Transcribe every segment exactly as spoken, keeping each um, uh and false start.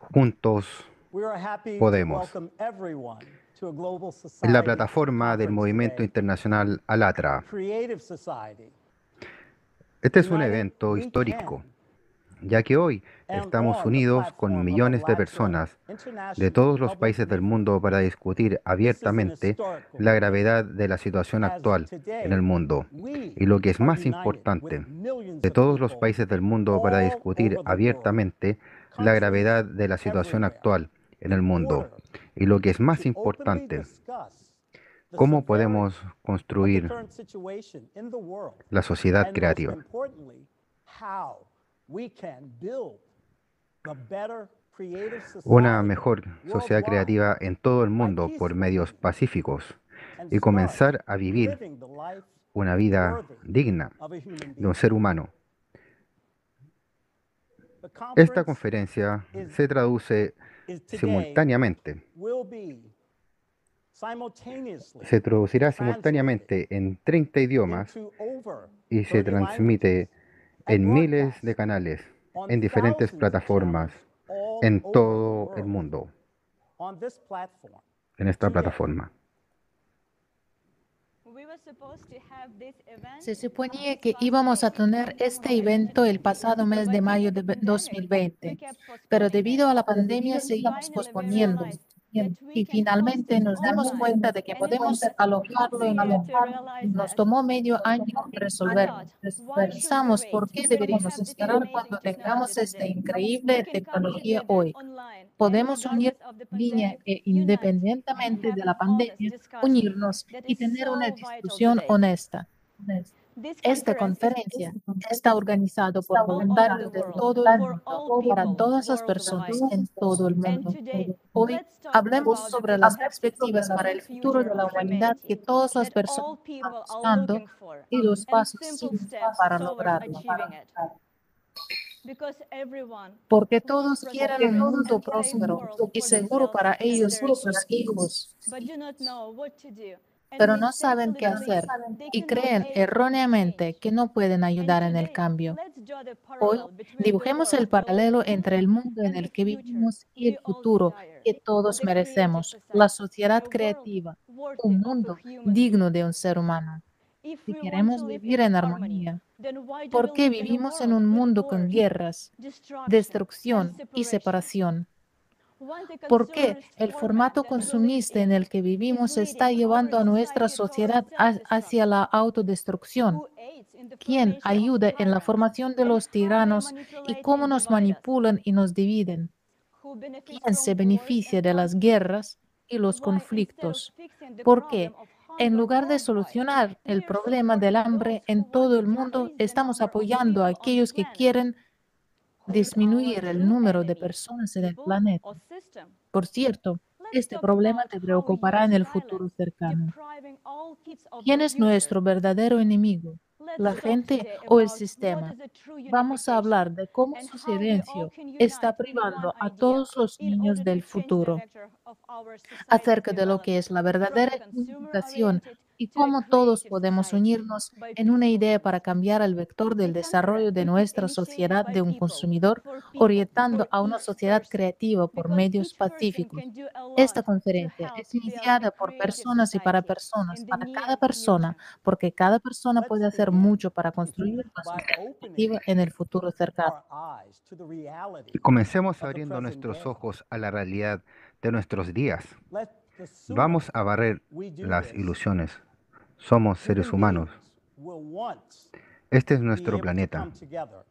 Juntos We are happy to podemos. welcome everyone to a global Es la society plataforma del conference movimiento today, internacional ALLATRA. Creative Society. Este es un United evento we histórico, can. ya que hoy And estamos on the unidos con platform of millones de ALLATRA personas de International todos los Public países del Meeting. mundo para discutir This is an abiertamente historical la meeting, gravedad de la situación as actual en el today mundo. we Y lo que es are más united with importante, millions de of todos los people países del mundo para all discutir over the world, abiertamente la countries gravedad de la situación everywhere, actual en el in mundo. order Y lo que es más to openly importante, discuss the cómo severity podemos of the construir current situation in the world, la sociedad and most creativa. importantly, how we can build the better creative Una society mejor sociedad worldwide creativa en todo el by mundo por medios peacefully pacíficos and y start comenzar a vivir living the life una vida worthy digna of a human de un being. ser humano. The Esta conference conferencia is, se traduce is today simultáneamente, will be simultaneously se traducirá translated simultáneamente en treinta idiomas into over y se thirty languages transmite and en miles de broadcast canales, on en diferentes thousands of plataformas, channels all en over the todo el world. mundo, On this platform en esta today, plataforma. Se suponía que íbamos a tener este evento el pasado mes de mayo de dos mil veinte, pero debido a la pandemia seguimos posponiendo. Y finalmente nos dimos cuenta de que podemos alojarlo en un lugar. Nos tomó medio año resolverlo. Pensamos por qué deberíamos esperar cuando tengamos esta increíble tecnología hoy. Podemos unir en línea e independientemente de la pandemia, unirnos y tener una discusión honesta. Esta conferencia está organizada por voluntarios de todo el mundo, para todas las personas en todo el mundo. Hoy hablemos sobre las perspectivas para el futuro de la humanidad que todas las personas están buscando y los pasos simples para lograrlo. Porque todos quieren un mundo próspero y seguro para ellos y sus hijos, pero no saben qué hacer y creen erróneamente que no pueden ayudar en el cambio. Hoy dibujemos el paralelo entre el mundo en el que vivimos y el futuro que todos merecemos, la sociedad creativa, un mundo digno de un ser humano. Si queremos vivir en armonía, ¿por qué vivimos en un mundo con guerras, destrucción y separación? ¿Por qué el formato consumista en el que vivimos está llevando a nuestra sociedad hacia la autodestrucción? ¿Quién ayuda en la formación de los tiranos y cómo nos manipulan y nos dividen? ¿Quién se beneficia de las guerras y los conflictos? ¿Por qué, en lugar de solucionar el problema del hambre en todo el mundo, estamos apoyando a aquellos que quieren disminuir el número de personas en el planeta? Por cierto, este problema te preocupará en el futuro cercano. ¿Quién es nuestro verdadero enemigo? ¿La gente o el sistema? Vamos a hablar de cómo su silencio está privando a todos los niños del futuro, acerca de lo que es la verdadera unificación y cómo todos podemos unirnos en una idea para cambiar el vector del desarrollo de nuestra sociedad de un consumidor, orientando a una sociedad creativa por medios pacíficos. Esta conferencia es iniciada por personas y para personas, para cada persona, porque cada persona let's puede hacer begin mucho para construir una by sociedad opening creativa en el futuro cercano. our eyes to the reality Comencemos of the abriendo present nuestros day. ojos a la realidad de nuestros días. Let the sooner Vamos a barrer we do las this, ilusiones. Somos seres human humanos. beings will once Este es be nuestro able to planeta. come together.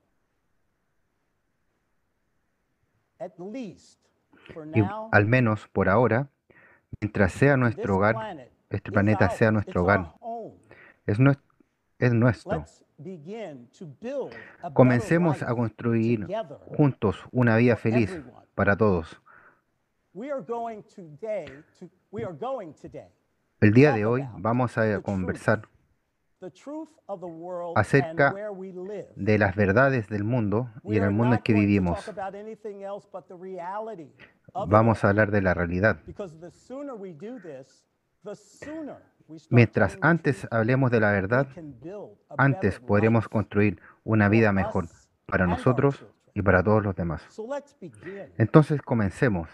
At least for Y now, al menos por ahora, mientras sea this nuestro hogar, planet este is planeta sea ours. nuestro It's our hogar, home. es, nues- es nuestro. Let's begin to build a better Comencemos life a construir together juntos una vida for feliz everyone. para todos. We are going today to we are going today El día talk de hoy about vamos a the truth, conversar the truth of the world and acerca where we live. de las verdades del mundo y We en el are mundo en not que going to vivimos. talk about anything else but the reality of it Vamos a all. hablar de la realidad. Because the sooner we do this, the sooner we start Mientras telling the antes truth, hablemos de la we verdad, can build a antes better podremos life construir una for vida mejor us para and our nosotros children. y para todos los demás. So let's begin. Entonces comencemos.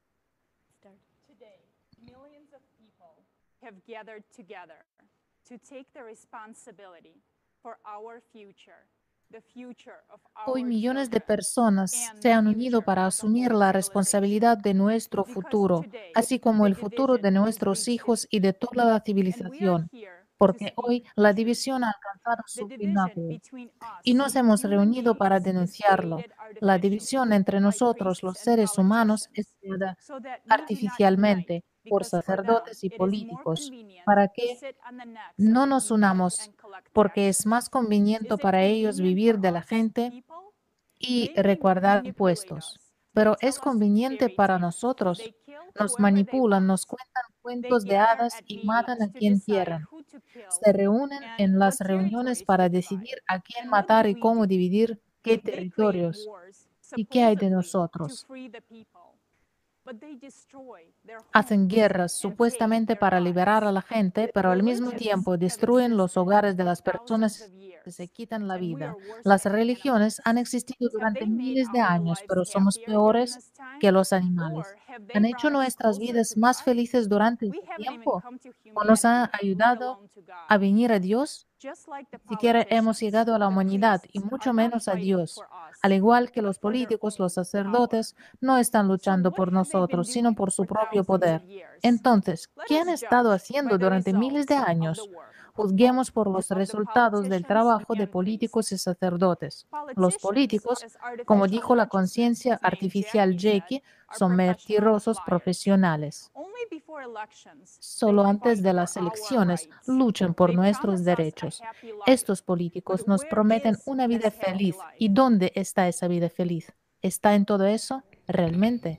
Today, millions of people have gathered together to take the responsibility for our future, the future of Hoy our millones de children, personas and se han the unido future para of the asumir whole la civilization. responsabilidad de nuestro Because futuro, today, así como the el futuro de division has nuestros reached hijos its y de peak, toda la and we are civilización, here to porque speak hoy the la truth. división ha alcanzado The su division pináculo between y us, nos hemos human reunido para beings, is denunciarlo. created La artificially división entre by nosotros, priests los and seres humanos, es politicians, creada so that we do not unite, artificialmente por because for them sacerdotes y it is more políticos, convenient para to que sit on the necks of no the nos people unamos, and collect porque es taxes. más Is conveniente it para ellos convenient vivir for de la us, gente people? y They may recaudar manipulate impuestos. us. They Pero tell es us conveniente fairy para tales. nosotros. They kill Nos whoever they manipulan, nos want. cuentan They cuentos de gather hadas at y matan meetings a to quien decide quieran. who to kill Se reúnen and en what las reuniones territories para to divide. decidir a quién And what matar do y we cómo do? dividir qué They create territorios. wars, ¿Y qué hay de supposedly to nosotros? free the people. But they destroy their Hacen homes guerras and take supuestamente their para liberar a lives. la gente, pero al mismo Religions tiempo have destruyen los existed hogares de for las thousands personas of que se years, quitan la and we vida. are worse Las than religiones han animals. existido Have durante they made miles de our años, lives pero somos happier during peores this time? que los animales. Or have they ¿Han hecho brought us nuestras closer vidas to más God? felices durante We ese haven't even tiempo? come to ¿O nos ha humanity, let ayudado alone to a God. venir a Dios? Just like the Ni siquiera hemos politicians, llegado a la the humanidad y priests mucho are not menos a fighting Dios. for us, Al igual que but los for their políticos, los own power. sacerdotes no están So luchando what por have they been nosotros, sino doing por su for propio thousands poder. of years? Entonces, Let ¿qué us han estado judge by haciendo the durante miles de results of the años? work of Juzguemos both por los of the resultados del politicians trabajo de and priests. políticos y sacerdotes. Los Politicians, políticos, as como artificial dijo la consciousness conciencia named artificial Jackie said, Jackie, are son professional mentirosos liars. profesionales. Only before elections, they Solo antes fight de for las our elecciones rights. luchan por They nuestros promise us a derechos. happy life. Estos But políticos nos where prometen is una that vida happy feliz. life? ¿Y dónde está esa vida feliz? ¿Está en todo eso? ¿Realmente?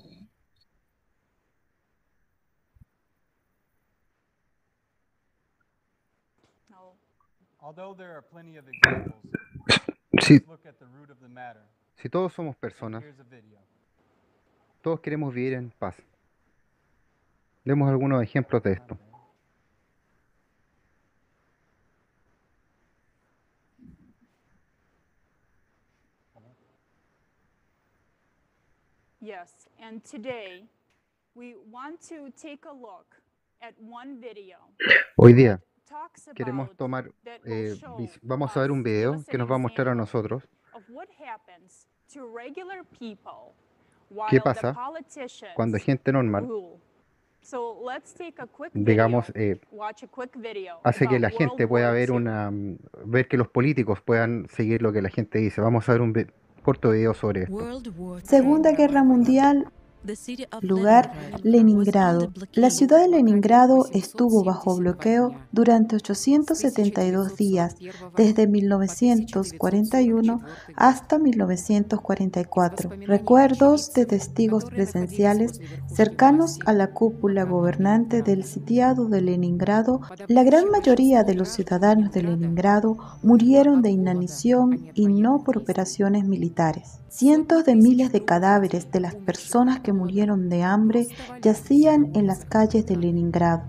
No. Although there are plenty of examples, Si, let's look at the root of the matter. si todos somos And personas, here's a video. todos queremos vivir en paz. Demos algunos ejemplos de esto. Yes, and today we want to take a look at one video Hoy día that talks queremos about tomar, that will eh, show vis- vamos a ver us, un give video us que an nos va a mostrar a example nosotros of what happens to regular people qué while the pasa cuando politicians gente normal, rule. So let's take a quick digamos, video, eh, watch a quick video hace que about la World gente pueda War ver Two. una, mm, ver que los políticos puedan seguir lo que la gente dice. Vamos a ver un vi- corto video sobre esto. Segunda Guerra Mundial, lugar Leningrado. La ciudad de Leningrado estuvo bajo bloqueo durante ochocientos setenta y dos días, desde mil novecientos cuarenta y uno hasta mil novecientos cuarenta y cuatro. Recuerdos de testigos presenciales cercanos a la cúpula gobernante del sitiado de Leningrado. La gran mayoría de los ciudadanos de Leningrado murieron de inanición y no por operaciones militares. Cientos de miles de cadáveres de las personas que murieron de hambre yacían en las calles de Leningrado.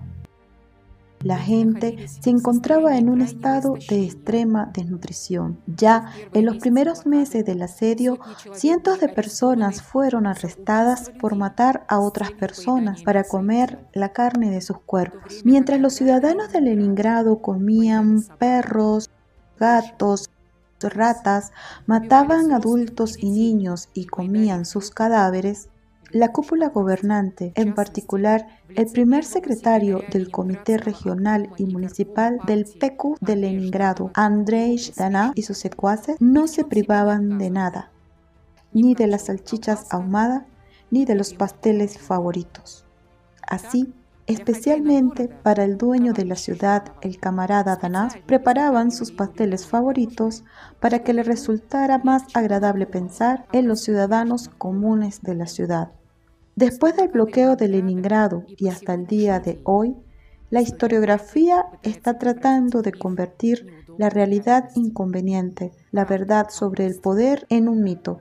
La gente se encontraba en un estado de extrema desnutrición. Ya en los primeros meses del asedio, cientos de personas fueron arrestadas por matar a otras personas para comer la carne de sus cuerpos. Mientras los ciudadanos de Leningrado comían perros, gatos, ratas, mataban adultos y niños y comían sus cadáveres, la cúpula gobernante, en particular el primer secretario del Comité Regional y Municipal del P Q de Leningrado, Andrei Zhdanov, y sus secuaces, no se privaban de nada, ni de las salchichas ahumadas, ni de los pasteles favoritos. Así, especialmente para el dueño de la ciudad, el camarada Danás, preparaban sus pasteles favoritos para que le resultara más agradable pensar en los ciudadanos comunes de la ciudad. Después del bloqueo de Leningrado y hasta el día de hoy, la historiografía está tratando de convertir la realidad inconveniente, la verdad sobre el poder, en un mito.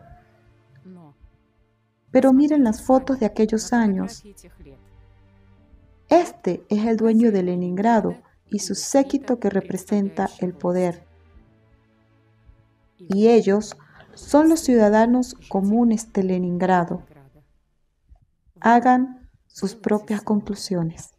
Pero miren las fotos de aquellos años. Este es el dueño de Leningrado y su séquito que representa el poder. Y ellos, son los ciudadanos comunes de Leningrado. Hagan sus propias conclusiones.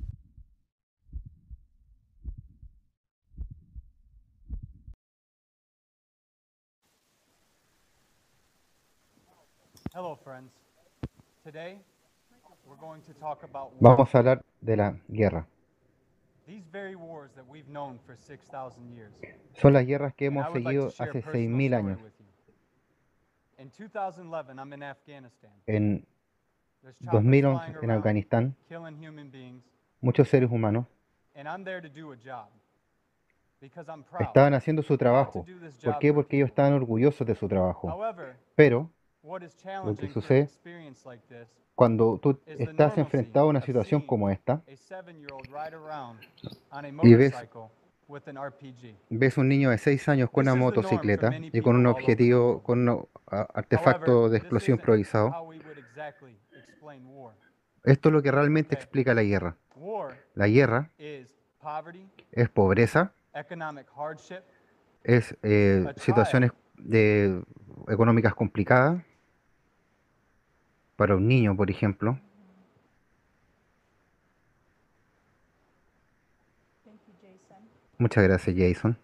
Vamos a hablar de la guerra. Son las guerras que hemos seguido hace seis mil años. En dos mil once, en Afganistán, muchos seres humanos estaban haciendo su trabajo. ¿Por qué? Porque ellos estaban orgullosos de su trabajo. Pero lo que sucede cuando tú estás enfrentado a una situación como esta y ves, ves un niño de seis años con una motocicleta y con un objetivo, con un artefacto de explosión improvisado, esto es lo que realmente explica la guerra. La guerra es pobreza, es eh, situaciones de, económicas complicadas para un niño, por ejemplo. Muchas gracias, Jason.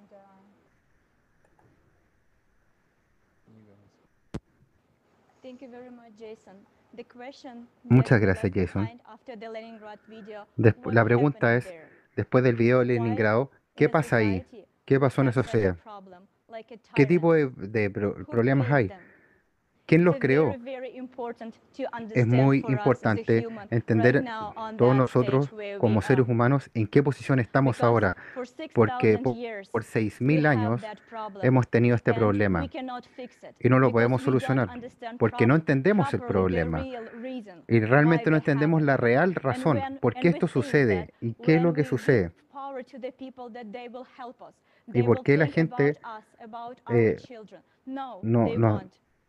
Muchas gracias, Jason. Despu- la pregunta es, después del video de Leningrado, ¿qué pasa ahí? ¿Qué pasó en esa sociedad? ¿Qué tipo de, de pro- problemas hay? ¿Quién los creó? Es muy importante entender todos nosotros como seres humanos en qué posición estamos ahora, porque po- por seis mil años hemos tenido este problema y no lo podemos solucionar porque no entendemos el problema y realmente no entendemos la real razón, por qué esto sucede y qué es lo que sucede y por qué la gente eh, no, no,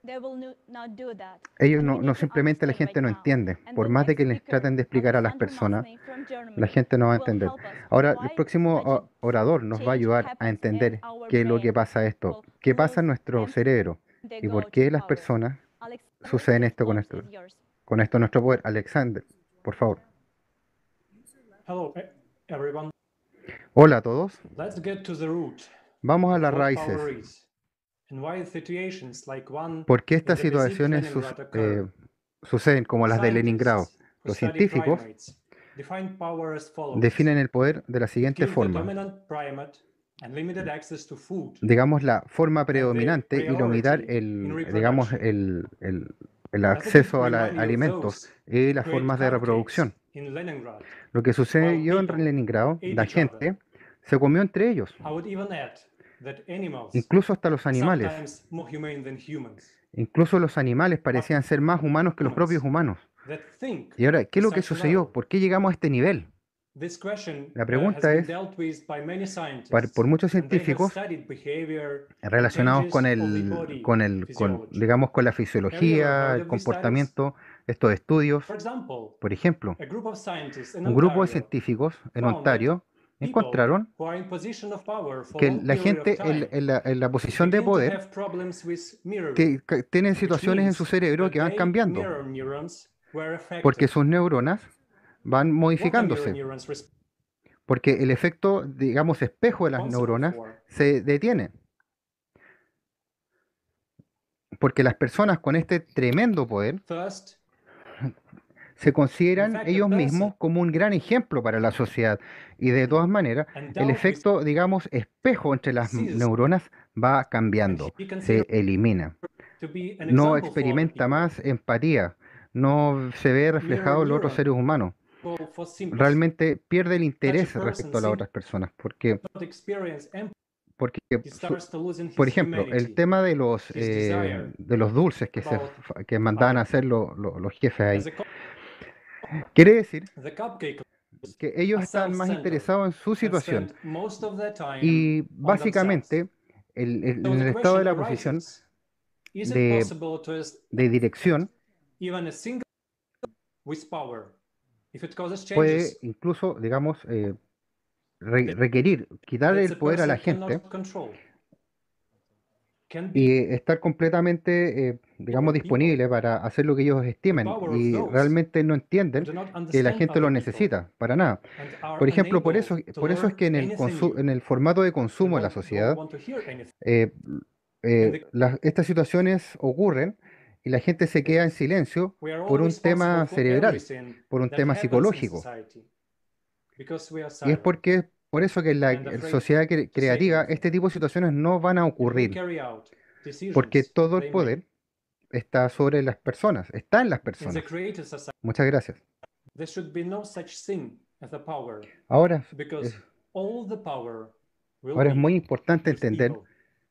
ellos no, no simplemente la gente no entiende, por más de que les traten de explicar a las personas, la gente no va a entender. Ahora, el próximo o- orador nos va a ayudar a entender qué es lo que pasa esto, qué pasa en nuestro cerebro y por qué las personas suceden esto con esto, con esto nuestro poder. Alexander, por favor. Hello, e- everyone. Hola a todos. Let's get to the root. Vamos a las What raíces. power is, and why situations like one ¿Por qué in estas the besieged situaciones sus- Leningrad eh, occur? suceden como las de Leningrado? Scientists who Los study científicos primates define power as follows. definen el poder de la It siguiente gives the forma. dominant primate unlimited access to food Digamos, la forma and the predominante y limitar priority in el, digamos, reproduction. el, el- el Doesn't it acceso a los remind you of alimentos those y who las create formas de reproducción. cupcakes in Leningrad, Lo que while sucedió en people Leningrado, ate la each other? gente se comió entre ellos, I would even add that animals incluso hasta los are animales. sometimes more humane than humans. Incluso los animales parecían ser más humanos que los propios humanos. That think Y ahora, ¿qué es to lo que such a sucedió? level. ¿Por qué llegamos a este nivel? This question La uh, has pregunta been es, dealt with by many par- por scientists, muchos and they have científicos studied behavior and relacionados con changes of the el, body con el, con, physiology. digamos, con la Have you ever fisiología, heard el of these studies? comportamiento, estos estudios. For example, Por ejemplo, a group of scientists in un grupo de Ontario científicos en found that Ontario people encontraron who are in position of power for a que long la period of gente en, time en la, en la posición de begin to poder have problems with mirroring, te- ca- tienen which situaciones en su means cerebro que that van their cambiando, mirror neurons were porque affected. sus neuronas van What are mirror modificándose, neurons porque el efecto, digamos, espejo de las responsible neuronas for? se detiene, porque las personas con este tremendo poder First, se in consideran fact, a ellos person mismos como un gran ejemplo para la sociedad. Y de todas maneras, el endowed with efecto, digamos, espejo entre las m- sees neuronas va and cambiando, he considers se elimina. to be an No example for other experimenta people. más empatía, no se ve Mirror reflejado en los otros neurons seres humanos. for sympathy. Realmente pierde el Such a interés person respecto a las seems otras personas, porque, not experience empathy. porque He su- starts to lose in por his ejemplo, el humanity, tema de los, his eh, desire de los dulces que, se, about fa- que mandaban a other hacer people. lo- lo- los jefes ahí, As a co- quiere decir the cupcake que ellos are están más self-centered interesados en su and situación spend most of their time y on themselves. básicamente el- el- So en the el estado de question la posición arises, is it de, possible to es- de dirección even a single with power, if it causes puede changes incluso, digamos, eh, re- requerir quitar that el the poder a la person gente cannot control? y estar completamente, eh, digamos, disponible para hacer lo que ellos estimen y realmente no entienden que la gente lo necesita, para nada. Por ejemplo, por eso, por eso es que en el, consu- en el formato de consumo de la sociedad, eh, eh, las- estas situaciones ocurren y la gente se queda en silencio por un tema cerebral, por un tema psicológico. Y es porque, por eso que en la en sociedad cre- creativa este tipo de situaciones no van a ocurrir, porque todo el poder está sobre las personas, está en las personas. Muchas gracias. Ahora, es, ahora es muy importante entender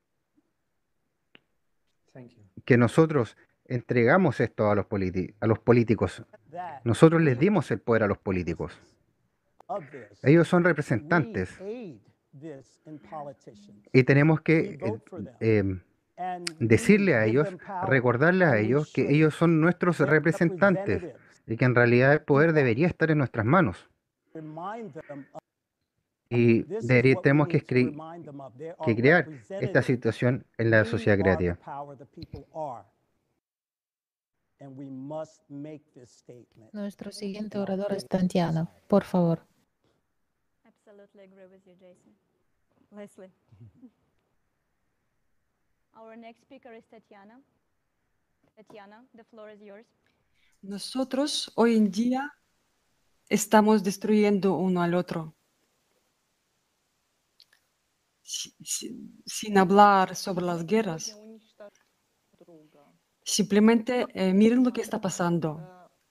que nosotros entregamos esto a los politi- a los políticos. that Nosotros les we dimos el poder a los políticos. of this. Ellos son We representantes aid this in politicians. y tenemos We que eh, vote for them eh, and we decirle a give ellos, them power, recordarles a and we ellos que should ellos son nuestros their representantes representatives. y que en realidad el Do poder that. debería estar en nuestras manos. Remind them of Y this is deberí- what we tenemos que, need to escri- remind them of. They are que crear esta representatives. situación en la We sociedad are the creativa. power, the people are. And we must make this statement. Nuestro siguiente in our orador es faith Tatiana. society. Por favor. Absolutely agree with you, Jason. Leslie. Our next speaker is Tatiana. Tatiana, the floor is yours. Nosotros hoy en día estamos destruyendo uno al otro. Si- si- sin hablar sobre las guerras, simplemente eh, miren lo que está pasando.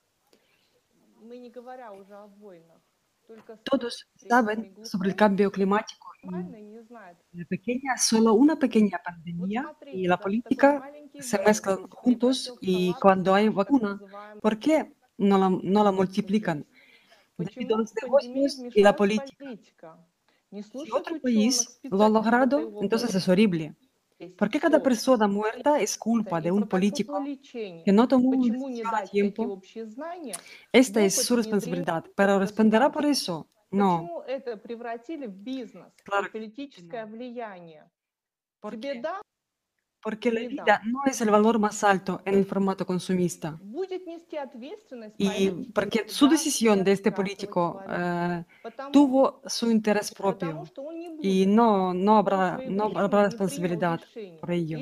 Todos saben sobre el cambio climático y la pequeña, solo una pequeña pandemia y la política se mezclan juntos y cuando hay vacuna, ¿por qué no la, no la multiplican? Debido a los negocios y la política. Si otro país lo ha logrado, entonces es horrible. ¿Por qué cada persona muerta es culpa de un político que no tomó una decisión a tiempo? Esta es su responsabilidad, pero ¿responderá por eso? No. Claro que no. ¿Por qué? Porque la vida no es el valor más alto en el formato consumista. Y porque su decisión de este político eh, tuvo su interés propio y no, no habrá, no habrá responsabilidad por ello.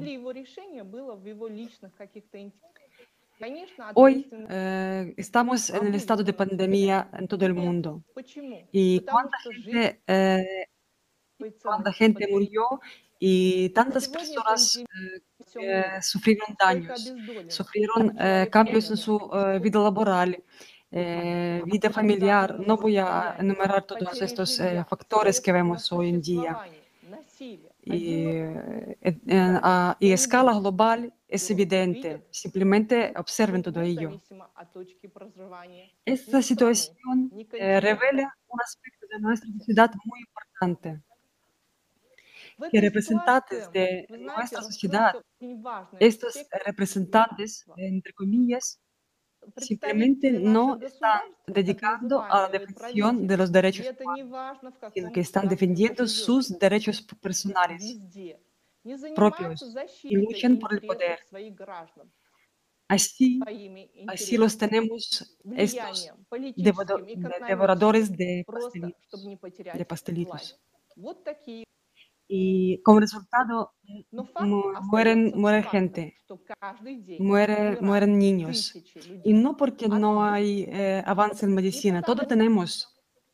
Hoy eh, estamos en el estado de pandemia en todo el mundo. ¿Y cuánta gente, eh, cuánta gente murió y tantas personas eh, que sufrieron daños, sufrieron eh, cambios en su eh, vida laboral, eh, vida familiar? No voy a enumerar todos estos eh, factores que vemos hoy en día. Y, eh, en- en- a, y a escala global es evidente. Simplemente observen todo ello. Esta situación eh, revela un aspecto de nuestra sociedad muy importante, que representantes de nuestra sociedad, estos representantes, entre comillas, simplemente no están dedicando a la defensa de los derechos humanos, sino que están defendiendo sus derechos personales propios y luchan por el poder. Así, así los tenemos estos devodo- de- devoradores de pastelitos, de pastelitos. Y como resultado mu- mueren, muere gente, muere, mueren niños. Y no porque no hay eh, avance en medicina, todo tenemos.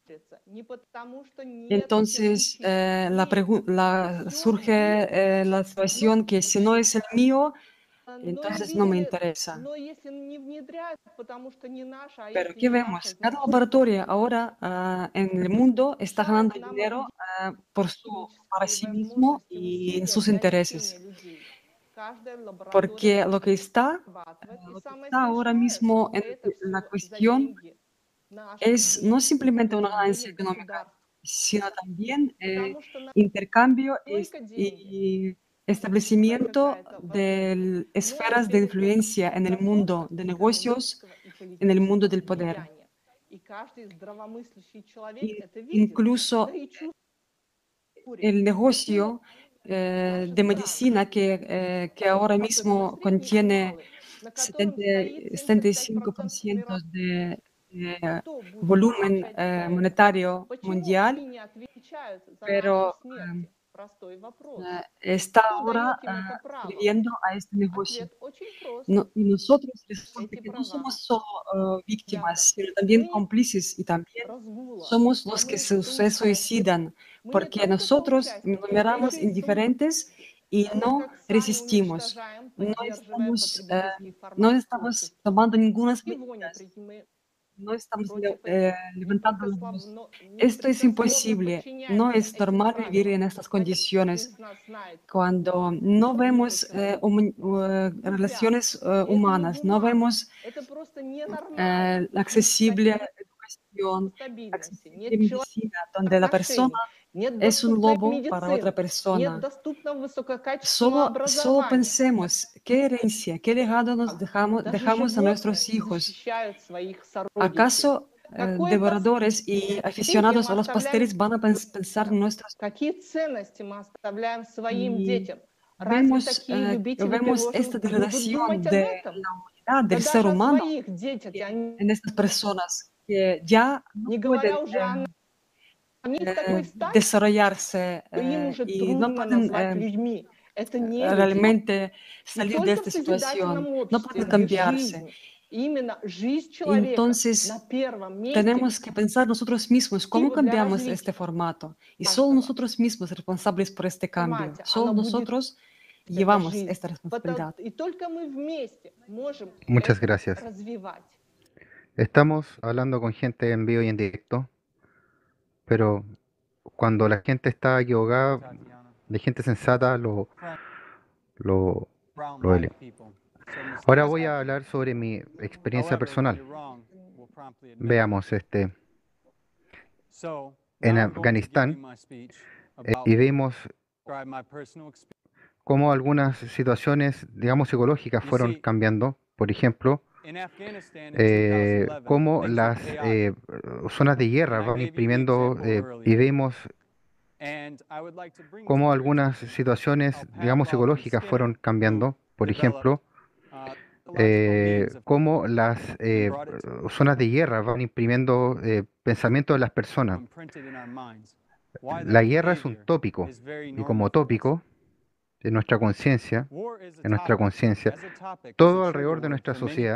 Entonces eh, la pregu- la- surge eh, la situación que si no es el mío, entonces no me interesa. Pero ¿qué vemos? Cada laboratorio ahora ah, en el mundo está ganando dinero ah, por su, para sí mismo y en sus intereses. Porque lo que está, ah, lo que está ahora mismo en la cuestión es no simplemente una ganancia económica, sino también eh, intercambio es- y establecimiento de esferas de influencia en el mundo de negocios, en el mundo del poder. Y incluso el negocio eh, de medicina que, eh, que ahora mismo contiene setenta setenta y cinco por ciento de, de Кто будет volumen отвечать за eh, это? monetario Почему mundial, они не отвечают за наши pero em, смерти? Простой вопрос. eh, está Кто ahora дает им eh, это право? escribiendo a este negocio. Ответ очень прост. No- y nosotros resulta Эти que no права somos solo eh, спрятаны víctimas, sino también в cómplices y también разгула, somos а los que мы se, se соучастники. suicidan, Мы не porque только nosotros соучастники, мы numeramos еще и сум- indiferentes y так no как сами resistimos, уничтожаем, no поддерживаем estamos, eh, потребительский no формат estamos общества. tomando ninguna Чего не medidas, предпримы- no estamos le- против eh, этого? Не levantando только, la слабо, voz. но Esto es непрекословно imposible, no подчиняемся es этим normal vivir правилам. en estas Знаете, каждый condiciones из нас знает cuando no одного vemos eh, человека human- в eh, друзьях. relaciones eh, И это не humanas, no бумага. vemos Это просто ненормально. eh, Нет accesible стабильности, educación, нет accesible человеческих medicina, donde la persona отношений, нет es un доступной lobo para otra медицины, нет persona. доступного высококачественного Solo, solo образования. pensemos qué herencia, qué legado nos dejamos, Даже dejamos a животные nuestros hijos. защищают своих сородичей. ¿Acaso eh, Какое devoradores y наследие aficionados мы a los оставляем pasteles van a pens- pensar en детям? nuestros Какие ценности мы оставляем своим y детям? Разве vemos, такие eh, любители vemos esta пирожных будут думать degradación об de этом? la humanidad, Да del ser даже о humano своих детях en, они, en estas personas que ya no не pueden говоря уже eh, о них в такой eh, стадии, desarrollarse что им eh, уже y no трудно pueden назвать eh, людьми. Это не люди. realmente И salir de только в esta situación, созидательном no обществе, pueden где cambiarse. жизнь, именно жизнь человека на Entonces, первом месте, tenemos que pensar nosotros mismos cómo активу для cambiamos este развития formato. Y solo каждого nosotros mismos responsables por este cambio. формате, Solo оно будет nosotros эта llevamos жизнь. esta Потому- responsabilidad. И только мы вместе можем Muchas это gracias. развивать. Estamos hablando con gente en vivo y en directo, pero cuando la gente está equivocada, de gente sensata, lo, lo, lo eleva. Ahora voy a hablar sobre mi experiencia personal. Veamos, este, en Afganistán, eh, y vimos cómo algunas situaciones, digamos, psicológicas fueron cambiando. Por ejemplo, eh, cómo las eh, zonas de guerra van imprimiendo eh, y vemos cómo algunas situaciones, digamos, psicológicas fueron cambiando. Por ejemplo, eh, cómo las eh, zonas de guerra van imprimiendo eh, pensamientos de las personas. La guerra es un tópico y como tópico en nuestra conciencia, en nuestra conciencia, todo alrededor de nuestra sociedad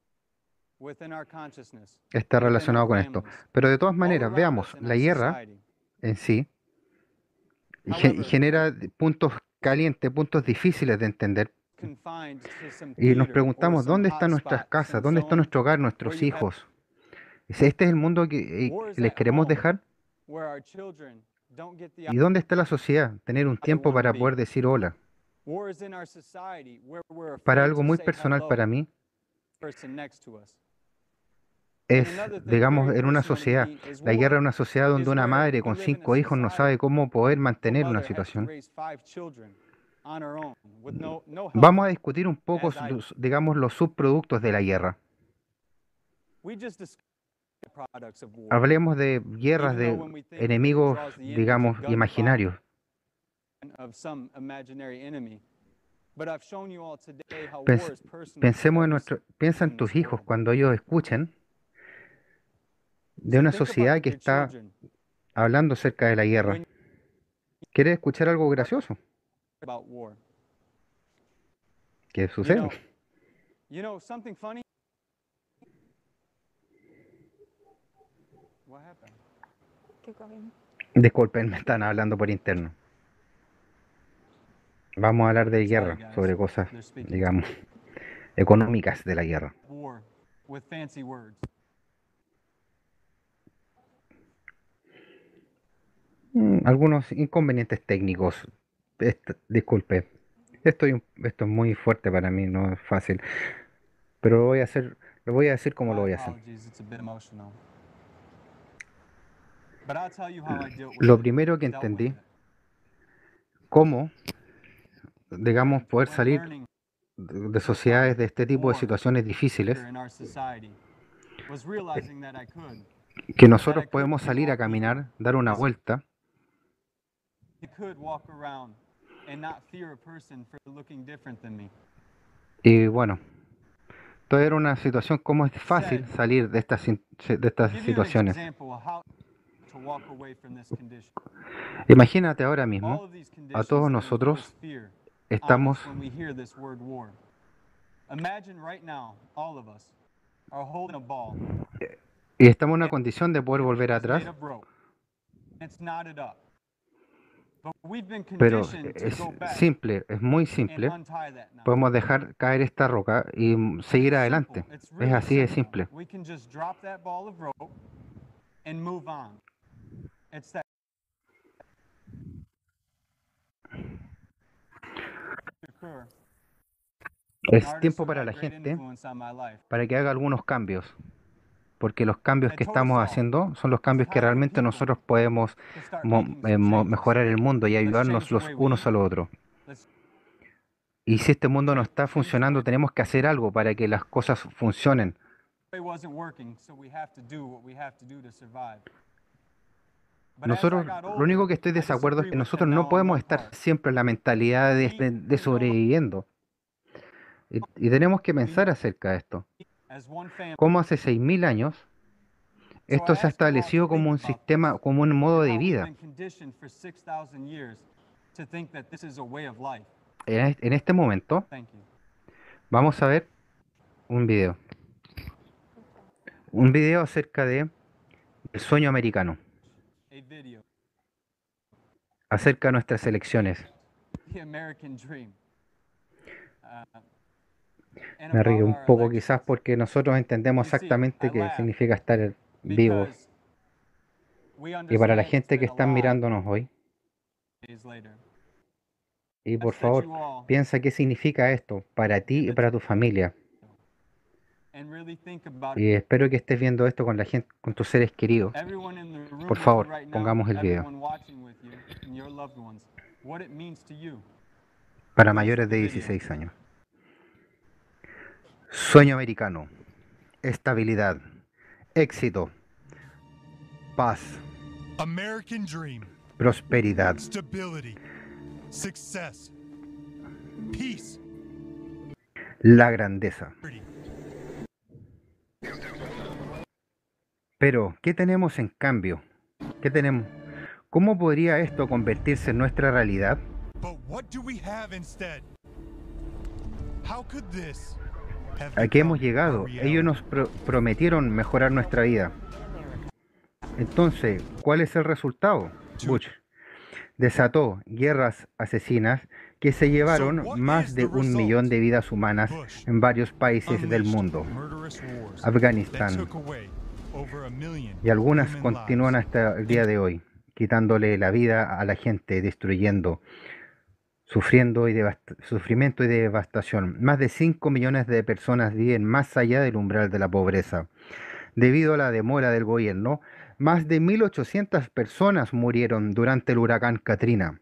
está relacionado con esto. Pero de todas maneras, veamos, la guerra en sí ge- genera puntos calientes, puntos difíciles de entender. Y nos preguntamos, ¿dónde están nuestras casas? ¿Dónde está nuestro hogar, nuestros hijos? ¿Es ¿Este es el mundo que eh, les queremos dejar? ¿Y dónde está la sociedad? Tener un tiempo para poder decir hola. Para algo muy personal para mí, es, digamos, en una sociedad. La guerra es una sociedad donde una madre con cinco hijos no sabe cómo poder mantener una situación. Vamos a discutir un poco, los- digamos, los subproductos de la guerra. Hablemos de guerras de enemigos, digamos, imaginarios. Pens- pensemos en nuestro, piensa en tus hijos cuando ellos escuchen de una sociedad que está hablando acerca de la guerra. ¿Quieres escuchar algo gracioso? ¿Qué sucede? Disculpen, me están hablando por interno. Vamos a hablar de guerra, sobre cosas, digamos, económicas de la guerra. Mm, algunos inconvenientes técnicos. Est- disculpe, estoy, un- esto es muy fuerte para mí, no es fácil. Pero lo voy a hacer, lo voy a decir como lo voy a hacer. Lo primero que entendí, cómo, digamos, poder salir de de sociedades de este tipo de situaciones difíciles, que nosotros podemos salir a caminar, dar una vuelta Y bueno, todo era una situación, cómo es fácil salir de estas, sin- de estas situaciones. Imagínate ahora mismo, a todos nosotros estamos, y estamos en una condición de poder volver atrás, pero es simple, es muy simple. Podemos dejar caer esta roca y mm, seguir adelante. Es así de simple. Es tiempo para la gente para que haga algunos cambios, porque los cambios que estamos haciendo son los cambios que realmente nosotros podemos mo- eh, mo- mejorar el mundo y ayudarnos los unos a los otros. Y si este mundo no está funcionando, tenemos que hacer algo para que las cosas funcionen. Nosotros, lo único que estoy de desacuerdo es que nosotros no podemos estar siempre en la mentalidad de, de- de sobreviviendo. Y, y tenemos que pensar acerca de esto. Como hace seis mil años, esto se ha establecido como un sistema, como un modo de vida. En es- en este momento, vamos a ver un video. Un video acerca de el sueño americano, acerca de nuestras elecciones. Me río un poco quizás porque nosotros entendemos exactamente qué significa estar vivos. Y para la gente que está mirándonos hoy, y por favor, piensa qué significa esto para ti y para tu familia. Y espero que estés viendo esto con la gente, con tus seres queridos. Por favor, pongamos el video. Para mayores de dieciséis años. Sueño americano. Estabilidad. Éxito. Paz. American dream. Prosperidad. Stability. Success. Peace. La grandeza. Pero, ¿qué tenemos en cambio? ¿Qué tenemos? ¿Cómo podría esto convertirse en nuestra realidad? But what do we have instead? How could this have ¿A qué hemos become llegado? our reality? Ellos nos pro- prometieron mejorar nuestra vida. Entonces, ¿cuál es el resultado? Bush desató guerras asesinas que se llevaron más de un millón de vidas humanas en varios países del mundo. Afganistán. Y algunas continúan hasta el día de hoy, quitándole la vida a la gente, destruyendo, sufriendo y devast- sufrimiento y devastación. Más de cinco millones de personas viven más allá del umbral de la pobreza. Debido a la demora del gobierno, más de mil ochocientas personas murieron durante el huracán Katrina.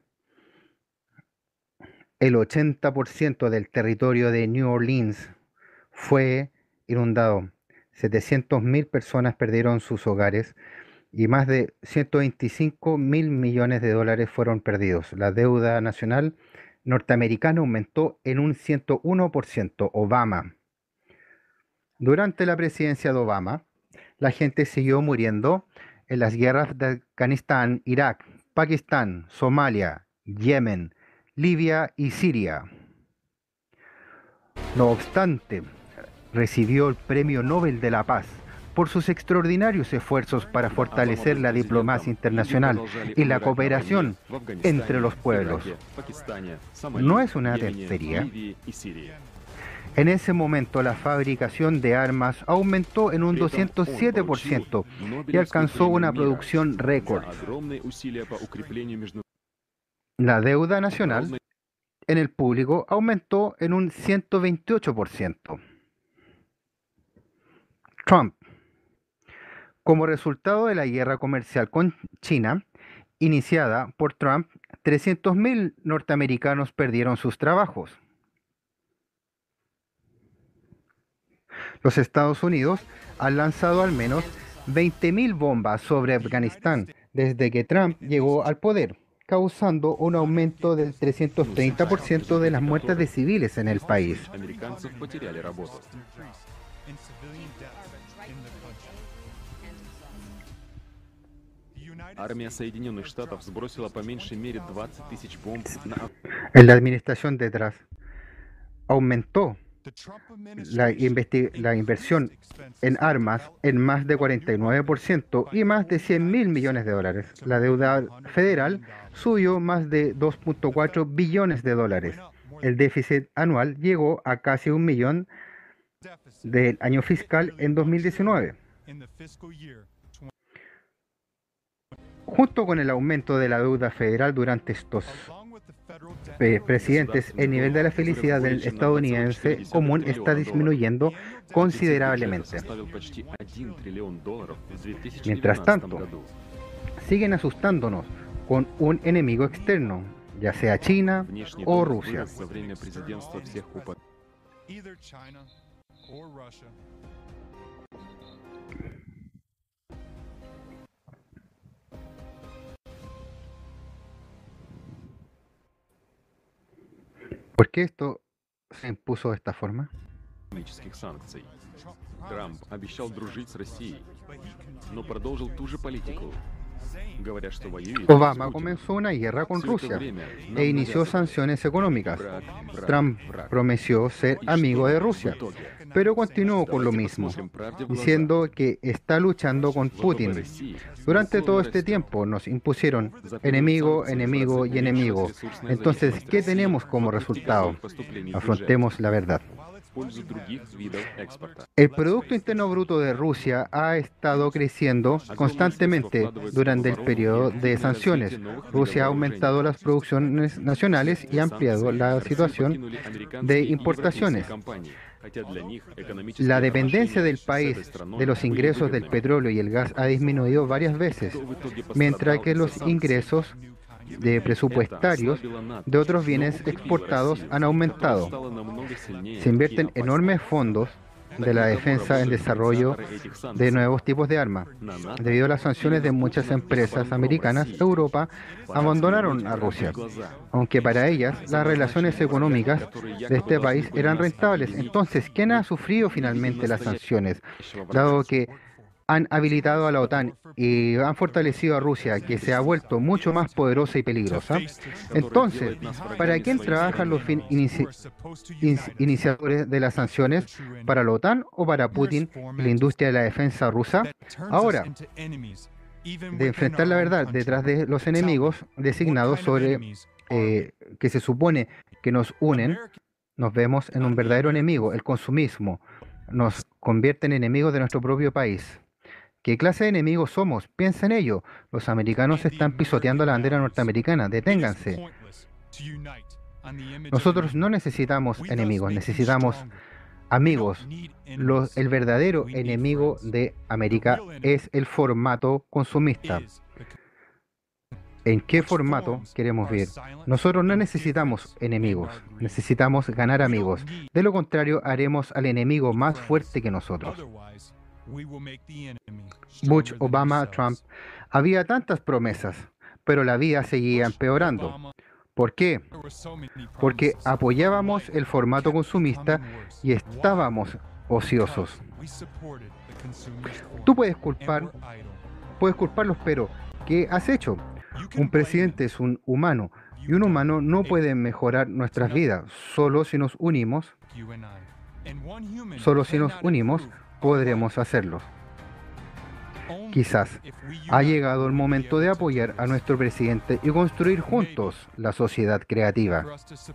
El ochenta por ciento del territorio de New Orleans fue inundado. setecientas mil personas perdieron sus hogares y más de ciento veinticinco mil millones de dólares fueron perdidos. La deuda nacional norteamericana aumentó en un ciento uno por ciento. Obama. Durante la presidencia de Obama, la gente siguió muriendo en las guerras de Afganistán, Irak, Pakistán, Somalia, Yemen, Libia y Siria. No obstante, recibió el Premio Nobel de la Paz por sus extraordinarios esfuerzos para fortalecer la diplomacia internacional y la cooperación entre los pueblos. No es una tontería. En ese momento la fabricación de armas aumentó en un doscientos siete por ciento y alcanzó una producción récord. La deuda nacional en el público aumentó en un ciento veintiocho por ciento. Trump. Como resultado de la guerra comercial con China, iniciada por Trump, trescientos mil norteamericanos perdieron sus trabajos. Los Estados Unidos han lanzado al menos veinte mil bombas sobre Afganistán desde que Trump llegó al poder. causando un aumento del trescientos treinta por ciento de las muertes de civiles en el país. Американцев потеряли работу. Армия Соединенных Штатов сбросила по меньшей мере двадцать тысяч бомб на... En la administración detrás aumentó la, la inversión en armas en más de cuarenta y nueve por ciento y más de cien mil millones de dólares. La deuda federal subió más de dos punto cuatro billones de dólares. El déficit anual llegó a casi un millón del año fiscal en dos mil diecinueve. Junto con el aumento de la deuda federal durante estos eh, presidentes, el nivel de la felicidad del estadounidense común está disminuyendo considerablemente. Mientras tanto, siguen asustándonos con un enemigo externo, ya sea China o Rusia. ¿Por qué esto se impuso de esta forma? Трамп обещал дружить с Россией, но продолжил ту же политику. Говорят, что воюет. Obama comenzó una guerra con Rusia e inició sanciones económicas. Trump prometió ser amigo de Rusia, pero continuó con lo mismo, diciendo que está luchando con Putin. Durante todo este tiempo nos impusieron enemigo, enemigo y enemigo. Entonces, ¿qué tenemos como resultado? Afrontemos la verdad. El Producto Interno Bruto de Rusia ha estado creciendo constantemente durante el periodo de sanciones. Rusia ha aumentado las producciones nacionales y ha ampliado la situación de importaciones. La dependencia del país de los ingresos del petróleo y el gas ha disminuido varias veces, mientras que los ingresos de presupuestarios de otros bienes exportados han aumentado. Se invierten enormes fondos de la defensa en desarrollo de nuevos tipos de armas. Debido a las sanciones de muchas empresas americanas, Europa abandonaron a Rusia, aunque para ellas las relaciones económicas de este país eran rentables. Entonces, ¿quién ha sufrido finalmente las sanciones? Dado que han habilitado a la OTAN y han fortalecido a Rusia, que se ha vuelto mucho más poderosa y peligrosa. Entonces, ¿para quién trabajan los fin inici in iniciadores de las sanciones? ¿Para la OTAN o para Putin y la industria de la defensa rusa? Ahora, de enfrentar la verdad detrás de los enemigos designados sobre eh, que se supone que nos unen, nos vemos en un verdadero enemigo, el consumismo. Nos convierte en enemigos de nuestro propio país. ¿Qué clase de enemigos somos? Piensa en ello. Los americanos están pisoteando la bandera norteamericana. Deténganse. Nosotros no necesitamos enemigos, necesitamos amigos. Los, el verdadero enemigo de América es el formato consumista. ¿En qué formato queremos vivir? Nosotros no necesitamos enemigos, necesitamos ganar amigos. De lo contrario, haremos al enemigo más fuerte que nosotros. Bush, Obama, Trump. Había tantas promesas, pero la vida seguía empeorando. ¿Por qué? Porque apoyábamos el formato consumista y estábamos ociosos. Tú puedes culpar, puedes culparlos, pero ¿qué has hecho? Un presidente es un humano y un humano no puede mejorar nuestras vidas. Solo si nos unimos, solo si nos unimos podremos hacerlo. Quizás ha llegado el momento de apoyar a nuestro presidente y construir juntos la sociedad creativa.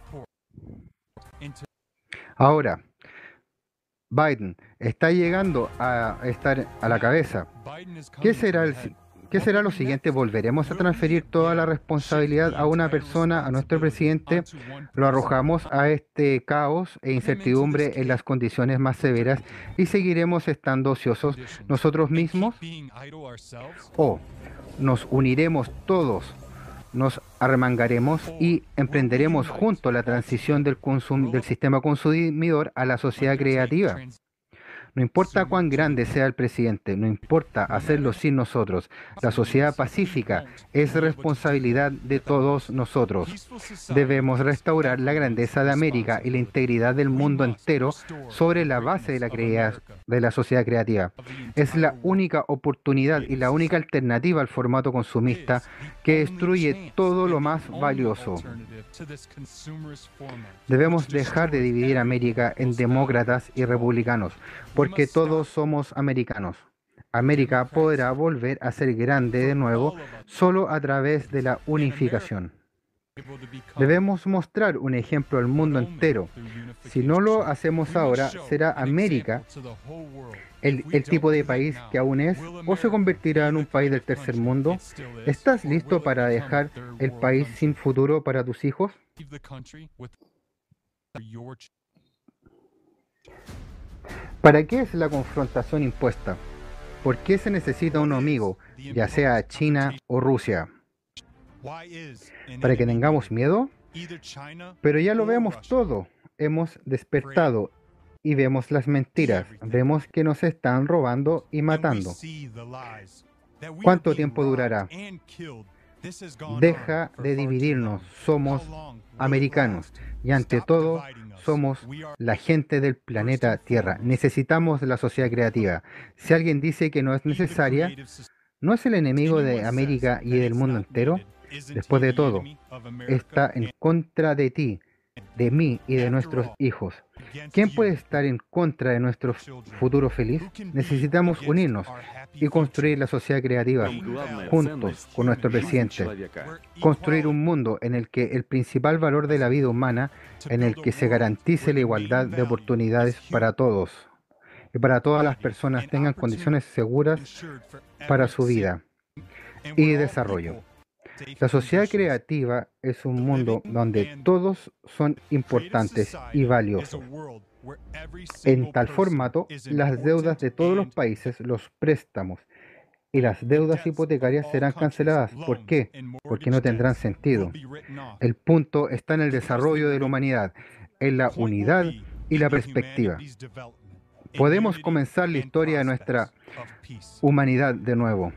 Ahora, Biden está llegando a estar a la cabeza. ¿Qué será el ¿Qué será lo siguiente? ¿Volveremos a transferir toda la responsabilidad a una persona, a nuestro presidente? ¿Lo arrojamos a este caos e incertidumbre en las condiciones más severas y seguiremos estando ociosos nosotros mismos? ¿O nos uniremos todos, nos arremangaremos y emprenderemos juntos la transición del, consum del sistema consumidor a la sociedad creativa? No importa cuán grande sea el presidente, no importa hacerlo sin nosotros. La sociedad pacífica es responsabilidad de todos nosotros. Debemos restaurar la grandeza de América y la integridad del mundo entero sobre la base de la, crea- de la sociedad creativa. Es la única oportunidad y la única alternativa al formato consumista que destruye todo lo más valioso. Debemos dejar de dividir a América en demócratas y republicanos, porque todos somos americanos. América podrá volver a ser grande de nuevo solo a través de la unificación. Debemos mostrar un ejemplo al mundo entero. Si no lo hacemos ahora, ¿será América el, el tipo de país que aún es o se convertirá en un país del tercer mundo? ¿Estás listo para dejar el país sin futuro para tus hijos? ¿Para qué es la confrontación impuesta? ¿Por qué se necesita un amigo, ya sea China o Rusia? ¿Para que tengamos miedo? Pero ya lo vemos todo. Hemos despertado y vemos las mentiras. Vemos que nos están robando y matando. ¿Cuánto tiempo durará? Deja de dividirnos. Somos americanos y ante todo somos la gente del planeta Tierra. Necesitamos la sociedad creativa. Si alguien dice que no es necesaria, ¿no es el enemigo de América y del mundo entero? Después de todo, está en contra de ti, de mí y de nuestros hijos. ¿Quién puede estar en contra de nuestro futuro feliz? Necesitamos unirnos y construir la sociedad creativa juntos con nuestro presidente. Construir un mundo en el que el principal valor de la vida humana, en el que se garantice la igualdad de oportunidades para todos y para todas las personas tengan condiciones seguras para su vida y desarrollo. La sociedad creativa es un mundo donde todos son importantes y valiosos. En tal formato, las deudas de todos los países, los préstamos y las deudas hipotecarias serán canceladas. ¿Por qué? Porque no tendrán sentido. El punto está en el desarrollo de la humanidad, en la unidad y la perspectiva. Podemos comenzar la historia de nuestra humanidad de nuevo.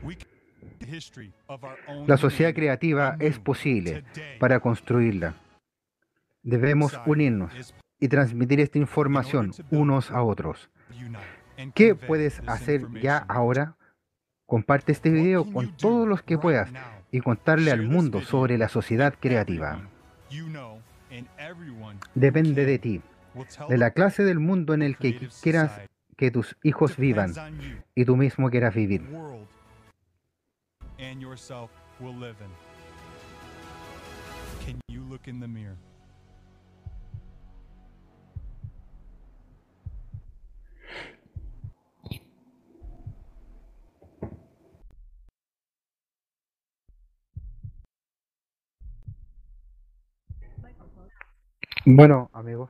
La sociedad creativa es posible para construirla. Debemos unirnos y transmitir esta información unos a otros. ¿Qué puedes hacer ya ahora? Comparte este video con todos los que puedas y contarle al mundo sobre la sociedad creativa. Depende de ti, de la clase del mundo en el que quieras que tus hijos vivan y tú mismo quieras vivir. And yourself will live in. Can you look in the mirror? Bueno, amigos,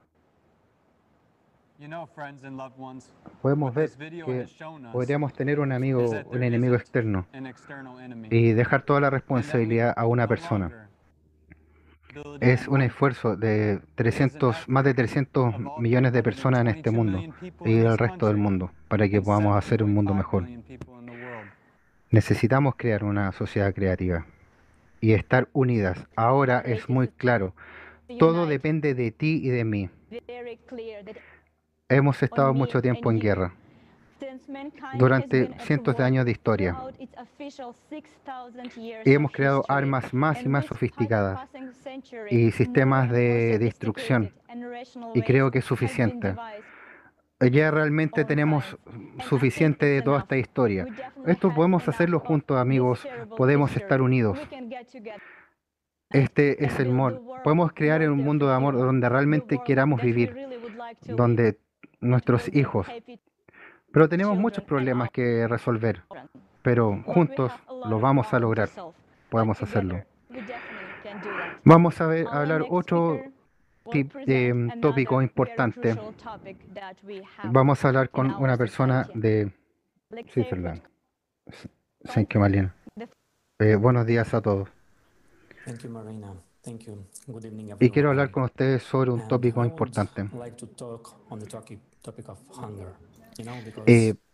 podemos ver que podríamos tener un amigo, un enemigo externo y dejar toda la responsabilidad a una persona. Es un esfuerzo de trescientos, más de trescientos millones de personas en este mundo y el resto del mundo para que podamos hacer un mundo mejor. Necesitamos crear una sociedad creativa y estar unidas. Ahora es muy claro. Todo depende de ti y de mí. Hemos estado mucho tiempo en guerra, durante cientos de años de historia, y hemos creado armas más y más sofisticadas y sistemas de destrucción, y creo que es suficiente. Ya realmente tenemos suficiente de toda esta historia. Esto podemos hacerlo juntos, amigos, podemos estar unidos. Este es el amor. Podemos crear un mundo de amor donde realmente queramos vivir, donde nuestros hijos. Pero tenemos muchos problemas que resolver, pero juntos lo vamos a lograr. Podemos hacerlo. Vamos a ver, a hablar otro tip, eh, tópico importante. Vamos a hablar con una persona de Switzerland. Thank you, Malina. Eh, buenos días a todos. Thank you, Marina. Thank you. Good evening, Y quiero hablar everyone. con ustedes sobre un And tópico I would importante. like to talk on the topic topic of hunger. You know, Eh, because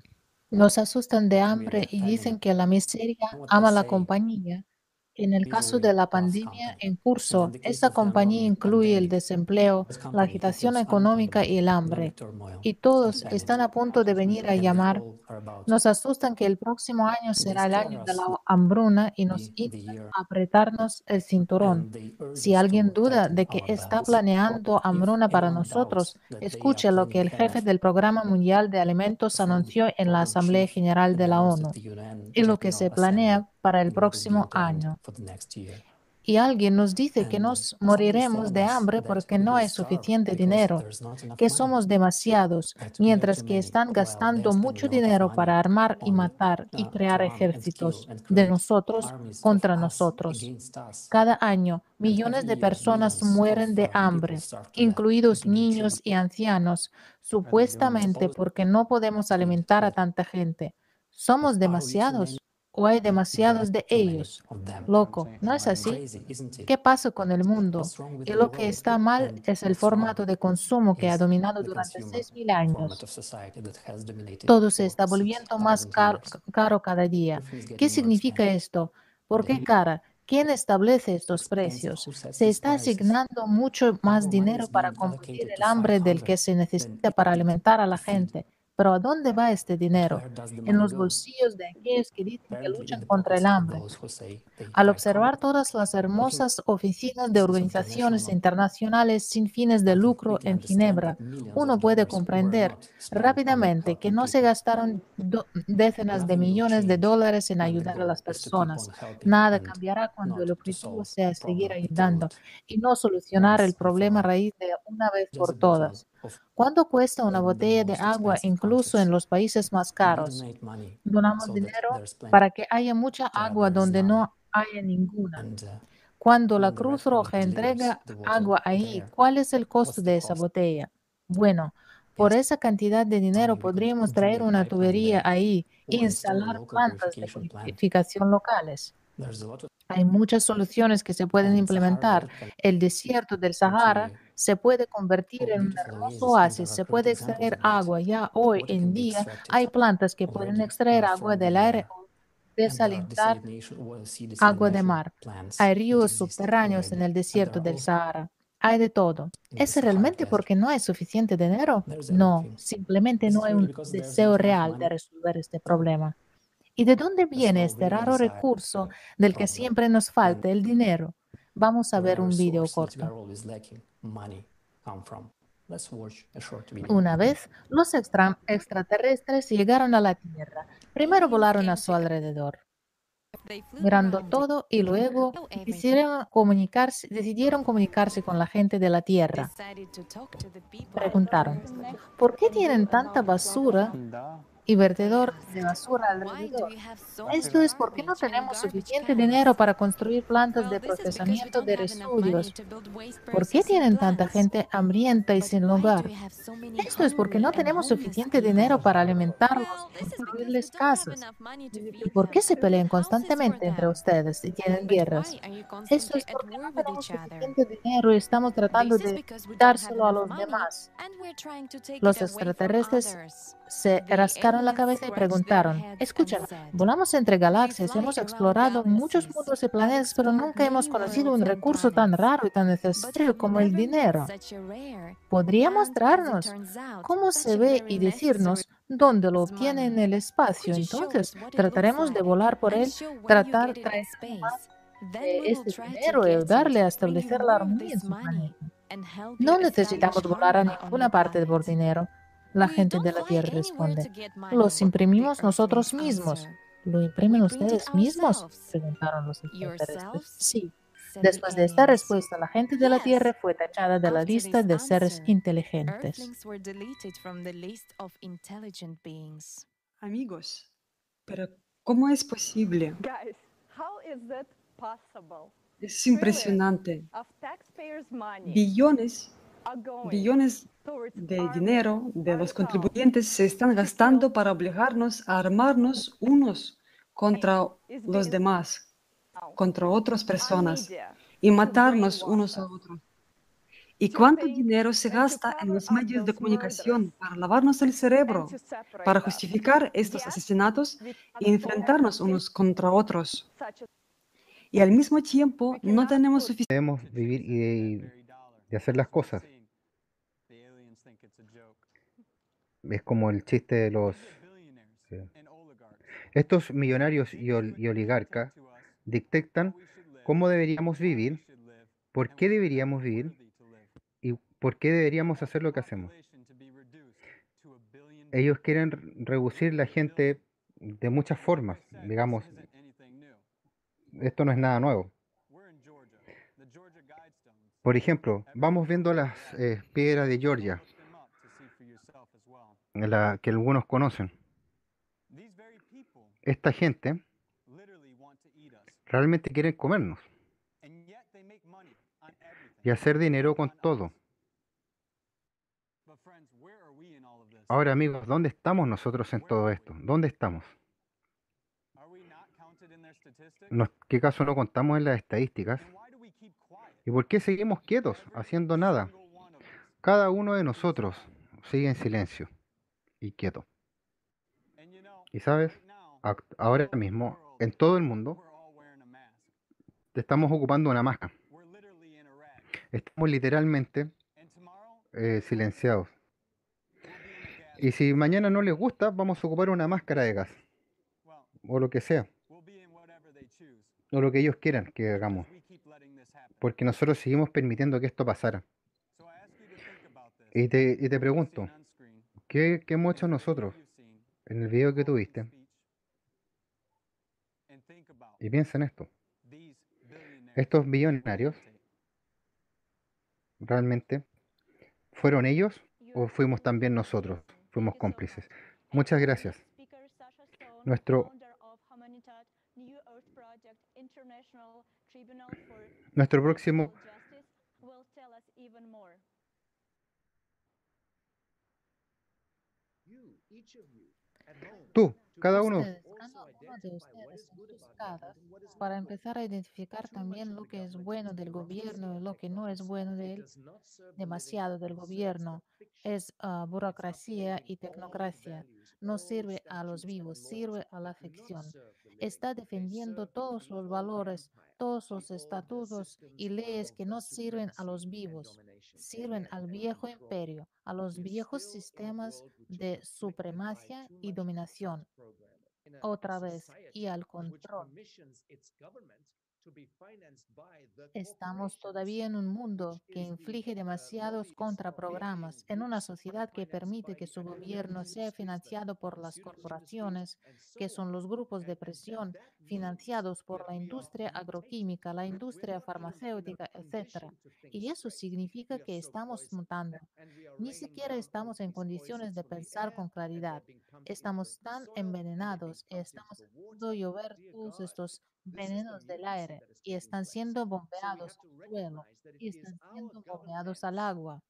Nos asustan de we are hambre y living dicen in que la miseria what they ama la say compañía. En el caso de misery la loves pandemia company. en And in curso, the case esta of the compañía ongoing incluye el pandemic, desempleo, this la company agitación includes económica unemployment, y el hambre, economic turmoil, y and todos panic. están a punto de venir a And they llamar. all are about. Nos asustan que el próximo año They será el scare año de us la hambruna y the nos the instan year, a apretarnos el cinturón. and they urge Si us alguien to duda tighten de que our está belts. planeando If hambruna para anyone nosotros, doubts that they are escuche lo que planning el jefe ahead del Programa Mundial de Alimentos from anunció en la program Asamblea chief General that de la announced at ONU the U N y lo que General se Assembly planea para el what is being próximo planned año. for the next year. Y alguien nos dice que And uh, nos someone is moriremos telling de us hambre that porque we no will hay starve suficiente because dinero, there's not enough que money, somos demasiados, that we are mientras too que many, están while they are gastando spending mucho a lot of dinero para money armar y on matar y uh, to crear arm and kill ejércitos and de create nosotros armies of contra us nosotros. against us. Cada año, And every millones de year, personas millions of mueren de uh, people hambre, starve to death, incluidos including children. niños y ancianos, supuestamente porque no podemos alimentar a tanta gente. ¿Somos Are we too many? demasiados o hay demasiados de Too many ellos? of them. Loco, ¿no es así? Crazy, isn't it? ¿Qué pasa con el mundo? What's wrong with Y the lo que world? está mal And es el what's wrong formato de consumo que ha is dominado the durante consumer seis mil format años. of society that has dominated Todo se for está six volviendo más thousand caro, years. caro cada día. Everything is ¿Qué getting more significa expensive. esto? ¿Por qué Daily. cara? ¿Quién establece estos Expensive. precios? Who sets Se these está prices? asignando mucho más Our money dinero is para being combatir allocated el to fight hambre del hunger que se than necesita para eat it alimentar a to la feed. gente. Pero ¿a dónde va este But dinero? where does the En money los go? bolsillos de aquellos que dicen que Apparently in luchan the contra el pockets of hambre. those who say they Al fight hunger. observar todas las Looking hermosas oficinas at de the organizaciones subnational, internacionales sin fines de one can lucro quickly en understand Ginebra, that millions of uno puede dollars were comprender not spent on rápidamente que helping no se people. gastaron do- decenas de Nothing will millones de change dólares en when the ayudar a goal las is to keep on personas. helping Nada and cambiará cuando not el to objetivo solve sea the seguir problem at the ayudando root y no solucionar el once and for problema all. raíz de una vez Just por a bottle todas. of ¿Cuánto cuesta una even the botella de most agua expensive incluso en countries. los países más We caros? donate money Donamos so that dinero there's plenty para que haya mucha to where agua there is donde none. no haya ninguna. And uh, Cuando la when the Red Cruz Cross Roja delivers entrega the water agua ahí, there, ¿cuál es el costo what's the de esa cost? botella? Bueno, por Yes, esa cantidad de dinero money. We could podríamos drill traer a una pipeline tubería there ahí e or install a instalar local plantas de purification plant. purificación locales. There's a lot of Hay muchas soluciones que se pueden and Sahara implementar. Desert can El desierto del Sahara guarantee se puede convertir of en un beautiful hermoso oases, and oasis, there are se great puede examples extraer of that. agua. Ya hoy Water en can be día extracted hay plantas que pueden already extraer uh, agua from the del aire air, o and there are desalintar desalination or C agua de desalination mar. plants Hay that ríos exist subterráneos en already, el and there desierto are del also Sahara. Hay de todo. in the ¿Es Sahara realmente Desert. porque no hay suficiente dinero? There's No, everything. simplemente Is no it hay really un because there's deseo not enough real de money? resolver este No, problema. ¿Y de dónde there's viene no este real raro desire recurso del que problem, siempre nos and falta, el dinero? Vamos a the ver rare un video source that we corto. are always lacking, money, come from. Let's watch a short video. Una vez, los extra- extraterrestres llegaron a la Tierra. Primero volaron a su alrededor, mirando todo y luego decidieron comunicarse, decidieron comunicarse con la gente de la Tierra. Preguntaron, ¿por qué tienen tanta basura y vertedor de basura alrededor? Esto es porque no tenemos suficiente dinero para construir plantas de procesamiento de residuos. ¿Por qué tienen tanta gente hambrienta y sin hogar? Esto es porque no tenemos suficiente dinero para alimentarlos y construirles casas. ¿Y por qué se pelean constantemente entre ustedes y tienen guerras? Esto es porque no tenemos suficiente dinero y estamos tratando de dárselo a los demás. Los extraterrestres se rascaron la cabeza y preguntaron, escuchen, volamos entre galaxias, hemos explorado muchos mundos y planetas, pero nunca hemos conocido un recurso tan raro y tan necesario como el dinero. ¿Podría mostrarnos cómo se ve y decirnos dónde lo obtiene en el espacio? Entonces, trataremos de volar por él, tratar de traer más de este dinero y ayudarle a establecer la armonía en su planeta. No necesitamos volar a ninguna parte por dinero. La gente de la Tierra responde, los imprimimos nosotros mismos. ¿Lo imprimen ustedes mismos? Preguntaron los extraterrestres. Sí. Después de esta respuesta, la gente de la Tierra fue tachada de la lista de seres inteligentes. Amigos, pero ¿cómo es posible? Guys, how is that possible? Es impresionante. Of taxpayers' money Billones, are going billones towards de arming dinero de los ourselves contribuyentes se están gastando para obligarnos a armarnos unos contra is los being demás, now contra otras on personas. media, y matarnos unos a otros. ¿Y cuánto dinero se gasta en los medios de comunicación para lavarnos el cerebro, para justificar estos asesinatos y enfrentarnos unos contra otros? Y al mismo tiempo no tenemos suficiente. Debemos vivir y, y hacer las cosas. Es como el chiste de los... eh, estos millonarios y, ol- y oligarcas dictan cómo deberíamos vivir, por qué deberíamos vivir y por qué deberíamos hacer lo que hacemos. Ellos quieren re- reducir la gente de muchas formas. Digamos, esto no es nada nuevo. Por ejemplo, vamos viendo las eh, piedras de Georgia, la que algunos conocen. Esta gente realmente quiere comernos y hacer dinero con todo. Ahora, amigos, ¿dónde estamos nosotros en todo esto? ¿Dónde estamos? ¿Nos- ¿Qué caso no contamos en las estadísticas? ¿Y por qué seguimos quietos, haciendo nada? Cada uno de nosotros sigue en silencio y quieto. Y sabes, Ac- ahora mismo, en todo el mundo, estamos ocupando una máscara. Estamos literalmente eh, silenciados. Y si mañana no les gusta, vamos a ocupar una máscara de gas, o lo que sea, o lo que ellos quieran que hagamos, porque nosotros seguimos permitiendo que esto pasara. Y te, y te pregunto, ¿qué, qué hemos hecho nosotros en el video que tuviste? Y piensa en esto, estos billonarios, ¿realmente fueron ellos o fuimos también nosotros? Fuimos cómplices. Muchas gracias. Nuestro, nuestro próximo, tú, cada uno, Ustedes, cada uno de ustedes en sus casas, para empezar a identificar también lo que es bueno del gobierno y lo que no es bueno de él. Demasiado del gobierno es ah, burocracia y tecnocracia. No sirve a los vivos, sirve a la ficción. Está defendiendo todos los valores, todos los estatutos y leyes que no sirven a los vivos, sirven al viejo imperio, a los viejos sistemas de supremacia y dominación, otra vez, y al control. Estamos todavía en un mundo que inflige demasiados contraprogramas, en una sociedad que permite que su gobierno sea financiado por las corporaciones, que son los grupos de presión financiados por la industria agroquímica, la industria farmacéutica, etcétera. Y eso significa que estamos mutando. Ni siquiera estamos en condiciones de pensar con claridad. Estamos tan envenenados y estamos haciendo llover todos estos venenos del aire y están siendo bombeados al suelo y están siendo bombeados al agua.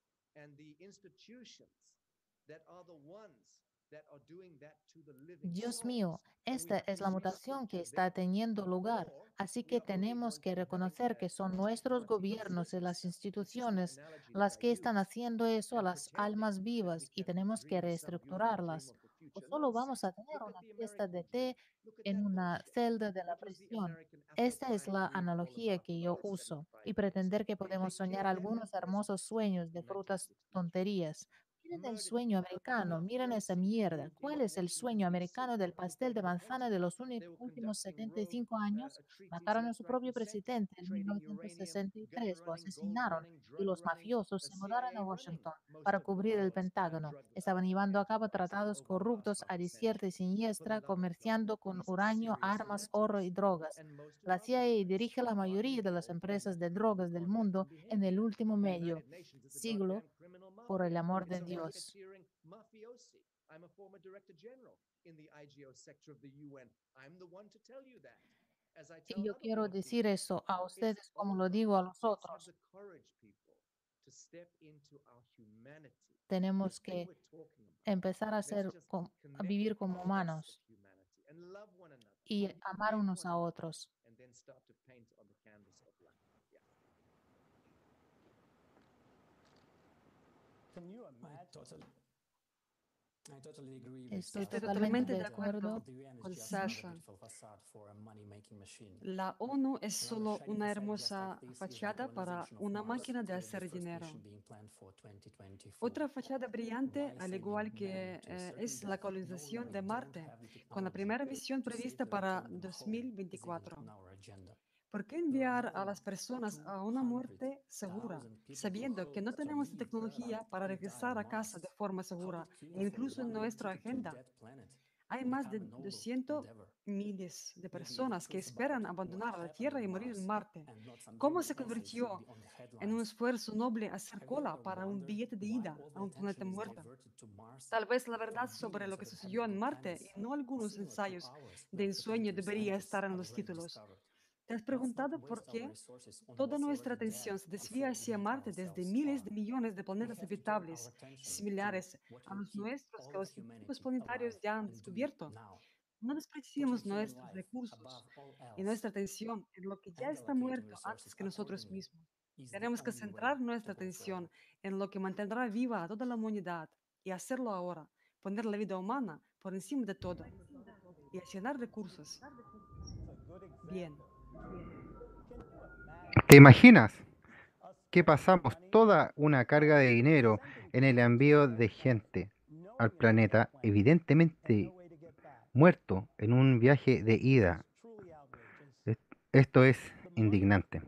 Dios mío, esta es la mutación que está teniendo lugar, así que tenemos que reconocer que son nuestros gobiernos y las instituciones las que están haciendo eso a las almas vivas y tenemos que reestructurarlas. O solo vamos a tener una fiesta de té en una celda de la prisión. Esta es la analogía que yo uso y pretender que podemos soñar algunos hermosos sueños de frutas tonterías. Miren el sueño americano, miren esa mierda. ¿Cuál es el sueño americano del pastel de manzana de los uni- últimos setenta y cinco años? Mataron a su propio presidente en mil novecientos sesenta y tres, lo asesinaron y los mafiosos se mudaron a Washington para cubrir el Pentágono. Estaban llevando a cabo tratados corruptos a diestra y siniestra, comerciando con uranio, armas, oro y drogas. La C I A dirige la mayoría de las empresas de drogas del mundo en el último medio siglo, por el amor de Dios. Y yo quiero decir eso a ustedes como lo digo a los otros. Tenemos que empezar a, ser, com- a vivir como humanos y amar unos a otros. Estoy Estoy totalmente totalmente de de acuerdo acuerdo con con Sasha. Sasha. La ONU es solo una hermosa fachada para una máquina de hacer dinero. Otra fachada brillante, al igual que eh, es la colonización de Marte, con la primera misión prevista para dos mil veinticuatro. ¿Por qué enviar a las personas a una muerte segura, sabiendo que no tenemos la tecnología para regresar a casa de forma segura e incluso en nuestra agenda? Hay más de doscientos miles de personas que esperan abandonar la Tierra y morir en Marte. ¿Cómo se convirtió en un esfuerzo noble hacer cola para un billete de ida a un planeta muerto? Tal vez la verdad sobre lo que sucedió en Marte y no algunos ensayos de ensueño debería estar en los títulos. ¿Te has preguntado por qué toda nuestra atención se desvía hacia Marte desde miles de millones de planetas habitables similares a los nuestros que los científicos planetarios ya han descubierto? No desperdiciemos nuestros recursos y nuestra atención en lo que ya está muerto antes que nosotros mismos. Tenemos que centrar nuestra atención en lo que mantendrá viva a toda la humanidad y hacerlo ahora, poner la vida humana por encima de todo y accionar recursos. Bien. ¿Te imaginas que pasamos toda una carga de dinero en el envío de gente al planeta, evidentemente muerto en un viaje de ida? Es- Esto es indignante.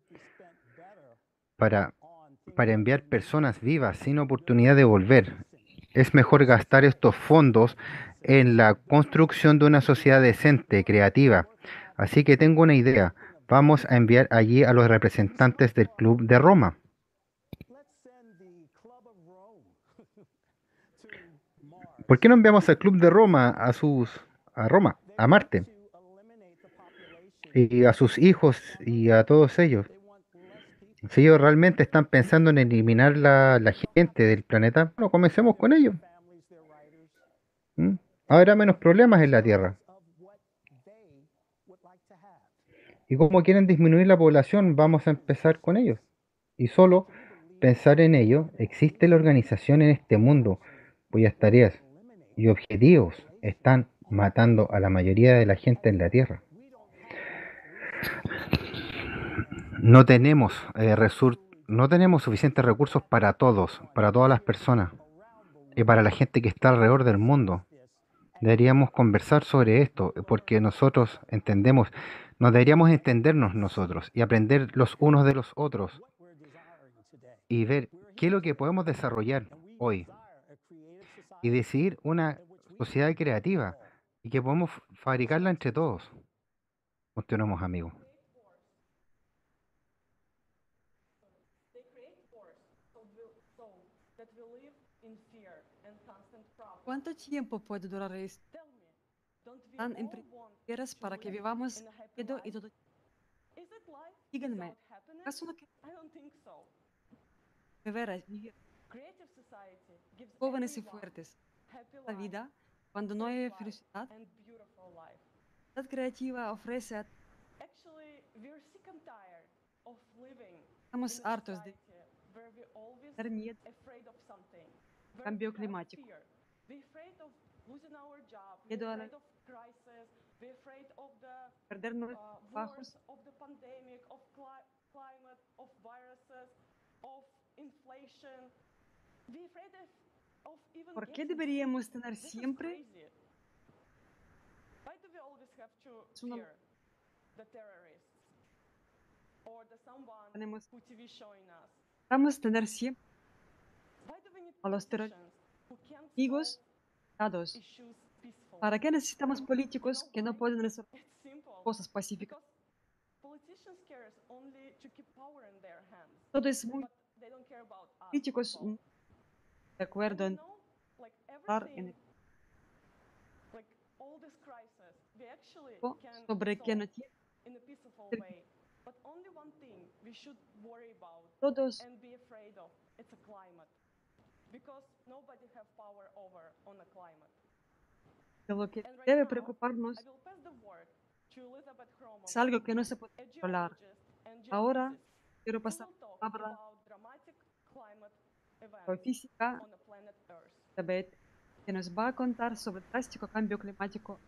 Para, para enviar personas vivas sin oportunidad de volver, es mejor gastar estos fondos en la construcción de una sociedad decente, creativa. Así que tengo una idea. Vamos a enviar allí a los representantes del Club de Roma. ¿Por qué no enviamos al Club de Roma a sus a Roma, a Marte, y a sus hijos y a todos ellos? Si ellos realmente están pensando en eliminar la, la gente del planeta, bueno, comencemos con ellos. ¿Mm? Habrá menos problemas en la Tierra. Y como quieren disminuir la población, vamos a empezar con ellos. Y solo pensar en ello, existe la organización en este mundo cuyas tareas y objetivos están matando a la mayoría de la gente en la Tierra. No tenemos, eh, resur- no tenemos suficientes recursos para todos, para todas las personas y para la gente que está alrededor del mundo. Deberíamos conversar sobre esto porque nosotros entendemos, nos deberíamos entendernos nosotros y aprender los unos de los otros y ver qué es lo que podemos desarrollar hoy y decidir una sociedad creativa y que podemos f- fabricarla entre todos. Continuamos, amigos. ¿Cuánto tiempo puede durar esto? ¿Tan empresas para que vivamos miedo y todo? Díganme, ¿acaso no que veras vivir jóvenes y fuertes la vida cuando no hay felicidad? La creativa ofrece a estamos hartos de tener miedo al cambio climático, miedo a la- perder nuestros trabajos. ¿Por qué deberíamos tener siempre una tenemos vamos a tener siempre a los terroristas dados? ¿Para qué necesitamos políticos que no pueden resolver cosas pacíficas? Todo es muy políticos mm, de acuerdo en hablar en equipo sobre que no tiene todos de lo que debe preocuparnos es algo que no se puede controlar. Ahora quiero pasar la palabra física Tabet, que nos va a contar sobre el drástico cambio climático.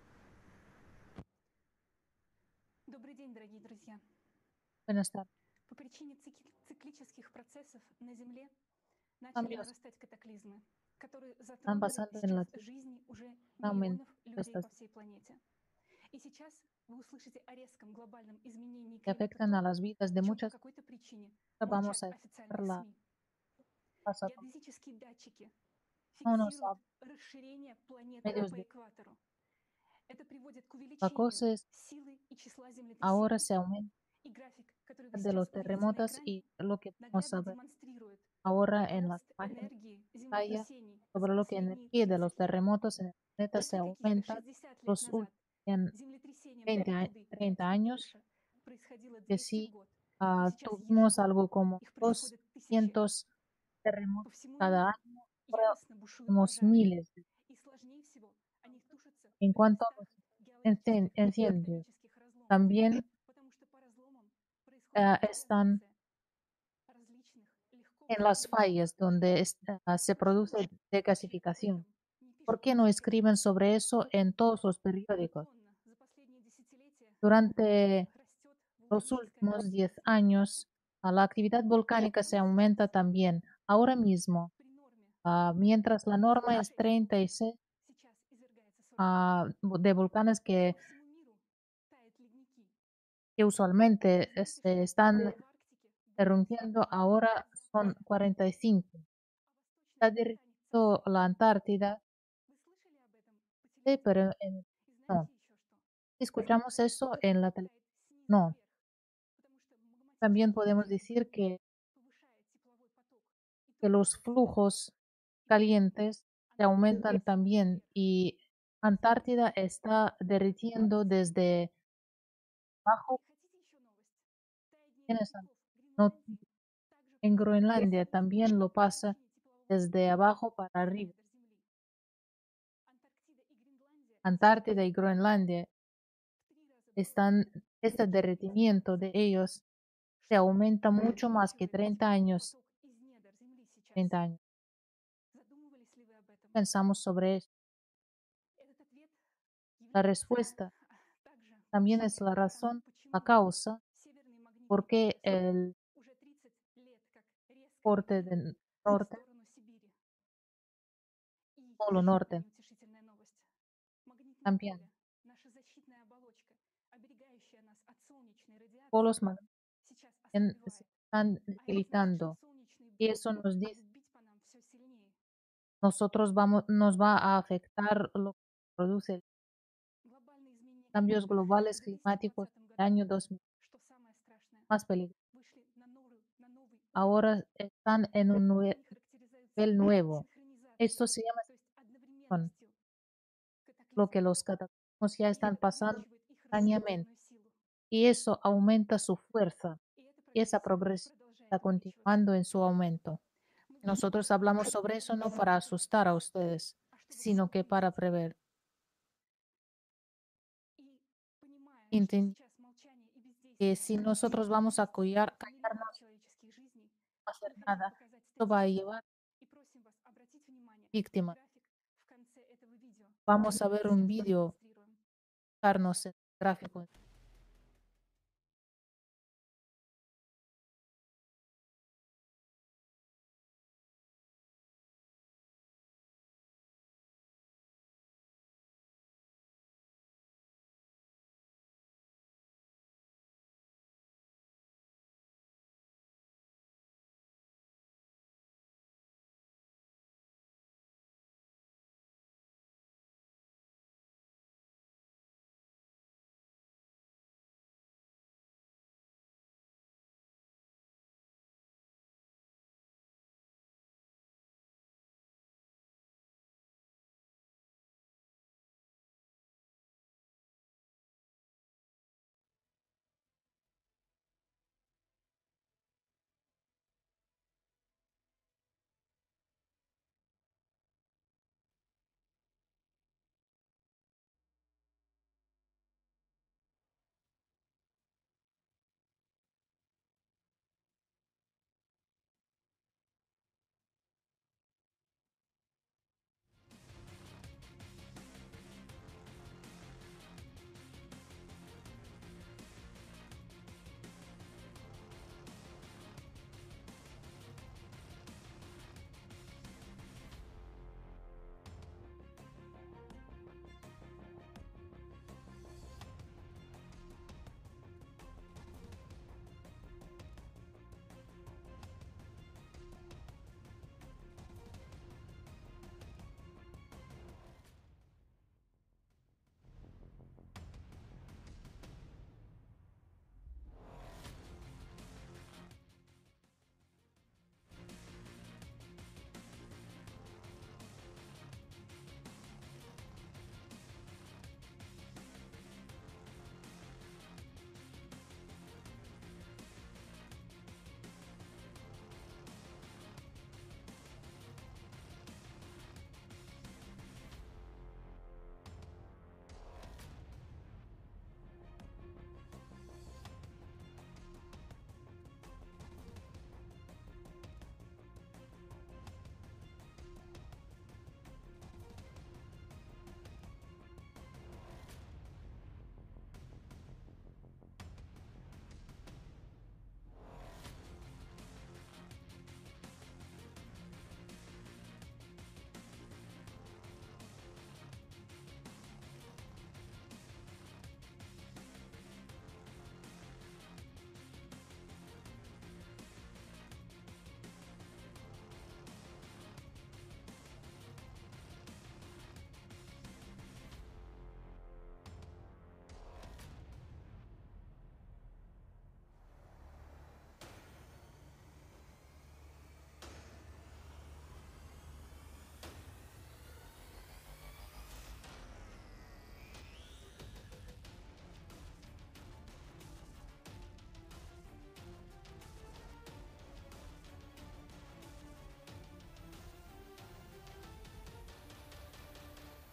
Добрый день, дорогие друзья. Buenas tardes. По причине цикли- циклических процессов на Земле начали Cambios нарастать катаклизмы, которые están затронули pasando en la сейчас жизни уже Tierra, миллионов людей estas по всей планете. И сейчас вы услышите о резком глобальном изменении que климата, afectan a то, las vidas о de чем по muchas. какой-то причине Vamos молчат a официальные la СМИ. pasado Геодезические датчики no nos фиксируют расширение планеты medios по de экватору. Это приводит к увеличению vacoces силы и числа ahora землетрясений. se aumentan И график, который вы de сейчас los увидите на terremotos экране, y lo que vamos a наглядно ver демонстрирует ahora en las рост páginas энергии pantalla землетрясений sobre за lo que последние energía de los тридцать лет. terremotos en el planeta se Если каких-то aumenta шестьдесят лет los назад últimos землетрясение veinte, a- магнитуды treinta пять и años больше происходило que двести в sí год, то ah, сейчас tuvimos ежегодно algo como их происходит тысячи. doscientos По terremotos всему cada миру año, ahora яростно бушуют tenemos пожары. miles. И сложнее всего они тушатся En в cuanto a местах los геологических incen- и incendios, тектонических разломов, también потому что по разломам ah, происходит están дегазация различных легко en las восстановляемых fallas donde es- ah, se produce Почему пишут об desgasificación. этом, не ¿Por пишут qué no эксперты? escriben sobre eso en todos los periódicos? Традиционно за последние десятилетия Durante растет los вулканическая últimos активность. diez años, ah, la actividad volcánica se aumenta también. Ahora mismo, При норме ah, mientras la norma es тридцать шесть treinta y seis сейчас извергается сорок два. ah, de volcanes que, По всему миру тают ледники. que usualmente eh, Знаете, se что están в Арктике больше derrumbiendo, всего ahora son заморозков, cuarenta y cinco. а Está в Восточной Антарктиде derritiendo la Antártida, вы слышали об этом по sí, телевизору? pero en- И no. знаете еще что? Escuchamos eso en la televisión. Тает снизу No. вверх, потому что También магматический podemos поток decir que, повышает тепловой поток. И que только los после этого flujos и calientes se Антарктида aumentan тянется también вверх. y Antártida está derritiendo desde abajo. И хотите еще новость? Таяние Tienes ледников в no- Гренландии также En происходит Groenlandia снизу también lo вверх по pasa причине теплового desde потока abajo para за arriba. недр Земли. Антарктида и Гренландия Antártida сейчас y Groenlandia в три раза están, дольше este derretimiento de ellos se что aumenta mucho más que увеличивает treinta тепловой años. поток из недр Земли сейчас. treinta años. Задумывались ли вы об этом? Pensamos sobre eso. Этот ответ La является respuesta также también es причиной la тому, razón, la почему causa, северный магнитный por qué пояс el уже тридцать лет как резко corte мигрирует del в norte, сторону Сибири. И polo еще одна norte, неутешительная новость. Магнитное también поле, наша защитная оболочка, оберегающая нас от солнечной радиации, polos magnéticos сейчас se ослабевает. están А это значит, что debilitando. солнечные Y блики eso nos будут dice, бить по нам все сильнее. nosotros vamos, nos va a afectar lo que produce Глобальные изменения cambios климата globales за двести двадцатом climáticos году, del año dos mil, что самое страшное, más peligrosos. вышли на новый, на новый уровень. Ahora están en un nue- Они характеризуются nivel nuevo. Esto синхронизацией, se llama то есть con одновременностью lo que катаклизмов. los cataclismos ya И están это pasando увеличивает их simultáneamente. разрушительную силу. Y eso aumenta su fuerza. И эта Y esa прогрессия progresión продолжает está увеличиваться. continuando en su aumento. Мы говорим об Nosotros этом, hablamos sobre eso no para asustar a ustedes, а чтобы sino que para предупредить. prever. И понимая, что Enten- сейчас молчание и que бездействие si nosotros vamos a cuidar, миллионов callarnos, человеческих жизней, no hacer мы хотим nada, показать esto va a статистику llevar и просим вас обратить внимание на víctimas. график в конце этого видео, Vamos a которое ver мы un сейчас vídeo, продемонстрируем. darnos el gráfico.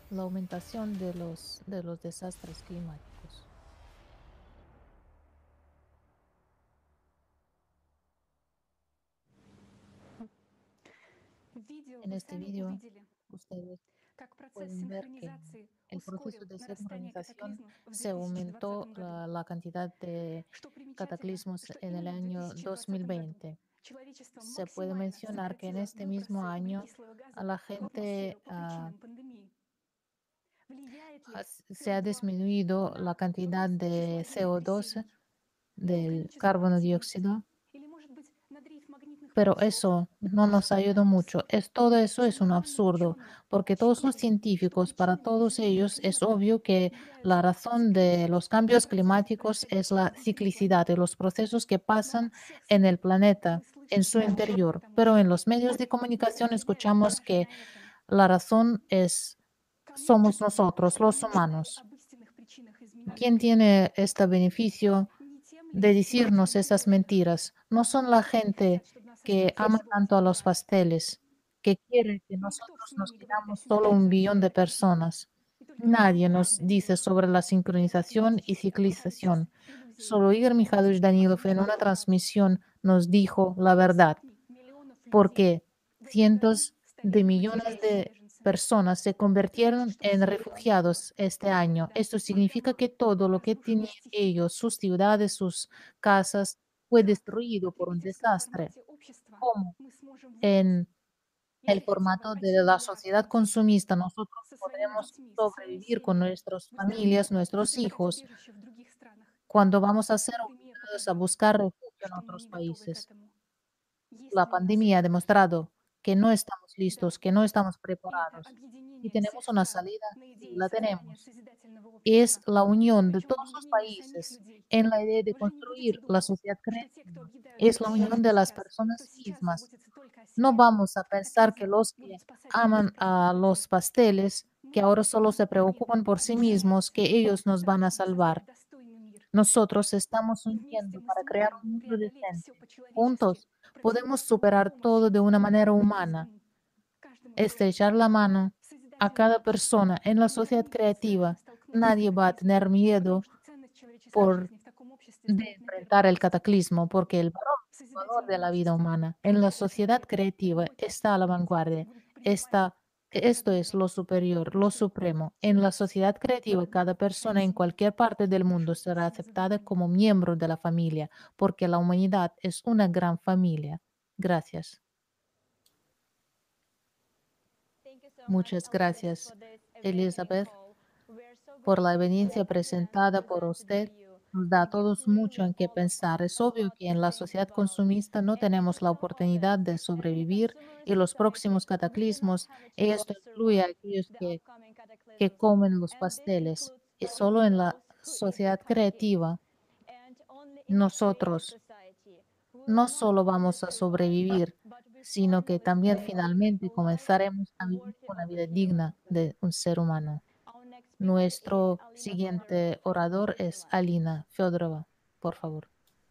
la aumentación de los, de los desastres climáticos. En este video, ustedes pueden ver que el proceso de sincronización se aumentó la, la cantidad de cataclismos en el año dos mil veinte. Se puede mencionar que en este mismo año a la gente ah, has- se ha disminuido la cantidad de C O dos, del carbono dióxido, pero eso no nos ayudó mucho. Es, todo eso es un absurdo, porque todos los científicos, para todos ellos, es obvio que la razón de los cambios climáticos es la ciclicidad de los procesos que pasan en el planeta, en su interior. Pero en los medios de comunicación escuchamos que la razón es somos nosotros, los humanos. ¿Quién tiene este beneficio de decirnos esas mentiras? No son la gente que ama tanto a los pasteles, que quiere que nosotros nos quedamos solo un billón de personas. Nadie nos dice sobre la sincronización y ciclización. Solo Igor Mikhailovich Danilov en una transmisión nos dijo la verdad, porque cientos de millones de personas se convirtieron en refugiados este año. Esto significa que todo lo que tenían ellos, sus ciudades, sus casas, fue destruido por un desastre. ¿Cómo? En el formato de la sociedad consumista, nosotros podremos sobrevivir con nuestras familias, nuestros hijos, cuando vamos a ser obligados a buscar refugio en otros países. La pandemia ha demostrado que no estamos listos, que no estamos preparados. Y tenemos una salida, sí, la tenemos. Es la unión de todos los países en la idea de construir la sociedad creativa. Es la unión de las personas mismas. No vamos a pensar que los que aman a los pasteles, que ahora solo se preocupan por sí mismos, que ellos nos van a salvar. Nosotros estamos uniendo para crear un mundo decente. Juntos podemos superar todo de una manera humana, estrechar la mano a cada persona en la sociedad creativa. Nadie va a tener miedo por de enfrentar el cataclismo, porque el valor, valor de la vida humana en la sociedad creativa está a la vanguardia. Está, esto es lo superior, lo supremo. En la sociedad creativa, cada persona en cualquier parte del mundo será aceptada como miembro de la familia, porque la humanidad es una gran familia. Gracias. Thank you so much, Muchas Elizabeth, gracias, for this amazing Elizabeth, call. We're so por la grateful evidencia for the time presentada por presented by usted. you. Nos da a It gives todos mucho really en qué all of pensar. us Es a obvio lot que to en la think sociedad about. consumista no And for tenemos la some of us, oportunidad de and in a sobrevivir consumerist y los society, próximos we do not cataclismos, have a y chance esto to incluye a survive aquellos the que, upcoming que cataclysms. comen los And this pasteles. includes Y even solo en la those who eat the sociedad cupcakes. creativa, And only in a creative nosotros society, we will no not solo only vamos a survive, sobrevivir, but we sino que finally también start living a finalmente life comenzaremos a vivir worthy una of a vida hero. digna de un ser humano. Our next speaker is Nuestro Alina Fedorova siguiente from orador es Switzerland. Alina Fedorova. Por favor.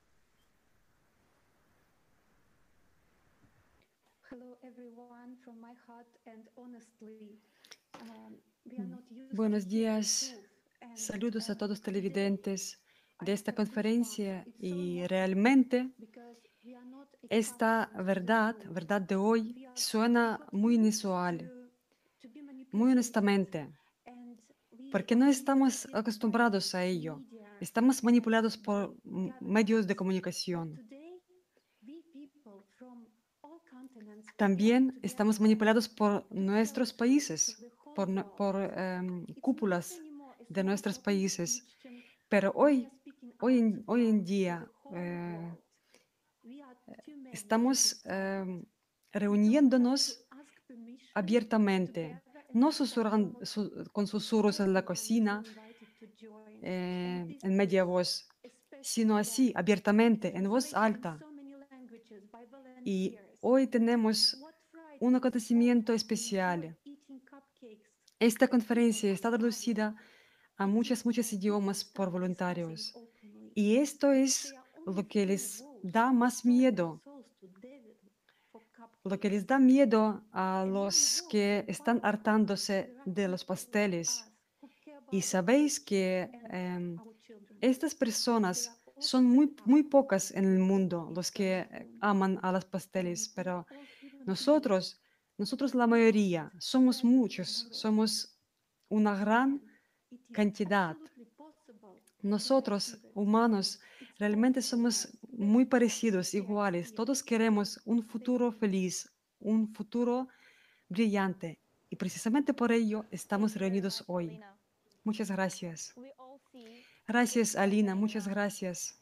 Hello, everyone, from my heart and honestly, um, we are not used to Buenos hear the días, truth. And saludos a uh, todos today televidentes I de esta have goosebumps. conferencia It's so y emotional realmente because we are not esta exposed to the verdad, truth. verdad de hoy, We are we suena got muy used inusual, to to be muy manipulated, honestamente, and we porque are no estamos manipulated by acostumbrados a ello. media Estamos and manipulados by por m- medios de governments. But comunicación. today, we people from all continents got También estamos together manipulados por to tell nuestros truth to países, the whole por, nue- world. por em, It's not cúpulas anymore a de small nuestros países. competition. Pero We are hoy, speaking hoy out en, hoy en loud to día, the whole eh, world. We are too many to be estamos silent. em, We don't have to reuniéndonos ask permission to abiertamente, gather and no to susurran- talk. su- con susurros en la Everyone is cocina, invited to join. And eh, this en is media voz, a special sino así, event. abiertamente, en voz Translated in alta. so many languages by Y volunteers. hoy tenemos What un Fridays all acontecimiento enjoy especial. eating cupcakes Esta with people conferencia from está abroad. traducida a It's muchas, not muchos idiomas por innocent discussing voluntarios. openly. Y esto They es are only lo que four les wolves da who más sold their miedo. souls to David for cupcakes. lo que les da miedo a los que están hartándose de los pasteles. Y sabéis que em, estas personas son muy, muy pocas en el mundo los que eh, aman a los pasteles, pero nosotros, nosotros la mayoría, somos muchos, somos una gran cantidad. Nosotros, humanos, realmente somos muy parecidos, iguales. Todos queremos un futuro feliz, un futuro brillante. Y precisamente por ello estamos reunidos hoy. Muchas gracias. Gracias, Alina, muchas gracias.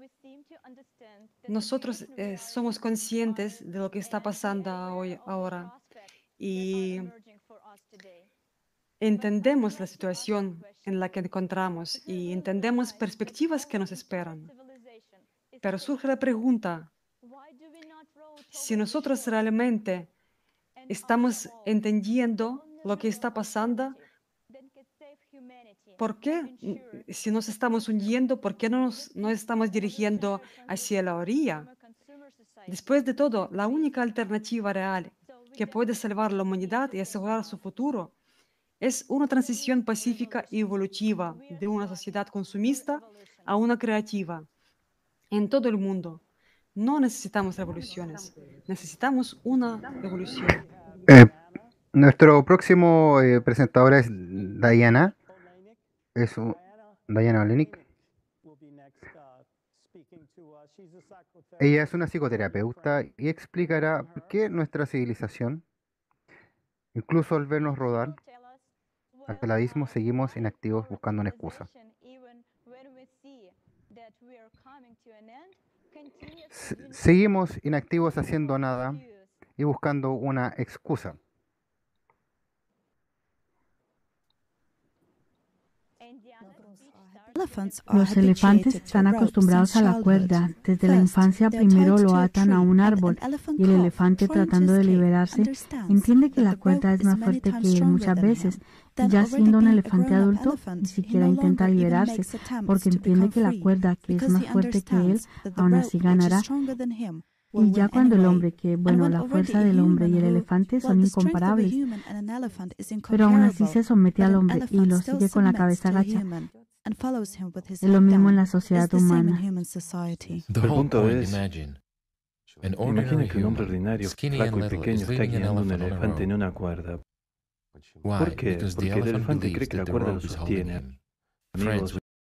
Nosotros eh, somos conscientes de lo que está pasando hoy, ahora y entendemos la situación en la que encontramos y entendemos perspectivas que nos esperan. Pero surge la pregunta, si nosotros realmente estamos entendiendo lo que está pasando, ¿por qué, mm, si nos estamos hundiendo, por qué no nos no estamos dirigiendo hacia la orilla? Después de todo, la única alternativa real que puede salvar la humanidad y asegurar su futuro es una transición pacífica y evolutiva de una sociedad consumista a una creativa en todo el mundo. No necesitamos revoluciones, necesitamos una evolución. Eh, Nuestro próximo eh, presentador es Diana, es un- Diana Olenik. Ella es una psicoterapeuta y explicará por qué nuestra civilización, incluso al vernos rodar hacia el abismo, seguimos inactivos buscando una excusa. Se- Seguimos inactivos haciendo nada y buscando una excusa. Los elefantes están acostumbrados a la cuerda. Desde la infancia primero lo atan a un árbol y el elefante tratando de liberarse entiende que la cuerda es más fuerte que él muchas veces. Y ya siendo un elefante adulto, ni siquiera intenta liberarse porque entiende que la cuerda, que es más fuerte que él, aún así ganará. Y ya cuando el hombre, que bueno, la fuerza del hombre y el elefante son incomparables, pero aún así se somete al hombre y lo sigue con la cabeza agacha. Es lo mismo en la sociedad humana. El punto es, imagina que un hombre ordinario, flaco y pequeño está guiando un elefante en una cuerda. ¿Por qué? Porque el elefante cree que la cuerda lo sostiene. Amigos,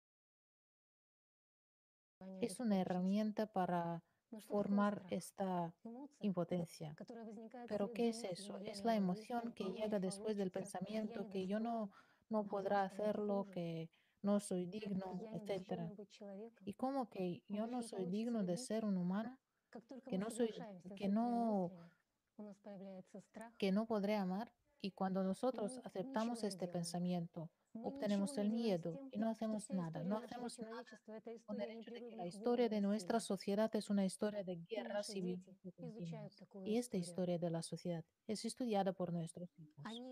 Es una herramienta para formar esta impotencia. Pero ¿qué es eso? Es la emoción que llega después del pensamiento que yo no, no podrá hacerlo, que no soy digno, etcétera. Y como que yo no soy digno de ser un humano, que no soy, que no, que no podré amar. Y cuando nosotros aceptamos este pensamiento, obtenemos el miedo y no hacemos nada, no hacemos nada con el hecho de que la historia de nuestra sociedad es una historia de guerras y violencia continuas. Y esta historia de la sociedad es estudiada por nuestros hijos.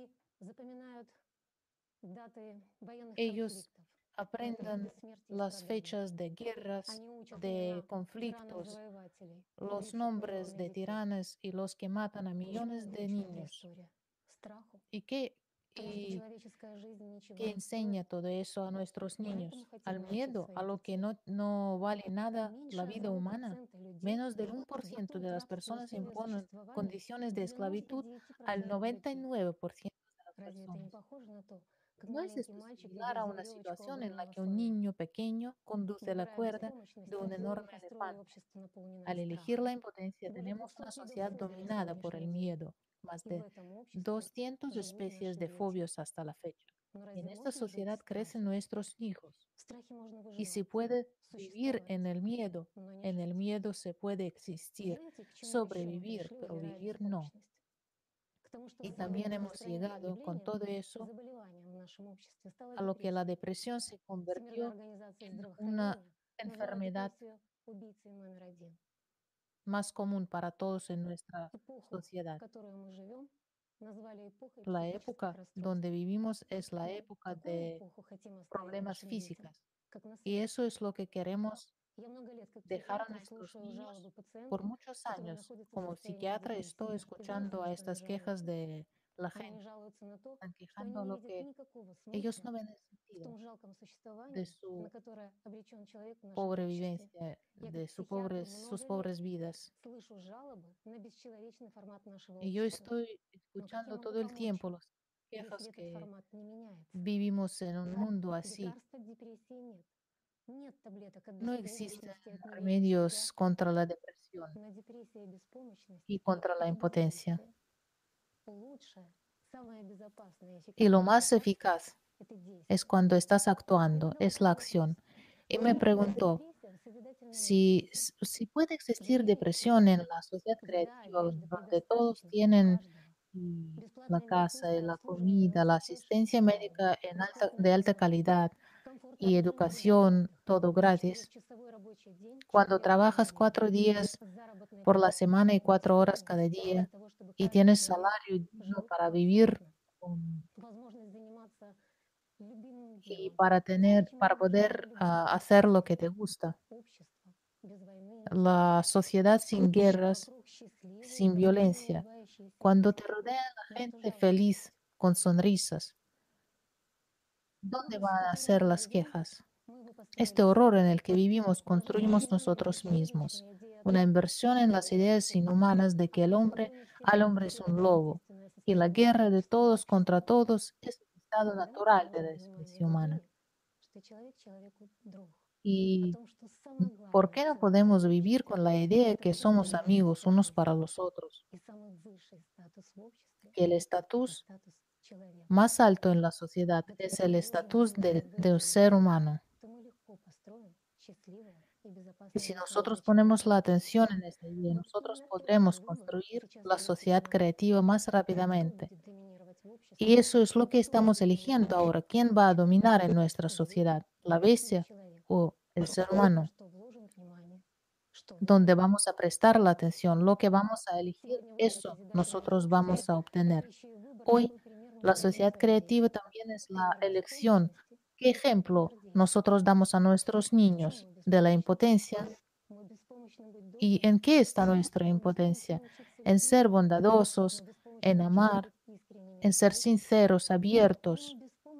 Ellos aprendan las fechas de guerras, de conflictos, los nombres de tiranos y los que matan a millones de niños. ¿Y qué, y qué enseña todo eso a nuestros niños? Al miedo, a lo que no, no vale nada la vida humana. Menos del uno por ciento de las personas imponen condiciones de esclavitud al noventa y nueve por ciento de las personas. ¿No es esto similar a una situación en la que un niño pequeño conduce la cuerda de un enorme elefante? Al elegir la impotencia, tenemos una sociedad dominada por el miedo, más de doscientas especies de fobios hasta la fecha. Y en esta sociedad crecen nuestros hijos. Y se puede vivir en el miedo. En el miedo se puede existir, sobrevivir, pero vivir no. Y también hemos llegado con todo eso a lo que la depresión se convirtió en una enfermedad más común para todos en nuestra sociedad. La época donde vivimos es la época de problemas físicos y eso es lo que queremos dejar a nuestros niños. Por muchos años, como psiquiatra, estoy escuchando a estas quejas de la gente. Están quejando lo que ellos no ven el sentido de su pobre vivencia, de su pobres, sus pobres vidas. Y yo estoy escuchando todo el tiempo las quejas que vivimos en un mundo así. No existen remedios contra la depresión y contra la impotencia. Y lo más eficaz es cuando estás actuando, es la acción. Y me preguntó si, s- si puede existir depresión en la sociedad creativa donde todos tienen mm, la casa, y la comida, la asistencia médica en alta, de alta calidad y educación, todo gratis. Cuando trabajas cuatro días por la semana y cuatro horas cada día y tienes salario digno para vivir um, y para tener, para poder ah, hacer lo que te gusta. La sociedad sin guerras, sin violencia, cuando te rodea la gente feliz con sonrisas, ¿dónde van a ser las quejas? Este horror en el que vivimos construimos nosotros mismos, una inversión en las ideas inhumanas de que el hombre al hombre es un lobo y la guerra de todos contra todos es el estado natural de la especie humana. ¿Y por qué no podemos vivir con la idea de que somos amigos unos para los otros? Que el estatus más alto en la sociedad es el estatus de, de un ser humano. Y si nosotros ponemos la atención en esta idea, nosotros podremos construir la sociedad creativa más rápidamente. Y eso es lo que estamos eligiendo ahora. ¿Quién va a dominar en nuestra sociedad? ¿La bestia o el ser humano? Donde vamos a prestar la atención, lo que vamos a elegir, eso nosotros vamos a obtener. Hoy, la sociedad creativa también es la elección. ¿Qué ejemplo nosotros damos a nuestros niños de la impotencia? ¿Y en qué está nuestra impotencia? En ser bondadosos, en amar, en ser sinceros, abiertos,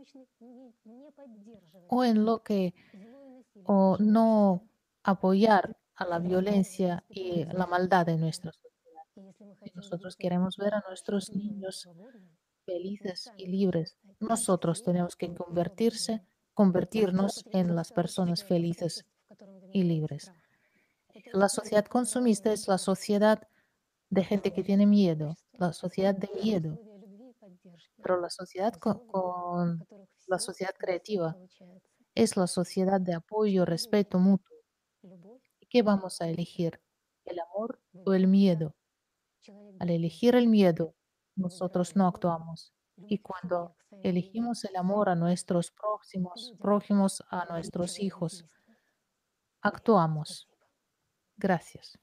o en lo que, o no apoyar a la violencia y la maldad en nuestra sociedad. Si nosotros queremos ver a nuestros niños felices y libres, nosotros tenemos que convertirse, convertirnos en las personas felices y libres. La sociedad consumista es la sociedad de gente que tiene miedo, la sociedad de miedo, pero la sociedad co- con, la sociedad creativa es la sociedad de apoyo, respeto mutuo. ¿Y qué vamos a elegir? ¿El amor o el miedo? Al elegir el miedo, nosotros no actuamos. Y cuando elegimos el amor a nuestros próximos, prójimos, a nuestros hijos, actuamos. Gracias.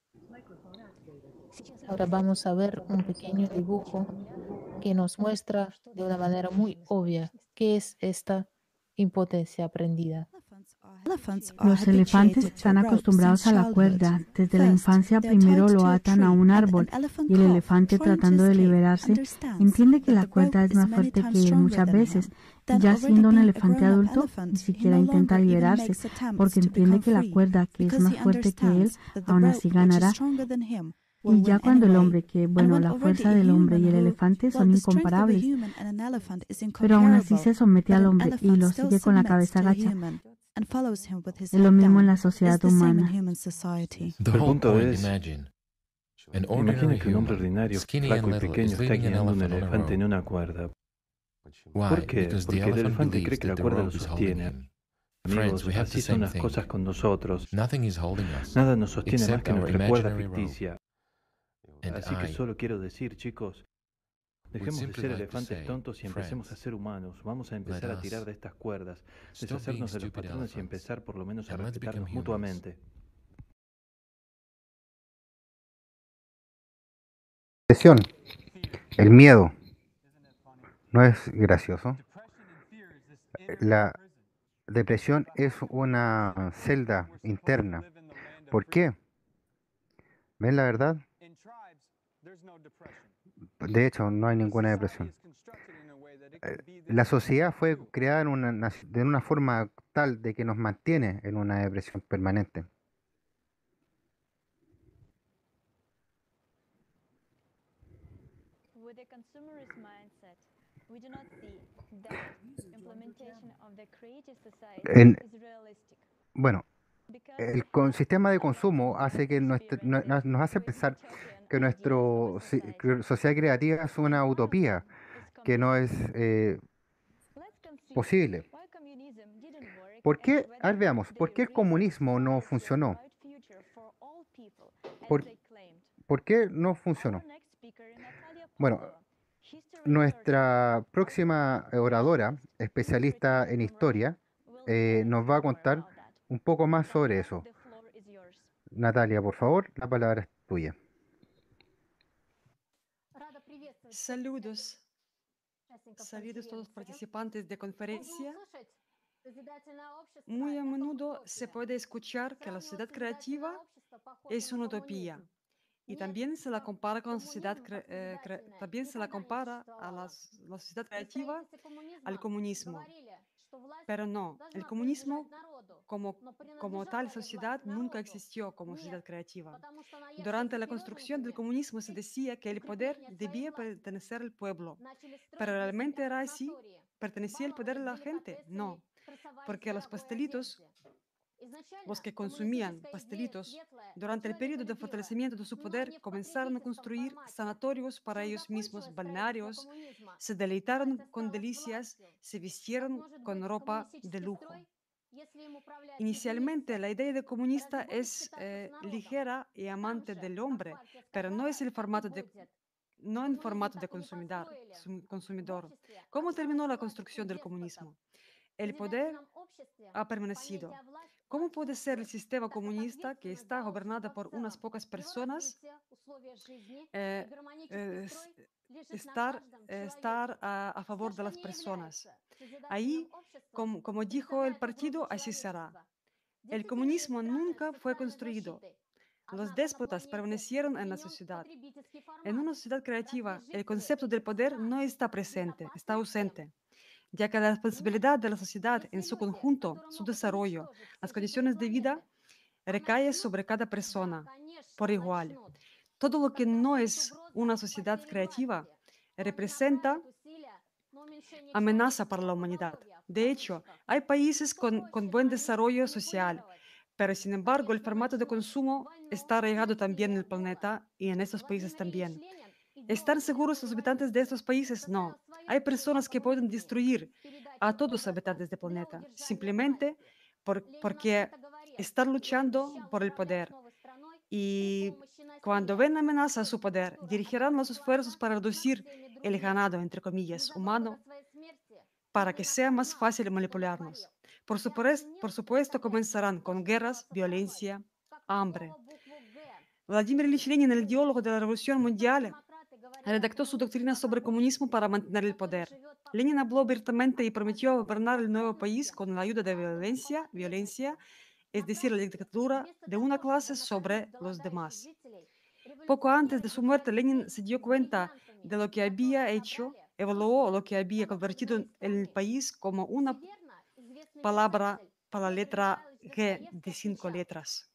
Ahora vamos a ver un pequeño dibujo que nos muestra de una manera muy obvia qué es esta impotencia aprendida. Los elefantes están acostumbrados a la cuerda. Desde la infancia primero lo atan a un árbol y el elefante tratando de liberarse entiende que la cuerda es más fuerte que él muchas veces. Ya siendo un elefante adulto, ni siquiera intenta liberarse porque entiende que la cuerda, que es más fuerte que él, aún así ganará. Y ya cuando el hombre, que bueno, la fuerza del hombre y el elefante son incomparables, pero aún así se somete al hombre y lo sigue con la cabeza agacha. Es lo mismo en la sociedad humana. El punto es, imagina que un hombre ordinario, flaco y pequeño está guiando un elefante en una cuerda. ¿Por qué? Porque el elefante cree que la cuerda lo sostiene. Amigos, así son las cosas con nosotros. Nada nos sostiene más que nuestra cuerda ficticia. Así que solo quiero decir, chicos, dejemos de ser elefantes tontos y empecemos a ser humanos. Vamos a empezar a tirar de estas cuerdas, deshacernos de los patrones y empezar por lo menos a respetarnos mutuamente. Depresión, el miedo, ¿no es gracioso? La, Depresión es una celda interna. ¿Por qué? ¿Ven la verdad? De hecho, no hay ninguna depresión. Eh, La sociedad fue creada en una, nac- de una forma tal de que nos mantiene en una depresión permanente. With a consumerist mindset, we do not see that implementation of the creative society En- is realistic bueno, because el we con- have sistema de never consumo hace que nuestra- no- no- experienced nos hace with pensar utopian que ideas of a nuestra society, sociedad creativa es and una one of utopía, them is que no es communism. eh, Let's consider posible. why communism didn't work ¿Por and qué? A whether ver, it veamos, ¿por really qué el realized comunismo no quality and funcionó? bright future for all people as ¿Por, they claimed. por qué no Our funcionó? next speaker, Natalia Bueno, Pavlova, history researcher nuestra of próxima eh, oradora, communists especialista infiltrated en from Russia, historia, will tell eh, us nos va a more contar about that. un poco más sobre Natalia, eso. the floor is yours. Natalia, por favor, la palabra es tuya. Saludos, saludos a todos los participantes de conferencia. Muy a menudo se puede escuchar que la sociedad creativa es una utopía y también se la compara con la sociedad, cre- eh, cre- también se la compara a la, s- la sociedad creativa al comunismo. Pero no, el comunismo como, como tal sociedad nunca existió como sociedad creativa. Durante la construcción del comunismo se decía que el poder debía pertenecer al pueblo, pero realmente era así. ¿Pertenecía el poder a la gente? No, porque los pastelitos, los que consumían pastelitos, durante el periodo de fortalecimiento de su poder, comenzaron a construir sanatorios para ellos mismos, balnearios, se deleitaron con delicias, se vistieron con ropa de lujo. Inicialmente, la idea de comunista es eh, ligera y amante del hombre, pero no es el formato de, no en formato de consumidor, sum- consumidor. ¿Cómo terminó la construcción del comunismo? El poder ha permanecido. ¿Cómo puede ser el sistema comunista que está gobernado por unas pocas personas eh, eh, s- estar, eh, estar a, a favor de las personas? Ahí, como, como dijo el partido, así será. El comunismo nunca fue construido. Los déspotas permanecieron en la sociedad. En una sociedad creativa, el concepto del poder no está presente, está ausente, ya que la responsabilidad de la sociedad en su conjunto, su desarrollo, las condiciones de vida, recae sobre cada persona por igual. Todo lo que no es una sociedad creativa representa amenaza para la humanidad. De hecho, hay países con, con buen desarrollo social, pero sin embargo el formato de consumo está arraigado también en el planeta y en estos países también. ¿Están seguros los habitantes de estos países? No. Hay personas que pueden destruir a todos los habitantes del planeta simplemente por- porque están luchando por el poder. Y cuando ven amenaza a su poder, dirigirán los esfuerzos para reducir el ganado, entre comillas, humano para que sea más fácil manipularnos. Por supuesto, por supuesto, comenzarán con guerras, violencia, hambre. Vladimir Ilich Lenin, el ideólogo de la Revolución Mundial, redactó su doctrina sobre comunismo para mantener el poder. Lenin habló abiertamente y prometió gobernar el nuevo país con la ayuda de violencia, violencia, es decir, la dictadura de una clase sobre los demás. Poco antes de su muerte, Lenin se dio cuenta de lo que había hecho, evaluó lo que había convertido el país como una palabra para la letra G de cinco letras.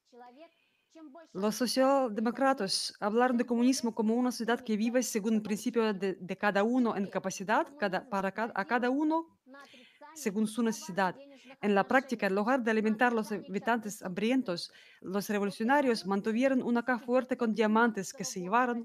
Los socialdemócratas hablaron de comunismo como una sociedad que vive según el principio de, de cada uno en capacidad, cada, para cada, a cada uno según su necesidad. En la práctica, en lugar de alimentar a los habitantes hambrientos, los revolucionarios mantuvieron una caja fuerte con diamantes que se llevaron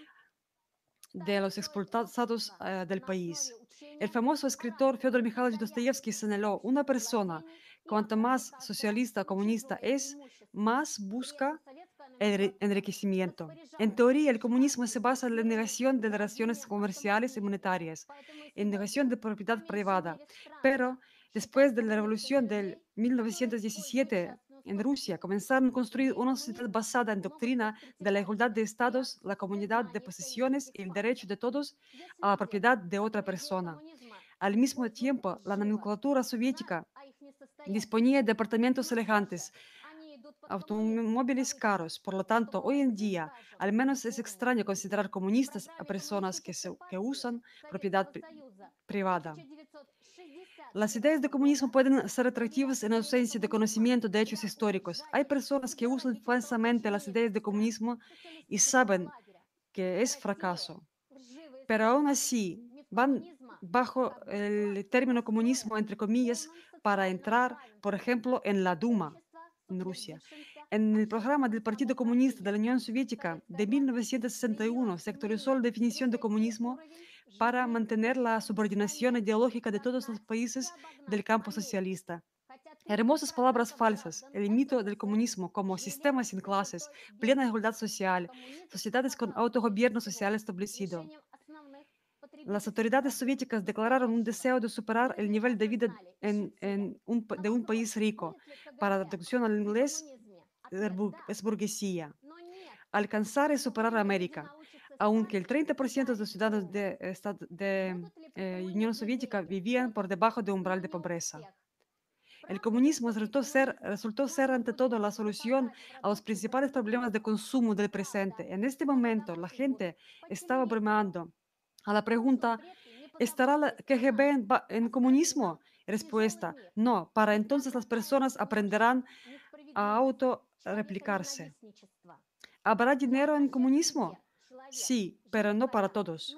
de los expulsados eh, del país. El famoso escritor Fyodor Mikhailovich Dostoyevsky señaló, una persona, cuanto más socialista o comunista es, más busca el enriquecimiento. En teoría, el comunismo se basa en la negación de las relaciones comerciales y monetarias, en negación de propiedad privada. Pero después de la revolución del mil novecientos diecisiete en Rusia, comenzaron a construir una sociedad basada en doctrina de la igualdad de estados, la comunidad de posesiones y el derecho de todos a la propiedad de otra persona. Al mismo tiempo, la nomenclatura soviética disponía de departamentos elegantes, automóviles caros. Por lo tanto, hoy en día, al menos es extraño considerar comunistas a personas que, se- que usan propiedad pri- privada. Las ideas de comunismo pueden ser atractivas en ausencia de conocimiento de hechos históricos. Hay personas que usan falsamente las ideas de comunismo y saben que es fracaso, pero aún así van bajo el término comunismo, entre comillas, para entrar, por ejemplo, en la Duma, en Rusia. En el programa del Partido Comunista de la Unión Soviética de mil novecientos sesenta y uno se actualizó la definición de comunismo para mantener la subordinación ideológica de todos los países del campo socialista. Hermosas palabras falsas, el mito del comunismo como sistema sin clases, plena igualdad social, sociedades con autogobierno social establecido. Las autoridades soviéticas declararon un deseo de superar el nivel de vida en, en un pa- de un país rico. Para la traducción al inglés, es bur- es burguesía. Alcanzar y superar a América. Aunque el treinta por ciento de los ciudadanos de, esta- de eh, Unión Soviética vivían por debajo del umbral de pobreza. El comunismo resultó ser, resultó ser ante todo la solución a los principales problemas de consumo del presente. En este momento, la gente estaba bromando a la pregunta, ¿estará la K G B en, ba- en comunismo? Respuesta, no. Para entonces las personas aprenderán a autorreplicarse. ¿Habrá dinero en comunismo? Sí, pero no para todos,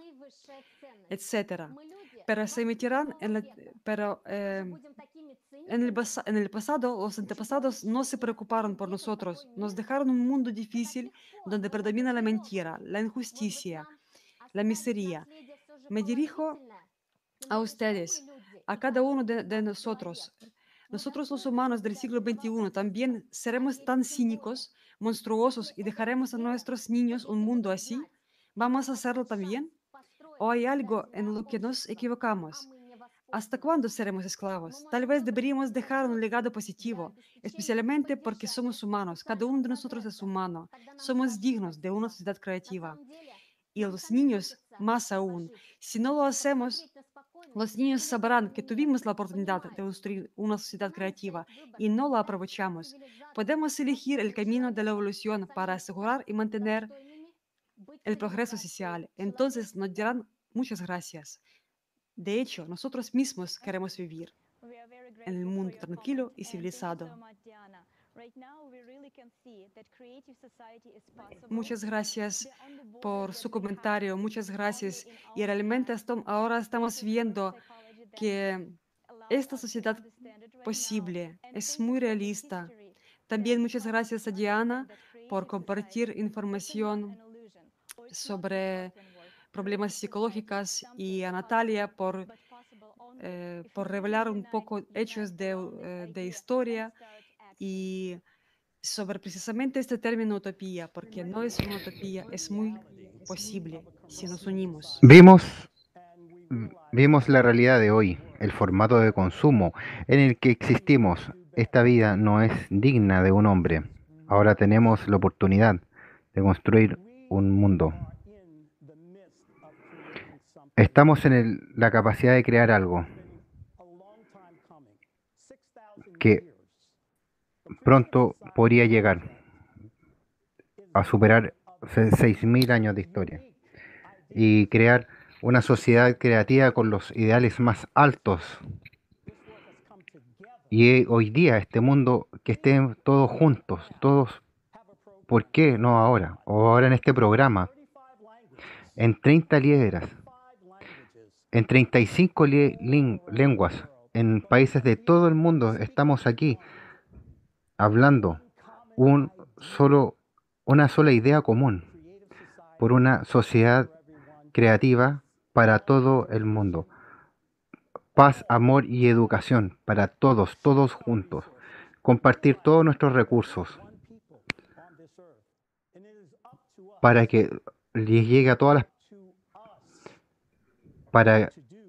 etcétera. Pero se emitirán en la, pero, eh, en el, basa- en el pasado, los antepasados no se preocuparon por nosotros. Nos dejaron un mundo difícil donde predomina la mentira, la injusticia, la miseria. Me dirijo a ustedes, a cada uno de, de nosotros. Nosotros los humanos del siglo veintiuno también seremos tan cínicos, monstruosos y dejaremos a nuestros niños un mundo así. ¿Vamos a hacerlo también? ¿O hay algo en lo que nos equivocamos? ¿Hasta cuándo seremos esclavos? Tal vez deberíamos dejar un legado positivo, especialmente porque somos humanos. Cada uno de nosotros es humano. Somos dignos de una sociedad creativa. Y los niños más aún. Si no lo hacemos, los niños sabrán que tuvimos la oportunidad de construir una sociedad creativa y no la aprovechamos. Podemos elegir el camino de la evolución para asegurar y mantener el progreso social. Entonces nos dirán muchas gracias. De hecho, nosotros mismos queremos vivir We are very en el grateful for mundo your tranquilo comments y and thank you so civilizado. much, Diana. Right now, we really can see that creative society is possible Muchas gracias beyond the borders por that su we have, comentario, muchas only gracias. in Y our realmente hands. estam- ahora This estamos is reverse viendo psychology that que allows esta us to sociedad understand it right now. posible And es thank you muy for the realista. history that También muchas helps us gracias to a Diana understand that por creative society, compartir it's not an información illusion or it's not sobre utopian work. problemas Creative society is psicológicos y something a possible, Natalia por, but possible only eh, if we por really revelar un unite, poco unite hechos de, around this eh, de idea and historia start acting. y sobre precisamente este término utopía, porque no es una utopía, es muy posible si nos unimos. Vimos, vimos la realidad de hoy, el formato de consumo en el que existimos. Esta vida no es digna de un hombre. Ahora tenemos la oportunidad de construir un mundo. Estamos en el- la capacidad de crear algo que pronto podría llegar a superar seis mil años de historia y crear una sociedad creativa con los ideales más altos. Y hoy día este mundo que estén todos juntos, todos, ¿por qué no ahora? O ahora en este programa, en treinta lideras, en treinta y cinco li- lin- lenguas, en países de todo el mundo, estamos aquí hablando un solo, una sola idea común por una sociedad creativa para todo el mundo. Paz, amor y educación para todos, todos juntos. Compartir todos nuestros recursos para que les llegue a todas las... Para,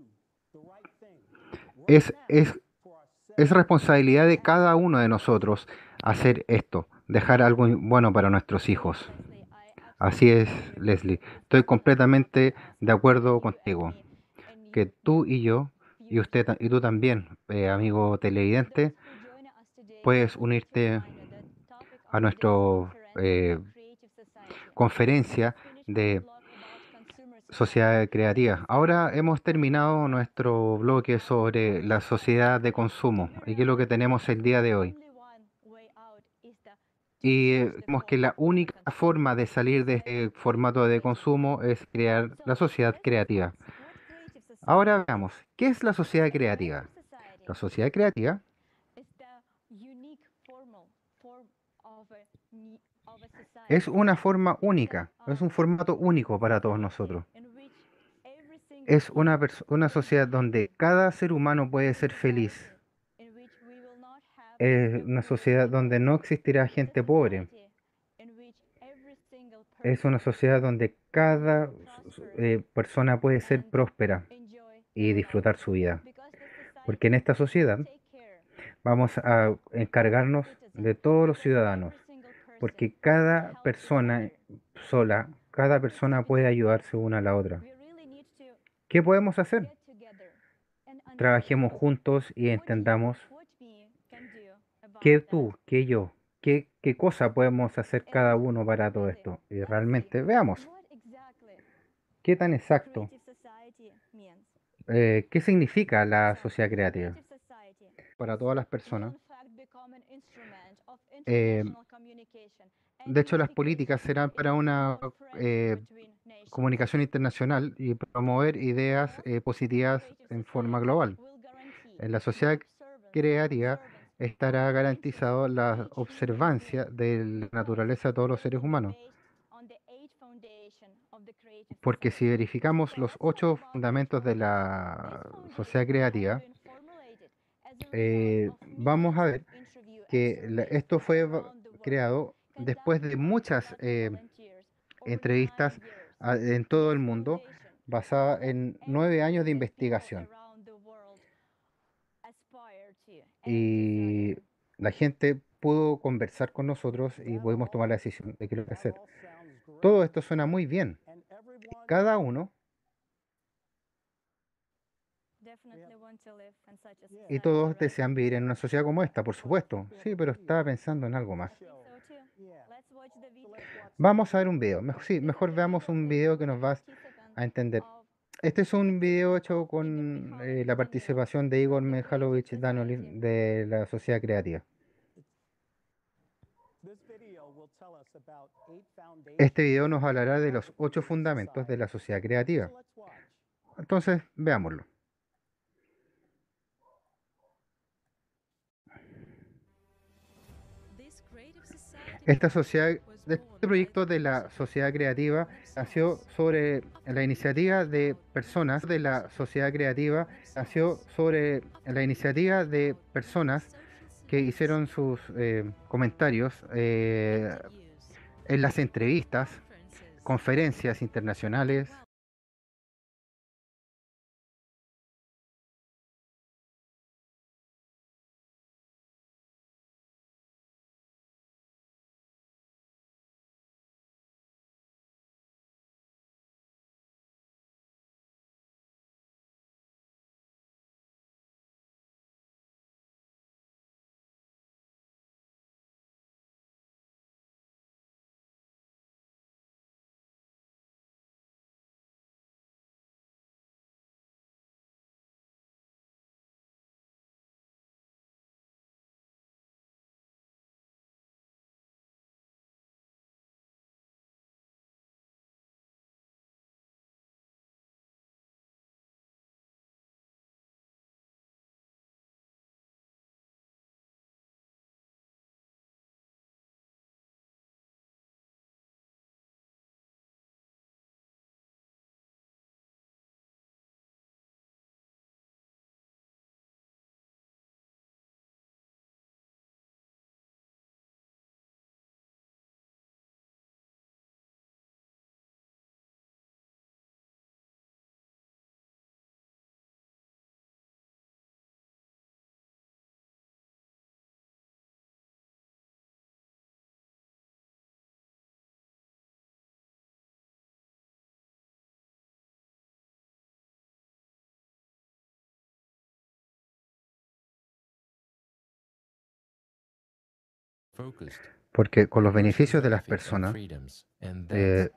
es, es, es responsabilidad de cada uno de nosotros hacer esto, dejar algo bueno para nuestros hijos. Leslie, I Así absolutely es, agree with you. Leslie. Estoy completamente Diana, de and acuerdo you and contigo. me, and Que you, tú you, y yo, y usted ta- y tú también, eh, amigo televidente, puedes unirte a nuestra conferencia de sociedad creativa. Ahora hemos terminado nuestro bloque sobre la sociedad de consumo y qué es lo que tenemos el día de hoy. Y eh, vemos que la única forma de salir de este formato de consumo es crear la sociedad creativa. Ahora veamos, ¿qué es la sociedad creativa? La sociedad creativa es una forma única, es un formato único para todos nosotros. Es una, perso- una sociedad donde cada ser humano puede ser feliz. Es una sociedad donde no existirá gente pobre. Es una sociedad donde cada eh, persona puede ser próspera y disfrutar su vida. Porque en esta sociedad vamos a encargarnos de todos los ciudadanos. Porque cada persona sola, cada persona puede ayudarse una a la otra. ¿Qué podemos hacer? Trabajemos juntos y entendamos qué tú, qué yo, qué, qué cosa podemos hacer cada uno para todo esto. Y realmente veamos qué tan exacto, eh, qué significa la sociedad creativa para todas las personas. Eh, de hecho, las políticas serán para una eh, comunicación internacional y promover ideas eh, positivas en forma global. En la sociedad creativa estará garantizado la observancia de la naturaleza de todos los seres humanos. Porque si verificamos los ocho fundamentos de la sociedad creativa, eh, vamos a ver que la- esto fue va- creado después de muchas eh, entrevistas a- en todo el mundo, basada en nueve años de investigación. Y la gente pudo conversar con nosotros y pudimos tomar la decisión de qué lo que hacer. Todo esto suena muy bien. Cada uno y todos desean vivir en una sociedad como esta, por supuesto. Sí, pero estaba pensando en algo más. Vamos a ver un video. Mejor, sí, mejor veamos un video que nos va a entender. Este es un video hecho con eh, la participación de Igor Mikhailovich Danilov de la Sociedad Creativa. Este video nos hablará de los ocho fundamentos de la sociedad creativa. Entonces, veámoslo. Esta sociedad, este proyecto de la sociedad creativa nació sobre la iniciativa de personas de la sociedad creativa, nació sobre la iniciativa de personas que hicieron sus eh, comentarios eh, en las entrevistas, conferencias internacionales, Porque con los beneficios de las personas eh,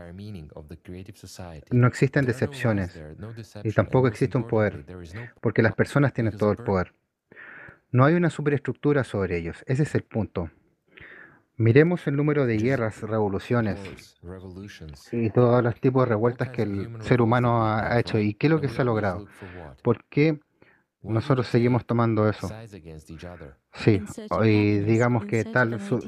no existen decepciones y tampoco existe un poder, porque las personas tienen todo el poder. No hay una superestructura sobre ellos, ese es el punto. Miremos el número de guerras, revoluciones y todos los tipos de revueltas que el ser humano ha, ha hecho y qué es lo que se ha logrado. ¿Por qué nosotros seguimos tomando eso? Sí, y digamos que tal su-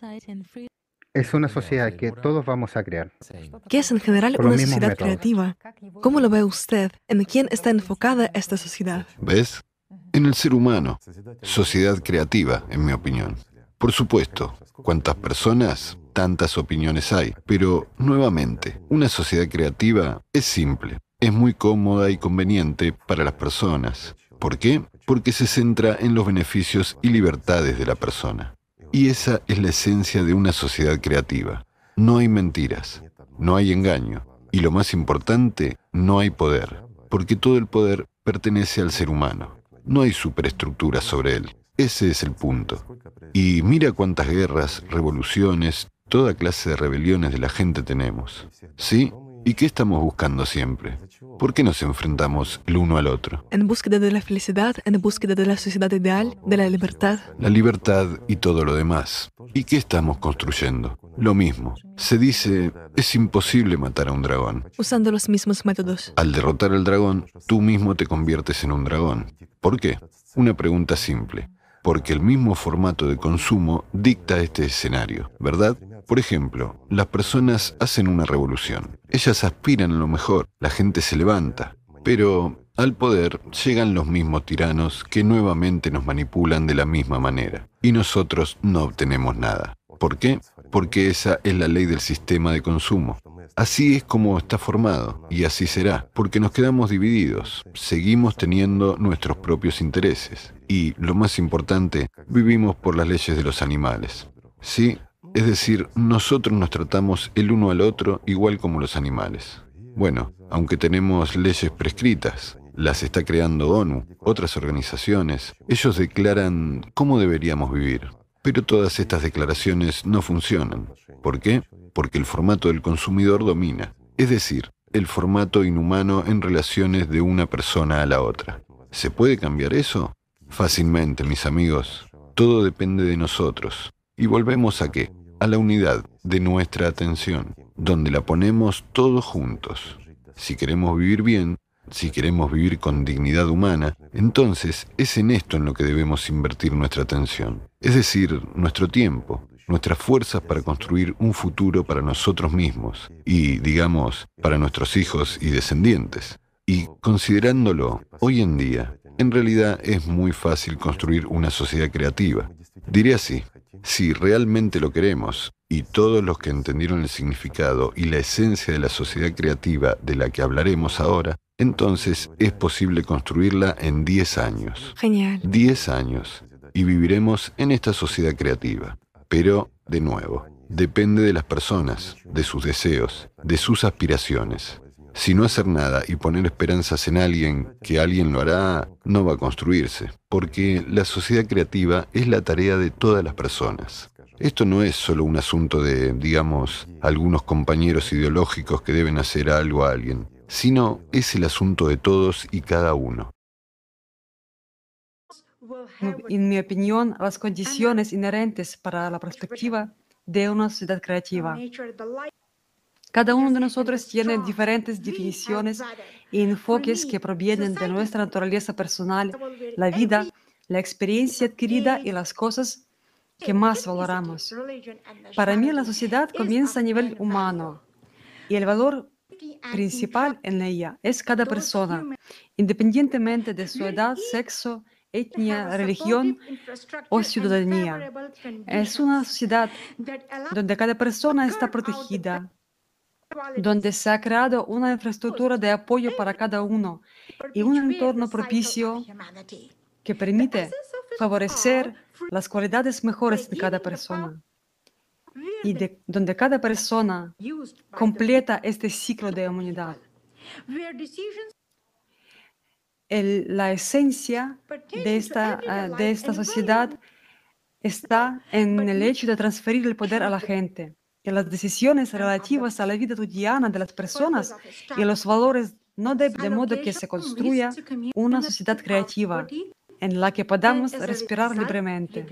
es una sociedad que todos vamos a crear ¿Qué es en general con los una mismos sociedad métodos. creativa? ¿Cómo lo ve usted? ¿En quién está enfocada esta sociedad? ¿Ves? En el ser humano. Sociedad creativa, en mi opinión. Por supuesto, cuantas personas, tantas opiniones hay. Pero, nuevamente, una sociedad creativa es simple. Es muy cómoda y conveniente para las personas. ¿Por qué? Porque se centra en los beneficios y libertades de la persona. Y esa es la esencia de una sociedad creativa. No hay mentiras, no hay engaño. Y lo más importante, no hay poder. Porque todo el poder pertenece al ser humano. No hay superestructura sobre él. Ese es el punto. Y mira cuántas guerras, revoluciones, toda clase de rebeliones de la gente tenemos. ¿Sí? ¿Y qué estamos buscando siempre? ¿Por qué nos enfrentamos el uno al otro? ¿En búsqueda de la felicidad? ¿En búsqueda de la sociedad ideal? ¿De la libertad? La libertad y todo lo demás. ¿Y qué estamos construyendo? Lo mismo. Se dice, es imposible matar a un dragón. Usando los mismos métodos. Al derrotar al dragón, tú mismo te conviertes en un dragón. ¿Por qué? Una pregunta simple. Porque el mismo formato de consumo dicta este escenario, ¿verdad? Por ejemplo, las personas hacen una revolución. Ellas aspiran a lo mejor, la gente se levanta. Pero al poder llegan los mismos tiranos que nuevamente nos manipulan de la misma manera. Y nosotros no obtenemos nada. ¿Por qué? Porque esa es la ley del sistema de consumo. Así es como está formado, y así será, porque nos quedamos divididos, seguimos teniendo nuestros propios intereses, y, lo más importante, vivimos por las leyes de los animales. ¿Sí? Es decir, nosotros nos tratamos el uno al otro igual como los animales. Bueno, aunque tenemos leyes prescritas, las está creando ONU, otras organizaciones, ellos declaran cómo deberíamos vivir. Pero todas estas declaraciones no funcionan. ¿Por qué? Porque el formato del consumidor domina, es decir, el formato inhumano en relaciones de una persona a la otra. ¿Se puede cambiar eso? Fácilmente, mis amigos. Todo depende de nosotros. ¿Y volvemos a qué? A la unidad de nuestra atención, donde la ponemos todos juntos. Si queremos vivir bien, si queremos vivir con dignidad humana, entonces es en esto en lo que debemos invertir nuestra atención. Es decir, nuestro tiempo, nuestras fuerzas para construir un futuro para nosotros mismos y, digamos, para nuestros hijos y descendientes. Y considerándolo, hoy en día, en realidad es muy fácil construir una sociedad creativa. Diré así, si realmente lo queremos, y todos los que entendieron el significado y la esencia de la sociedad creativa de la que hablaremos ahora, entonces es posible construirla en diez años. Genial. diez años. Y viviremos en esta sociedad creativa. Pero, de nuevo, depende de las personas, de sus deseos, de sus aspiraciones. Si no hacer nada y poner esperanzas en alguien, que alguien lo hará, no va a construirse, porque la sociedad creativa es la tarea de todas las personas. Esto no es solo un asunto de, digamos, algunos compañeros ideológicos que deben hacer algo a alguien, sino es el asunto de todos y cada uno. En mi opinión, las condiciones inherentes para la perspectiva de una sociedad creativa. Cada uno de nosotros tiene diferentes definiciones y enfoques que provienen de nuestra naturaleza personal, la vida, la experiencia adquirida y las cosas que más valoramos. Para mí, la sociedad comienza a nivel humano y el valor principal en ella es cada persona, independientemente de su edad, sexo, etnia, religión o ciudadanía. Es una sociedad donde cada persona está protegida, donde se ha creado una infraestructura de apoyo para cada uno y un entorno propicio que permite favorecer las cualidades mejores de cada persona y de, donde cada persona completa este ciclo de humanidad. El- la esencia de esta, uh, de esta sociedad está en el hecho de transferir el poder a la gente, que las decisiones relativas a la vida cotidiana de las personas y los valores no deben de modo que se construya una sociedad creativa en la que podamos respirar libremente.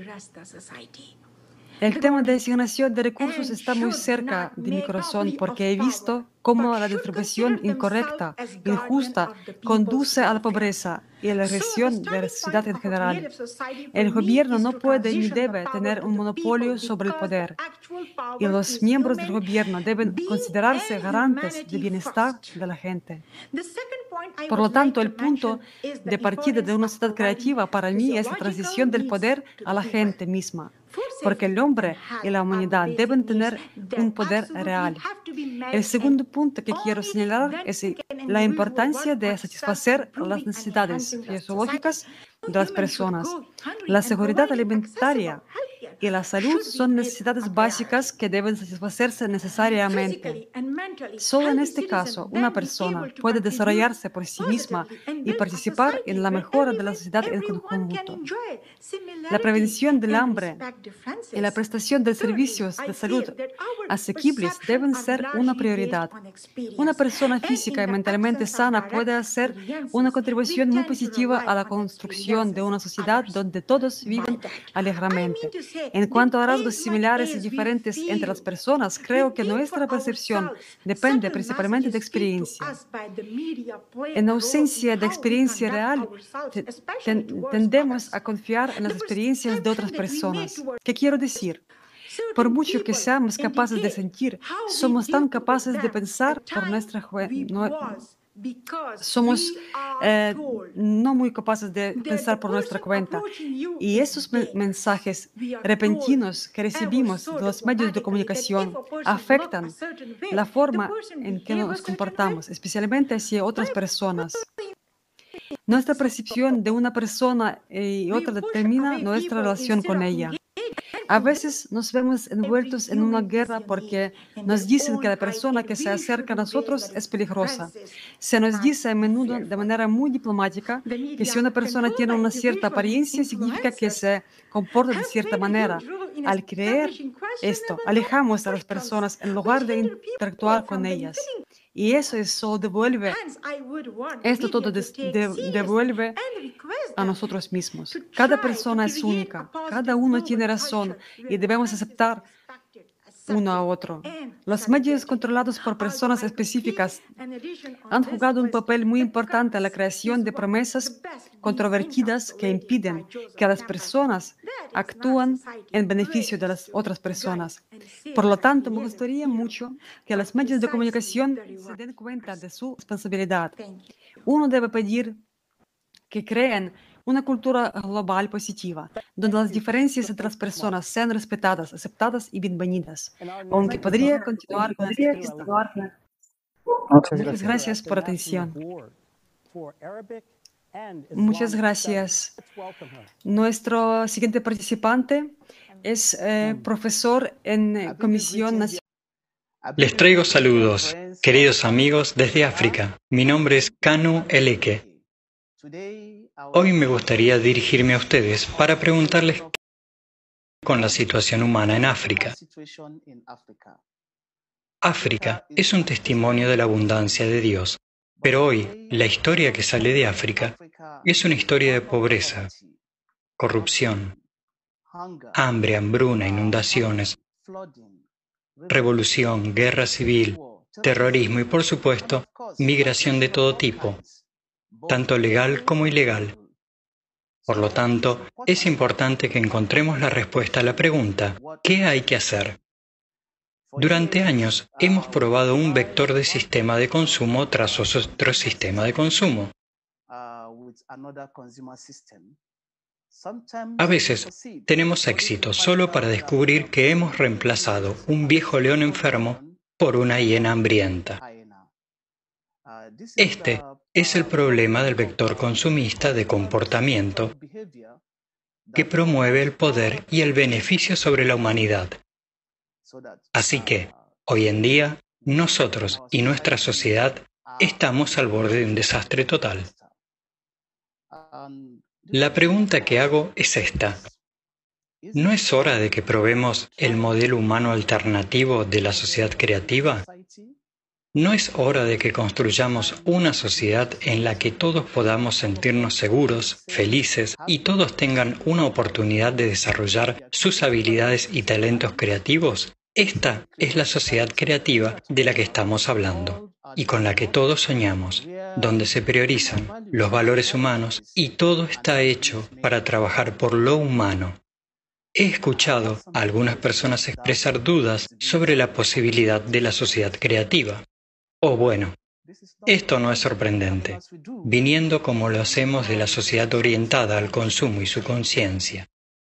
El tema de asignación de recursos está muy cerca de mi corazón porque he visto cómo la distribución incorrecta, injusta, conduce a la pobreza y a la regresión de la sociedad en general. El gobierno no puede ni debe tener un monopolio sobre el poder, y los miembros del gobierno deben considerarse garantes del bienestar de la gente. Por lo tanto, el punto de partida de una sociedad creativa para mí es la transición del poder a la gente misma, porque el hombre y la humanidad deben tener un poder real. El segundo punto que quiero señalar es la importancia de satisfacer las necesidades fisiológicas de las personas. La seguridad alimentaria y la salud son necesidades básicas que deben satisfacerse necesariamente. Solo en este caso, una persona puede desarrollarse por sí misma y participar en la mejora de la sociedad en conjunto. La prevención del hambre y la prestación de servicios de salud asequibles deben ser una prioridad. Una persona física y mentalmente sana puede hacer una contribución muy positiva a la construcción de una sociedad donde todos viven alegremente. En cuanto a rasgos similares y diferentes entre las personas, creo que nuestra percepción depende principalmente de experiencia. En ausencia de experiencia real, te- ten- tendemos a confiar en las experiencias de otras personas. ¿Qué quiero decir? Por mucho que seamos capaces de sentir, somos tan capaces de pensar por nuestra jue- no- somos eh, no muy capaces de pensar por nuestra cuenta. Y esos men- mensajes repentinos que recibimos de los medios de comunicación afectan la forma en que nos comportamos, especialmente hacia otras personas. Nuestra percepción de una persona y otra determina nuestra relación con ella. A veces nos vemos envueltos en una guerra porque nos dicen que la persona que se acerca a nosotros es peligrosa. Se nos dice a menudo de manera muy diplomática que si una persona tiene una cierta apariencia significa que se comporta de cierta manera. Al creer esto, alejamos a las personas en lugar de interactuar con ellas. Y eso es solo devuelve, esto todo des- de- devuelve a nosotros mismos. Cada persona es única, cada uno tiene razón y debemos aceptar uno a otro. Los medios controlados por personas específicas han jugado un papel muy importante en la creación de promesas controvertidas que impiden que las personas actúen en beneficio de las otras personas. Por lo tanto, me gustaría mucho que los medios de comunicación se den cuenta de su responsabilidad. Uno debe pedir que creen una cultura global positiva, donde las diferencias entre las personas sean respetadas, aceptadas y bienvenidas. Aunque podría continuar con esta lista. Muchas Muchas gracias. gracias por atención. Muchas gracias. Nuestro siguiente participante es eh, profesor en eh, Comisión Nacional. Les traigo saludos, queridos amigos desde África. Mi nombre es Kanu Eleke. Hoy me gustaría dirigirme a ustedes para preguntarles con la situación humana en África. África es un testimonio de la abundancia de Dios, pero hoy la historia que sale de África es una historia de pobreza, corrupción, hambre, hambruna, inundaciones, revolución, guerra civil, terrorismo y, por supuesto, migración de todo tipo, tanto legal como ilegal. Por lo tanto, es importante que encontremos la respuesta a la pregunta, ¿qué hay que hacer? Durante años hemos probado un vector de sistema de consumo tras otro sistema de consumo. A veces tenemos éxito solo para descubrir que hemos reemplazado un viejo león enfermo por una hiena hambrienta. Este es el problema del vector consumista de comportamiento que promueve el poder y el beneficio sobre la humanidad. Así que, hoy en día, nosotros y nuestra sociedad estamos al borde de un desastre total. La pregunta que hago es esta. ¿No es hora de que probemos el modelo humano alternativo de la sociedad creativa? ¿No es hora de que construyamos una sociedad en la que todos podamos sentirnos seguros, felices y todos tengan una oportunidad de desarrollar sus habilidades y talentos creativos? Esta es la sociedad creativa de la que estamos hablando y con la que todos soñamos, donde se priorizan los valores humanos y todo está hecho para trabajar por lo humano. He escuchado a algunas personas expresar dudas sobre la posibilidad de la sociedad creativa. O bueno, esto no es sorprendente, viniendo como lo hacemos de la sociedad orientada al consumo y su conciencia.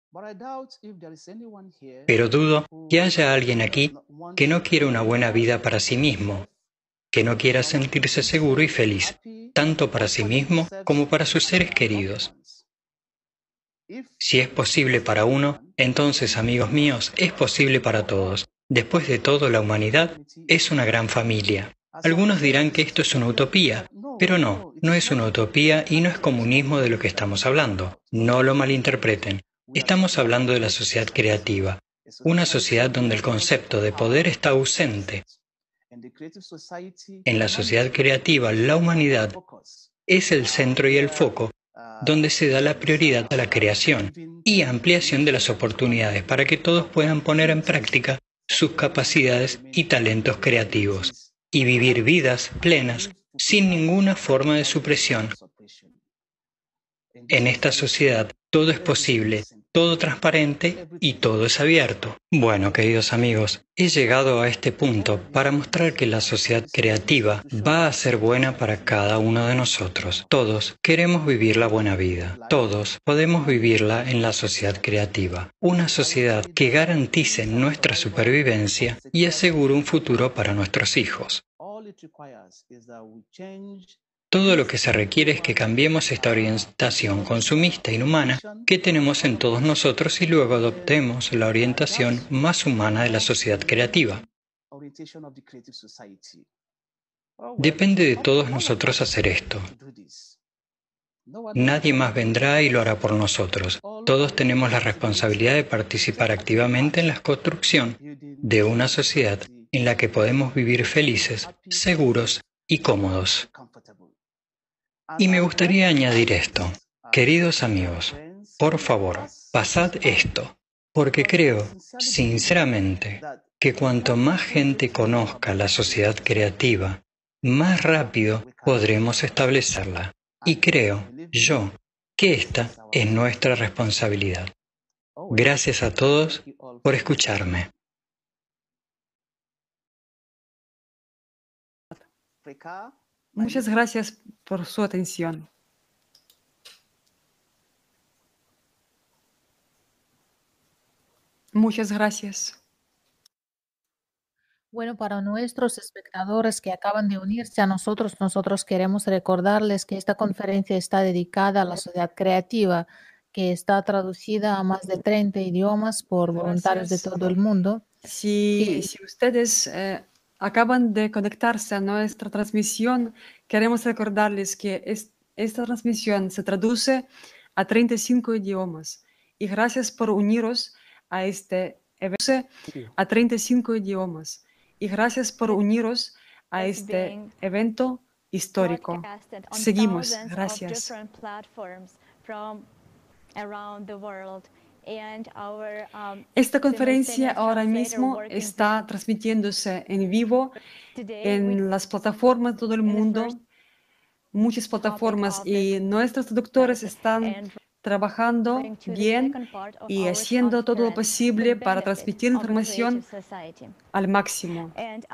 Pero dudo que haya alguien aquí que no quiera una buena vida para sí mismo, que no quiera sentirse seguro y feliz, tanto para sí mismo como para sus seres queridos. Si es posible para uno, entonces, amigos míos, es posible para todos. Después de todo, la humanidad es una gran familia. Algunos dirán que esto es una utopía, pero no, no es una utopía y no es comunismo de lo que estamos hablando. No lo malinterpreten. Estamos hablando de la sociedad creativa, una sociedad donde el concepto de poder está ausente. En la sociedad creativa, la humanidad es el centro y el foco donde se da la prioridad a la creación y ampliación de las oportunidades para que todos puedan poner en práctica sus capacidades y talentos creativos y vivir vidas plenas sin ninguna forma de supresión. En esta sociedad todo es posible, todo transparente y todo es abierto. Bueno, queridos amigos, he llegado a este punto para mostrar que la sociedad creativa va a ser buena para cada uno de nosotros. Todos queremos vivir la buena vida. Todos podemos vivirla en la sociedad creativa. Una sociedad que garantice nuestra supervivencia y asegure un futuro para nuestros hijos. Todo lo que se requiere es que cambiemos esta orientación consumista inhumana que tenemos en todos nosotros y luego adoptemos la orientación más humana de la sociedad creativa. Depende de todos nosotros hacer esto. Nadie más vendrá y lo hará por nosotros. Todos tenemos la responsabilidad de participar activamente en la construcción de una sociedad en la que podemos vivir felices, seguros y cómodos. Y me gustaría añadir esto. Queridos amigos, por favor, pasad esto, porque creo, sinceramente, que cuanto más gente conozca la sociedad creativa, más rápido podremos establecerla. Y creo, yo, que esta es nuestra responsabilidad. Gracias a todos por escucharme. Muchas gracias por su atención. Muchas gracias. Bueno, para nuestros espectadores que acaban de unirse a nosotros, nosotros queremos recordarles que esta conferencia está dedicada a la sociedad creativa, que está traducida a más de treinta idiomas por voluntarios de Gracias. todo el mundo. Si, si ustedes eh, acaban de conectarse a nuestra transmisión, queremos recordarles que es, esta transmisión se traduce a treinta y cinco idiomas. Y gracias por uniros a este evento a treinta y cinco idiomas. Y gracias por uniros a este evento histórico. Seguimos. Gracias. Esta conferencia ahora mismo está transmitiéndose en vivo en las plataformas de todo el mundo, muchas plataformas, y nuestros traductores están trabajando bien y haciendo todo lo posible para transmitir información al máximo.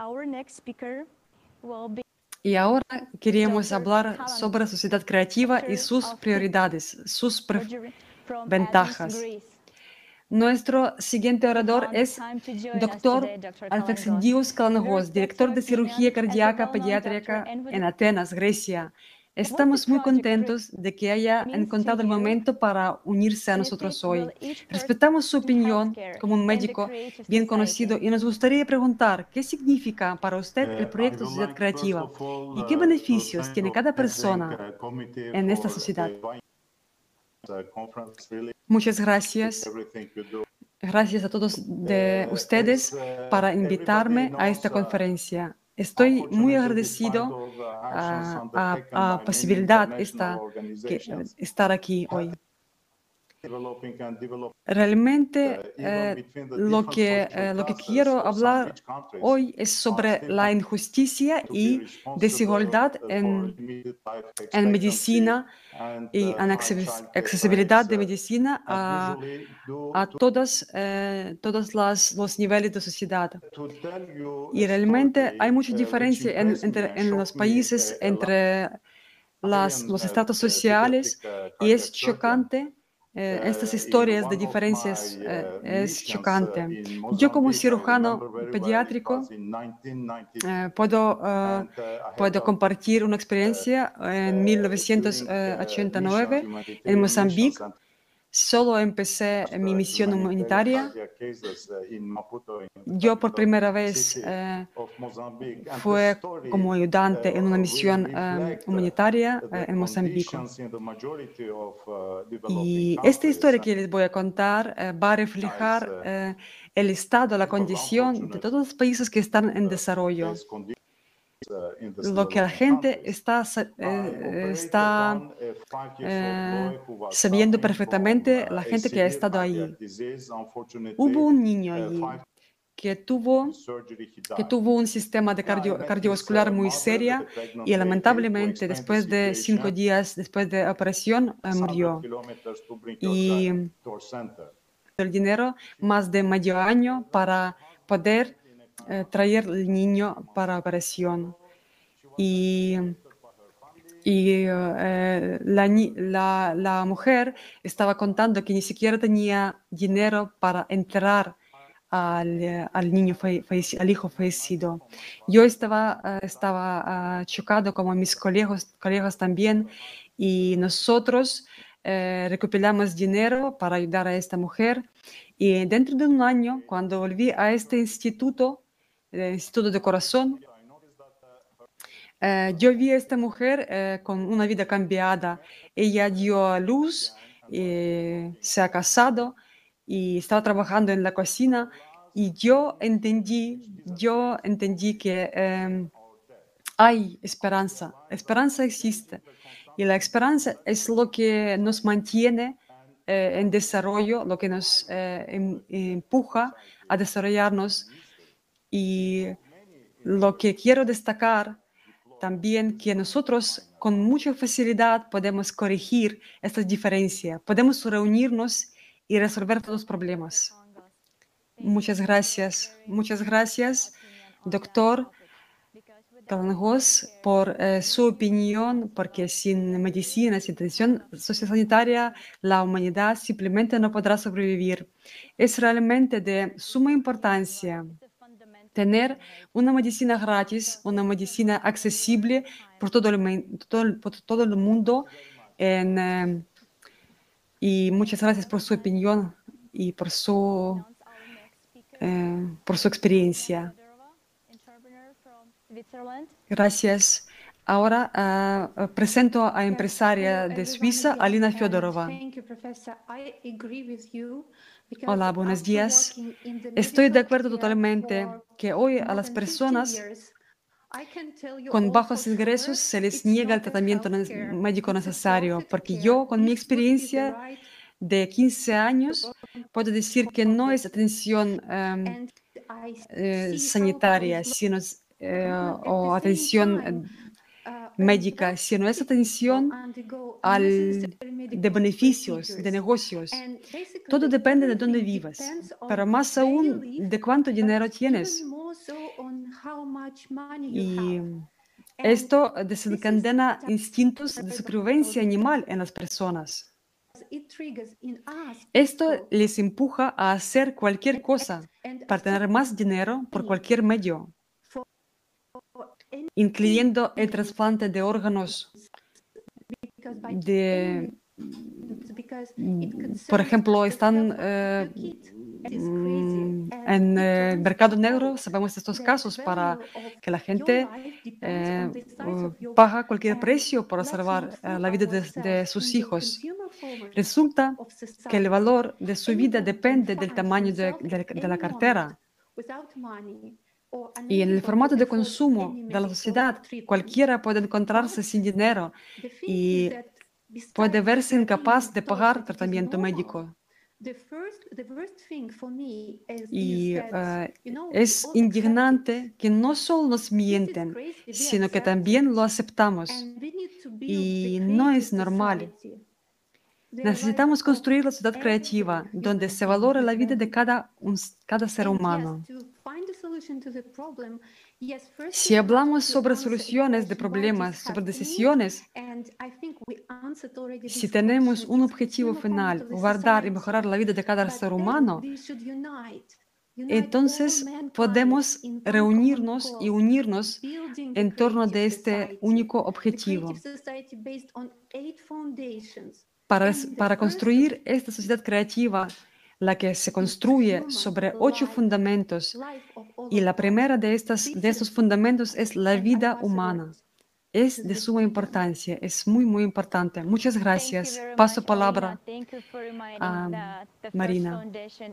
Y ahora queremos hablar sobre sociedad creativa y sus prioridades, sus ventajas. Nuestro siguiente orador es doctor Alfexidios Kalanagos, director de cirugía cardíaca pediátrica en Atenas, Grecia. Estamos muy contentos de que haya encontrado el momento para unirse a nosotros hoy. Respetamos su opinión como un médico bien conocido y nos gustaría preguntar qué significa para usted el proyecto Sociedad Creativa y qué beneficios tiene cada persona en esta sociedad. Muchas gracias. Gracias a todos de ustedes para invitarme a esta conferencia. Estoy muy agradecido a la posibilidad esta, que, estar aquí hoy. Realmente eh, lo, que, eh, lo que quiero hablar hoy es sobre la injusticia y desigualdad en, en medicina y en accesibilidad de medicina a, a todas, eh, todos las, los niveles de sociedad. Y realmente hay mucha diferencia en, entre, en los países entre las, los estratos sociales y es chocante. Eh, estas historias de diferencias eh, es chocante. Yo como cirujano pediátrico eh, puedo, eh, puedo compartir una experiencia en mil novecientos ochenta y nueve en Mozambique. Solo empecé mi misión humanitaria. Yo por primera vez eh, fue como ayudante en una misión eh, humanitaria eh, en Mozambique. Y esta historia que les voy a contar eh, va a reflejar eh, el estado, la condición de todos los países que están en desarrollo. Lo que la gente está, eh, está eh, sabiendo perfectamente, la gente que ha estado ahí. Hubo un niño allí que tuvo, que tuvo un sistema de cardio, cardiovascular muy serio y lamentablemente después de cinco días después de la operación eh, murió. Y el dinero más de medio año para poder eh, traer el niño para operación. Y, y eh, la, la, la mujer estaba contando que ni siquiera tenía dinero para enterrar al, al niño, al hijo fallecido. Yo estaba, estaba uh, chocado como mis colegas, colegas también, y nosotros eh, recopilamos dinero para ayudar a esta mujer. Y dentro de un año, cuando volví a este instituto, el Instituto de Corazón, eh, yo vi a esta mujer eh, con una vida cambiada. Ella dio a luz, eh, se ha casado y estaba trabajando en la cocina. Y yo entendí, yo entendí que eh, hay esperanza, esperanza existe. Y la esperanza es lo que nos mantiene eh, en desarrollo, lo que nos eh, em, empuja a desarrollarnos. Y lo que quiero destacar también que nosotros con mucha facilidad podemos corregir estas diferencias, podemos reunirnos y resolver todos los problemas. Muchas gracias, muchas gracias, doctor Kalangos, por eh, su opinión, porque sin medicina, sin atención sociosanitaria, la humanidad simplemente no podrá sobrevivir. Es realmente de suma importancia tener una medicina gratis, una medicina accesible por todo el, todo, por todo el mundo. En, eh, y muchas gracias por su opinión y por su, eh, por su experiencia. Gracias. Ahora uh, presento a empresaria de Suiza, Alina Fyodorova. Hola, buenos días. Estoy de acuerdo totalmente que hoy a las personas con bajos ingresos se les niega el tratamiento médico necesario, porque yo, con mi experiencia de quince años, puedo decir que no es atención um, eh, sanitaria, sino eh, o atención médica, sino es atención al, de beneficios, de negocios. Todo depende de dónde vivas, pero más aún de cuánto dinero tienes. Y esto desencadena instintos de supervivencia animal en las personas. Esto les empuja a hacer cualquier cosa para tener más dinero por cualquier medio, incluyendo el trasplante de órganos, de, por ejemplo, están eh, en el mercado negro, sabemos de estos casos, para que la gente eh, paga cualquier precio para salvar eh, la vida de, de sus hijos. Resulta que el valor de su vida depende del tamaño de, de- de la cartera. Y en el formato de consumo de la sociedad, cualquiera puede encontrarse sin dinero y puede verse incapaz de pagar tratamiento médico. Y eh, es indignante que no solo nos mienten, sino que también lo aceptamos. Y no es normal. Necesitamos construir la sociedad creativa donde se valore la vida de cada, un- cada ser humano. Si hablamos sobre soluciones de problemas, sobre decisiones, si tenemos un objetivo final, guardar y mejorar la vida de cada ser humano, entonces podemos reunirnos y unirnos en torno de este único objetivo. Para, para construir esta sociedad creativa, la que se construye sobre ocho fundamentos, y la primera de, estas, de estos fundamentos es la vida humana. Es de suma importancia, es muy, muy importante. Muchas gracias. Paso palabra a Marina,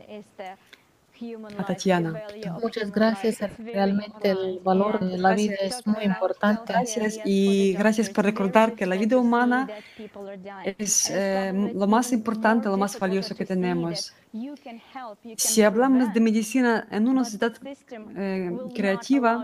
a Tatiana. Muchas gracias. Realmente el valor de la vida es muy importante. Gracias y gracias por recordar que la vida humana es eh, lo más importante, lo más valioso que tenemos. Si hablamos de medicina en una sociedad eh, creativa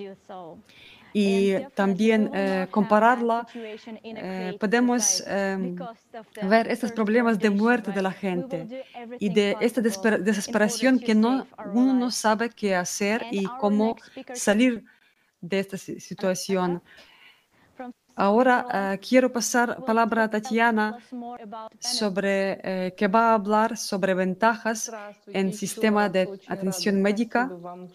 y también eh, compararla, eh, podemos eh, ver estos problemas de muerte de la gente y de esta desesper- desesperación que no, uno no sabe qué hacer y cómo salir de esta si- situación. Ahora eh, quiero pasar palabra a Tatiana sobre eh, que va a hablar sobre ventajas en sistema de atención médica.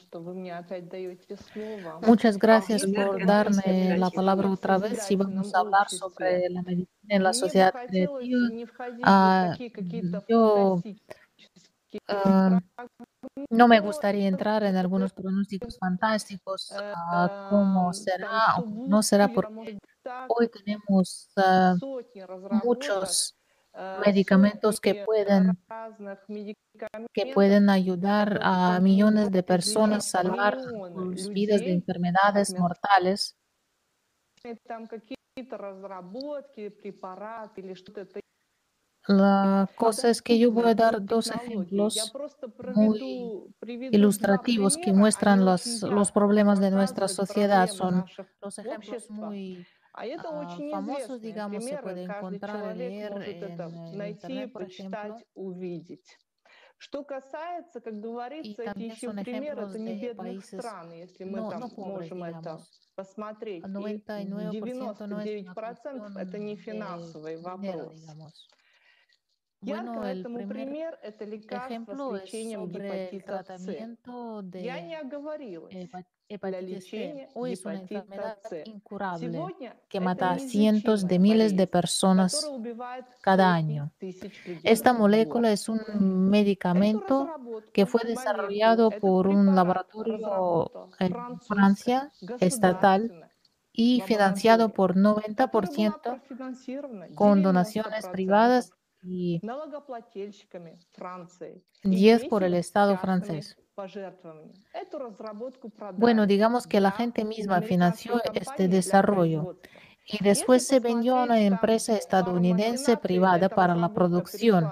Muchas gracias por darme la palabra otra vez y vamos a hablar sobre la medicina en la sociedad creativa. Ah, yo ah, no me gustaría entrar en algunos pronósticos fantásticos, ah, cómo será o cómo no será, porque hoy tenemos ah, muchos medicamentos que pueden, que pueden ayudar a millones de personas, salvar sus vidas de enfermedades mortales. La cosa es que yo voy a dar dos ejemplos muy ilustrativos que muestran los, los problemas de nuestra sociedad. Son los ejemplos muy ah, famosos, digamos, se puede encontrar y leer en el Internet, por ejemplo. Y también son ejemplos de países no, no pobres, digamos. El noventa y nueve por ciento no es una cuestión de dinero, digamos. Bueno, el primer ejemplo es sobre el tratamiento de hepa- hepatitis C. Hoy es una enfermedad incurable que mata a cientos de miles de personas cada año. Esta molécula es un medicamento que fue desarrollado por un laboratorio en Francia estatal y financiado por noventa por ciento con donaciones privadas y diez por el Estado francés. Bueno, digamos que la gente misma financió este desarrollo y después se vendió a una empresa estadounidense privada para la producción.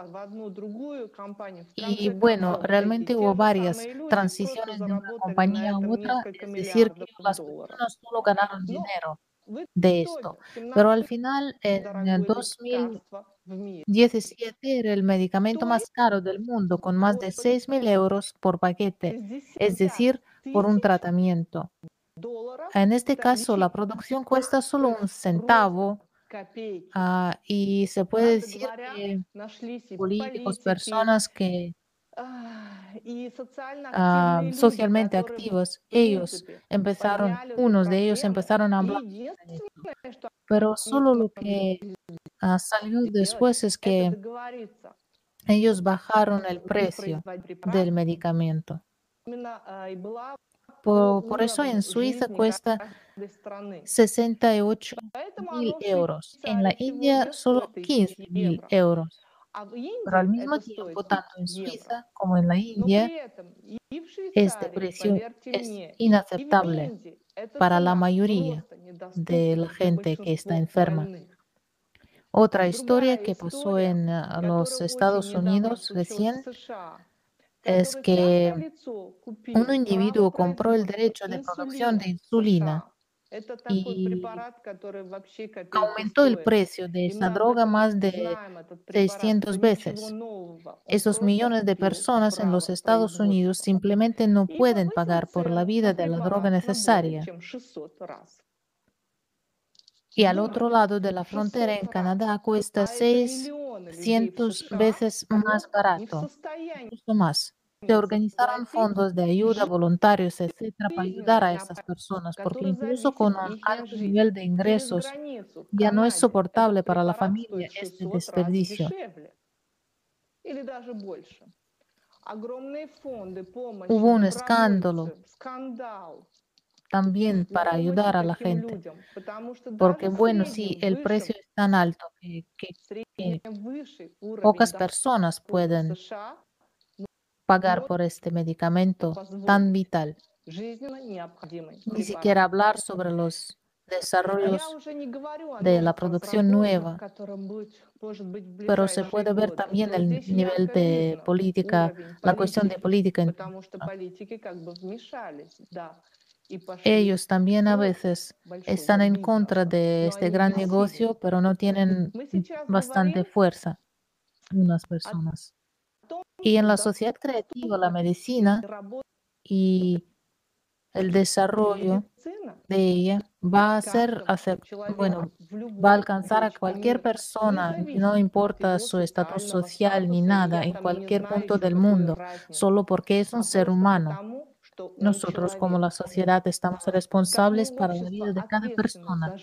Y bueno, realmente hubo varias transiciones de una compañía a otra, es decir, que las personas solo ganaron dinero de esto. Pero al final, en el dos mil diecisiete era el medicamento más caro del mundo, con más de seis mil euros por paquete, es decir, por un tratamiento. En este caso, la producción cuesta solo un centavo, ah, y se puede decir que políticos, personas que ah, socialmente activos, ellos empezaron, unos de ellos empezaron a hablar sobre esto. Pero solo lo que ah, salió después es que ellos bajaron el precio del medicamento. Por, por eso en Suiza cuesta sesenta y ocho mil euros. En la India solo quince mil euros. Pero al mismo tiempo, tanto en Suiza como en la India, este precio es inaceptable para la mayoría de la gente que está enferma. Otra historia que pasó en ah, los Estados Unidos recién es que un individuo compró el derecho de producción de insulina y aumentó el precio de esa droga más de seiscientas veces. Esos millones de personas en los Estados Unidos simplemente no pueden pagar por la vida de la droga necesaria. Y al otro lado de la frontera, en Canadá, cuesta seiscientas veces más barato, incluso más. Se organizaron fondos de ayuda, voluntarios, etcétera, para ayudar a estas personas, porque incluso con un alto nivel de ingresos ya no es soportable para la familia este desperdicio. Hubo un escándalo también para ayudar a la gente, porque bueno, sí, el precio es tan alto que, que- que pocas personas pueden pagar por este medicamento tan vital. Ni siquiera hablar sobre los desarrollos de la producción nueva, pero se puede ver también el nivel de política, la cuestión de política en todo esto. Ellos también a veces están en contra de este gran negocio, pero no tienen bastante fuerza unas personas. Y en la sociedad creativa, la medicina y el desarrollo de ella va a ser, acep- bueno, va a alcanzar a cualquier persona, no importa su estatus social ni nada, en cualquier punto del mundo, solo porque es un ser humano. Nosotros como la sociedad estamos responsables para la vida de cada persona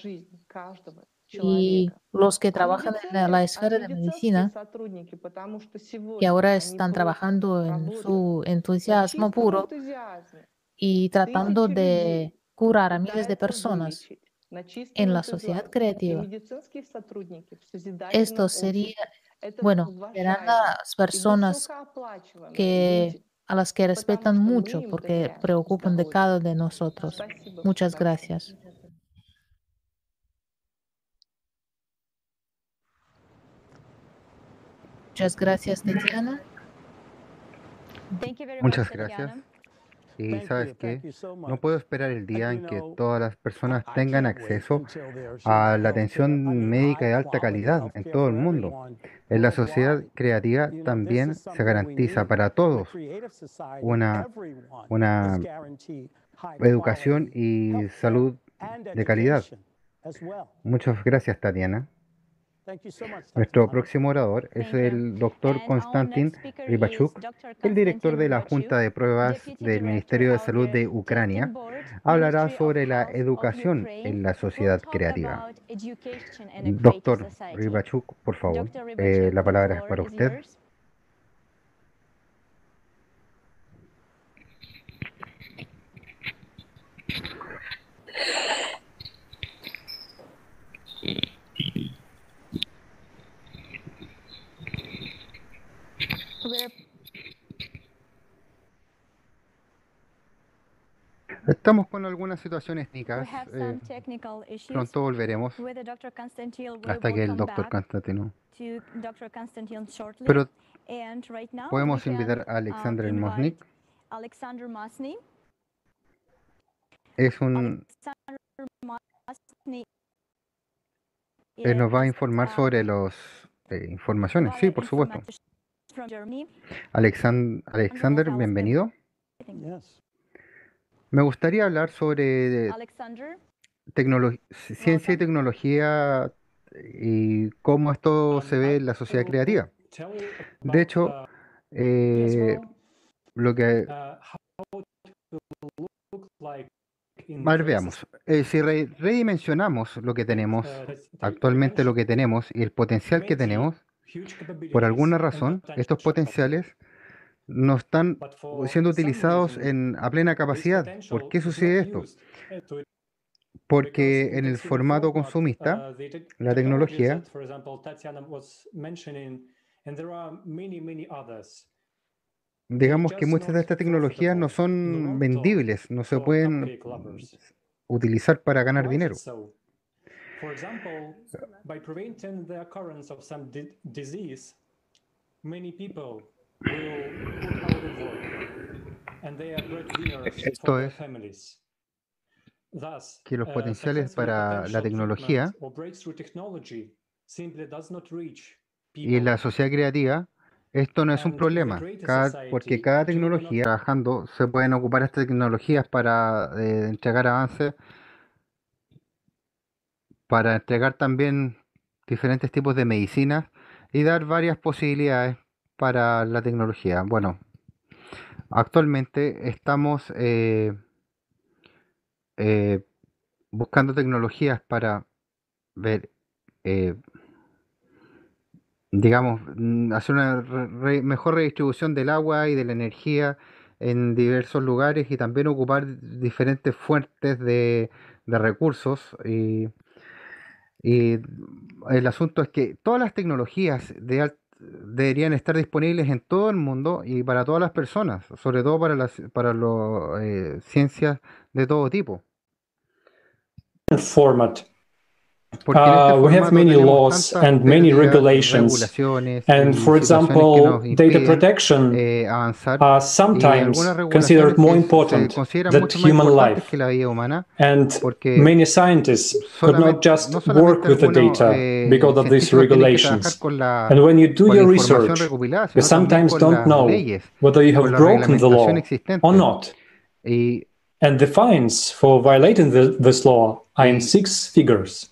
y los que trabajan en la la esfera de medicina, que ahora están trabajando en su entusiasmo puro y tratando de curar a miles de personas en la sociedad creativa. Esto sería, bueno, serán las personas que a las que respetan mucho porque preocupan de cada de nosotros. Muchas gracias. Muchas gracias, Tatiana. Muchas gracias. Y sabes qué, no puedo esperar el día en que todas las personas tengan acceso a la atención médica de alta calidad en todo el mundo. En la sociedad creativa también se garantiza para todos una, una educación y salud de calidad. Muchas gracias, Tatiana. Nuestro próximo orador es el doctor Konstantin Rybachuk, el director de la Junta de Pruebas del Ministerio de Salud de Ucrania. Hablará sobre la educación en la sociedad creativa. Doctor Rybachuk, por favor, eh, la palabra es para usted. Estamos con algunas situaciones técnicas. eh, pronto volveremos hasta que el doctor Constantino. Pero podemos invitar a Alexander Mosnik. Es un, él nos va a informar sobre las eh, informaciones. Sí, por supuesto. Alexan- Alexander, bienvenido. Me gustaría hablar sobre tecnolo- ciencia y tecnología y cómo esto se ve en la sociedad creativa. De hecho, eh, lo que... A ver, veamos. Eh, si re- redimensionamos lo que tenemos, actualmente lo que tenemos y el potencial que tenemos, por alguna razón, estos potenciales no están siendo utilizados en, a plena capacidad. ¿Por qué sucede esto? Porque en el formato consumista, la tecnología, digamos que muchas de estas tecnologías no son vendibles, no se pueden mm, utilizar para ganar dinero. For example, by preventing the occurrence of some di disease, many people will put out of work, and they are breadwinners for Esto their es families. Thus, que los uh, potenciales successful para la potential treatment tecnología or breakthrough technology simply does not reach y en la people. sociedad creativa, esto no es un And in the problema, greater cada, porque society, cada it will be not tecnología, trabajando, se pueden ocupar estas tecnologías para eh, entregar avances, para entregar también diferentes tipos de medicinas y dar varias posibilidades para la tecnología. Bueno, actualmente estamos eh, eh, buscando tecnologías para ver, eh, digamos, mm, hacer una re- re- mejor redistribución del agua y de la energía en diversos lugares y también ocupar diferentes fuentes de, de recursos. Y, y el asunto es que todas las tecnologías de al- deberían estar disponibles en todo el mundo y para todas las personas, sobre todo para las para las eh, ciencias de todo tipo. format. Porque en este Uh, we have formato many tenemos laws tantas and many pérdidas, regulations. regulaciones And y for situaciones que nos example, data impiden protection eh, avanzar are y algunas sometimes considered regulaciones more que se se important consideran than mucho más human importantes que life. la vida humana And porque many scientists could not solamente, just no solamente work with the algunos data eh, because of these científicos tienen que trabajar regulations. con la, And when you do con la your información research, recopilada, you sino también sometimes con don't las know leyes, whether you con have la broken the reglamentación law or existente. not. Y, And the fines for violating the, this law are in y six figures.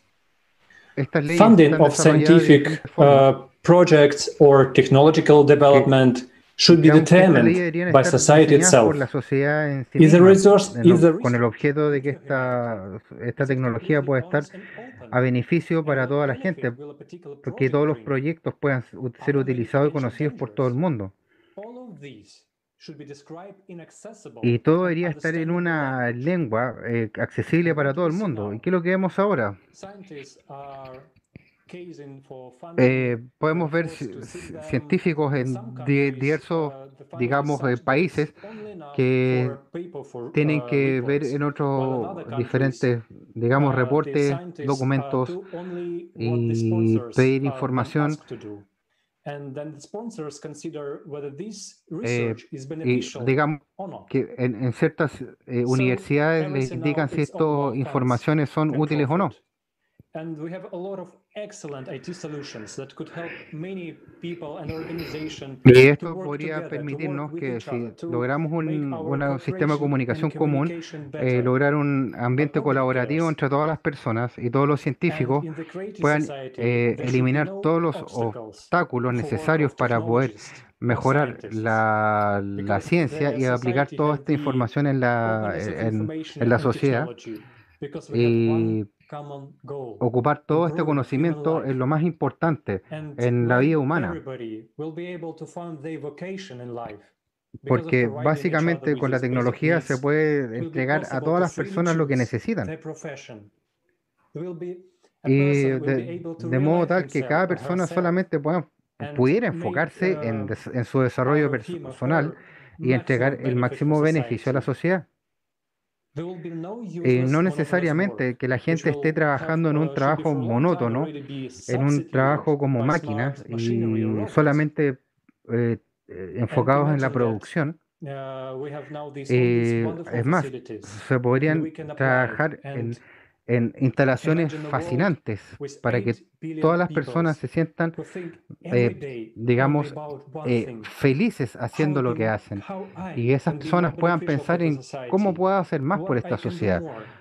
estas leyes Funding están of desarrolladas de scientific diferentes formas uh, projects or technological que, development should be digamos que estas leyes determined deberían by estar society diseñadas por la itself. sociedad en sí Is the misma, resource, en is lo- the con el research objeto de que good for humanity? esta, esta Is it tecnología completely pueda estar honest and open? a beneficio And para what toda la gente, benefit will a particular porque project todos los bring? proyectos puedan u- Are ser there many utilizados y potential conocidos por todo el dangers? mundo. All of these should be described in accessible Y todo and debería estar en understandable una language. lengua eh, accesible And para what do todo we el see mundo. ¿Y now? qué es lo que vemos ahora? Scientists are casing for funding Eh, their podemos ver efforts ci- to seek ci- them. científicos In some en di- countries, diversos, uh, the funding is digamos, eh, such that it's países only enough for que a paper for tienen uh, que ver reports, en while in otros other countries, diferentes, digamos, uh, the reportes, scientists uh, documentos do only what the y sponsors pedir uh, them información. asked to do. And then the sponsors consider whether this eh, research is y beneficial digamos or not. que en, en ciertas eh, So universidades les everything now indican si it's all estas about funds informaciones son and útiles o no. profit. And we have a lot of excellent I T solutions that could help many people and organizations Y to esto work podría together, to work permitirnos with que each other, si to logramos make un, our una- un sistema de cooperation and comunicación común, communication eh, better. lograr un But ambiente nobody colaborativo cares. entre todas las personas y todos los And científicos in the creative puedan society, eh, there should be eliminar no todos los obstacles obstáculos for work necesarios of para poder technologists or mejorar scientists, la, la because ciencia the y aplicar society toda has esta the información en la, openness of en, information en la and sociedad technology, because we have one y common goal, ocupar todo este improving human conocimiento es life. lo más importante And en la when vida humana. everybody will be able to find their vocation in life because of Porque providing each other básicamente with con la these basic tecnología se needs, puede it will be entregar a possible todas to las freely personas lo que choose necesitan. their profession. There will be a Y person will de, be able to de modo realize tal que himself cada or persona herself solamente pueda, and pudiera make enfocarse en, uh, des- en su desarrollo out of him or personal her y entregar maximum el benefit for máximo beneficio a la society. sociedad. There will be no Eh, no useless monotonous work, necesariamente que la which gente esté will have trabajando en un uh, should be trabajo for a long time monótono, already be en un substituted trabajo como by máquinas smart machinery or y robots. solamente eh, eh, And enfocados en la imagine that producción. uh, we have now these all these Eh, wonderful es más, facilities, se and we podrían can apply it. trabajar And en, en instalaciones imagine a world fascinantes with para eight que billion todas las personas peoples se sientan, who think every eh, day only digamos, about one eh, thing: felices how haciendo lo que do hacen. how Y I esas can be more personas puedan beneficial for pensar the en cómo society, puedo hacer más por what I esta can do sociedad. more.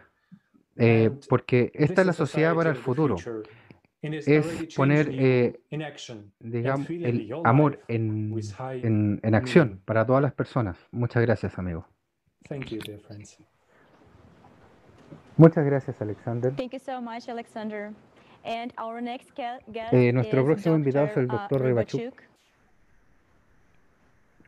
Eh, And porque esta this es la is sociedad para society el of the futuro. future, and is Es already poner, changing you eh, in action and digamos, filling el your amor life with en, high en, en acción meaning. para todas las personas. Muchas gracias, amigo. Thank you, dear friends. Muchas gracias, Alexander. Thank you so much, Alexander. And our next guest Eh, nuestro is próximo invitado es doctor el uh, doctor Rybachuk. Rybachuk.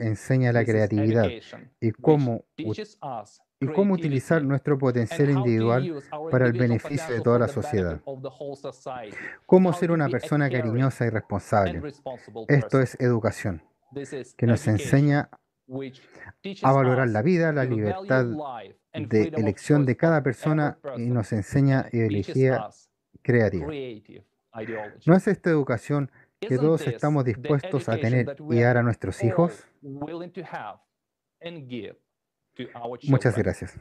enseña la This is creatividad education, y which cómo u- teaches us y cómo utilizar nuestro potencial individual para el beneficio de toda la sociedad. Cómo ser una persona cariñosa y responsable. Esto es educación, que nos enseña a valorar la vida, la libertad de elección de cada persona y nos enseña ideología creativa. ¿No es esta educación que todos estamos dispuestos a tener y dar a nuestros hijos? Muchas gracias.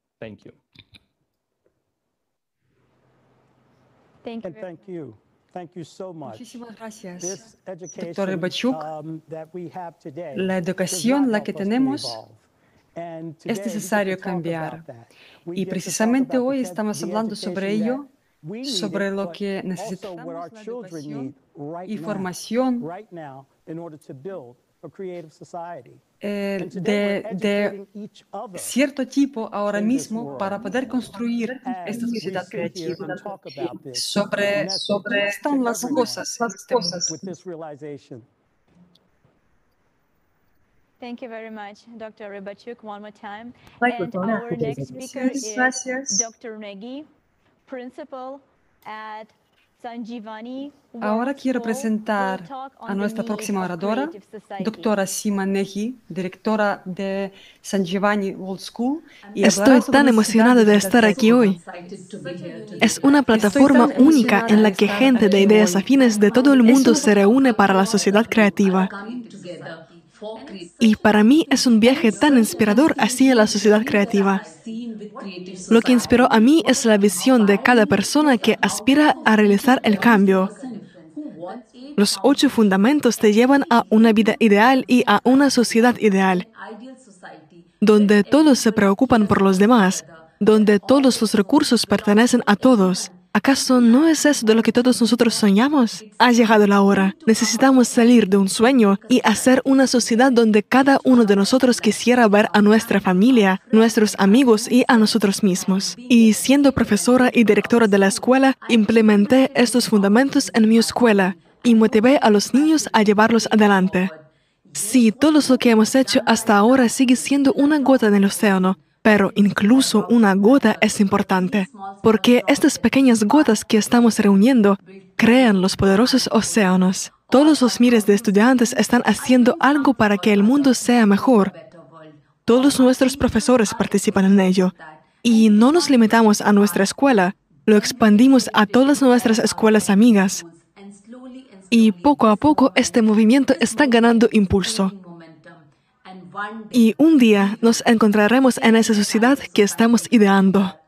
Thank you. And thank you. Thank you so much. Muchísimas gracias, This education, doctor Rybachuk. um, that we have today La does educación, not la help que us to tenemos, evolve. And es today we get to necesario talk cambiar. about that. We Y get to talk precisamente about hoy the estamos the hablando sobre education ello, that we sobre needed, lo but que also necesitamos, what our la children educación need right y now, formación right now, in order to build a creative society. eh, And today we're de, de educating each other cierto tipo ahora in this mismo world. para poder construir As esta we sociedad sit here creativa. and talk about this Sobre, message sobre to están las everyone cosas en este mundo. with this realization. Thank you very much, doctor Rybachuk, one more time. Right, And doctora. our next speaker Gracias, is gracias. doctor Negi, principal at Sanjivani Ahora World quiero School, presentar will talk on a the nuestra need próxima of oradora, creative society. doctora Sima Neji, directora de Sanjivani World School. Y Estoy hablará sobre tan la emocionada necesidad de sociedad estar aquí creativa. hoy. Es una plataforma tan única emocionada en la de que estar gente de aquí ideas hoy. afines de todo el Es mundo una se reúne para la sociedad creativa. Y para mí es un viaje tan inspirador hacia la sociedad creativa. Lo que inspiró a mí es la visión de cada persona que aspira a realizar el cambio. Los ocho fundamentos te llevan a una vida ideal y a una sociedad ideal, donde todos se preocupan por los demás, donde todos los recursos pertenecen a todos. ¿Acaso no es eso de lo que todos nosotros soñamos? Ha llegado la hora. Necesitamos salir de un sueño y hacer una sociedad donde cada uno de nosotros quisiera ver a nuestra familia, nuestros amigos y a nosotros mismos. Y siendo profesora y directora de la escuela, implementé estos fundamentos en mi escuela y motivé a los niños a llevarlos adelante. Sí, todo lo que hemos hecho hasta ahora sigue siendo una gota en el océano, pero incluso una gota es importante, porque estas pequeñas gotas que estamos reuniendo crean los poderosos océanos. Todos los miles de estudiantes están haciendo algo para que el mundo sea mejor. Todos nuestros profesores participan en ello. Y no nos limitamos a nuestra escuela, lo expandimos a todas nuestras escuelas amigas. Y poco a poco este movimiento está ganando impulso. Y un día nos encontraremos en esa sociedad que estamos ideando.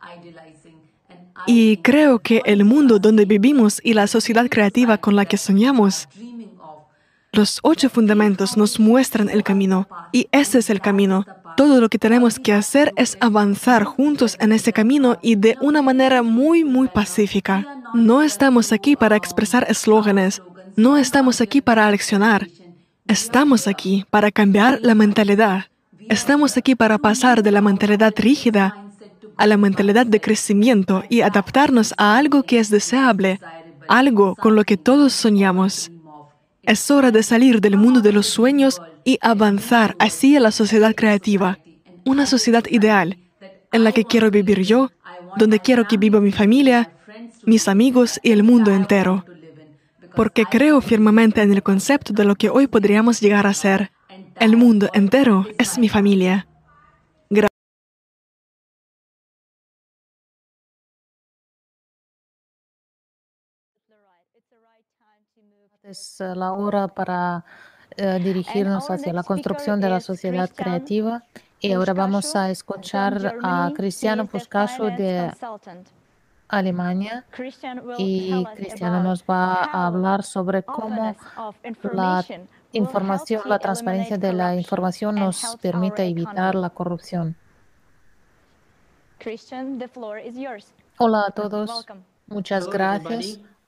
Y creo que el mundo donde vivimos y la sociedad creativa con la que soñamos, los ocho fundamentos nos muestran el camino. Y ese es el camino. Todo lo que tenemos que hacer es avanzar juntos en ese camino y de una manera muy, muy pacífica. No estamos aquí para expresar eslóganes. No estamos aquí para aleccionar. Estamos aquí para cambiar la mentalidad. Estamos aquí para pasar de la mentalidad rígida a la mentalidad de crecimiento y adaptarnos a algo que es deseable, algo con lo que todos soñamos. Es hora de salir del mundo de los sueños y avanzar hacia la sociedad creativa, una sociedad ideal, en la que quiero vivir yo, donde quiero que viva mi familia, mis amigos y el mundo entero. Porque creo firmemente en el concepto de lo que hoy podríamos llegar a ser. El mundo entero es mi familia. Gracias. Es eh, la hora para eh, dirigirnos hacia la construcción de la sociedad creativa. Y ahora vamos a escuchar a Cristiano Puscaso de Alemania. Y Cristiano nos va a hablar sobre cómo la información, la transparencia de la información nos permite evitar la corrupción. Hola a todos, muchas gracias.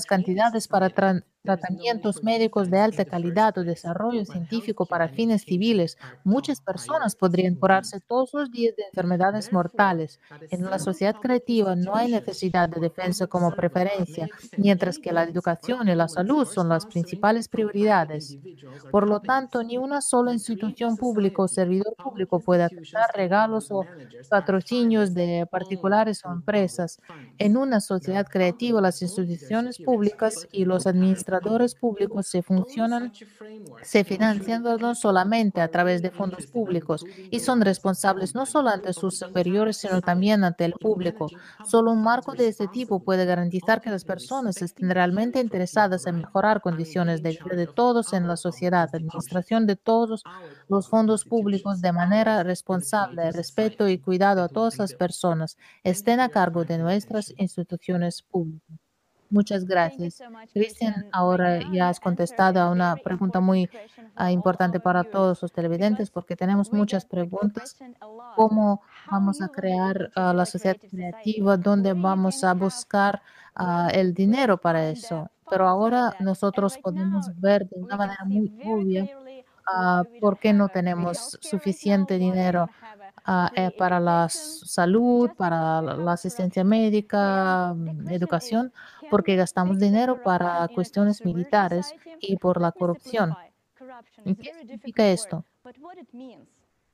cantidades para, tran- tratamientos médicos de alta calidad o desarrollo científico para fines civiles, muchas personas podrían curarse todos los días de enfermedades mortales. En la sociedad creativa no hay necesidad de defensa como preferencia, mientras que la educación y la salud son las principales prioridades. Por lo tanto, ni una sola institución pública o servidor público puede aceptar regalos o patrocinios de particulares o empresas. En una sociedad creativa, las instituciones públicas y los administradores públicos se funcionan se financian no solamente a través de fondos públicos y son responsables no solo ante sus superiores, sino también ante el público. Solo un marco de este tipo puede garantizar que las personas estén realmente interesadas en mejorar condiciones de vida de todos en la sociedad, administración de todos los fondos públicos de manera responsable, respeto y cuidado a todas las personas, estén a cargo de nuestras instituciones públicas. Muchas Thank you gracias. so much, Cristian, Christian. Right ahora now, ya you has answered contestado a a una very pregunta important muy question ah, for all importante our para viewers todos los televidentes because porque tenemos we muchas get like a preguntas. question a lot. ¿Cómo How vamos a you will be able crear to ah, build la a sociedad creative society creativa? ¿Dónde where you vamos can a have buscar ah, well el well dinero para fun that eso? Pero fun so ahora that and nosotros right podemos now ver de una we can manera see muy very obvia clearly ah, why we don't por qué have no a free tenemos healthcare right now, suficiente why we dinero don't have a ah, eh, free para la education, s- salud, just because para we la have la a asistencia corruption. And médica, the mm, question is, educación, can porque we gastamos fix the dinero corruption para in a cuestiones consumer militares society? y por la Let me corrupción. simplify. Corruption ¿Y is a qué very significa difficult word, esto? but what it means?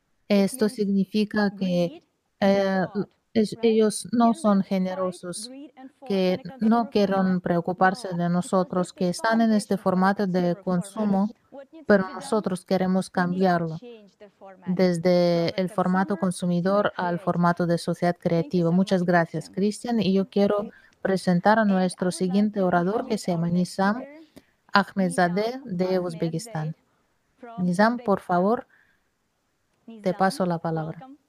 It Esto means significa que greed and eh, fraud, es- right? ellos no Can we son fight generosos, greed and fraud in que a no consumer format? quieren preocuparse No, de because nosotros, this que is están en este foundation for the formato de consumer format. consumo, What needs to pero be done? nosotros queremos We need to cambiarlo change the format from desde a el formato consumer to a consumidor al creative. formato de sociedad Thank you creativa. so Muchas much, gracias, Christian. Cristian. Y yo quiero presentar a And I nuestro would like siguiente to orador, que introduce se our llama next Nizam speaker, Ahmedzadeh Nizam de Ahmedzadeh Uzbekistán. from Nizam, por Uzbekistan. favor, te Nizam, paso la palabra. welcome.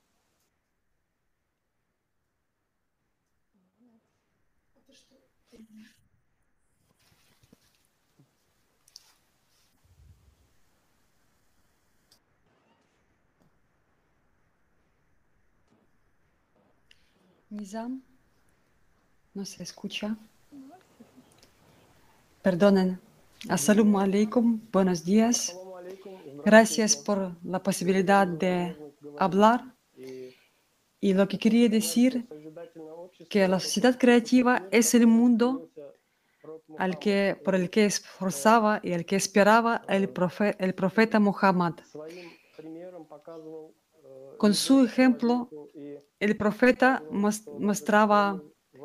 Nizam, no se escucha. Perdonen. Assalamu alaikum, buenos días. Gracias por la posibilidad de hablar. Y lo que quería decir que la sociedad creativa es el mundo al que, por el que esforzaba y el que esperaba el, profe, el profeta Muhammad. Con su ejemplo, el profeta mostraba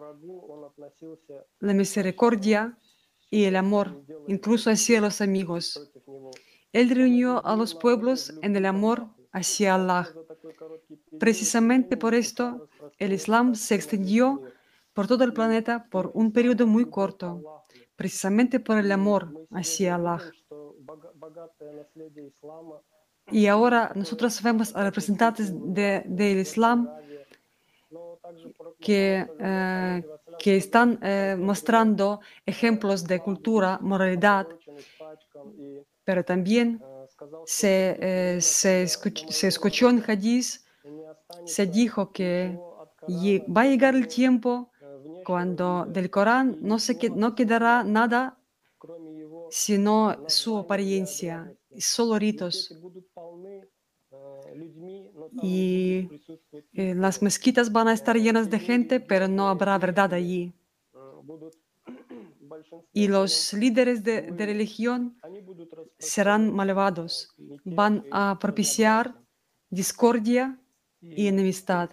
la misericordia y el amor, incluso hacia los amigos. Él reunió a los pueblos en el amor hacia Allah. Precisamente por esto, el Islam se extendió por todo el planeta por un periodo muy corto, precisamente por el amor hacia Allah. Y ahora nosotros vemos a representantes de, del Islam que, eh, que están eh, mostrando ejemplos de cultura, moralidad, pero también se, eh, se, escuch, se escuchó en Hadith, se dijo que va a llegar el tiempo cuando del Corán no, se, no quedará nada sino su apariencia, solo ritos. Y eh, las mezquitas van a estar llenas de gente, pero no habrá verdad allí. Y los líderes de, de religión serán malvados, van a propiciar discordia y enemistad.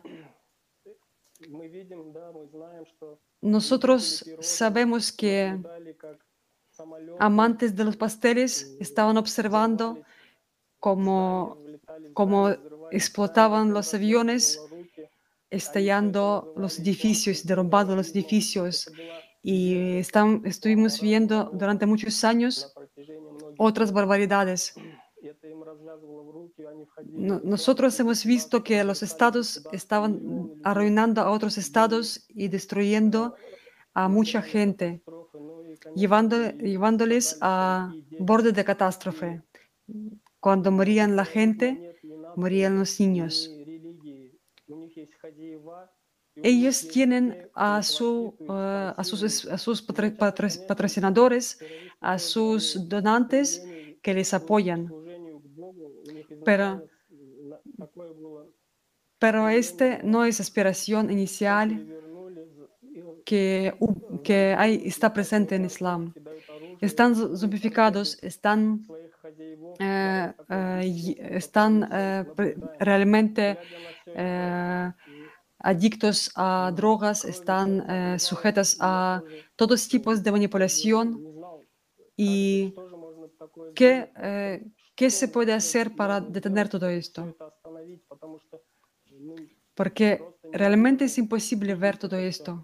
Nosotros sabemos que amantes de los pasteles estaban observando cómo, cómo explotaban los aviones, estallando los edificios, derrumbando los edificios. Y están, estuvimos viendo durante muchos años otras barbaridades. No, nosotros hemos visto que los estados estaban arruinando a otros estados y destruyendo a mucha gente, llevando, llevándoles a borde de catástrofe. Cuando morían la gente, morían los niños. Ellos tienen a, su, eh, a sus, es- a sus patro- patro- patrocinadores, a sus donantes que les apoyan. Pero, pero este no es aspiración inicial que, hu- que hay, está presente en Islam. Están zo- zombificados, están, eh, eh, y- están eh, pre- realmente eh, adictos a drogas, están eh, sujetas a todos tipos de manipulación. ¿Y qué, eh, qué se puede hacer para detener todo esto? Porque realmente es imposible ver todo esto.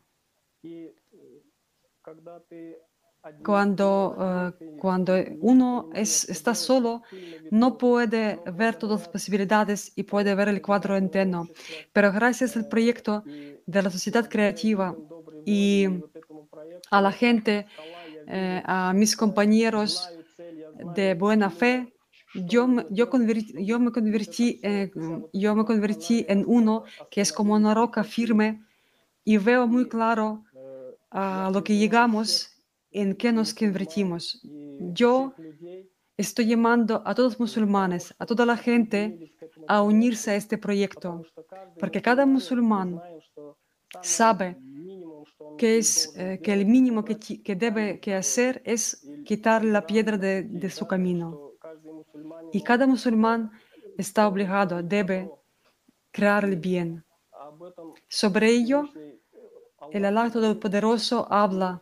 Cuando, eh, cuando uno es, está solo, no puede ver todas las posibilidades y puede ver el cuadro entero. Pero gracias al proyecto de la sociedad creativa y a la gente, eh, a mis compañeros de buena fe, yo me, yo conver- yo me convertí, eh, yo me convertí en uno que es como una roca firme y veo muy claro a lo que llegamos, en qué nos convertimos. Yo estoy llamando a todos los musulmanes, a toda la gente, a unirse a este proyecto, porque cada musulmán sabe que, es, eh, que el mínimo que, ti- que debe que hacer es quitar la piedra de, de su camino. Y cada musulmán está obligado, debe crear el bien. Sobre ello, el Alá Todopoderoso habla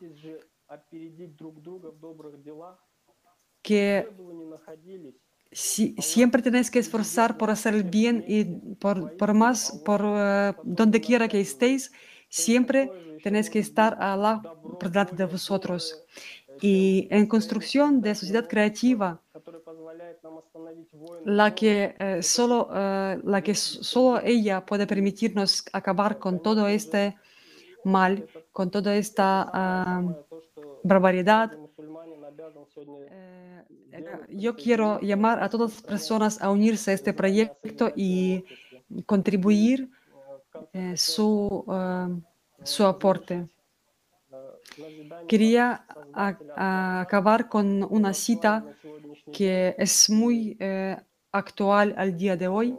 que si- siempre tenéis que esforzar por hacer el bien y por, por más, por eh, donde quiera que estéis, siempre tenéis que estar a Allah por delante de vosotros. Y en construcción de sociedad creativa, la que, eh, solo, eh, la que s- solo ella puede permitirnos acabar con todo este mal, con toda esta ah, barbaridad. Eh, eh, yo quiero llamar a todas las personas a unirse a este proyecto y contribuir eh, su, ah, su aporte. Quería a- a- acabar con una cita que es muy eh, actual al día de hoy.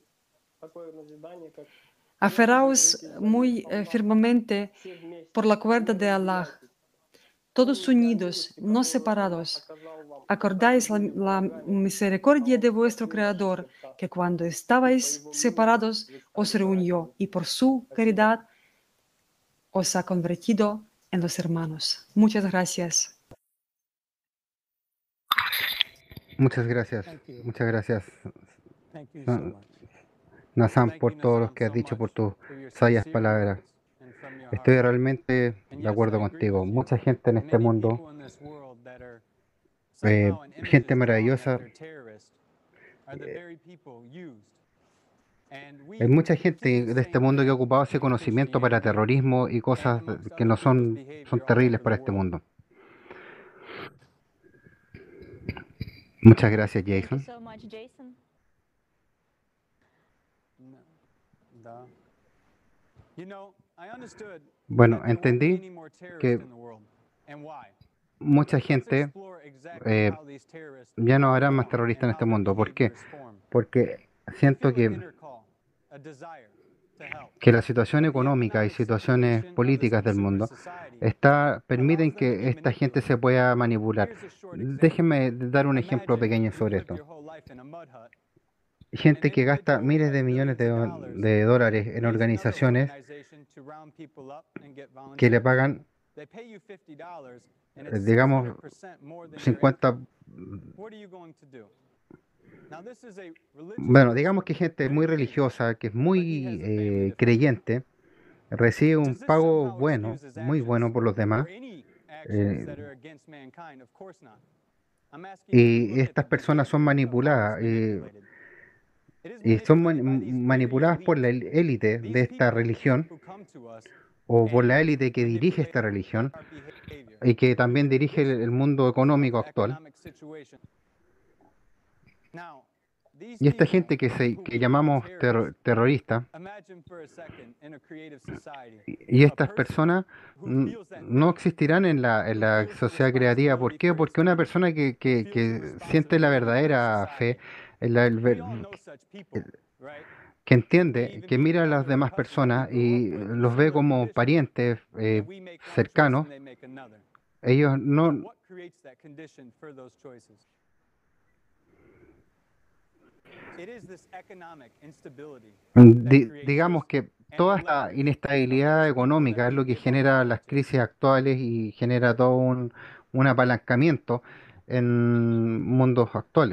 Aferraos muy eh, firmemente por la cuerda de Allah, todos unidos, no separados. Acordáis la, la misericordia de vuestro Creador, que cuando estabais separados os reunió y por su caridad os ha convertido en los hermanos. Muchas gracias. Muchas gracias, muchas gracias, Na- Nazam, por todo lo que has dicho, por tus sabias palabras. Estoy realmente de acuerdo contigo. Mucha gente en este mundo, eh, gente maravillosa, hay mucha gente de este mundo que ha ocupado ese conocimiento para terrorismo y cosas que no son, son terribles para este mundo. Muchas gracias, Thank you Jason. so much, Jason. Bueno, entendí que mucha gente eh, ya no habrá más terroristas en este mundo. ¿Por qué? Porque siento que, que la situación económica y situaciones políticas del mundo está, permiten que esta gente se pueda manipular. Déjenme dar un ejemplo pequeño sobre esto. Gente que gasta miles de millones de, do- de dólares en organizaciones que le pagan, eh, digamos, cincuenta, bueno, digamos que gente muy religiosa, que es muy eh, creyente, recibe un pago bueno, muy bueno por los demás, eh, y estas personas son manipuladas, eh, y son mani- manipuladas por la el- élite de esta religión, o por la élite que dirige esta religión, y que también dirige el, el mundo económico actual. Y esta gente que, se, que llamamos terro- terrorista, y y estas personas mm, no existirán en la, en la sociedad creativa. ¿Por qué? Porque una persona que, que, que siente la verdadera fe, el- el ver- que entiende, que mira a las demás personas y los ve como parientes eh, cercanos, ellos no, di- digamos que toda esta inestabilidad económica es lo que genera las crisis actuales y genera todo un, un apalancamiento en mundos actuales.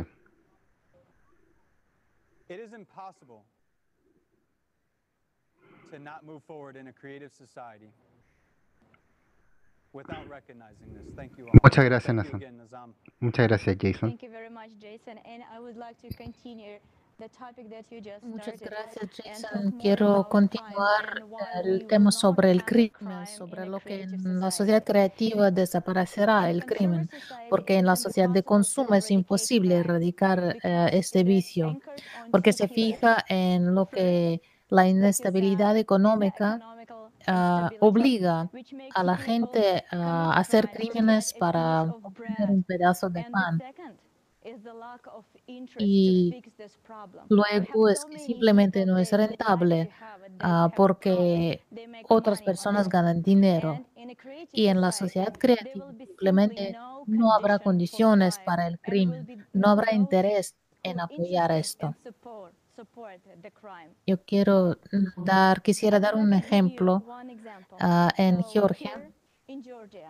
Muchas gracias, Nathan. Muchas gracias, Jason. Thank you very much, Jason. And I would like to continue the topic that you just Muchas started gracias, and talk Jason. more Quiero about crime continuar and why el we will tema not sobre el have a crimen, crime in sobre a lo que creative en la society. sociedad creativa desaparecerá In a el consumer crimen, society, porque it en is la sociedad de impossible to consumo es eradicate imposible crime erradicar eh, because este it is vicio, anchored on porque two se pillars. fija en lo First, que la that is uh, inestabilidad the económica economical ah, instability, obliga which makes a la people gente a commit hacer crimes to get crímenes a piece para of obtener bread. un pedazo de And the pan. second is the lack of interest to Y fix this problem. We have luego es so que many simplemente people, no es they, they like to rentable have it, they ah, have a profit, porque they make otras money on personas it. ganan And dinero. in a creative Y en la society, sociedad there creativa will be simply simplemente no no habrá condition for condiciones crime, para el and will crimen, be no habrá those interés who en are apoyar interested and esto. support support the crime. Yo quiero mm, dar, I quisiera would dar like un to give you ejemplo one example. ah, en So Georgia. here in Georgia,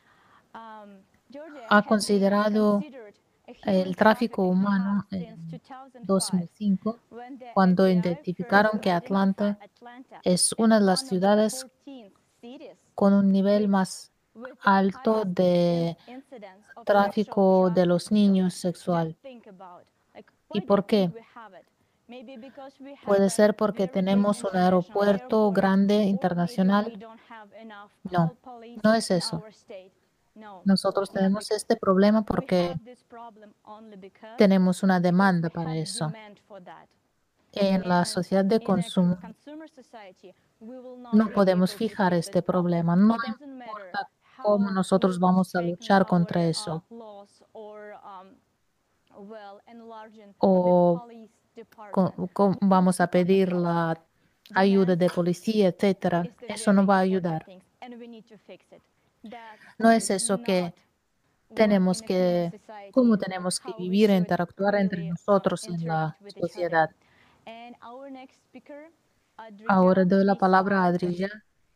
um, Georgia Ha has been considerado considered a human el tráfico trafficking hub humano since en two thousand five, dos mil cinco, when the cuando F B I first identificaron que identified Atlanta Atlanta es as una de las one of the ciudades fourteen cities con un nivel with más with the alto highest in de incidence of sexual tráfico de los trafficking. niños Just sexual. think about, like, ¿Y why do you por think qué? we have it? Maybe because we have Puede a ser porque very big tenemos un international aeropuerto airport, grande or maybe we internacional. don't have enough No, call police no es in eso. our state. No, Nosotros it's not tenemos because este problema we porque have this problem only because tenemos una because demanda we para have eso. demand for that. En la And sociedad de in a con- consumo consumer society, we will not no be podemos able to fijar fix this este problem. problema. No It doesn't matter importa cómo how nosotros we will vamos a straighten luchar contra our uh, eso laws or um, well enlarging the o police co- department. co- We will vamos a not pedir stop. la ayuda Demand de policía, etcétera. is the Eso no very va a important ayudar. thing, and we need to fix it. That No es is eso que not what tenemos in a human que, cómo society tenemos que how we vivir e should interactuar entre really um, nosotros en la interact with each other. sociedad. And our next speaker, Ahora Adrija, doy la please palabra a start. Adrija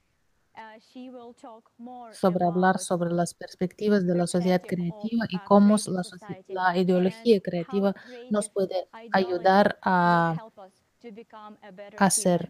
Uh, she will talk more sobre hablar about sobre las perspectivas de la sociedad perspective of creativa y a cómo creative la, soci- society la and ideología how creativa nos creative puede ideology ayudar will a, help us to become a better a human. ser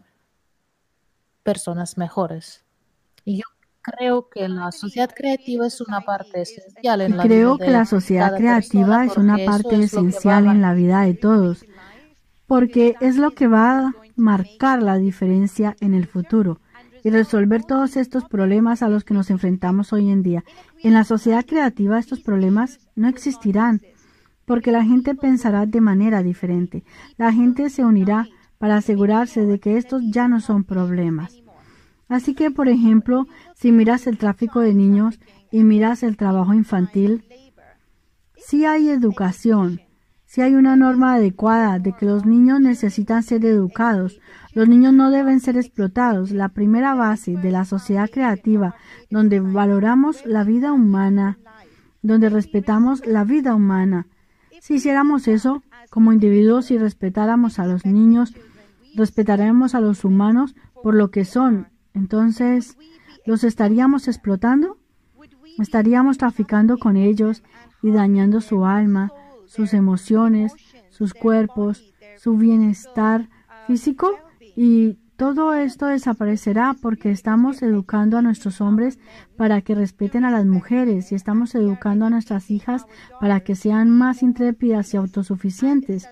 personas mejores. Y yo creo que la sociedad creativa es una parte esencial en Y la vida creo que de la sociedad cada persona creativa es una porque eso parte es lo que va a esencial en la vida de todos, porque es lo que va a marcar la diferencia en el futuro y resolver todos estos problemas a los que nos enfrentamos hoy en día. En la sociedad creativa estos problemas no existirán, porque la gente pensará de manera diferente. La gente se unirá para asegurarse de que estos ya no son problemas. Así que, por ejemplo, si miras el tráfico de niños y miras el trabajo infantil, si hay educación, si hay una norma adecuada de que los niños necesitan ser educados, los niños no deben ser explotados. La primera base de la sociedad creativa, donde valoramos la vida humana, donde respetamos la vida humana. Si hiciéramos eso como individuos y respetáramos a los niños, respetaremos a los humanos por lo que son. Entonces, ¿los estaríamos explotando? ¿Estaríamos traficando con ellos y dañando su alma, sus emociones, sus cuerpos, su bienestar físico? Y todo esto desaparecerá porque estamos educando a nuestros hombres para que respeten a las mujeres y estamos educando a nuestras hijas para que sean más intrépidas y autosuficientes.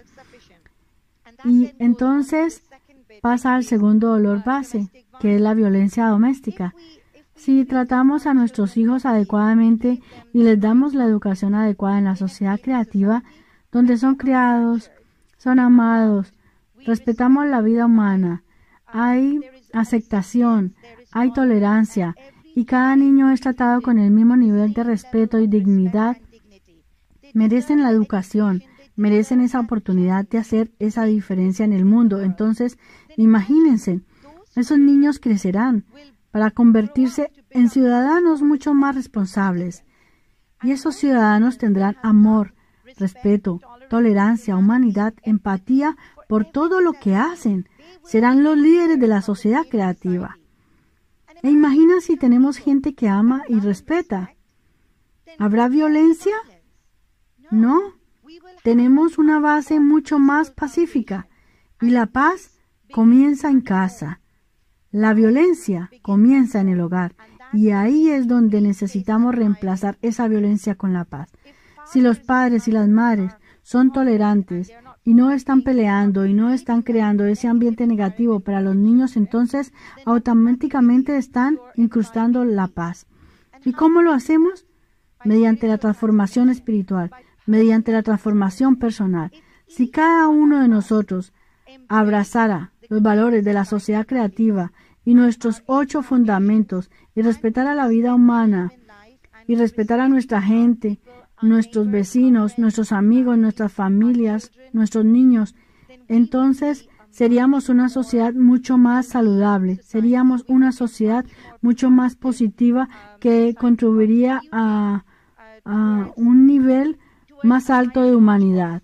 Y entonces pasa al segundo dolor base, que es la violencia doméstica. Si tratamos a nuestros hijos adecuadamente y les damos la educación adecuada en la sociedad creativa, donde son criados, son amados, respetamos la vida humana, hay aceptación, hay tolerancia y cada niño es tratado con el mismo nivel de respeto y dignidad. Merecen la educación, merecen esa oportunidad de hacer esa diferencia en el mundo. Entonces, imagínense, esos niños crecerán para convertirse en ciudadanos mucho más responsables. Y esos ciudadanos tendrán amor, respeto, tolerancia, humanidad, empatía por todo lo que hacen. Serán los líderes de la sociedad creativa. E imagina si tenemos gente que ama y respeta. ¿Habrá violencia? No. Tenemos una base mucho más pacífica y la paz comienza en casa. La violencia comienza en el hogar y ahí es donde necesitamos reemplazar esa violencia con la paz. Si los padres y las madres son tolerantes y no están peleando y no están creando ese ambiente negativo para los niños, entonces automáticamente están incrustando la paz. ¿Y cómo lo hacemos? Mediante la transformación espiritual, mediante la transformación personal. Si cada uno de nosotros abrazara los valores de la sociedad creativa y nuestros ocho fundamentos y respetara la vida humana y respetara a nuestra gente, nuestros vecinos, nuestros amigos, nuestras familias, nuestros niños, entonces seríamos una sociedad mucho más saludable, seríamos una sociedad mucho más positiva que contribuiría a, a un nivel más alto de humanidad.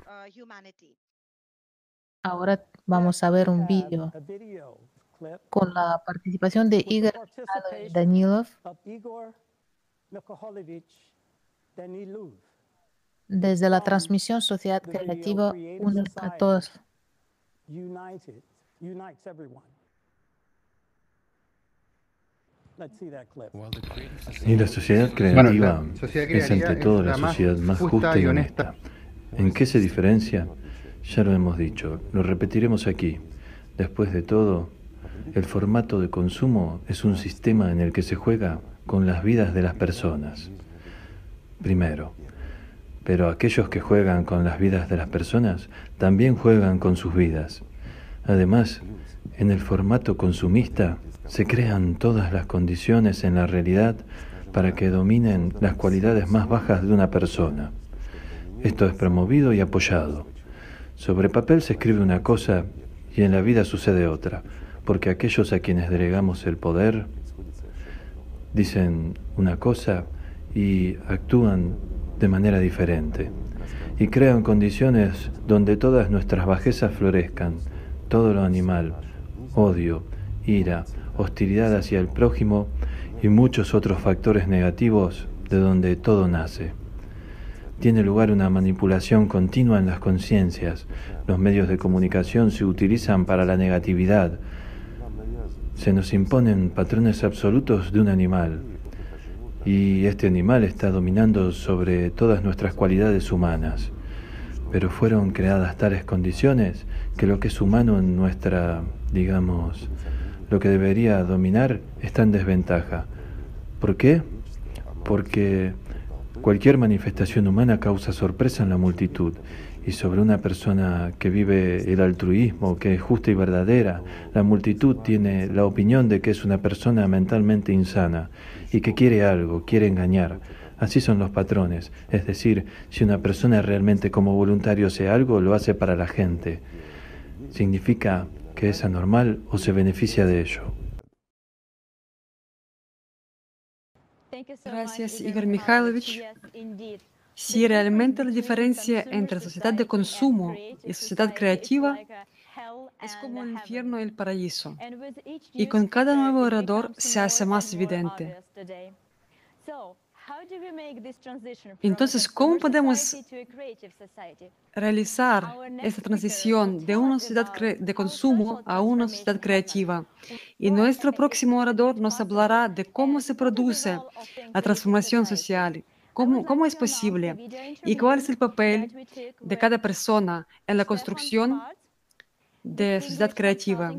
Ahora vamos a ver un vídeo con la participación de Igor Mikhailovich Danilov desde la transmisión Sociedad Creativa Une a Todos. Y la sociedad Bueno, la creativa sociedad es ante creativa todo es la la más sociedad más justa y honesta. ¿En qué se diferencia? Ya lo hemos dicho, lo repetiremos aquí. Después de todo, el formato de consumo es un sistema en el que se juega con las vidas de las personas. Primero, pero aquellos que juegan con las vidas de las personas también juegan con sus vidas. Además, en el formato consumista se crean todas las condiciones en la realidad para que dominen las cualidades más bajas de una persona. Esto es promovido y apoyado. Sobre papel se escribe una cosa y en la vida sucede otra, porque aquellos a quienes delegamos el poder dicen una cosa y actúan de manera diferente y crean condiciones donde todas nuestras bajezas florezcan, todo lo animal, odio, ira, hostilidad hacia el prójimo y muchos otros factores negativos de donde todo nace. Tiene lugar una manipulación continua en las conciencias. Los medios de comunicación se utilizan para la negatividad. Se nos imponen patrones absolutos de un animal. Y este animal está dominando sobre todas nuestras cualidades humanas. Pero fueron creadas tales condiciones que lo que es humano en nuestra, digamos, lo que debería dominar está en desventaja. ¿Por qué? Porque cualquier manifestación humana causa sorpresa en la multitud, y sobre una persona que vive el altruismo, que es justa y verdadera, la multitud tiene la opinión de que es una persona mentalmente insana y que quiere algo, quiere engañar. Así son los patrones, es decir, si una persona realmente como voluntario hace algo, lo hace para la gente. Significa que es anormal o se beneficia de ello. Gracias, Igor Mikhailovich. Sí, realmente la diferencia entre sociedad de consumo y sociedad creativa es como el infierno y el paraíso. Y con cada nuevo orador se hace más evidente. Entonces, ¿cómo podemos realizar esta transición de una sociedad de consumo a una sociedad creativa? Y nuestro próximo orador nos hablará de cómo se produce la transformación social, cómo, cómo es posible y cuál es el papel de cada persona en la construcción de sociedad creativa.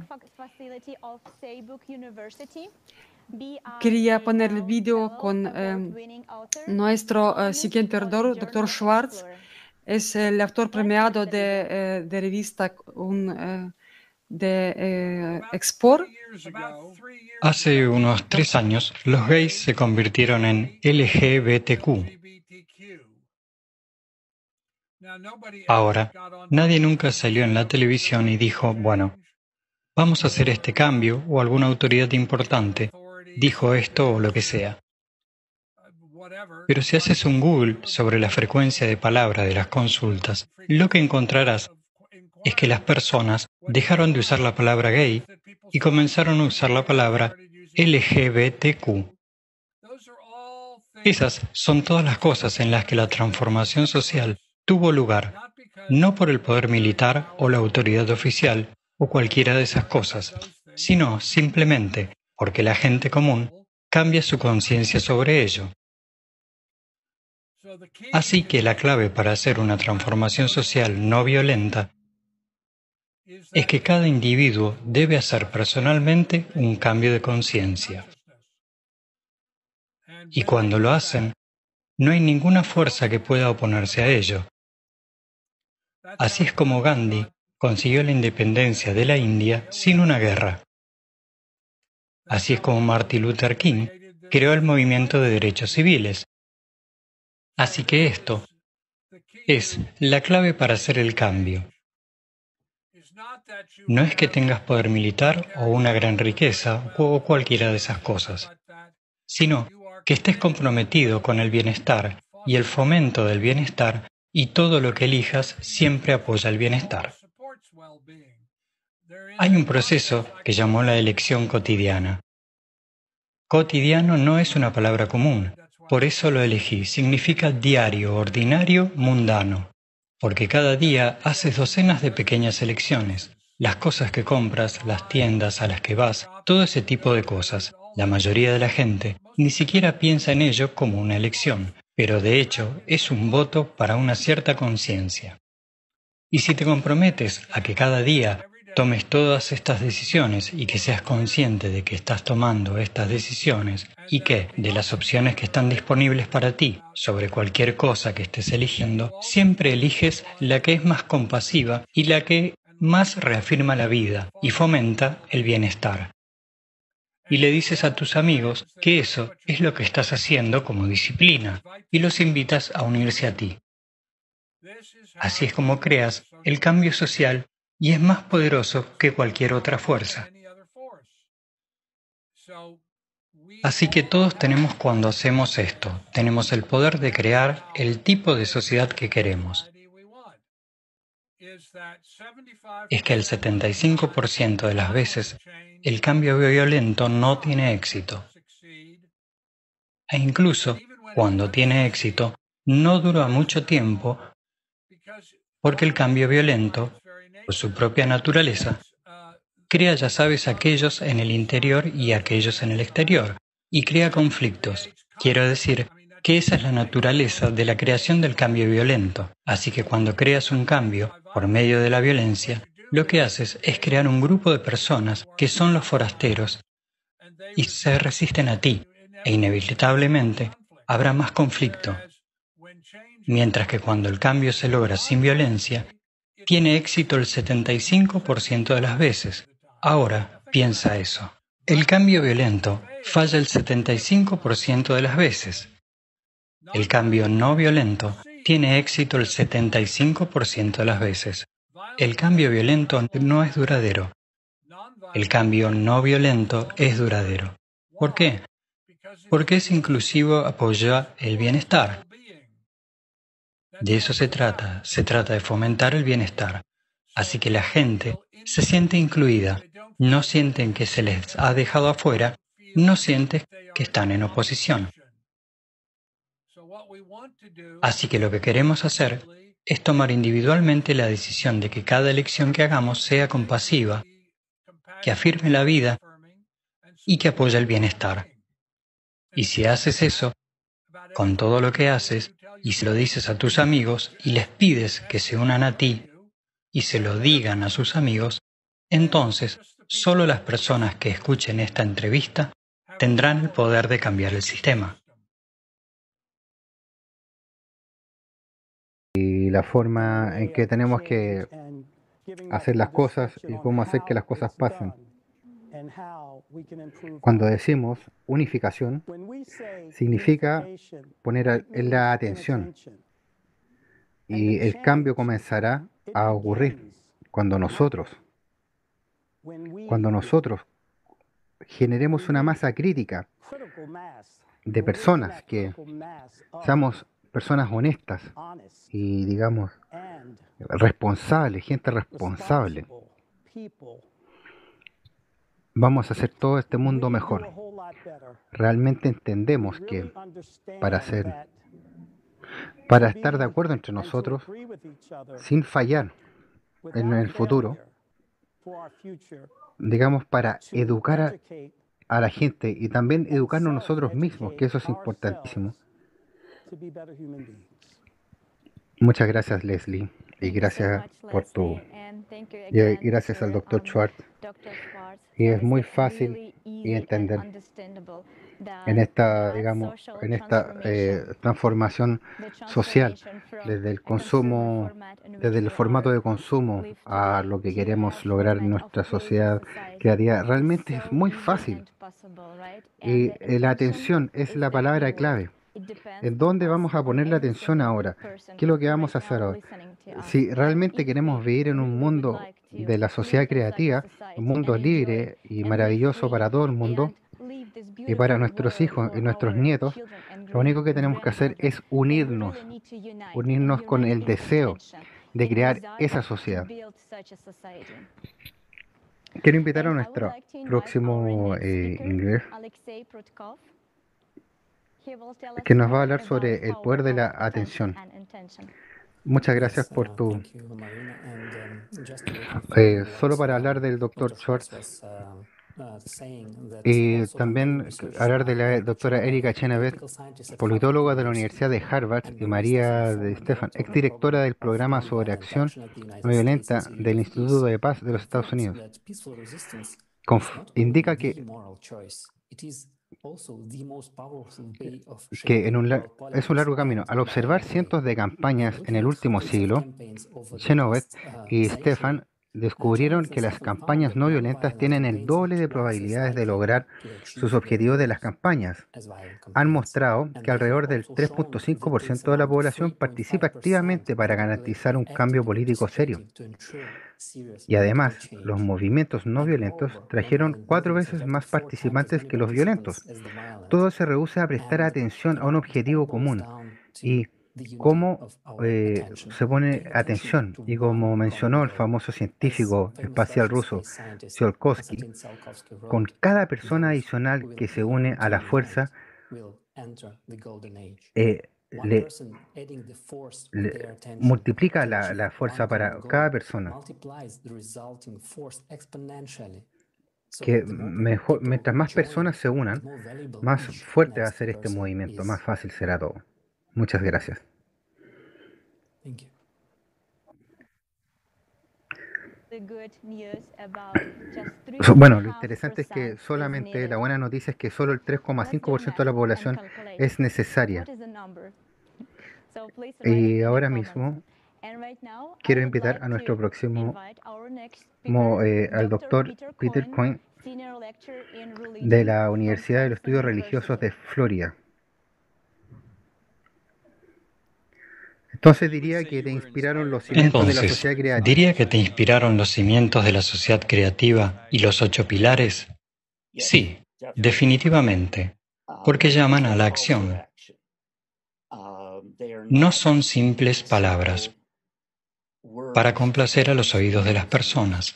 Quería poner el video con eh, nuestro uh, siguiente orador, doctor Schwartz, Es el autor premiado de, eh, de revista un, eh, de eh, Export. Hace unos tres años, los gays se convirtieron en L G B T Q. Ahora, nadie nunca salió en la televisión y dijo, bueno, vamos a hacer este cambio o alguna autoridad importante dijo esto o lo que sea. Pero si haces un Google sobre la frecuencia de palabra de las consultas, lo que encontrarás es que las personas dejaron de usar la palabra gay y comenzaron a usar la palabra L G B T Q. Esas son todas las cosas en las que la transformación social tuvo lugar, no por el poder militar o la autoridad oficial o cualquiera de esas cosas, sino simplemente porque la gente común cambia su conciencia sobre ello. Así que la clave para hacer una transformación social no violenta es que cada individuo debe hacer personalmente un cambio de conciencia. Y cuando lo hacen, no hay ninguna fuerza que pueda oponerse a ello. Así es como Gandhi consiguió la independencia de la India sin una guerra. Así es como Martin Luther King creó el movimiento de derechos civiles. Así que esto es la clave para hacer el cambio. No es que tengas poder militar o una gran riqueza o cualquiera de esas cosas, sino que estés comprometido con el bienestar y el fomento del bienestar y todo lo que elijas siempre apoya el bienestar. Hay un proceso que llamó la elección cotidiana. Cotidiano no es una palabra común, por eso lo elegí. Significa diario, ordinario, mundano, porque cada día haces docenas de pequeñas elecciones. Las cosas que compras, las tiendas a las que vas, todo ese tipo de cosas. La mayoría de la gente ni siquiera piensa en ello como una elección, pero de hecho es un voto para una cierta conciencia. Y si te comprometes a que cada día tomes todas estas decisiones y que seas consciente de que estás tomando estas decisiones y que, de las opciones que están disponibles para ti sobre cualquier cosa que estés eligiendo, siempre eliges la que es más compasiva y la que más reafirma la vida y fomenta el bienestar. Y le dices a tus amigos que eso es lo que estás haciendo como disciplina y los invitas a unirse a ti. Así es como creas el cambio social y es más poderoso que cualquier otra fuerza. Así que todos tenemos cuando hacemos esto, tenemos el poder de crear el tipo de sociedad que queremos. Es que el setenta y cinco por ciento de las veces el cambio violento no tiene éxito. E incluso cuando tiene éxito, no dura mucho tiempo porque el cambio violento, por su propia naturaleza, crea, ya sabes, aquellos en el interior y aquellos en el exterior, y crea conflictos. Quiero decir que esa es la naturaleza de la creación del cambio violento. Así que cuando creas un cambio por medio de la violencia, lo que haces es crear un grupo de personas que son los forasteros y se resisten a ti, e inevitablemente habrá más conflicto. Mientras que cuando el cambio se logra sin violencia, tiene éxito el setenta y cinco por ciento de las veces. Ahora, piensa eso. El cambio violento falla el setenta y cinco por ciento de las veces. El cambio no violento tiene éxito el setenta y cinco por ciento de las veces. El cambio violento no es duradero. El cambio no violento es duradero. ¿Por qué? Porque es inclusivo, apoya el bienestar. De eso se trata, se trata de fomentar el bienestar. Así que la gente se siente incluida, no sienten que se les ha dejado afuera, no sienten que están en oposición. Así que lo que queremos hacer es tomar individualmente la decisión de que cada elección que hagamos sea compasiva, que afirme la vida y que apoye el bienestar. Y si haces eso, con todo lo que haces, y se lo dices a tus amigos y les pides que se unan a ti y se lo digan a sus amigos, entonces solo las personas que escuchen esta entrevista tendrán el poder de cambiar el sistema. la forma en que tenemos que hacer las cosas y cómo hacer que las cosas pasen. Cuando decimos unificación, significa poner en la atención, y el cambio comenzará a ocurrir cuando nosotros, cuando nosotros generemos una masa crítica de personas, que seamos personas honestas y, digamos, responsables, gente responsable. Vamos a hacer todo este mundo mejor. Realmente entendemos que para hacer, para estar de acuerdo entre nosotros, sin fallar en el futuro, digamos, para educar a, a la gente y también educarnos nosotros mismos, que eso es importantísimo. Muchas gracias, Leslie, y gracias por tu, y gracias al doctor Schwartz. Y es muy fácil y entender en esta, digamos, en esta eh, transformación social, desde el consumo, desde el formato de consumo a lo que queremos lograr en nuestra sociedad creativa. Realmente es muy fácil. Y eh, la atención es la palabra clave. ¿En dónde vamos a poner la atención ahora? ¿Qué es lo que vamos a hacer ahora? Si realmente queremos vivir en un mundo de la sociedad creativa, un mundo libre y maravilloso para todo el mundo y para nuestros hijos y nuestros nietos, lo único que tenemos que hacer es unirnos, unirnos con el deseo de crear esa sociedad. Quiero invitar a nuestro próximo eh, inglés, que nos va a hablar sobre el poder de la atención. Muchas gracias por tu... Eh, solo para hablar del doctor Schwartz y también hablar de la doctora Erika Chenevert, politóloga de la Universidad de Harvard, y María de Stefan, exdirectora del programa sobre acción no violenta del Instituto de Paz de los Estados Unidos. Conf- indica que que en un lar- es un largo camino. Al observar cientos de campañas en el último siglo, Chenoweth y Stefan descubrieron que las campañas no violentas tienen el doble de probabilidades de lograr sus objetivos de las campañas. Han mostrado que alrededor del tres punto cinco por ciento de la población participa activamente para garantizar un cambio político serio. Y además, los movimientos no violentos trajeron cuatro veces más participantes que los violentos. Todo se reduce a prestar atención a un objetivo común y cómo eh, se pone atención. Y como mencionó el famoso científico espacial ruso Tsiolkovsky, con cada persona adicional que se une a la fuerza, eh, le, le multiplica la, la fuerza para cada persona. Que mejor, mientras más personas se unan, más fuerte va a ser este movimiento, más fácil será todo. Muchas gracias. Bueno, lo interesante es que solamente, la buena noticia es que solo el tres coma cinco por ciento de la población es necesaria. Y ahora mismo quiero invitar a nuestro próximo, eh, al doctor Peter Coyne, de la Universidad de los Estudios Religiosos de Florida. Entonces diría que te inspiraron los cimientos Entonces, de la sociedad creativa. ¿diría que te inspiraron los cimientos de la sociedad creativa y los ocho pilares? Sí, definitivamente, porque llaman a la acción. No son simples palabras para complacer a los oídos de las personas.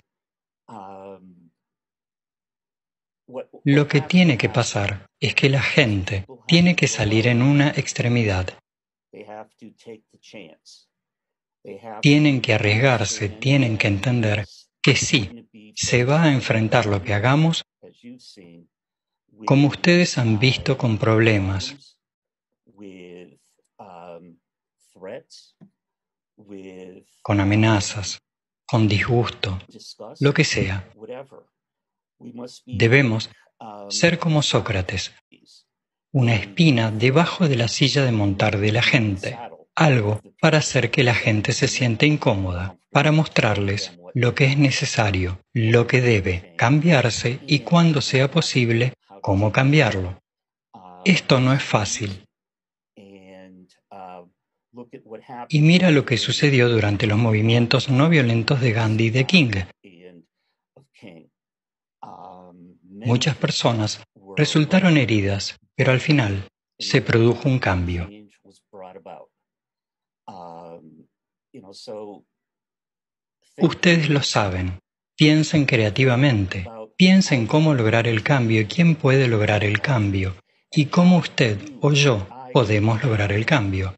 Lo que tiene que pasar es que la gente tiene que salir en una extremidad. Tienen que arriesgarse, tienen que entender que sí, se va a enfrentar lo que hagamos, como ustedes han visto, con problemas, con amenazas, con disgusto, lo que sea. Debemos ser como Sócrates, una espina debajo de la silla de montar de la gente, Algo para hacer que la gente se sienta incómoda, para mostrarles lo que es necesario, lo que debe cambiarse y cuando sea posible, cómo cambiarlo. Esto no es fácil. Y mira lo que sucedió durante los movimientos no violentos de Gandhi y de King. Muchas personas resultaron heridas, pero al final se produjo un cambio. Ustedes lo saben. Piensen creativamente. Piensen cómo lograr el cambio y quién puede lograr el cambio. Y cómo usted o yo podemos lograr el cambio.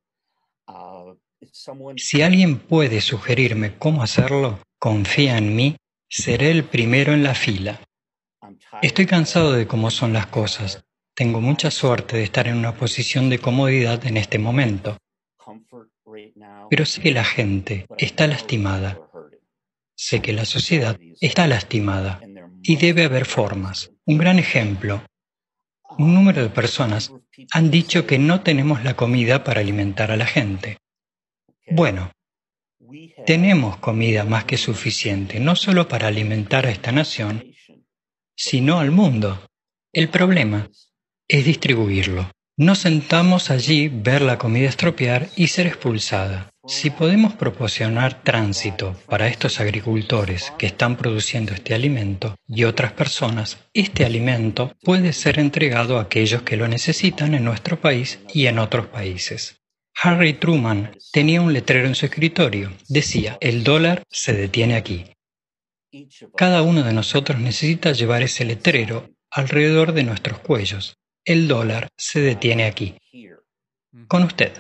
Si alguien puede sugerirme cómo hacerlo, confía en mí, seré el primero en la fila. Estoy cansado de cómo son las cosas. Tengo mucha suerte de estar en una posición de comodidad en este momento. Pero sé que la gente está lastimada. Sé que la sociedad está lastimada y debe haber formas. Un gran ejemplo. Un número de personas han dicho que no tenemos la comida para alimentar a la gente. Bueno, tenemos comida más que suficiente, no solo para alimentar a esta nación, sino al mundo. El problema es distribuirlo. Nos sentamos allí, ver la comida estropear y ser expulsada. Si podemos proporcionar tránsito para estos agricultores que están produciendo este alimento y otras personas, este alimento puede ser entregado a aquellos que lo necesitan en nuestro país y en otros países. Harry Truman tenía un letrero en su escritorio. Decía, el dólar se detiene aquí. Cada uno de nosotros necesita llevar ese letrero alrededor de nuestros cuellos. El dólar se detiene aquí. Con usted.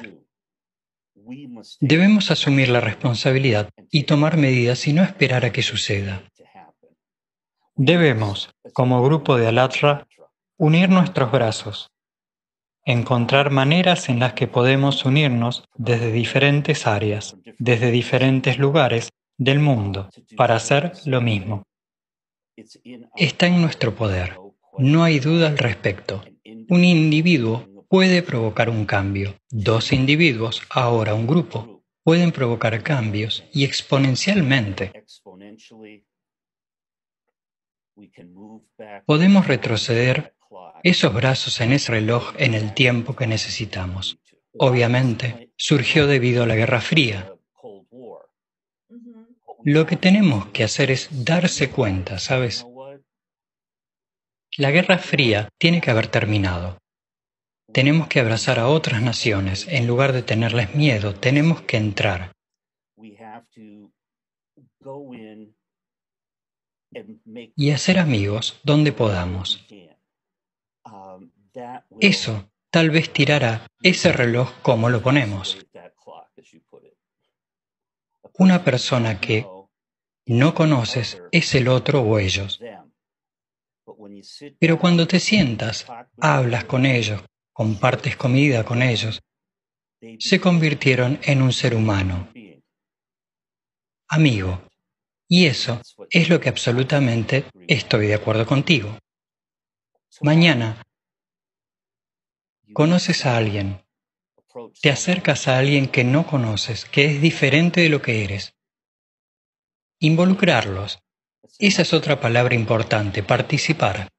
Debemos asumir la responsabilidad y tomar medidas y no esperar a que suceda. Debemos, como grupo de Alatra, unir nuestros brazos, encontrar maneras en las que podemos unirnos desde diferentes áreas, desde diferentes lugares del mundo, para hacer lo mismo. Está en nuestro poder, no hay duda al respecto. Un individuo puede provocar un cambio. Dos individuos, ahora un grupo, pueden provocar cambios y exponencialmente. Podemos retroceder esos brazos en ese reloj en el tiempo que necesitamos. Obviamente, surgió debido a la Guerra Fría. Lo que tenemos que hacer es darse cuenta, ¿sabes? La Guerra Fría tiene que haber terminado. Tenemos que abrazar a otras naciones. En lugar de tenerles miedo, tenemos que entrar. Y hacer amigos donde podamos. Eso tal vez tirará ese reloj como lo ponemos. Una persona que no conoces es el otro o ellos. Pero cuando te sientas, hablas con ellos, compartes comida con ellos, se convirtieron en un ser humano, amigo. Y eso es lo que absolutamente estoy de acuerdo contigo. Mañana, conoces a alguien, te acercas a alguien que no conoces, que es diferente de lo que eres. Involucrarlos. Esa es otra palabra importante, participar.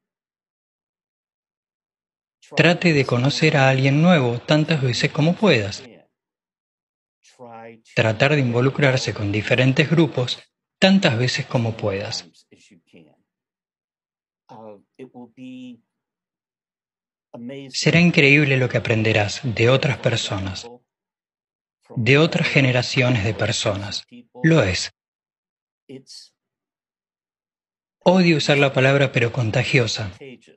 Trate de conocer a alguien nuevo tantas veces como puedas. Tratar de involucrarse con diferentes grupos tantas veces como puedas. Será increíble lo que aprenderás de otras personas, de otras generaciones de personas. Lo es. Odio usar la palabra, pero contagiosa.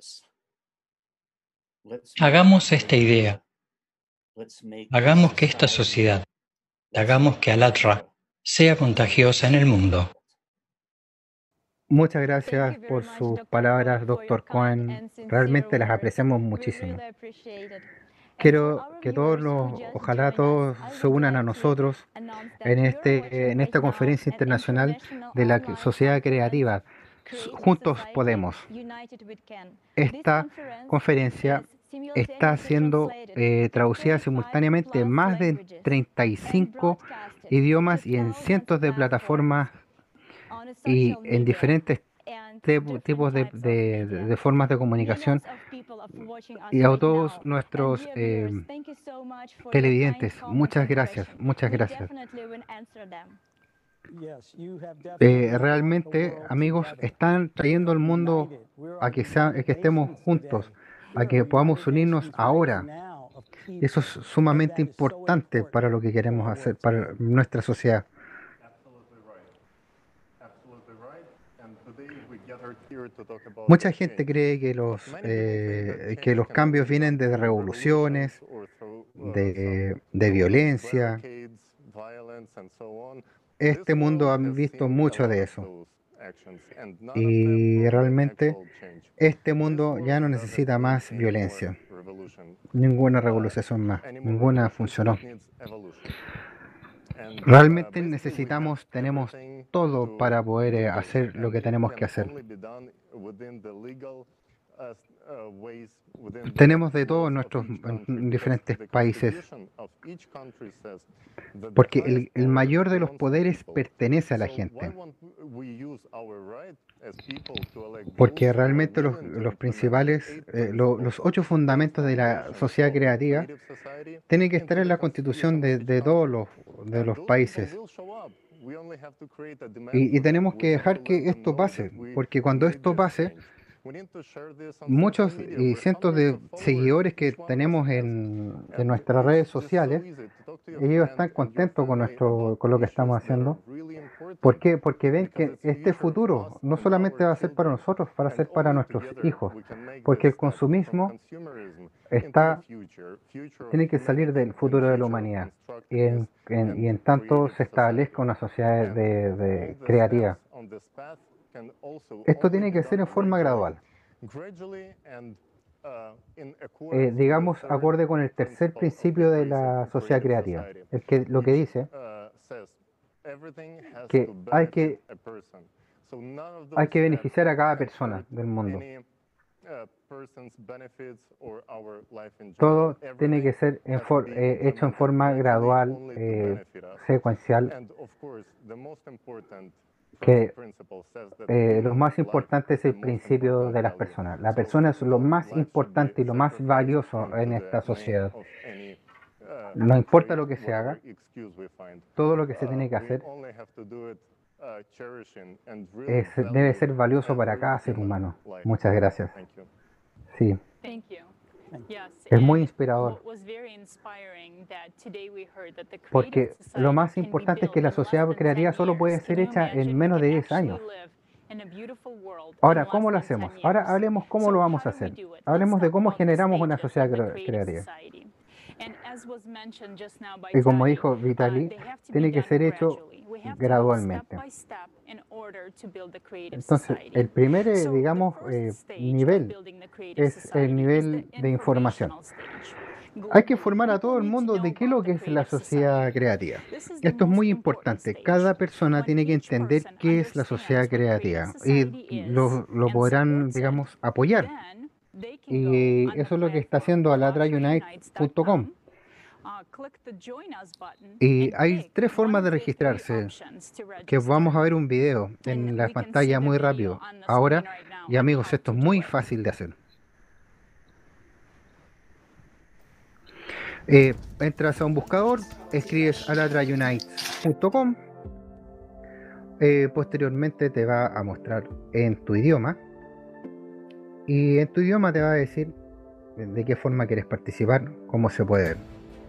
Hagamos esta idea. Hagamos que esta sociedad, hagamos que Alatra sea contagiosa en el mundo. Muchas gracias por sus palabras, doctor Cohen. Realmente las apreciamos muchísimo. Quiero que todos los, ojalá todos se unan a nosotros en, este, en esta conferencia internacional de la sociedad creativa. Juntos podemos. Esta conferencia está siendo eh, traducida simultáneamente en más de treinta y cinco idiomas y en cientos de plataformas y en diferentes tepu- tipos de, de- de- de formas de comunicación. Y a todos nuestros eh, televidentes, muchas gracias, muchas gracias. Eh, realmente, amigos, están trayendo al mundo a que, sea, a que estemos juntos, a que podamos unirnos ahora. Eso es sumamente importante para lo que queremos hacer, para nuestra sociedad. Mucha gente cree que los, eh, que los cambios vienen de revoluciones, de, de violencia. Este mundo ha visto mucho de eso. Y realmente este mundo ya no necesita más violencia. Ninguna revolución más. Ninguna funcionó. Realmente necesitamos, tenemos todo para poder eh, hacer lo que tenemos que hacer. Tenemos de todo en nuestros en diferentes países, porque el, el mayor de los poderes pertenece a la gente. Porque realmente los, los principales, eh, lo- los ocho fundamentos de la sociedad creativa tienen que estar en la constitución de, de todos los, de los países. Y, y tenemos que dejar que esto pase, porque cuando esto pase, muchos y cientos de seguidores que tenemos en, en nuestras redes sociales, ellos están contentos con nuestro, con lo que estamos haciendo. ¿Por qué? Porque ven que este futuro no solamente va a ser para nosotros, va a ser para nuestros hijos, porque el consumismo está, tiene que salir del futuro de la humanidad y en, en- y en tanto se establezca una sociedad de, de creativa. Esto tiene que ser en forma gradual. Eh, digamos, acorde con el tercer principio de la sociedad creativa, el que, lo que dice que hay que, hay que beneficiar a cada persona del mundo. Todo tiene que ser en for- eh, hecho en forma gradual, eh, secuencial, que eh, lo más importante es el principio de las personas. La persona es lo más importante y lo más valioso en esta sociedad. No importa lo que se haga, todo lo que se tiene que hacer es, debe ser valioso para cada ser humano. Muchas gracias. Sí, es muy inspirador. Porque lo más importante es que la sociedad creativa solo puede ser hecha en menos de diez años. Ahora, ¿cómo lo hacemos? Ahora hablemos cómo lo vamos a hacer. Hablemos de cómo generamos una sociedad cre- creativa. Y como dijo Vitali, tiene que ser hecho gradualmente. Entonces, el primer, eh, digamos, eh, nivel es el nivel de información. Hay que informar a todo el mundo de qué es lo que es la sociedad creativa. Esto es muy importante. Cada persona tiene que entender qué es la sociedad creativa y lo, lo podrán, digamos, apoyar. Y eso es lo que está haciendo alatra unite punto com. Y hay tres formas de registrarse, que vamos a ver un video en la pantalla muy rápido. Ahora, y amigos, esto es muy fácil de hacer. Eh, entras a un buscador, escribes alatra unite punto com, eh, posteriormente te va a mostrar en tu idioma, y en tu idioma te va a decir de qué forma quieres participar, cómo se puede ver.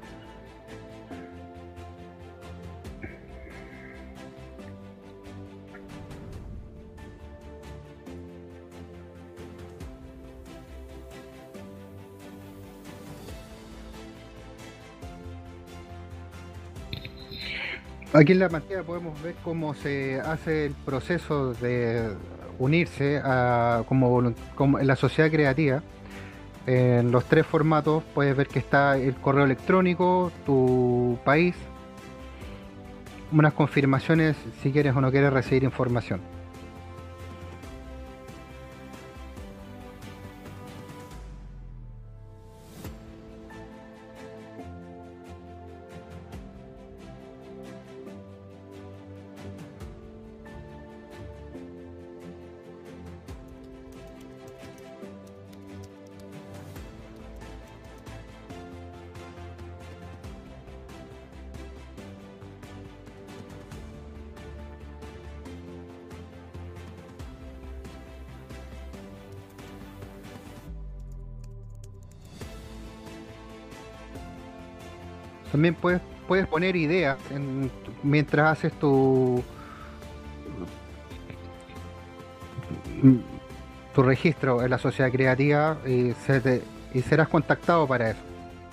Aquí en la pantalla podemos ver cómo se hace el proceso de unirse a, como, volunt- como en la sociedad creativa. En los tres formatos puedes ver que está el correo electrónico, tu país, unas confirmaciones si quieres o no quieres recibir información. También puedes, puedes poner ideas en- mientras haces tu, tu registro en la sociedad creativa y, se te- y serás contactado para eso.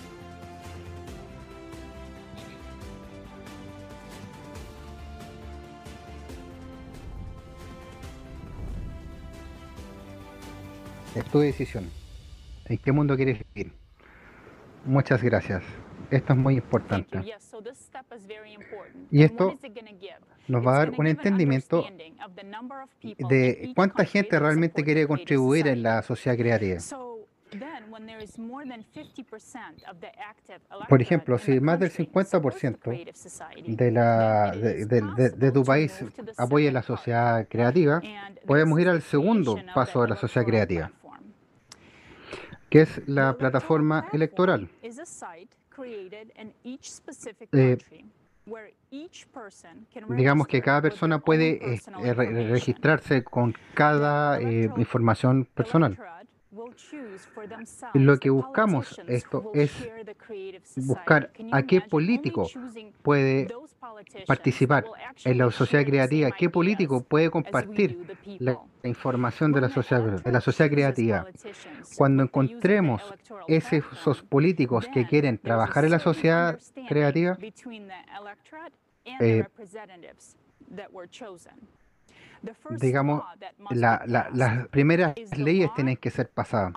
Es tu decisión. ¿En qué mundo quieres vivir? Muchas gracias. Esto es muy importante. Y esto nos va a dar un entendimiento de cuánta gente realmente quiere contribuir en la sociedad creativa. Por ejemplo, si más del cincuenta por ciento de, la, de, de- de- de tu país apoya la sociedad creativa, podemos ir al segundo paso de la sociedad creativa, que es la plataforma electoral. Eh, digamos que cada persona puede eh, eh, re- registrarse con cada eh, información personal. Y lo que buscamos esto es buscar a qué político puede participar en la sociedad creativa, qué político puede compartir la, la información de la sociedad, de la sociedad creativa. Cuando encontremos ese- esos políticos que quieren trabajar en la sociedad creativa, eh, digamos, la- la- las primeras leyes tienen que ser pasadas.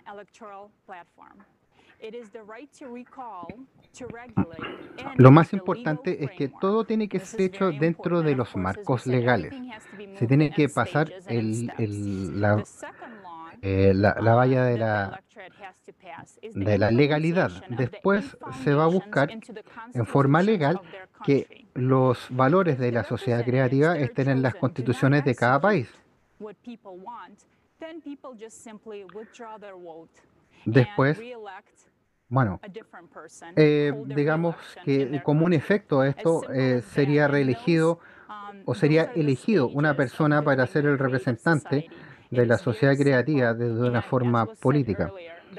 Lo más importante es que todo tiene que ser hecho dentro de los marcos legales. Se tiene que pasar el, el- la, eh, la- la valla de la, de la legalidad. Después se va a buscar en forma legal que los valores de la sociedad creativa estén en las constituciones de cada país. Después, bueno, eh, digamos que como un efecto de esto eh, sería reelegido o sería elegido una persona para ser el representante de la sociedad creativa desde una forma política.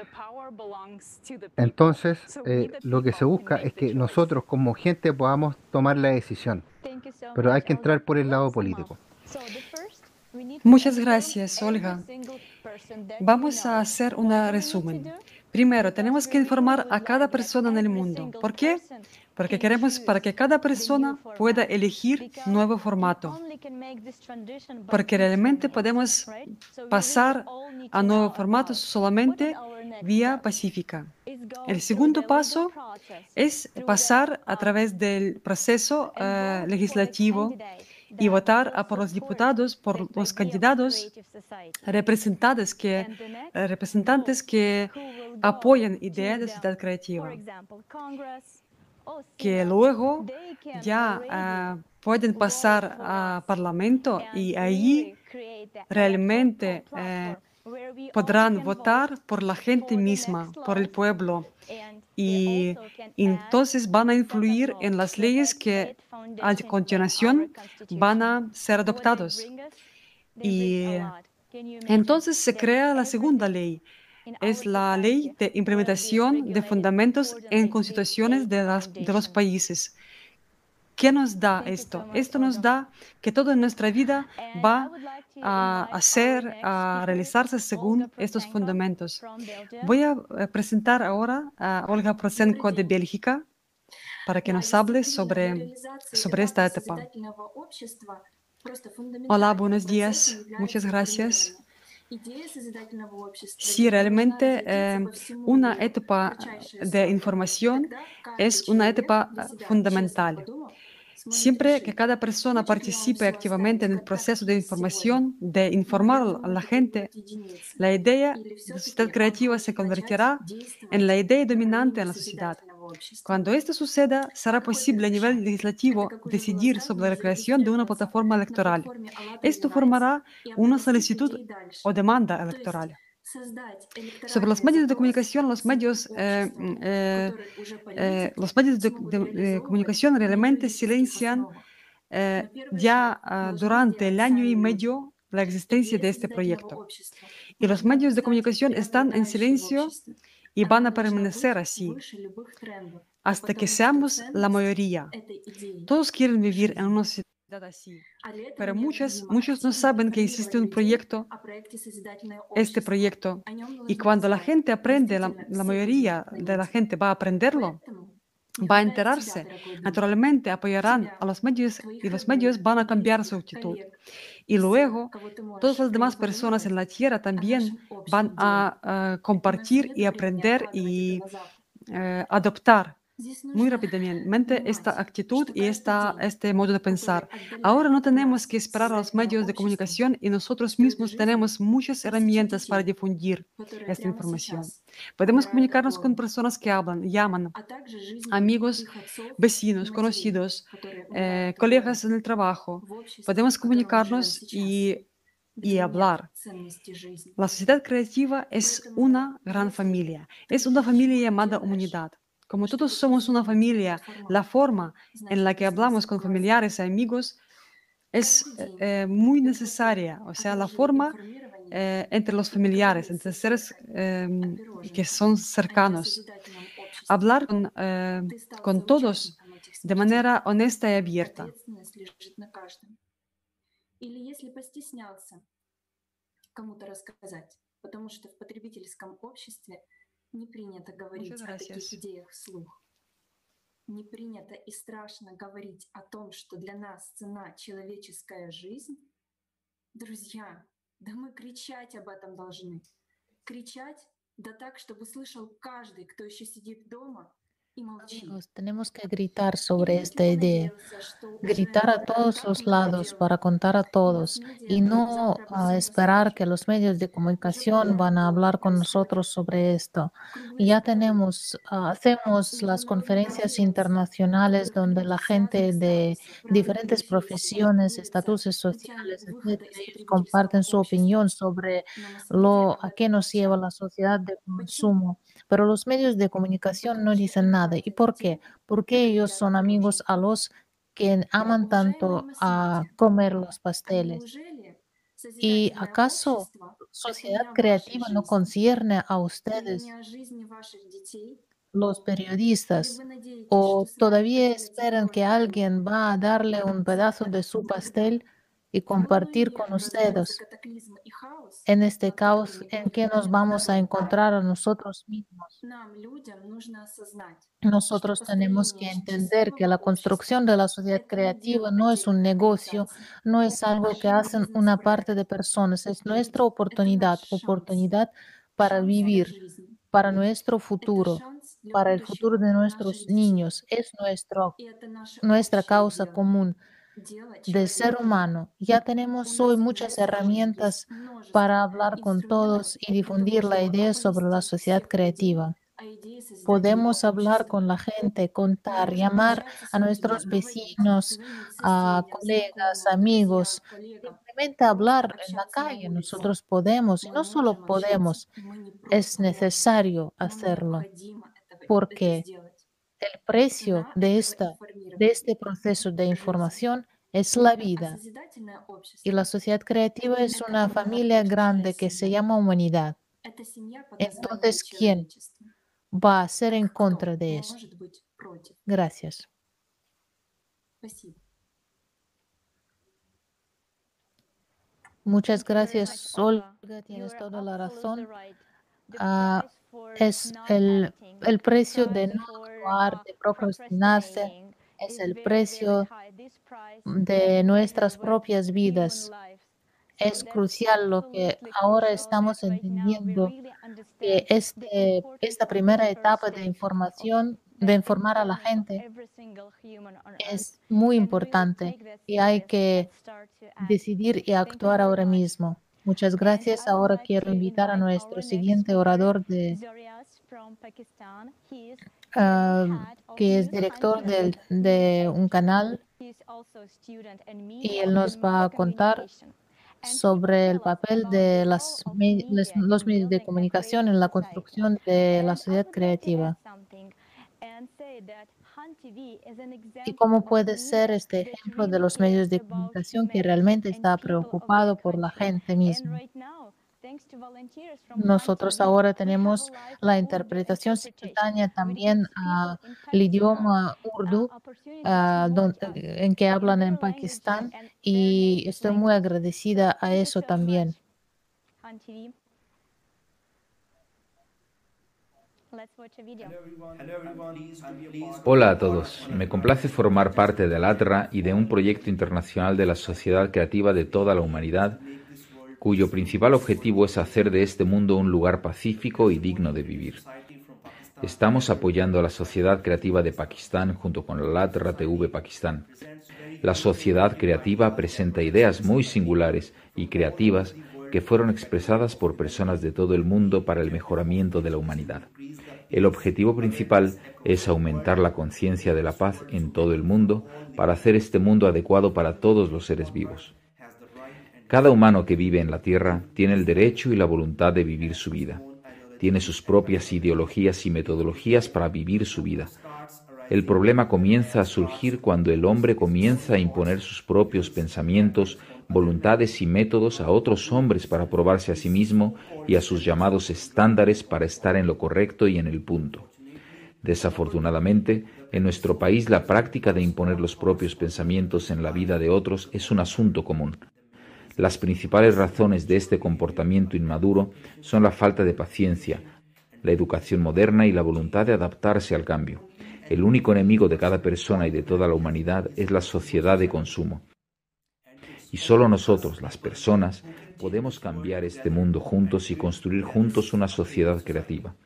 Entonces, eh, lo que se busca es que nosotros como gente podamos tomar la decisión, pero hay que entrar por el lado político. Muchas gracias, Olga. Vamos a hacer un resumen. Primero, tenemos que informar a cada persona en el mundo. ¿Por qué? Porque queremos para que cada persona pueda elegir nuevo formato. Porque realmente podemos pasar a nuevo formato solamente vía pacífica. El segundo paso es pasar a través del proceso eh, legislativo y votar a por los diputados, por los candidatos representantes que, eh, representantes que apoyan ideas de sociedad creativa, que luego ya eh, pueden pasar a Parlamento y ahí realmente eh, podrán votar por la gente misma, por el pueblo. Y entonces van a influir en las leyes que a continuación van a ser adoptados. Y entonces se crea la segunda ley. Es la ley de implementación de fundamentos en constituciones de, las, de los países. ¿Qué nos da esto? Esto nos da que toda nuestra vida va a hacer, a realizarse según estos fundamentos. Voy a eh, presentar ahora a Olga Prosenko de Bélgica para que nos hable sobre, sobre esta etapa. Hola, buenos días. Muchas gracias. Sí, realmente eh, una etapa de información es una etapa eh, fundamental. Siempre que cada persona participe activamente en el proceso de información, de informar a la gente, la idea de sociedad creativa se convertirá en la idea dominante en la sociedad. Cuando esto suceda, será posible a nivel legislativo decidir sobre la creación de una plataforma electoral. Esto formará una solicitud o demanda electoral. Sobre los medios de comunicación, los medios, eh, eh, eh, los medios de, de- de comunicación realmente silencian eh, ya ah, durante el año y medio la existencia de este proyecto. Y los medios de comunicación están en silencio y van a permanecer así. hasta que seamos la mayoría. Todos quieren vivir en una sociedad así, pero muchos, muchos no saben que existe un proyecto, este proyecto, y cuando la gente aprende, la, la mayoría de la gente va a aprenderlo, va a enterarse, naturalmente apoyarán a los medios y los medios van a cambiar su actitud. Y luego, todas las demás personas en la Tierra también van a, ah, compartir y aprender y eh, adoptar muy rápidamente esta actitud y esta, este modo de pensar. Ahora no tenemos que esperar a los medios de comunicación y nosotros mismos tenemos muchas herramientas para difundir esta información. Podemos comunicarnos con personas que hablan, llaman, amigos, vecinos, conocidos, eh, colegas en el trabajo. Podemos comunicarnos y, y hablar. La sociedad creativa es una gran familia, es una familia llamada humanidad. Como todos somos una familia, la forma en la que hablamos con familiares y amigos es eh, eh, muy necesaria, o sea, la forma eh, entre los familiares, entre seres em, que son cercanos. Hablar con, eh, con todos de manera honesta y abierta. Muchas gracias. Не принято и страшно говорить о том, что для нас цена человеческая жизнь, друзья, да мы кричать об этом должны. Кричать, да так, чтобы слышал каждый, кто еще сидит дома и молчит. Amigos, tenemos que gritar И sobre будем esta idea, понадеяться, что уже gritar a todos los как-нибудь это lados para делают. contar a И todos масс-медиа y только no завтра обо ah, всем esperar que расскажут. los medios de Уже comunicación van a по-другому hablar con происходит. nosotros sobre esto. Круглые Ya столы, tenemos, ah, hacemos las международные conferencias конференции, в internacionales которых donde люди la связаны gente стали de с управленными diferentes фирмами, profesiones, готовятся estatutos путями sociales, выхода etcétera, из ellos потребительского comparten su общества. opinión sobre Но масс-медиа lo об a qué этом nos lleva молчат. la sociedad de Почему? consumo, pero los medios de comunicación no Потому что dicen nada. ¿Y эмпатия por qué? людей Porque ellos определяет son amigos окружение. a los que aman Уважаемые tanto a масс-медиа, comer los а pasteles. неужели ¿Y созидательное acaso общество — это не sociedad о вашей creativa no жизни concierne a или не ustedes, о жизни ваших детей? los Или periodistas? вы надеетесь, что ¿O с вами todavía поделятся esperan que тоже хлебом? alguien va a darle un pedazo de su Когда? pastel y В compartir полнолуние con разразится ustedes? катаклизм и хаос, En este над которыми caos, ¿en будет qué nos плакать vamos a народ. encontrar a nosotros mismos? Нам, людям, нужно осознать, что Nosotros tenemos que построение entender que счастливого la общества — construcción de la sociedad это не creativa дело no es un отдельных negocio, организаций, no es algo que это не hacen una parte бизнес-проект. de personas, es nuestra Люди — это наш oportunidad, шанс. oportunidad para Шанс для vivir, жизни. para nuestro Это futuro, шанс для para el futuro будущего de наших nuestros детей. niños, es nuestro, И это наше nuestra общее causa дело — común дело de ser человека. humano. Ya У tenemos hoy нас muchas уже сложились herramientas para множество hablar con инструментов todos y для того, difundir la чтобы idea sobre la оповестить sociedad всех людей creativa. о идее созидательного Podemos hablar общества. con la gente, Мы contar, можем llamar общаться с a людьми, nuestros говорить vecinos, своим a соседям, colegas, знакомым, друзьям, amigos, коллегам, simplemente просто hablar en la общаться на calle. улице. Nosotros podemos, y Мы no solo можем общаться, podemos, и мы не es просто можем, necesario нам hacerlo, необходимо этого, это porque сделать. el precio Цена de этого esta, de информирования — este proceso de жизнь. información es la А vida. созидательное Y la общество sociedad creativa — es это una familia многообещая grande que se семья. llama humanidad. Это семья по названию Entonces, ¿quién человечества. va a ser en Так contra кто de eso? может быть против? Gracias. Спасибо. Muchas Thank you very much, gracias, Olga. Olga. You Tienes are toda la absolutely razón. right. The Ah, price for es not el, acting, el the precio de price no for actuar, uh, de procrastinarse, procrastinating es is el very, very precio high. This price de can nuestras preserve uh, propias human vidas. lives. So Es that's crucial lo que absolutely ahora crucial that estamos right now we entendiendo, really que understand the este, importance esta of this primera first etapa de step of información, de the informar a la empowerment of gente, every single human on earth. es muy And we will importante take that y hay serious and que start to act. decidir y Thank you actuar very ahora much. mismo. Muchas And gracias. I would Ahora like quiero to invitar a invite nuestro our next siguiente speaker, orador de, Zorias from Pakistan. He is general ah, head of que es News director Hunter del- News de un Agency. canal, He is also a student in y media él nos and va mass a contar communication. And he will sobre el tell us papel about the de role las of me- les- media los in medios de building a comunicación creative en la society. construcción de la And I sociedad would like to add creativa. something and say that Hunt T V is an ¿Y example cómo of puede ser media este that ejemplo de really los cares medios de about comunicación que humanity realmente and está people of their preocupado por la country. gente And misma? right now, Nosotros ahora tenemos la interpretación simultánea también al idioma urdu, ah, don- eh, en que hablan en Pakistán, y estoy muy agradecida a eso también. Hola a todos, me complace formar parte de ALATRA y de un proyecto internacional de la sociedad creativa de toda la humanidad, cuyo principal objetivo es hacer de este mundo un lugar pacífico y digno de vivir. Estamos apoyando a la sociedad creativa de Pakistán junto con ALATRA T V Pakistán. La sociedad creativa presenta ideas muy singulares y creativas que fueron expresadas por personas de todo el mundo para el mejoramiento de la humanidad. El objetivo principal es aumentar la conciencia de la paz en todo el mundo para hacer este mundo adecuado para todos los seres vivos. Cada humano que vive en la Tierra tiene el derecho y la voluntad de vivir su vida. Tiene sus propias ideologías y metodologías para vivir su vida. El problema comienza a surgir cuando el hombre comienza a imponer sus propios pensamientos, voluntades y métodos a otros hombres para probarse a sí mismo y a sus llamados estándares para estar en lo correcto y en el punto. Desafortunadamente, en nuestro país la práctica de imponer los propios pensamientos en la vida de otros es un asunto común. Las principales razones de este comportamiento inmaduro son la falta de paciencia, la educación moderna y la voluntad de adaptarse al cambio. El único enemigo de cada persona y de toda la humanidad es la sociedad de consumo. Y solo nosotros, las personas, podemos cambiar este mundo juntos y construir juntos una sociedad creativa.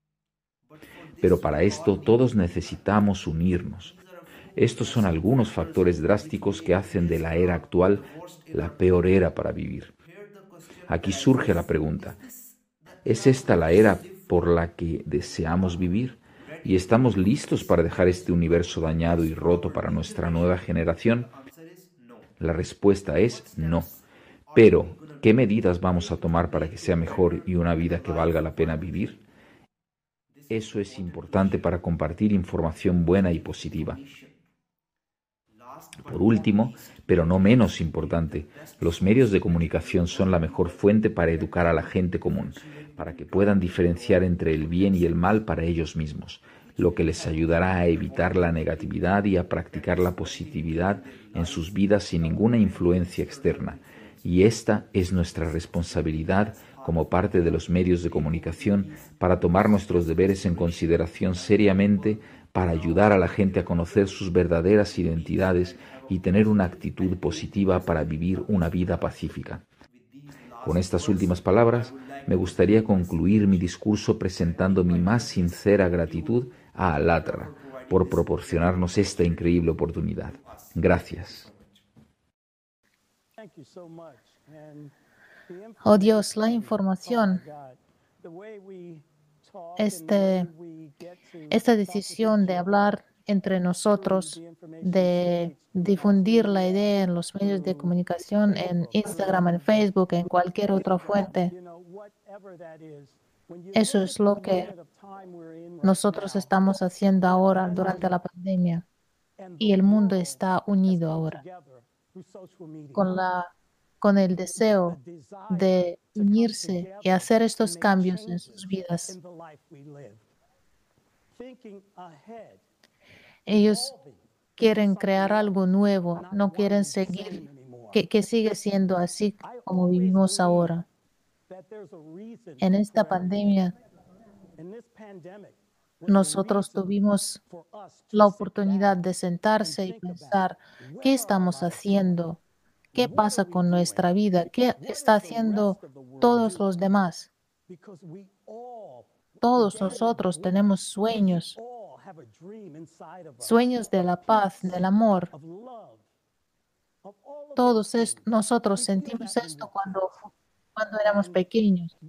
Pero para esto todos necesitamos unirnos. Estos son algunos factores drásticos que hacen de la era actual la peor era para vivir. Aquí surge la pregunta: ¿es esta la era por la que deseamos vivir? ¿Y estamos listos para dejar este universo dañado y roto para nuestra nueva generación? La respuesta es no. Pero, ¿qué medidas vamos a tomar para que sea mejor y una vida que valga la pena vivir? Eso es importante para compartir información buena y positiva. Por último, pero no menos importante, los medios de comunicación son la mejor fuente para educar a la gente común, para que puedan diferenciar entre el bien y el mal para ellos mismos, lo que les ayudará a evitar la negatividad y a practicar la positividad en sus vidas sin ninguna influencia externa. Y esta es nuestra responsabilidad como parte de los medios de comunicación para tomar nuestros deberes en consideración seriamente, para ayudar a la gente a conocer sus verdaderas identidades y tener una actitud positiva para vivir una vida pacífica. Con estas últimas palabras, me gustaría concluir mi discurso presentando mi más sincera gratitud a ALATRA por proporcionarnos esta increíble oportunidad. Gracias. Oh Dios, la información, este, esta decisión de hablar entre nosotros, de difundir la idea en los medios de comunicación, en Instagram, en Facebook, en cualquier otra fuente, eso es lo que nosotros estamos haciendo ahora durante la pandemia. Y el mundo está unido ahora con la, con el deseo de unirse y hacer estos cambios en sus vidas. Ellos quieren crear algo nuevo, no quieren seguir, que, que sigue siendo así como vivimos ahora. En esta pandemia, nosotros tuvimos la oportunidad de sentarse y pensar, ¿qué estamos haciendo? ¿Qué pasa con nuestra vida? ¿Qué está haciendo todos los demás? Todos nosotros tenemos sueños, sueños de la paz, del amor. Todos es- nosotros sentimos esto cuando, cuando éramos pequeños.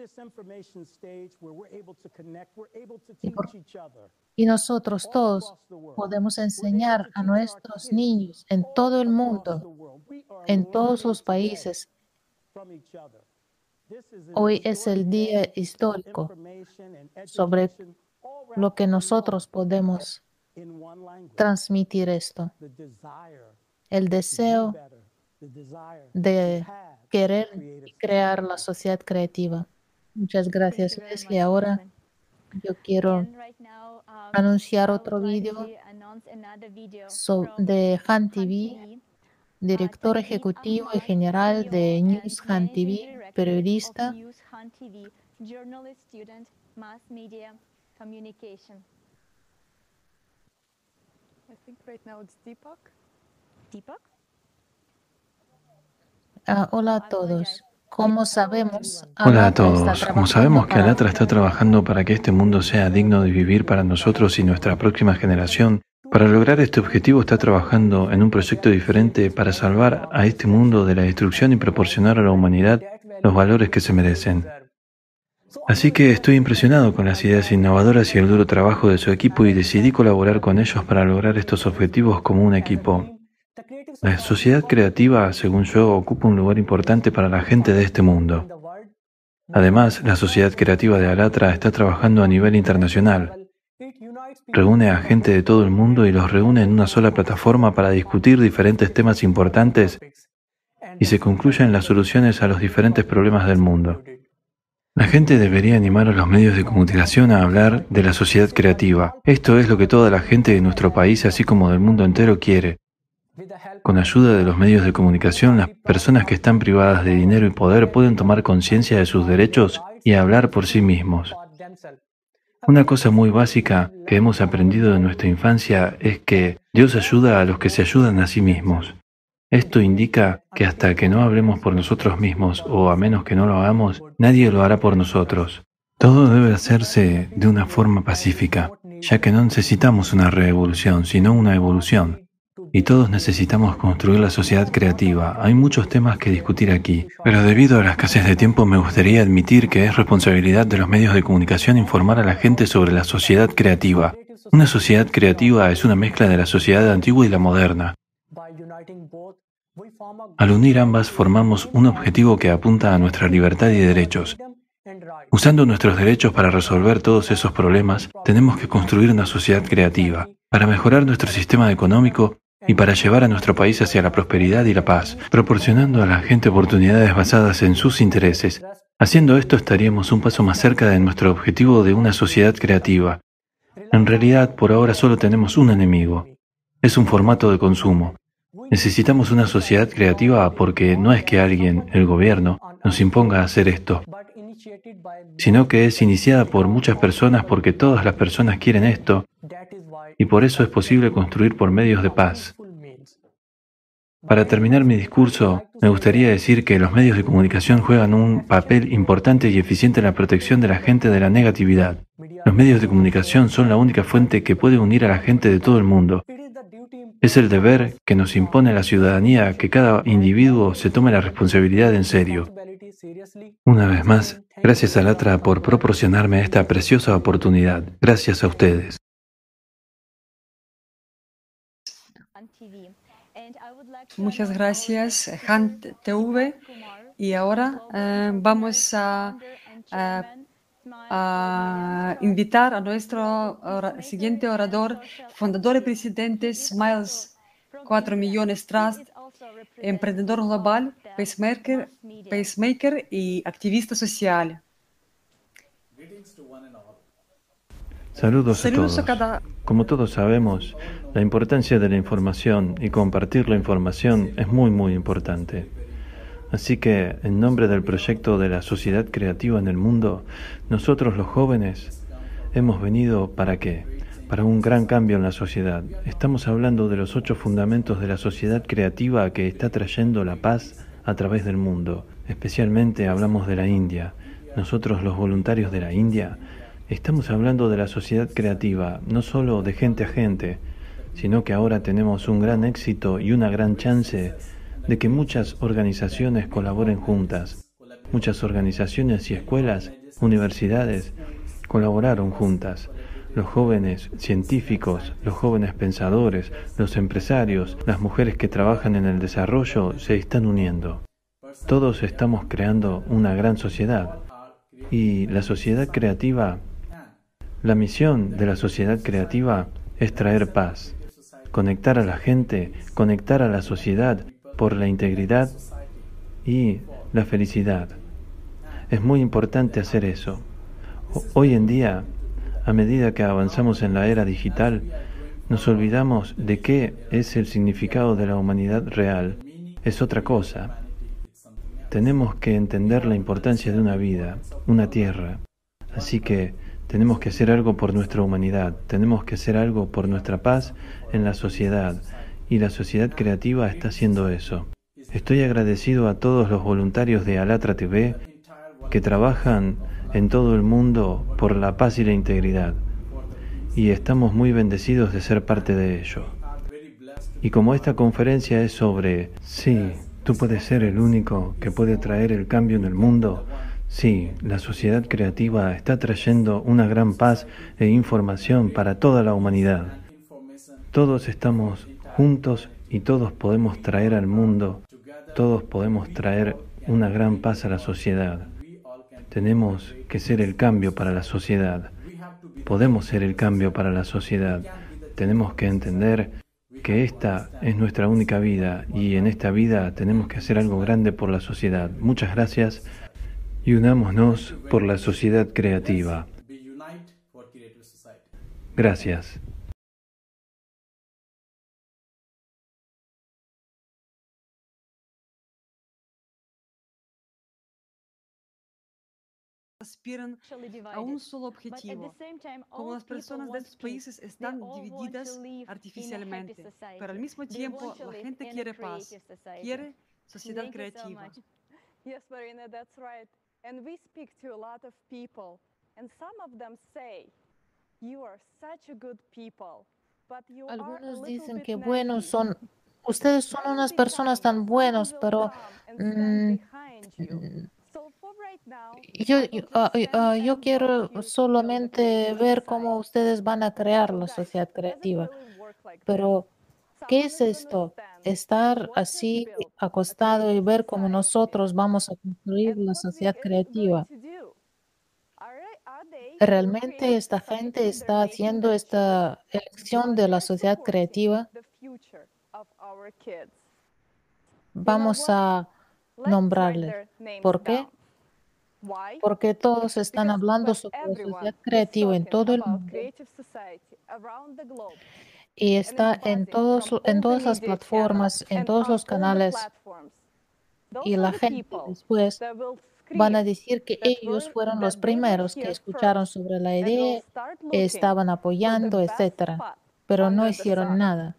Y, por- y nosotros todos podemos enseñar a nuestros niños en todo el mundo, en todos los países. Hoy es el día histórico sobre lo que nosotros podemos transmitir esto. El deseo de querer y crear la sociedad creativa. Muchas gracias, Leslie. Ahora yo quiero anunciar otro vídeo so- de Han T V, director ejecutivo y general de News Han T V, periodista. Ah, hola a todos. Como sabemos, Hola a Alatra está todos. Como sabemos trabajando que para... Alatra está trabajando para que este mundo sea digno de vivir para nosotros y nuestra próxima generación, para lograr este objetivo está trabajando en un proyecto diferente para salvar a este mundo de la destrucción y proporcionar a la humanidad los valores que se merecen. Así que estoy impresionado con las ideas innovadoras y el duro trabajo de su equipo y decidí colaborar con ellos para lograr estos objetivos como un equipo. La sociedad creativa, según yo, ocupa un lugar importante para la gente de este mundo. Además, la Sociedad Creativa de Alatra está trabajando a nivel internacional. Reúne a gente de todo el mundo y los reúne en una sola plataforma para discutir diferentes temas importantes y se concluyen las soluciones a los diferentes problemas del mundo. La gente debería animar a los medios de comunicación a hablar de la sociedad creativa. Esto es lo que toda la gente de nuestro país, así como del mundo entero, quiere. Con ayuda de los medios de comunicación, las personas que están privadas de dinero y poder pueden tomar conciencia de sus derechos y hablar por sí mismos. Una cosa muy básica que hemos aprendido de nuestra infancia es que Dios ayuda a los que se ayudan a sí mismos. Esto indica que hasta que no hablemos por nosotros mismos, o a menos que no lo hagamos, nadie lo hará por nosotros. Todo debe hacerse de una forma pacífica, ya que no necesitamos una revolución, sino una evolución. Y todos necesitamos construir la sociedad creativa. Hay muchos temas que discutir aquí, pero debido a la escasez de tiempo me gustaría admitir que es responsabilidad de los medios de comunicación informar a la gente sobre la sociedad creativa. Una sociedad creativa es una mezcla de la sociedad antigua y la moderna. Al unir ambas formamos un objetivo que apunta a nuestra libertad y derechos. Usando nuestros derechos para resolver todos esos problemas, tenemos que construir una sociedad creativa, para mejorar nuestro sistema económico y para llevar a nuestro país hacia la prosperidad y la paz, proporcionando a la gente oportunidades basadas en sus intereses. Haciendo esto estaríamos un paso más cerca de nuestro objetivo de una sociedad creativa. En realidad, por ahora solo tenemos un enemigo. Es un formato de consumo. Necesitamos una sociedad creativa porque no es que alguien, el gobierno, nos imponga hacer esto, sino que es iniciada por muchas personas porque todas las personas quieren esto, y por eso es posible construir por medios de paz. Para terminar mi discurso, me gustaría decir que los medios de comunicación juegan un papel importante y eficiente en la protección de la gente de la negatividad. Los medios de comunicación son la única fuente que puede unir a la gente de todo el mundo. Es el deber que nos impone la ciudadanía que cada individuo se tome la responsabilidad en serio. Una vez más, gracias a Latra por proporcionarme esta preciosa oportunidad. Gracias a ustedes. Muchas gracias, Han T V. Y ahora eh, vamos a, a, a invitar a nuestro ora- siguiente orador, fundador y presidente Smiles cuatro millones Trust, emprendedor global, pacemaker, pacemaker y activista social. Saludos a Saludos a todos. cada... Como todos sabemos, la importancia de la información y compartir la información es muy muy importante. Así que, en nombre del proyecto de la sociedad creativa en el mundo, nosotros los jóvenes hemos venido ¿para qué? Para un gran cambio en la sociedad. Estamos hablando de los ocho fundamentos de la sociedad creativa que está trayendo la paz a través del mundo. Especialmente hablamos de la India. Nosotros los voluntarios de la India estamos hablando de la sociedad creativa, no solo de gente a gente, sino que ahora tenemos un gran éxito y una gran chance de que muchas organizaciones colaboren juntas. Muchas organizaciones y escuelas, universidades, colaboraron juntas. Los jóvenes científicos, los jóvenes pensadores, los empresarios, las mujeres que trabajan en el desarrollo se están uniendo. Todos estamos creando una gran sociedad. Y la sociedad creativa, la misión de la sociedad creativa es traer paz, conectar a la gente, conectar a la sociedad por la integridad y la felicidad. Es muy importante hacer eso. Hoy en día, a medida que avanzamos en la era digital, nos olvidamos de qué es el significado de la humanidad real. Es otra cosa. Tenemos que entender la importancia de una vida, una tierra. Así que tenemos que hacer algo por nuestra humanidad, tenemos que hacer algo por nuestra paz en la sociedad. Y la sociedad creativa está haciendo eso. Estoy agradecido a todos los voluntarios de Alatra T V que trabajan en todo el mundo por la paz y la integridad. Y estamos muy bendecidos de ser parte de ello. Y como esta conferencia es sobre, sí, tú puedes ser el único que puede traer el cambio en el mundo, sí, la sociedad creativa está trayendo una gran paz e información para toda la humanidad. Todos estamos juntos y todos podemos traer al mundo, todos podemos traer una gran paz a la sociedad. Tenemos que ser el cambio para la sociedad. Podemos ser el cambio para la sociedad. Tenemos que entender que esta es nuestra única vida y en esta vida tenemos que hacer algo grande por la sociedad. Muchas gracias y unámonos por la sociedad creativa. Gracias. aspiran a un solo objetivo. Como las personas de estos países están divididas artificialmente, pero al mismo tiempo la gente quiere paz, quiere sociedad creativa. Yes, Marina, that's right. And we speak to a lot of people, and some of them say, you are such a good people, but you are a Algunos little dicen bit que buenos naive. son, ustedes son unas personas tan buenos, pero mm, So for right now, yo, I will yo, just ah, send ah, yo and quiero watch you solamente build the ver creative cómo society. ustedes van a crear So la guys, sociedad does it creativa. really work like that? Pero, ¿qué Someone es is gonna esto? stand Estar and watch us así build a acostado y creative ver cómo society. nosotros vamos a construir And la what we sociedad is going creativa. to do? Are, are they your ¿Realmente creative esta society? gente They're está making haciendo that choice, esta elección or de la they're sociedad supporting creativa? the future of our kids? You know Vamos what? a Let's write nombrarles. their names ¿Por qué? down. Why? Porque todos están Because hablando when sobre la everyone sociedad is creativa en talking todo el about mundo creative society around the globe, y and it's está en buzzing todos, from en all the todas las media channels plataformas, en and todos on los all the canales, platforms, those y are la the gente people después that will van a scream decir que that ellos were fueron los that they were primeros que here escucharon first, sobre la that will idea, start looking estaban for the apoyando, best etcétera, spot pero no under the hicieron sun. nada.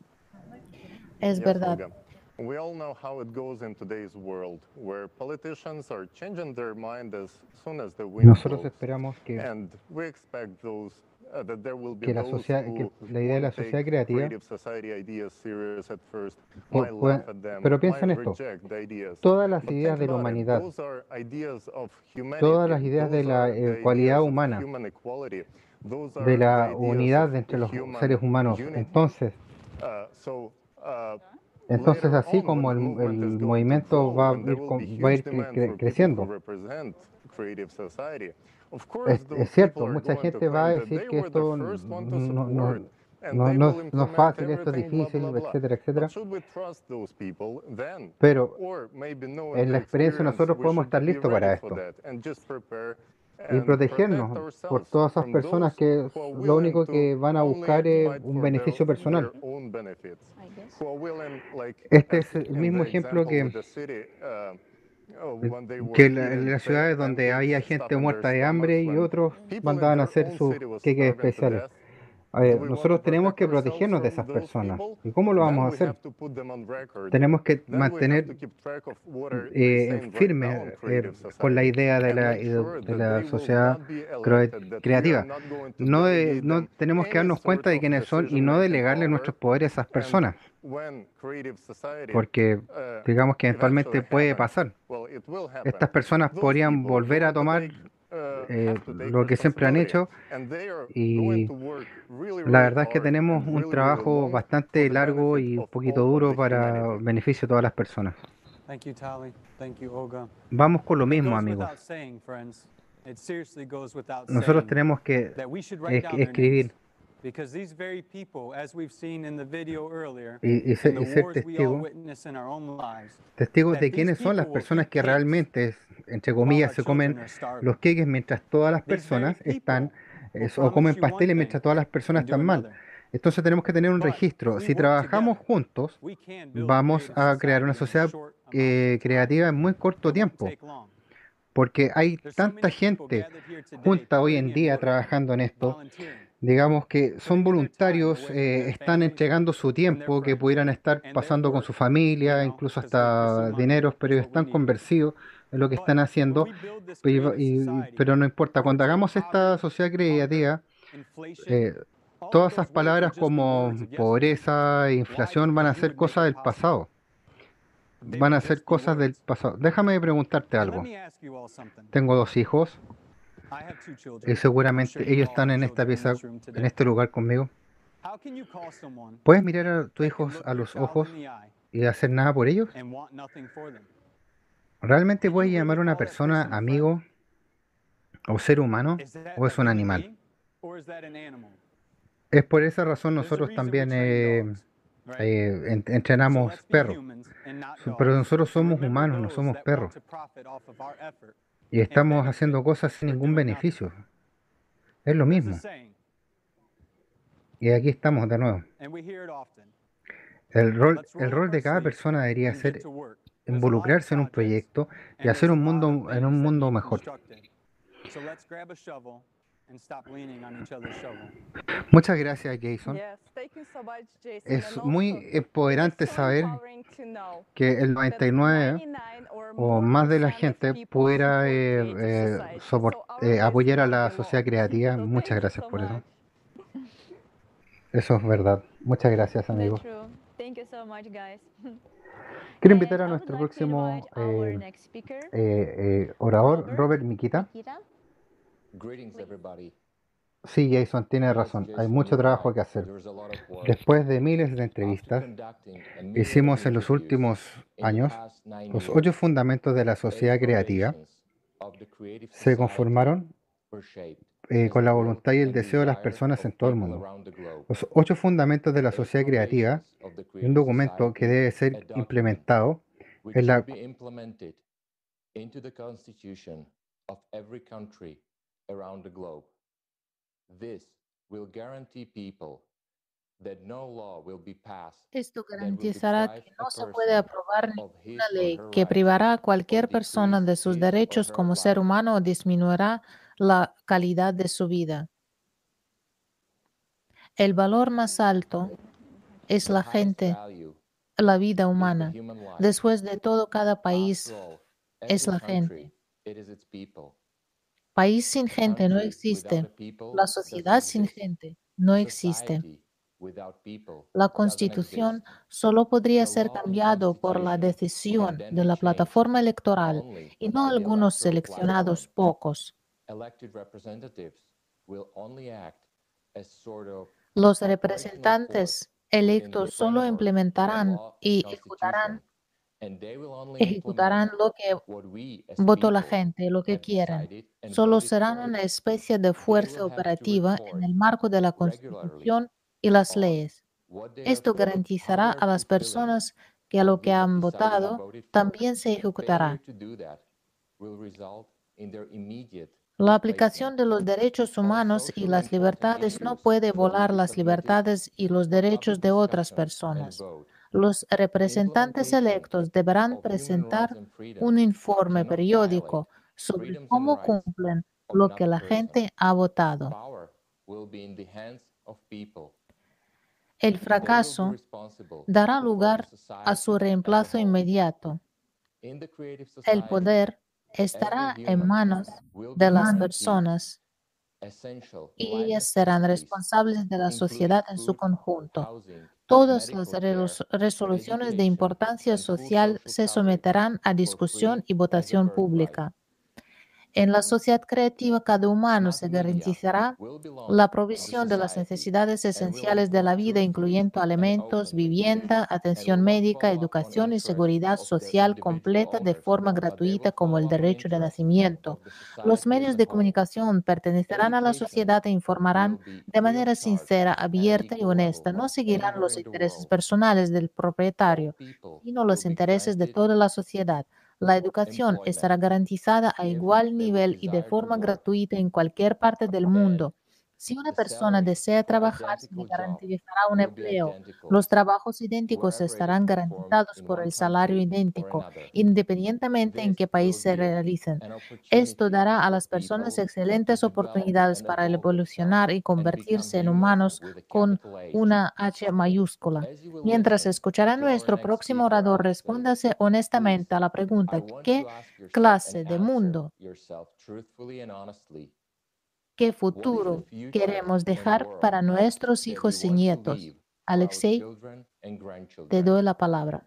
Es Yes, verdad. Olga. We all know how it goes in today's world, where politicians are changing their mind as soon as the wind Nosotros blows. esperamos que, And we expect those uh, that there will be que, la those sociedad, que who la idea de la won't take sociedad creativa, creative society ideas serious at first, pu- might pueda- laugh at them, pero piensa might en esto, reject the ideas. todas las But ideas think de la about it, humanidad, those are ideas of humanity. todas las ideas de Those la are the eh, cualidad ideas of humana, human equality. Those de are the la ideas unidad of entre los human seres humanos. unity. Entonces, Uh, so, uh, entonces later así on, when como the el, movement el is going to movimiento grow, va a when there ir, will be con- va a huge ir cre- demand cre- for people who creciendo. represent creative society, of Es, course those es people cierto, are mucha going to gente va a claim that decir they que were the esto first one to no, no, support and no, they no, will es- no es implement fácil, esto es everything, blah, difícil, blah, blah. etcétera, But etcétera. should we trust those people then? Pero Or maybe knowing en the la experiencia experience, nosotros we podemos should estar be listos ready para for esto that and just prepare y and protect protegernos por ourselves todas esas from personas those que who are lo willing único to que van a only buscar es fight un for their, beneficio personal. their own benefits, who are willing, like Este as es el in mismo the ejemplo example with que, the city, uh, oh, when they que were la- en eating las pa- ciudades donde había pancakes, gente stuff in their muerta de hambre stomachs, y when otros people in mandaban a their hacer own sus city was queques starving to especiales. death. A Do ver, we want to nosotros tenemos protect que ourselves protegernos de from esas those personas. people? ¿Y cómo lo Then vamos a we hacer? have to put them on record. Tenemos que Then we have to mantener keep track of what are they eh, saying right now on firmes creative eh, con la society idea de and la, make ide- sure de that la they will sociedad not be cre- elected, that we are creativa. not going to No, de- delegate no them tenemos que any darnos sort cuenta de of quiénes son y no decision-making delegarle power. nuestros poderes a esas And personas, when creative society, porque uh, digamos que eventualmente eventually puede happens, pasar. well, it will happen. Estas personas Those podrían people volver a going to tomar take, uh, eh, have to take lo que siempre han responsibility, hecho and they are going y to work really, la really verdad es que hard tenemos and un really, really trabajo long for bastante the largo benefit y un of poquito all of duro the para humanity. beneficio de todas las personas. Thank you, Tali. Thank you, Olga. Vamos con lo It mismo, goes amigos. without saying, friends. It seriously goes without Nosotros saying tenemos que that we should write es- down their escribir names. Because these very people, as we've seen in the video earlier, y, y, in ser, the y ser wars we all testigo, witness in our own lives, testigos that de these quiénes son las people will personas eat que cakes realmente, entre while comillas, our se comen children are los starving. queques mientras todas las These very personas están, people eh, will o comen promise you one pasteles thing mientras todas las personas and do están mal. another. Entonces tenemos que tener un But if registro. we Si work trabajamos together, juntos, we can build a vamos creative a crear una society in a sociedad short amount eh, of time. creativa en muy corto It won't tiempo, take long. porque hay There's so tanta many people gente gathered here today junta hoy putting en in día work, trabajando en esto. volunteering, Digamos que son putting in their time voluntarios, away from eh, their están families entregando su and their tiempo que friends pudieran estar and their pasando con work, su you familia, know, incluso because they pursue hasta money. dineros, pero That's ellos what we están need. convencidos en lo que But están when haciendo. we build this Pero, creative y- society, pero no importa, it will cuando take hagamos esta poverty, sociedad hunger, creativa, inflation, eh, all of todas esas those words will palabras just be como words of yesterday. pobreza e Why? inflación van Because a you ser would make cosas it del possible. pasado. They Van will a ser just be cosas del words. pasado. Déjame preguntarte And let algo. me ask you all something. Tengo dos hijos I have two y children. I'm sure seguramente you ellos all están have en esta children in pieza, this room en today. este lugar conmigo. How can you call someone ¿Puedes mirar a tus that can hijos look a your los child ojos in the eye y hacer nada por ellos? and want nothing for them? ¿Realmente Can puedes you llamar really a una call that persona person a friend? amigo o ser humano Is that o a es un human animal? being or is that an animal? Es por esa razón There's a nosotros reason we también train eh, dogs, right? eh, en- So entrenamos let's be perros. humans and not Su- Pero dogs. nosotros And somos remember humanos, no those somos that want perros. to profit off of our effort Y and estamos benefit haciendo cosas sin for ningún doing nothing. beneficio. Es lo There's a mismo. saying, Y aquí estamos de nuevo. and we hear it often. El rol, Let's el roll up rol our de cada sleeves persona debería and get ser to work. There's a lot of involucrarse en un projects proyecto y and hacer there's a un lot of mundo, en un things that mundo need mejor. constructed. So let's grab a shovel and stop leaning on each other's shovel. Muchas gracias, Jason. Yes, thank you so much, Jason. Es And muy also, it is empoderante so saber empowering to know que el that noventa y nueve ninety-nine or o more más de la percent of gente people pudiera support eh, creative eh, society. sopor- So our eh, lives apoyar a don't la belong. sociedad creativa. So Muchas thank you gracias so por eso. much. Eso es verdad. Muchas gracias, That's amigos. true. Thank you so much, guys. Quiero And invitar a I would nuestro like to próximo invite our eh, next speaker, eh, eh, orador, Robert Robert Mikita. Mikita. Greetings, everybody. Sí, Jason, tiene Yes, razón. Hay Jason, mucho you're trabajo right. que hacer. There's a lot of work. Después de miles de After entrevistas, conducting a myriad of hicimos en los interviews últimos in the años past nine los years, ocho fundamentos de la sociedad eight creativa. foundations of the creative Se society conformaron were shaped eh, as con a la will voluntad y el and deseo de las desire personas of en todo el people mundo. around the globe. Los ocho fundamentos de la Eight sociedad creativa foundations of the y un creative documento que society, debe a ser document implementado which en la, should be implemented into the constitution of every country around the globe. This will guarantee people that no law will be passed Esto that will garantizará deprive que a no se puede person aprobar of his ninguna or ley her que rights privará a or cualquier persona decrease de sus his or derechos her como ser life. humano o disminuirá la calidad de su vida. El valor más alto es The la highest gente, value la vida is the humana. human life. Después de todo, cada país After all, es every la country, gente. it is its people. País sin A gente no country without existe. a people La doesn't sociedad sin exist. gente no existe. Society without people La doesn't Constitución exist. solo podría The ser law and cambiado por la constitution decisión can then de be la changed plataforma electoral only y no by the algunos electoral seleccionados platform. pocos. Elected representatives will only act as sort of Los operational force representantes within the electos solo framework of implementarán law and y ejecutarán, constitution, and they will only ejecutarán implement lo que what we as votó la people gente, lo que have quieran. decided and Solo voted serán for. una especie de They fuerza will have to operativa en report el marco de la regularly Constitución y las on leyes. what they are Esto for, how garantizará they are a las fulfilling personas que a what lo we que have han decided and votado voted for. también se Failure ejecutará. to do that will result in their immediate La aplicación replacement. de los derechos On humanos y socially las important libertades no issues puede that will volar be las submitted libertades y los for derechos public de otras discussion and personas. vote. Los representantes Implementation electos deberán of human presentar rights and freedoms un informe cannot periódico violate sobre freedoms and cómo rights cumplen of lo que another la person. gente ha votado. Power will be in the hands of people. El They will be fracaso responsible dará for the lugar a su society as a reemplazo whole. inmediato. In the creative El society, poder every estará en human manos will de be las guaranteed personas essential y life ellas serán necessities, responsables de la including sociedad en su food, conjunto. housing, Todas las medical care, resolu- resoluciones de education, importancia and full social social se coverage someterán a for discusión free y as a votación birthright. pública. En la sociedad creativa, cada humano se garantizará la provisión de las necesidades esenciales de la vida, incluyendo alimentos, vivienda, atención médica, educación y seguridad social completa de forma gratuita como el derecho de nacimiento. Los medios de comunicación pertenecerán a la sociedad e informarán de manera sincera, abierta y honesta. No seguirán los intereses personales del propietario, sino los intereses de toda la sociedad. La educación estará garantizada a igual nivel y de forma gratuita en cualquier parte del mundo. Si una persona desea trabajar, se le garantizará un empleo. Los trabajos idénticos estarán garantizados por el salario idéntico, independientemente en qué país se realicen. Esto dará a las personas excelentes oportunidades para evolucionar y convertirse en humanos con una H mayúscula. Mientras escuchará a nuestro próximo orador, respóndase honestamente a la pregunta: ¿qué clase de mundo, qué futuro queremos dejar para nuestros hijos y nietos? Alexei, te doy la palabra.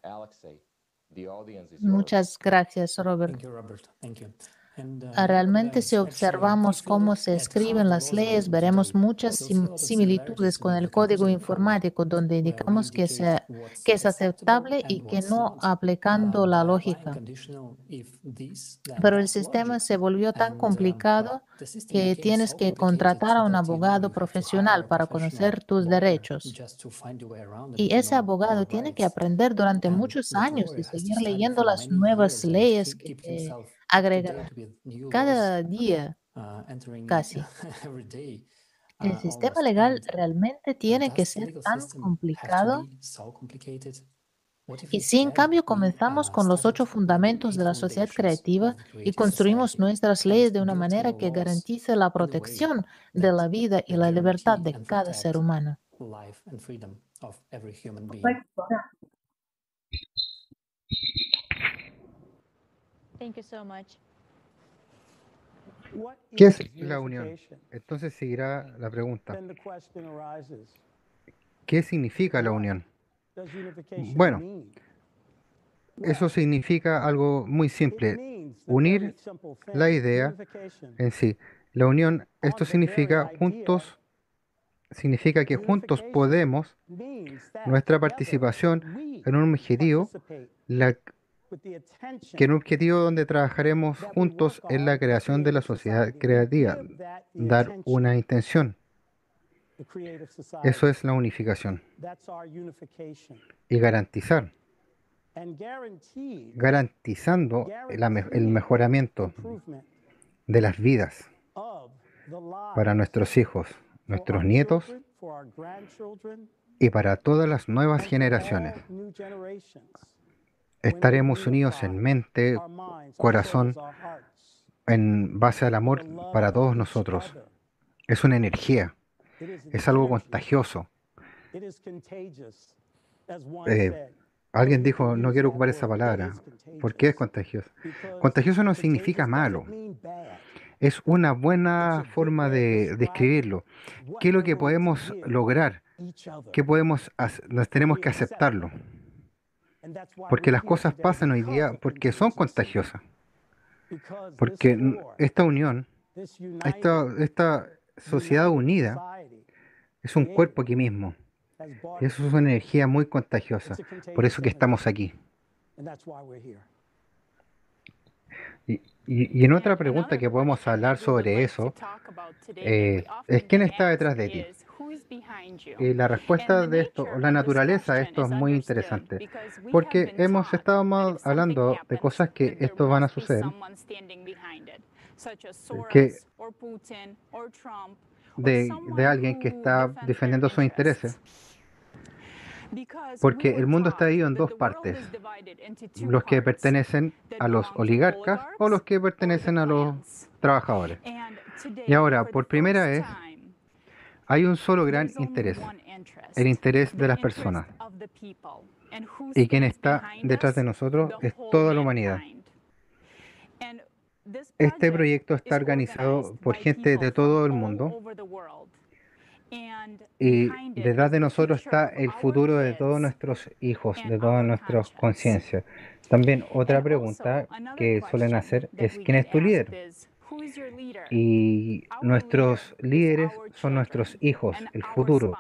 Muchas gracias, Robert. Thank you, Robert. Thank you. And, uh, Ah, Realmente, si nevertheless, observamos actually, cómo if se you look at escriben how the las world is leyes, written veremos today, muchas we'll see sim- a lot of similitudes similarities con with el the código Confucian Code, informático, donde where we indicamos que, indicate se- what's que es acceptable aceptable and y que what's no not, uh, aplicando la dialing and lógica. conditional if this, then Pero el that's sistema logic. se volvió tan And, um, well, complicado the system que became tienes so que complicated contratar a un that, you know, abogado you have to hire profesional a para professional conocer tus lawyer derechos. just to find a way around and Y to ese know your abogado tiene que rights. aprender durante And muchos that años y lawyer has to seguir study leyendo for las many nuevas years and leyes keep que keep se himself up to agregan date with new laws cada día uh, entering casi. every day, El uh, sistema almost. legal And realmente uh, tiene que does the ser legal tan system have to complicado. be so complicated? What if Y si en instead cambio we comenzamos uh, con los studied ocho with the fundamentos eight de la sociedad foundations creativa of the y creative construimos society nuestras and leyes de una built our manera que laws garantice la in a way protección de that la vida y that la libertad guarantee de and cada ser protect humano? life and freedom of every human being? Correcto. Thank you so much. ¿Qué es la unión? Entonces seguirá la pregunta. ¿Qué significa la unión? Bueno, eso significa algo muy simple. Unir la idea en sí. La unión, esto significa juntos, significa que juntos podemos, nuestra participación en un objetivo, la, que en un objetivo donde trabajaremos juntos en la creación de la sociedad creativa, dar una intención. Eso es la unificación. Y garantizar, garantizando la me- el mejoramiento de las vidas para nuestros hijos, nuestros nietos y para todas las nuevas generaciones. Estaremos unidos en mente, corazón, en base al amor para todos nosotros. Es una energía, es algo contagioso. Eh, alguien dijo, no quiero ocupar esa palabra. ¿Por qué es contagioso? Contagioso no significa malo. Es una buena forma de describirlo. ¿Qué es lo que podemos lograr? ¿Qué podemos hacer? Nos tenemos que aceptarlo. Porque las cosas pasan hoy día porque son contagiosas. Porque n- esta unión, esta, esta sociedad unida, es un cuerpo aquí mismo. Y eso es una energía muy contagiosa. Por eso que estamos aquí. Y, y- y en otra pregunta que podemos hablar sobre eso, eh, es quién está detrás de ti. Y la respuesta de esto, o la naturaleza de esto es muy interesante, porque hemos estado ma- hablando de cosas que esto van a suceder, que de, de alguien que está defendiendo sus intereses, porque el mundo está dividido en dos partes, los que pertenecen a los oligarcas o los que pertenecen a los trabajadores. Y ahora, por primera vez, hay un solo gran interés, el interés de las personas. Y quien está detrás de nosotros es toda la humanidad. Este proyecto está organizado por gente de todo el mundo y detrás de nosotros está el futuro de todos nuestros hijos, de todas nuestras conciencias. También otra pregunta que suelen hacer es, ¿quién es tu líder? y nuestros líderes son nuestros hijos, el futuro.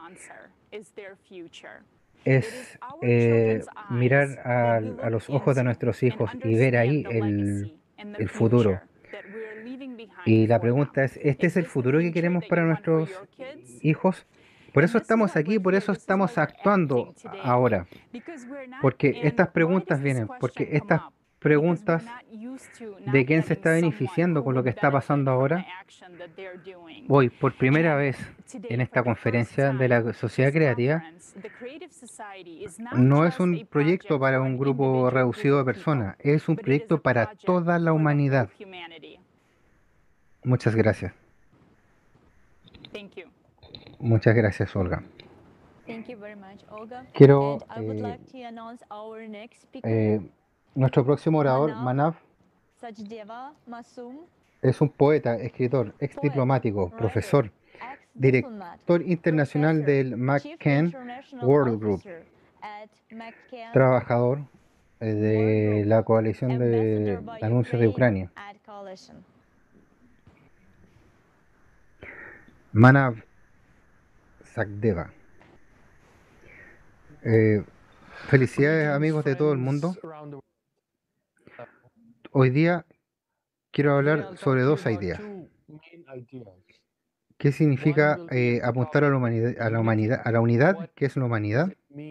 Es eh, mirar al- a, los ojos de nuestros hijos y ver ahí el, el futuro. Y la pregunta es, ¿este es el futuro que queremos para nuestros hijos? Por eso estamos aquí, por eso estamos actuando ahora. Porque estas preguntas vienen, porque estas preguntas de quién se está beneficiando con lo que está pasando ahora. Hoy, por primera vez en esta conferencia de la sociedad creativa, no es un proyecto para un grupo reducido de personas, es un proyecto para toda la humanidad. Muchas gracias. Muchas gracias, Olga. Thank you very much, Olga. Quiero, And I would eh, like to announce our next speaker, eh, nuestro próximo orador, Manav Manav, Sachdeva Masum, es un poeta, escritor, ex poet, diplomático, writer, profesor, ex-diplomat, director internacional professor, del chief McCann international World Group, officer at McCann trabajador eh, World de Group, la coalición ambassador de by anuncios de Ukraine Ucrania. at Coalition. Manav Sachdeva. Eh, felicidades amigos de todo el mundo. Hoy día quiero hablar sobre dos ideas. ¿Qué significa eh, apuntar a la humanidad, a la humanidad, a la unidad? ¿Qué es la humanidad?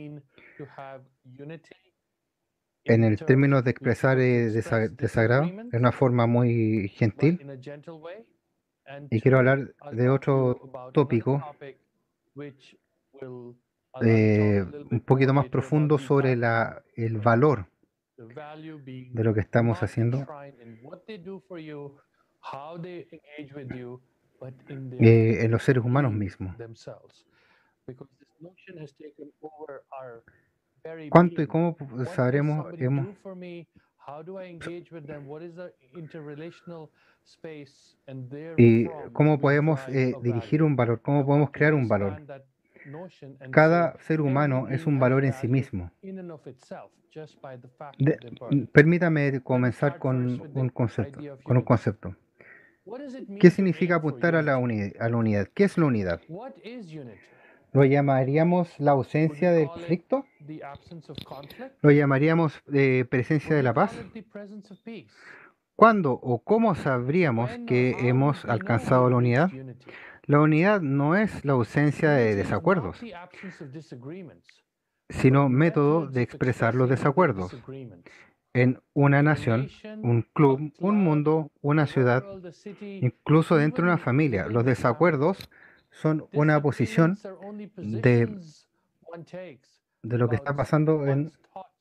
En el término de expresar eh, desa- desagrado, de una forma muy gentil. Y quiero hablar de otro tópico eh, un poquito más profundo sobre la, el valor de lo que estamos haciendo eh, en los seres humanos mismos. ¿Cuánto y cómo sabremos? Hemos, y cómo podemos eh, dirigir un valor, cómo podemos crear un valor. Cada ser humano es un valor en sí mismo. De, permítame comenzar con un concepto, con un concepto. ¿Qué significa apuntar a la, uni, a la unidad? ¿Qué es la unidad? ¿Lo llamaríamos la ausencia del conflicto? ¿Lo llamaríamos eh, presencia de la paz? ¿Cuándo o cómo sabríamos que hemos alcanzado la unidad? La unidad no es la ausencia de desacuerdos, sino método de expresar los desacuerdos. En una nación, un club, un mundo, una ciudad, incluso dentro de una familia, los desacuerdos son una posición de, de lo que está pasando en...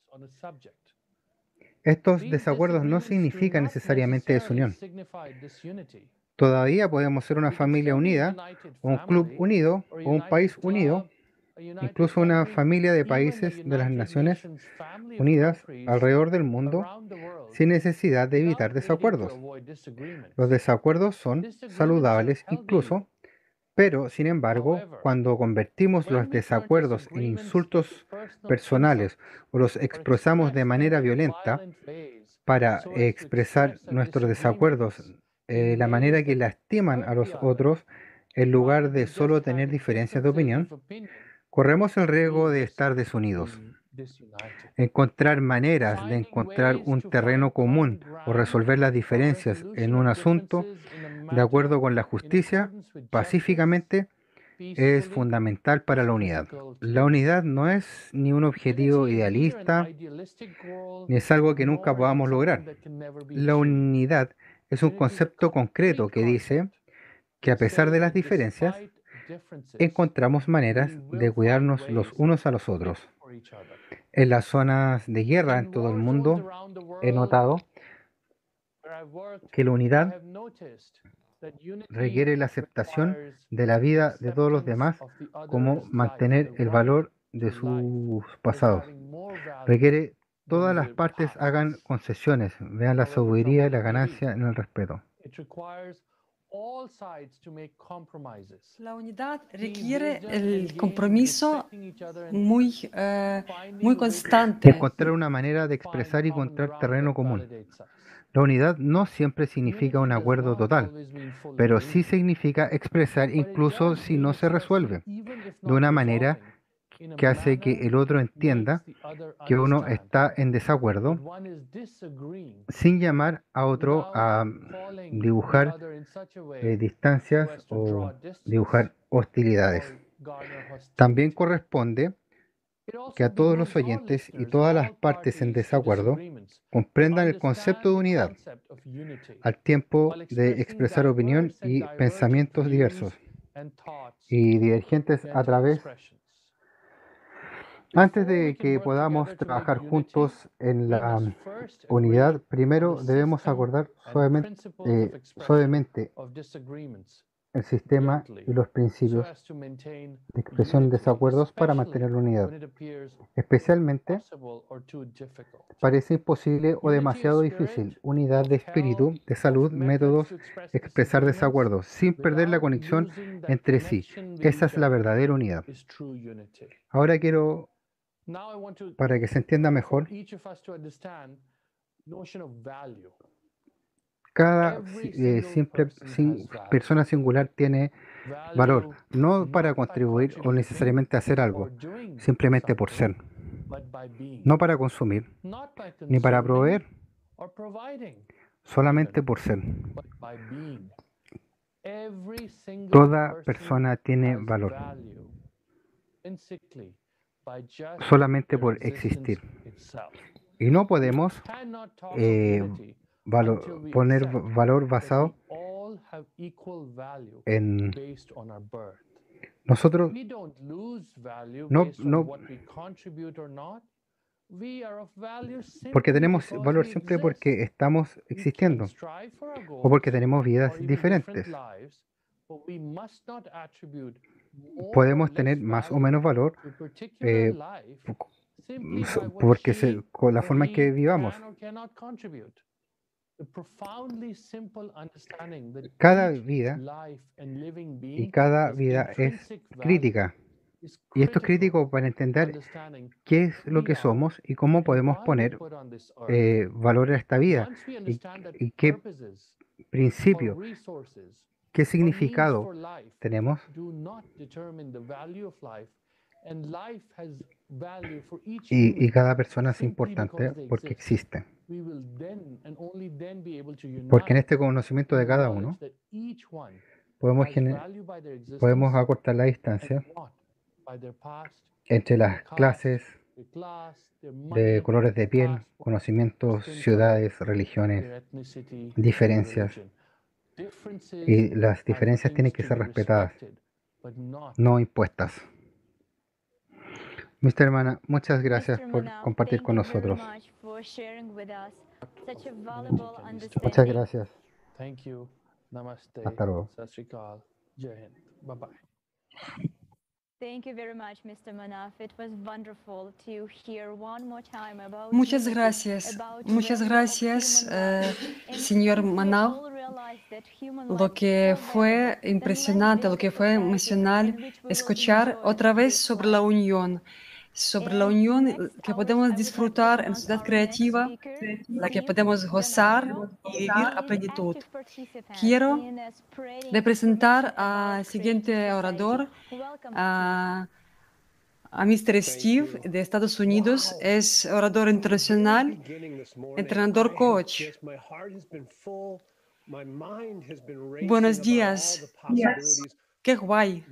Estos desacuerdos no significan necesariamente desunión. Todavía podemos ser una familia unida, o un club unido, o un país unido, incluso una familia de países de las Naciones Unidas alrededor del mundo, sin necesidad de evitar desacuerdos. Los desacuerdos son saludables incluso, pero sin embargo, cuando convertimos los desacuerdos en insultos personales o los expresamos de manera violenta para expresar nuestros desacuerdos de la manera que lastiman a los otros, en lugar de solo tener diferencias de opinión, corremos el riesgo de estar desunidos. Encontrar maneras de encontrar un terreno común o resolver las diferencias en un asunto de acuerdo con la justicia, pacíficamente, es fundamental para la unidad. La unidad no es ni un objetivo idealista, ni es algo que nunca podamos lograr. La unidad es un concepto concreto que dice que a pesar de las diferencias, encontramos maneras de cuidarnos los unos a los otros. En las zonas de guerra en todo el mundo he notado que la unidad requiere la aceptación de la vida de todos los demás, como mantener el valor de sus pasados. Requiere todas las partes hagan concesiones, vean la sabiduría y la ganancia en el respeto. La unidad requiere el compromiso muy, eh, muy constante. Encontrar una manera de expresar y encontrar terreno común. La unidad no siempre significa un acuerdo total, pero sí significa expresar incluso si no se resuelve, de una manera que hace que el otro entienda que uno está en desacuerdo, sin llamar a otro a dibujar eh, distancias o dibujar hostilidades. También corresponde que a todos los oyentes y todas las partes en desacuerdo comprendan el concepto de unidad, al tiempo de expresar opinión y pensamientos diversos y divergentes a través. Antes de que podamos trabajar juntos en la unidad, primero debemos acordar suavemente, eh, suavemente el sistema y los principios de expresión de desacuerdos para mantener la unidad. Especialmente, parece imposible o demasiado difícil. Unidad de espíritu, de salud, métodos, expresar desacuerdos, sin perder la conexión entre sí. Esa es la verdadera unidad. Ahora quiero, para que se entienda mejor, cada eh, simple sin, persona singular tiene valor, no para contribuir o necesariamente hacer algo, simplemente por ser. No para consumir, ni para proveer, solamente por ser. Toda persona tiene valor, solamente por existir. Y no podemos eh, valor, poner valor basado en nosotros. No, no, porque tenemos valor siempre porque estamos existiendo o porque tenemos vidas diferentes. Podemos tener más o menos valor eh, porque se, con la forma en que vivamos. Cada vida y cada vida es crítica. Y esto es crítico para entender qué es lo que somos y cómo podemos poner eh, valor a esta vida y, y qué principio, qué significado tenemos. Y, y cada persona es importante porque existe. Porque en este conocimiento de cada uno podemos, podemos acortar la distancia entre las clases, de colores de piel, conocimientos, ciudades, religiones, diferencias. Y las diferencias tienen que ser respetadas, no impuestas. Mister Hermana, muchas gracias por compartir con nosotros. Muchas gracias. Hasta luego. Muchas gracias, muchas gracias, eh, señor Manaf. Lo que fue impresionante, lo que fue emocional escuchar otra vez sobre la unión, sobre la unión que podemos disfrutar en Ciudad Creativa, la que podemos gozar y vivir a plenitud. Quiero representar al siguiente orador, a a mister Steve de Estados Unidos, es orador internacional, entrenador coach. Buenos días. Qué guay.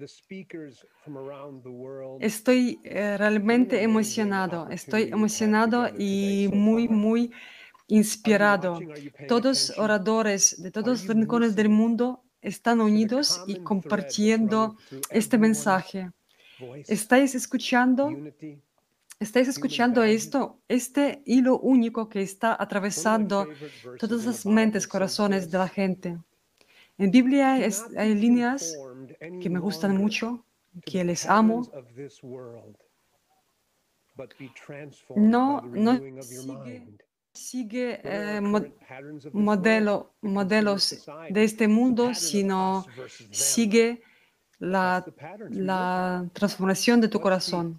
Estoy eh, realmente emocionado, estoy emocionado y muy, muy inspirado. Todos oradores de todos los rincones del mundo están unidos y compartiendo este mensaje. ¿Estáis escuchando? ¿Estáis escuchando esto? Este hilo único que está atravesando todas las mentes, corazones de la gente. En Biblia es, hay líneas que me gustan mucho, que les amo. No, no sigue sigue eh, mo- modelo, modelos de este mundo, sino sigue la, la transformación de tu corazón.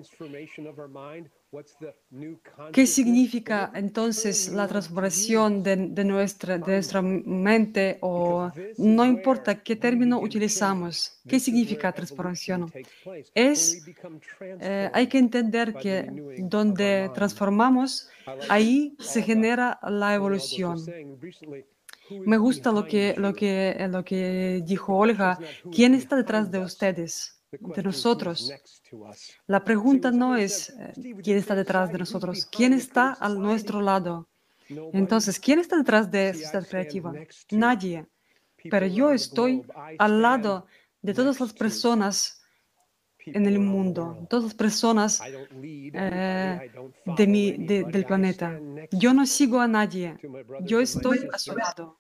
¿Qué significa entonces la transformación de, de nuestra, de nuestra mente? O no importa qué término utilizamos, ¿qué significa transformación? Es, eh, hay que entender que donde transformamos, ahí se genera la evolución. Me gusta lo que, lo que, lo que dijo Olga. ¿Quién está detrás de ustedes, de nosotros? La pregunta no es eh, quién está detrás de nosotros, quién está a nuestro lado. Entonces, ¿quién está detrás de Sociedad Creativa? Nadie. Pero yo estoy al lado de todas las personas en el mundo, todas las personas eh, de mi, de- del planeta. Yo no sigo a nadie, yo estoy a su lado.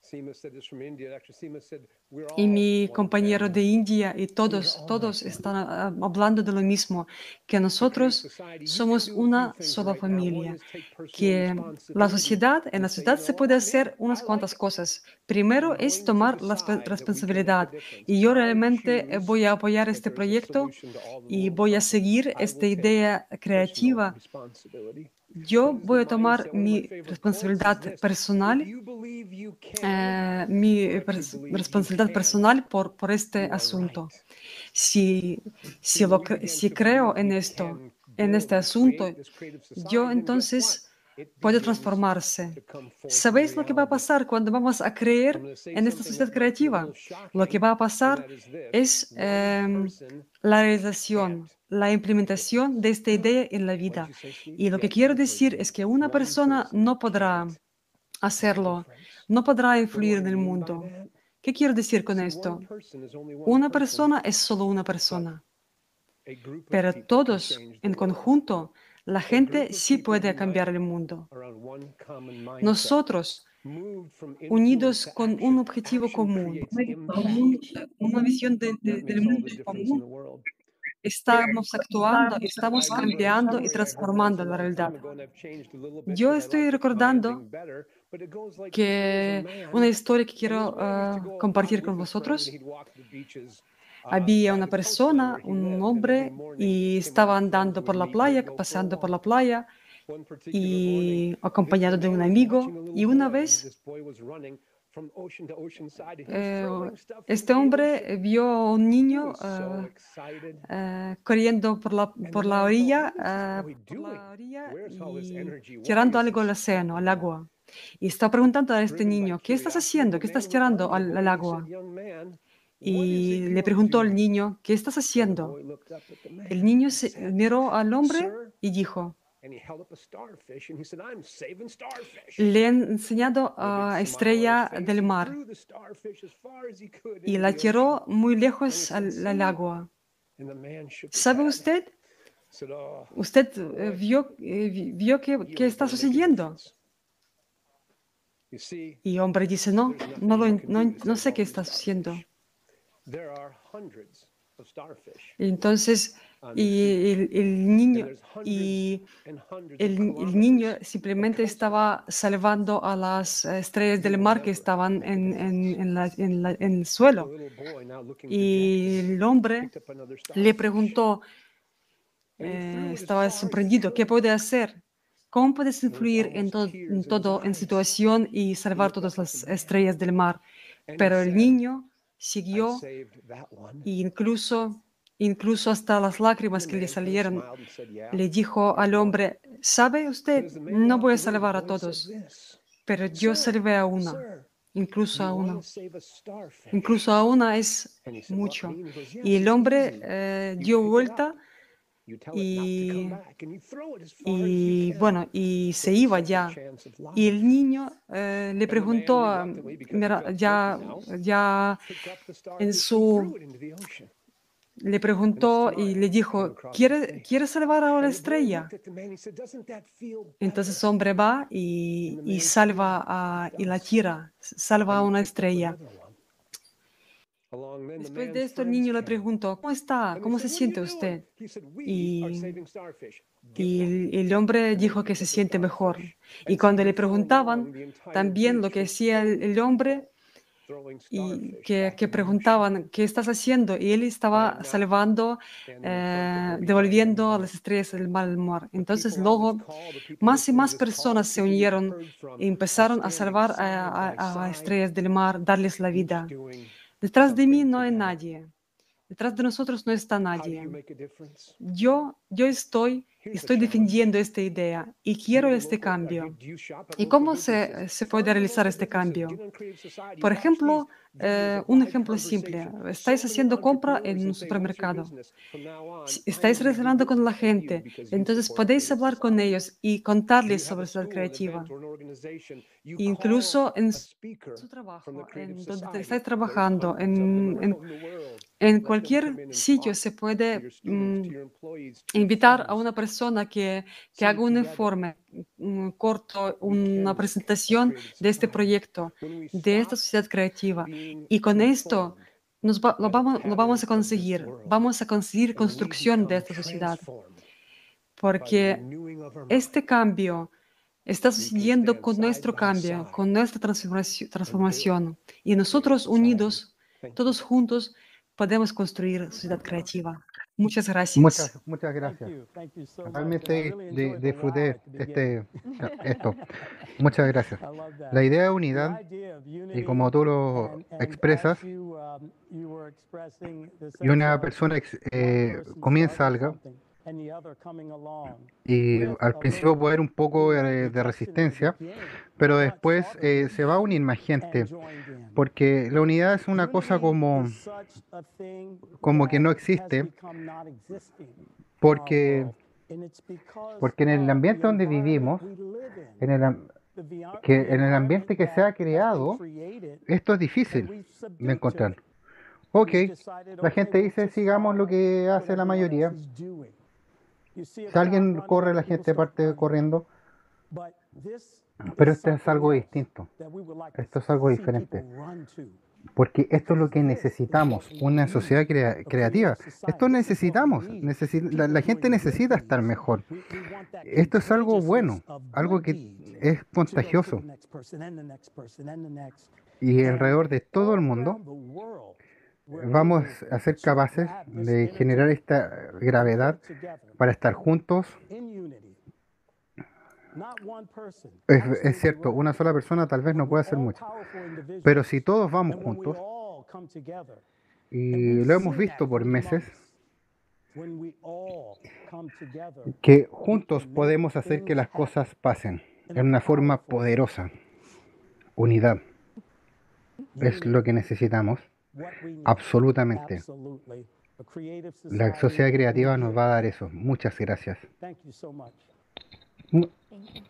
Y mi compañero de India y todos, todos están ah, hablando de lo mismo, que nosotros somos una sola familia, que la sociedad, en la sociedad se puede hacer unas cuantas cosas. Primero es tomar la resp- responsabilidad y yo realmente eh, voy a apoyar este proyecto y voy a seguir esta idea creativa. Yo voy a tomar mi responsabilidad personal eh, mi pers- responsabilidad personal por, por este asunto. Si, si, lo, cre- si creo en esto, en este asunto, yo entonces puede transformarse. ¿Sabéis lo que va a pasar cuando vamos a creer en esta sociedad creativa? Lo que va a pasar es em, la realización, la implementación de esta idea en la vida. Y lo que quiero decir es que una persona no podrá hacerlo, no podrá influir en el mundo. ¿Qué quiero decir con esto? Una persona es solo una persona, pero todos en conjunto, la gente sí puede cambiar el mundo. Nosotros, unidos con un objetivo común, con un- una visión de- de- del mundo común, estamos actuando, estamos cambiando y transformando la realidad. Yo estoy recordando que una historia que quiero ah, compartir con vosotros. Había una persona, un hombre, y estaba andando por la playa, pasando por la playa, y acompañado de un amigo. Y una vez, eh, este hombre vio a un niño ah, ah, corriendo por la, por la orilla, ah, por la orilla y tirando algo al océano, al agua. Y está preguntando a este niño, ¿qué estás haciendo? ¿Qué estás tirando al, al agua? Y le preguntó al niño, ¿qué estás haciendo? El niño se miró al hombre y dijo, le he enseñado a Estrella del Mar y la tiró muy lejos al, al agua. ¿Sabe usted? ¿Usted eh, vio, eh, vi- vio qué, qué está sucediendo? Y el hombre dice, no, no, lo en- no, en- no sé qué está sucediendo. Y entonces, y el, el niño, y el, el niño simplemente estaba salvando a las eh, estrellas del mar que estaban en, en- en la- en la- en el suelo. Y el hombre le preguntó, eh, estaba sorprendido, ¿qué puede hacer? ¿Cómo puedes influir en, to- en todo, en situación y salvar todas las estrellas del mar? Pero el niño siguió e incluso, incluso hasta las lágrimas que le salieron, le dijo al hombre, ¿sabe usted? No voy a salvar a todos, pero yo salvé a una, incluso a una. Incluso a una es mucho. Y el hombre eh, dio vuelta y, y, bueno, y se iba ya. Y el niño eh, le preguntó, a- mira, ya, ya en su, le preguntó y le dijo, ¿quiere, ¿quiere salvar a la estrella? Entonces el hombre va y, y salva a, y la tira, salva a una estrella. Después de esto, el niño le preguntó, ¿cómo está? ¿Cómo se siente usted? Y, y el, el hombre dijo que se siente mejor. Y cuando le preguntaban también lo que decía el, el hombre, y que, que preguntaban, ¿qué estás haciendo? Y él estaba salvando, eh, devolviendo a las estrellas del mar. Entonces luego más y más personas se unieron y empezaron a salvar a, a- a estrellas del mar, darles la vida. Detrás de mí no hay nadie. Detrás de nosotros no está nadie. Yo, yo estoy, estoy defendiendo esta idea y quiero este cambio. ¿Y cómo se, se puede realizar este cambio? Por ejemplo, eh, un ejemplo simple. Estáis haciendo compra en un supermercado. Si estáis relacionando con la gente, entonces podéis hablar con ellos y contarles sobre Ciudad Creativa. Incluso en su trabajo, en donde te estáis trabajando, en, en, en cualquier sitio se puede mm, invitar a una persona que, que haga un informe mm, corto, una presentación de este proyecto, de esta sociedad creativa. Y con esto nos va- lo, vamos, lo vamos a conseguir. Vamos a conseguir construcción de esta sociedad. Porque este cambio está sucediendo con nuestro cambio, con nuestra transformaci- transformación. Y nosotros unidos, todos juntos, podemos construir sociedad creativa. Muchas gracias. Muchas, muchas Thank gracias. you. Thank you so much. And I Realmente really di- enjoyed the wow disfruté at the este, beginning. esto. Muchas gracias. I love that. La idea de The unidad, idea of y unity, como tú lo and and expresas, as you um, you were expressing the y sense una of persona ex- one eh, person comienza starting algo, something and the other coming along y with al a principio little, puede haber un you poco know, de, de rejection in the resistencia, beginning, pero but después saw the eh, se va a unir vision más and gente, joined in. porque la unidad es una cosa Unity como, is such a thing como que that no has existe, become non-existing in our porque, world, and it's because porque en el of the ambiente donde environment vivimos, we live in. en el, am- The, vi- que the en el environment ambiente que se that ha has been creado, created esto es and difícil we've de subdued to encontrar. it. Ok, We've decided, la okay, gente we'll dice, just sigamos lo follow que what hace la everyone else mayoría. is doing. You see a Si crowd alguien running, corre, other la people gente start parte running. corriendo. But this Pero is esto es something algo else distinto. that we would like Esto to es algo see people diferente. run to. Porque esto es lo Because que this is necesitamos, what we una need, sociedad crea- a creativa. creative Esto society. This is what we necesitamos. need. necesi- la, People la gente doing good necesita estar deeds. mejor. We, we want that Esto es algo contagiousness bueno, of algo good que deeds es to go to contagioso. the next person and the next person and the next. Y And alrededor de todo el all mundo around the world, we're vamos able a ser to capaces have this de generar energy esta to gravedad work together para estar juntos. in unity. Not one person, Es, es absolutely cierto, right. una sola persona tal vez But no puede we're hacer all mucho. powerful individuals. Pero si todos vamos And when we juntos, all come together, and y we've lo hemos seen that visto por for meses, months, when we all come together, que we juntos can make podemos hacer que things las happen cosas pasen in en a una forma powerful way. poderosa. Unidad es Unity, lo que necesitamos, what we need. absolutamente. Absolutely. A creative La society sociedad will creativa nos give va a dar that. eso. Muchas gracias. Thank you so much. Mu- Thank you.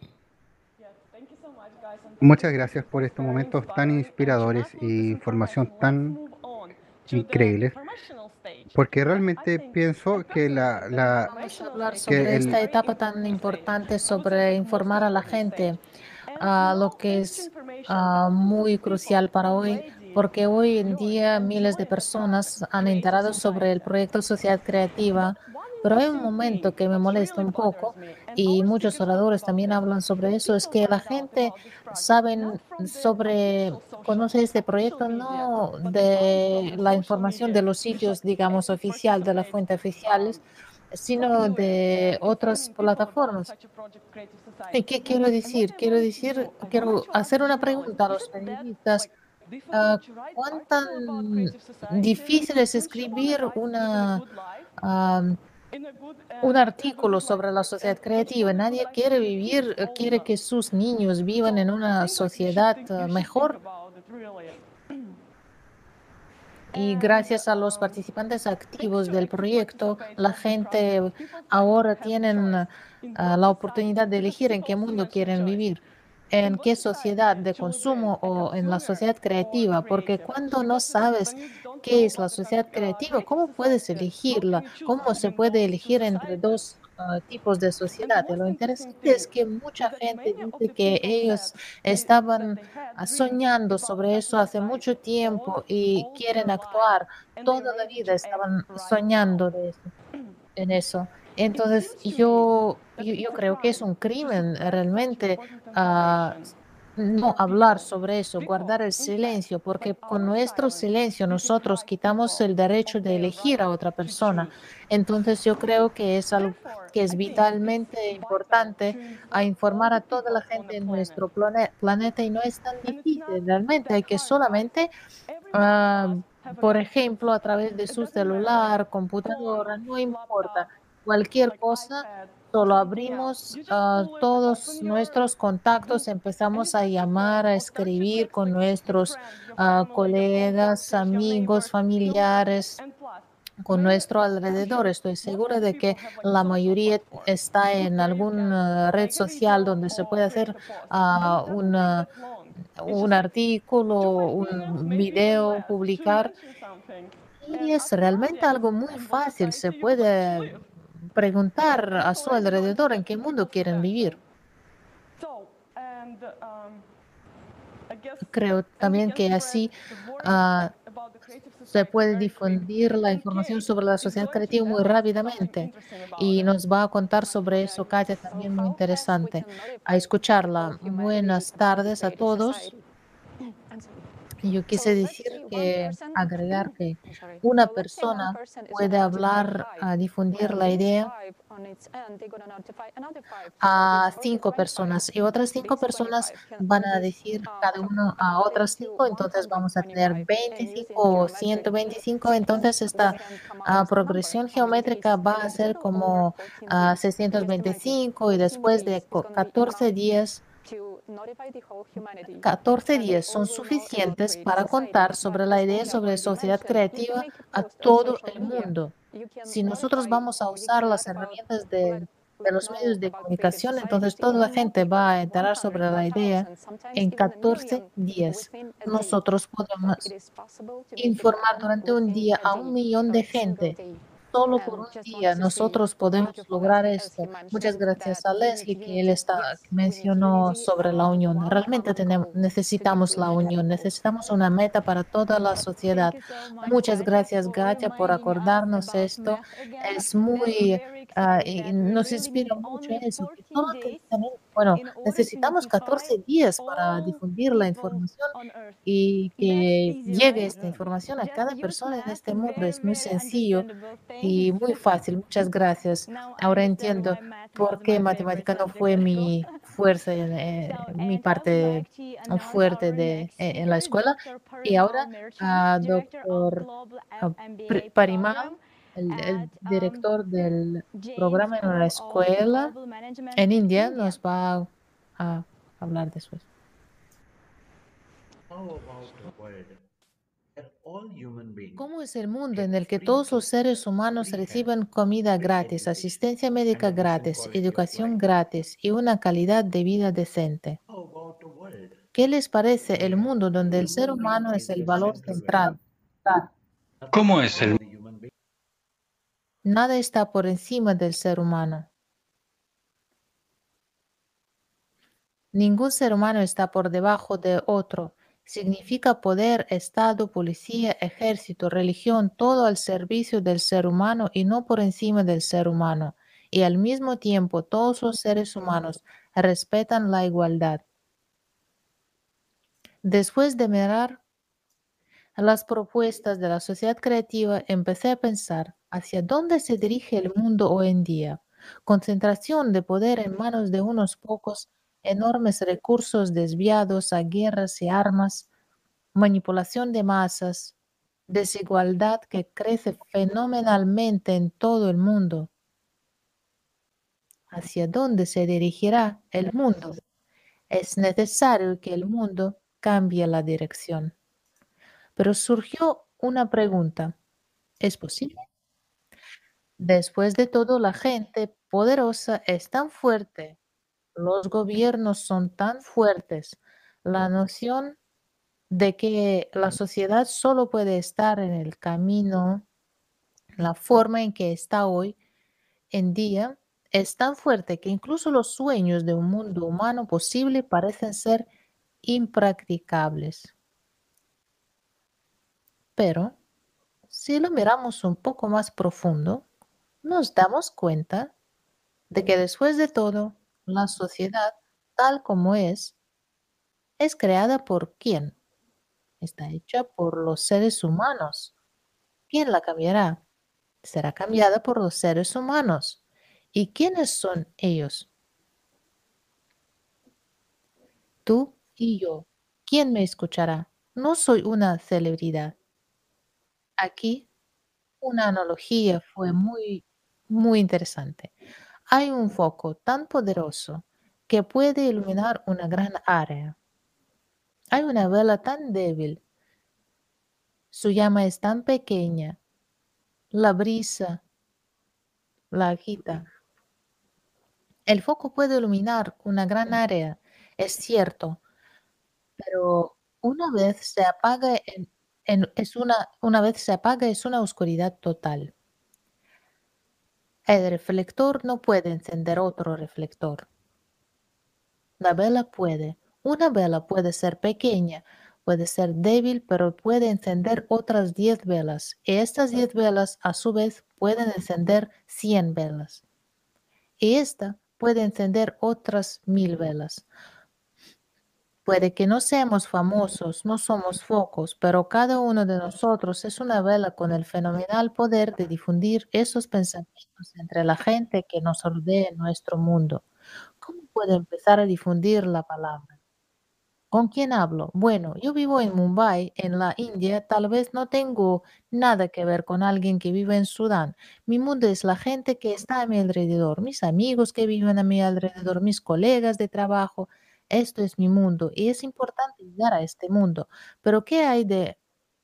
Muchas gracias por estos momentos tan inspiradores e información tan increíble, porque realmente pienso que la, la Vamos a hablar que sobre esta el etapa tan importante sobre informar a la gente, ah, lo que es ah, muy crucial para hoy, porque hoy en día miles de personas han enterado sobre el proyecto Sociedad Creativa, pero hay un momento que me molesta un poco y muchos oradores también hablan sobre eso, es que la gente saben sobre, conoce este proyecto no de la información de los sitios, digamos, oficial, de la fuente oficiales, sino de otras plataformas. ¿Y qué quiero decir? Quiero decir, quiero hacer una pregunta a los periodistas. Ah, ¿cuán tan difícil es escribir una, am, un artículo sobre la sociedad creativa? Nadie quiere vivir, eh, quiere que sus niños vivan en una sociedad eh, mejor. Y gracias a los participantes activos del proyecto, la gente ahora tienen ah, la oportunidad de elegir en qué mundo quieren vivir, en qué sociedad de consumo o en la sociedad creativa, porque cuando no sabes qué es la sociedad creativa, ¿cómo puedes elegirla? ¿Cómo se puede elegir entre dos ah, tipos de And the sociedad. Y most lo interesting interesante thing es que mucha is that gente many of dice the que people said ellos they that estaban they had ah, dreams soñando about sobre eso better hace life mucho all tiempo y all quieren their life, actuar. and they are Toda la ready vida to act estaban right now. soñando de eso, en eso. It Entonces, seems to me yo, that yo, yo it's a creo que es crime un to crimen eh, suppress such realmente important ah, information. no For hablar people, sobre eso, guardar people, el in fact, silencio, like porque con our nuestro silence, silencio we nosotros deprive quitamos people el of derecho de their elegir right a otra to persona. choose. Entonces yo creo que es algo Therefore, que es I think it's vitalmente vital importante to a inform all informar the a toda la people on the gente en planet. nuestro plane- planeta y no es tan And it's not difícil, realmente that hay que hard, guys. solamente, Every one of ah, us have a por gadget. ejemplo, a través de It su doesn't matter, like celular, phone, computadora, no importa, laptop, cualquier like cosa. iPad or Solo something else. abrimos You just ah, pull it, todos open your nuestros contactos, book, and you empezamos a start to llamar, write a or start to escribir text con like your nuestros friends, your ah, family, your colegas, coworkers, your amigos, neighbors, your work, familiares, and plus, con many, nuestro I'm alrededor. sure Estoy most of segura the de que people have like la social mayoría platforms está en where you can alguna red make a social video donde se or puede create hacer a post, and ah, it doesn't take una- that long. It's un just like two artículo, ideas, un maybe even video, less, to publicar. mention something, Y and es ask your realmente audience algo muy on what fácil. Se society you would like to puede live. preguntar And a it's su already going to alrededor en get qué mundo people's quieren attention. vivir. So, and um, I guess, Creo and we también can que spread así the word ah, about the creative se society puede very quick. difundir la And información Kate sobre la is sociedad going to creativa muy tell us something rápidamente interesting about y it. nos va a contar sobre eso, Katia, So también muy how fast we interesante. can A notify escucharla. all humanity Buenas about the tardes a creative todos. society? I'm sorry. Yo quise So let's decir say one que, person, agregar que I'm sorry. una So let's say one persona person is puede gonna notify hablar, five. a difundir Well, la these idea five on its end, they're gonna notify another five. So it's a already cinco twenty-five. personas y otras cinco These personas twenty-five can van all a be decir uh, cada uno a convoluted otras to cinco, entonces vamos a tener one hundred twenty-five. And using veinticinco o geometric ciento veinticinco. sequence, Entonces we esta can come up ah, with a number. progresión In this geométrica case, va it a is ser little over como fourteen ah, days. Just imagine, seiscientos veinticinco y fourteen después days de is co- gonna be catorce enough días. to notify the whole humanity. catorce And they días all son will know about suficientes creative para society. contar But sobre la as idea Olga sobre already sociedad mentioned, you can creativa make a a post on todo social el media. mundo. You can Si nosotros notify vamos a or you usar can las let about herramientas let de, de let los medios know de about creative comunicación, society entonces to toda la even more gente people, va a like enterar one hundred, sobre la a idea thousand, sometimes en even a catorce million días. within a day. Nosotros So it podemos is possible to make it informar happen durante un within día a a un day millón or de a single gente. day. Solo por And un just día wanted to say nosotros thank podemos you for lograr Leslie, as he esto. Muchas mentioned gracias that a we need Leslie que él unity. está, que Yes, we need mencionó unity sobre la around unión. one Realmente common tenemos, goal to be necesitamos la pushed. unión, necesitamos una meta para toda la Thank sociedad. you so much, Muchas Katya, gracias, for Gatia, por reminding us acordarnos about esto. math again. Es That is muy, very ah, exciting y that we nos really need inspira mucho only eso, que fourteen solo te- days tenemos- bueno, in order to necesitamos notify catorce días para all difundir la people información on Earth. y That's que easy, llegue right? esta información a Just cada use persona en math. este mundo. Very, Es muy very sencillo understandable. Thanks. y muy fácil. Muchas gracias. Now I Ahora understand entiendo why math was por qué my favorite matemática no subject fue at school. mi fuerza, So, eh, mi and I would parte like to announce fuerte our de, next eh, en la speaker, escuela. doctor Y Parimal ahora, Mirchan, a Director of doctor Global ah, Pri- M B A Parimal, Program el, el at um, director del Jain programa en la School of escuela Global Management en in India, India. nos va a hablar después. How about a world where all human beings ¿Cómo es el mundo en get el que free todos los food, seres humanos free health, reciban comida free gratis, education, asistencia and médica a decent gratis, quality of educación life? gratis y una calidad de vida decente? How about a world ¿Qué les parece el where mundo donde el ser human being humano es is el the valor central central? value? Nothing ¿Cómo is es el above the human being. Nada está por encima del ser humano. Ningún ser humano está por debajo de otro. Significa poder, Estado, policía, ejército, religión, todo al servicio del ser humano y no por encima del ser humano. Y al mismo tiempo todos los seres humanos respetan la igualdad. Después de mirar las propuestas de la sociedad creativa, empecé a pensar hacia dónde se dirige el mundo hoy en día. Concentración de poder en manos de unos pocos, enormes recursos desviados a guerras y armas, manipulación de masas, desigualdad que crece fenomenalmente en todo el mundo. ¿Hacia dónde se dirigirá el mundo? Es necesario que el mundo cambie la dirección. Pero surgió una pregunta. ¿Es posible? Después de todo, la gente poderosa es tan fuerte, los gobiernos son tan fuertes, la noción de que la sociedad solo puede estar en el camino, la forma en que está hoy en día, Es tan fuerte que incluso los sueños de un mundo humano posible parecen ser impracticables. Pero, si lo miramos un poco más profundo, nos damos cuenta de que después de todo, la sociedad, tal como es, es creada por quién? Está hecha por los seres humanos. ¿Quién la cambiará? Será cambiada por los seres humanos. ¿Y quiénes son ellos? Tú y yo. ¿Quién me escuchará? No soy una celebridad. Aquí una analogía fue muy, muy interesante. Hay un foco tan poderoso que puede iluminar una gran área. Hay una vela tan débil, su llama es tan pequeña, la brisa la agita. El foco puede iluminar una gran área, es cierto, pero una vez se apaga, en- en- es una, una vez se apaga es una oscuridad total. El reflector no puede encender otro reflector. La vela puede. Una vela puede ser pequeña, puede ser débil, pero puede encender otras diez velas. Y estas diez velas, a su vez, pueden encender cien velas. Y esta puede encender otras mil velas. Puede que no seamos famosos, no somos focos, pero cada uno de nosotros es una vela con el fenomenal poder de difundir esos pensamientos entre la gente que nos rodea en nuestro mundo. ¿Cómo puedo empezar a difundir la palabra? ¿Con quién hablo? Bueno, yo vivo en Mumbai, en la India. Tal vez no tengo nada que ver con alguien que vive en Sudán. Mi mundo es la gente que está a mi alrededor, mis amigos que viven a mi alrededor, mis colegas de trabajo. Esto es mi mundo y es importante llegar a este mundo. Pero ¿qué hay de...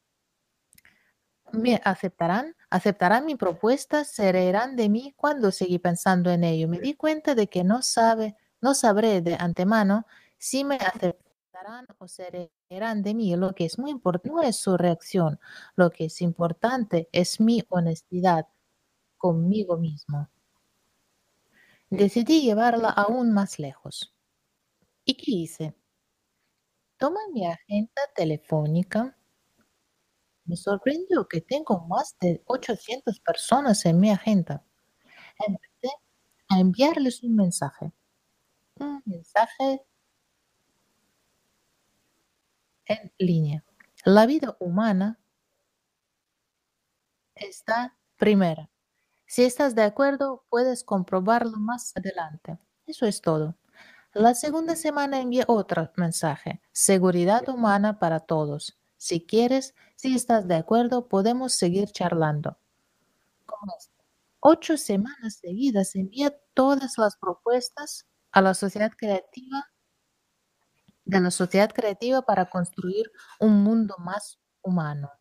¿Me aceptarán? ¿Aceptarán mi propuesta? ¿Se reirán de mí? Cuando seguí pensando en ello, me di cuenta de que no sabe, no sabré de antemano si me aceptarán o se reirán de mí. Lo que es muy importante no es su reacción, lo que es importante es mi honestidad conmigo mismo. Decidí llevarla aún más lejos. ¿Y qué hice? Tomé mi agenda telefónica. Me sorprendió que tengo más de ochocientas personas en mi agenda. Empecé a enviarles un mensaje, un mensaje en línea. La vida humana está primera. Si estás de acuerdo, puedes comprobarlo más adelante. Eso es todo. La segunda semana envié otro mensaje, seguridad humana para todos. Si quieres, si estás de acuerdo, podemos seguir charlando. Con esto, ocho semanas seguidas envié todas las propuestas a la sociedad creativa de la sociedad creativa para construir un mundo más humano.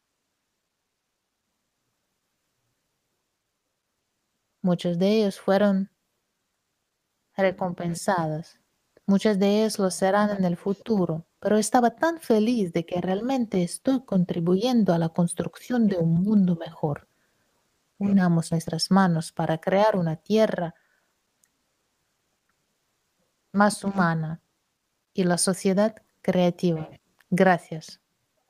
Muchos de ellos fueron recompensados, muchas de ellos lo serán en el futuro, pero estaba tan feliz de que realmente estoy contribuyendo a la construcción de un mundo mejor. Unamos nuestras manos para crear una tierra más humana y la sociedad creativa. Gracias.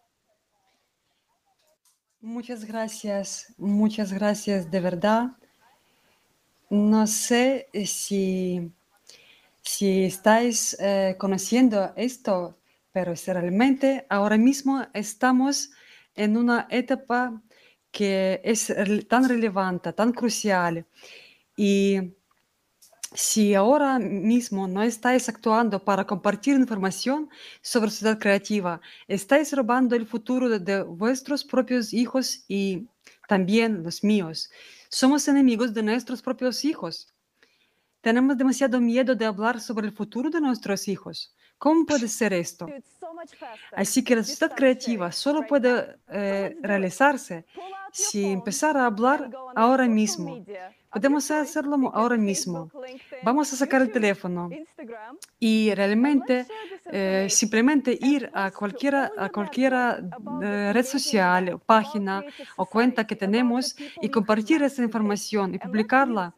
Muchas gracias, muchas gracias de verdad. No sé eh, si, si estáis eh, conociendo esto, pero si realmente ahora mismo estamos en una etapa que es rel- tan relevante, tan crucial. Y si ahora mismo no estáis actuando para compartir información sobre sociedad creativa, estáis robando el futuro de, de vuestros propios hijos y también los míos. Somos enemigos de nuestros propios hijos. Tenemos demasiado miedo de hablar sobre el futuro de nuestros hijos. ¿Cómo puede ser esto? Así que la sociedad creativa solo puede eh, realizarse si empezar a hablar ahora mismo. Podemos hacerlo mo- ahora mismo. Vamos a sacar el teléfono y realmente eh, simplemente ir a cualquiera, a cualquiera eh, red social, página o cuenta que tenemos y compartir esa información y publicarla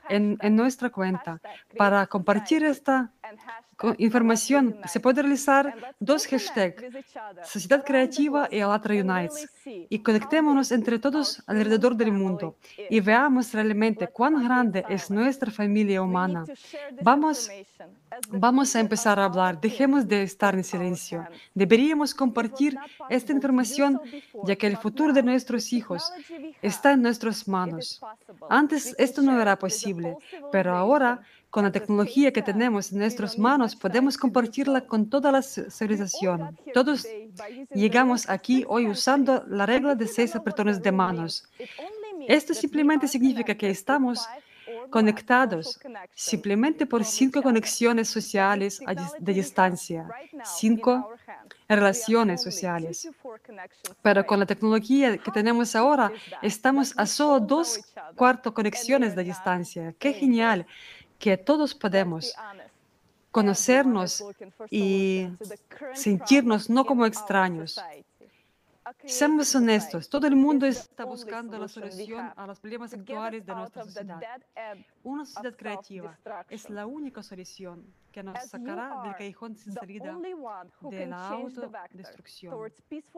en, en nuestra cuenta. Para compartir esta co- información se puede realizar dos hashtags, Sociedad Creativa y Allatra Unites, y conectémonos entre todos alrededor del mundo y veamos realmente cuán grande es nuestra familia humana. Vamos Vamos a empezar a hablar, dejemos de estar en silencio. Deberíamos compartir esta información, ya que el futuro de nuestros hijos está en nuestras manos. Antes esto no era posible, pero ahora, con la tecnología que tenemos en nuestras manos, podemos compartirla con toda la ci- civilización. Todos llegamos aquí hoy usando la regla de seis apretones de manos. Esto simplemente significa que estamos conectados simplemente por cinco conexiones sociales a dis- de distancia, cinco relaciones sociales. Pero con la tecnología que tenemos ahora, estamos a solo dos cuarto conexiones de distancia. Qué genial que todos podemos conocernos y sentirnos no como extraños. Seamos honestos, todo el mundo está buscando la solución a los problemas actuales de nuestra sociedad. Una sociedad creativa es la única solución que nos sacará del callejón sin salida de la autodestrucción.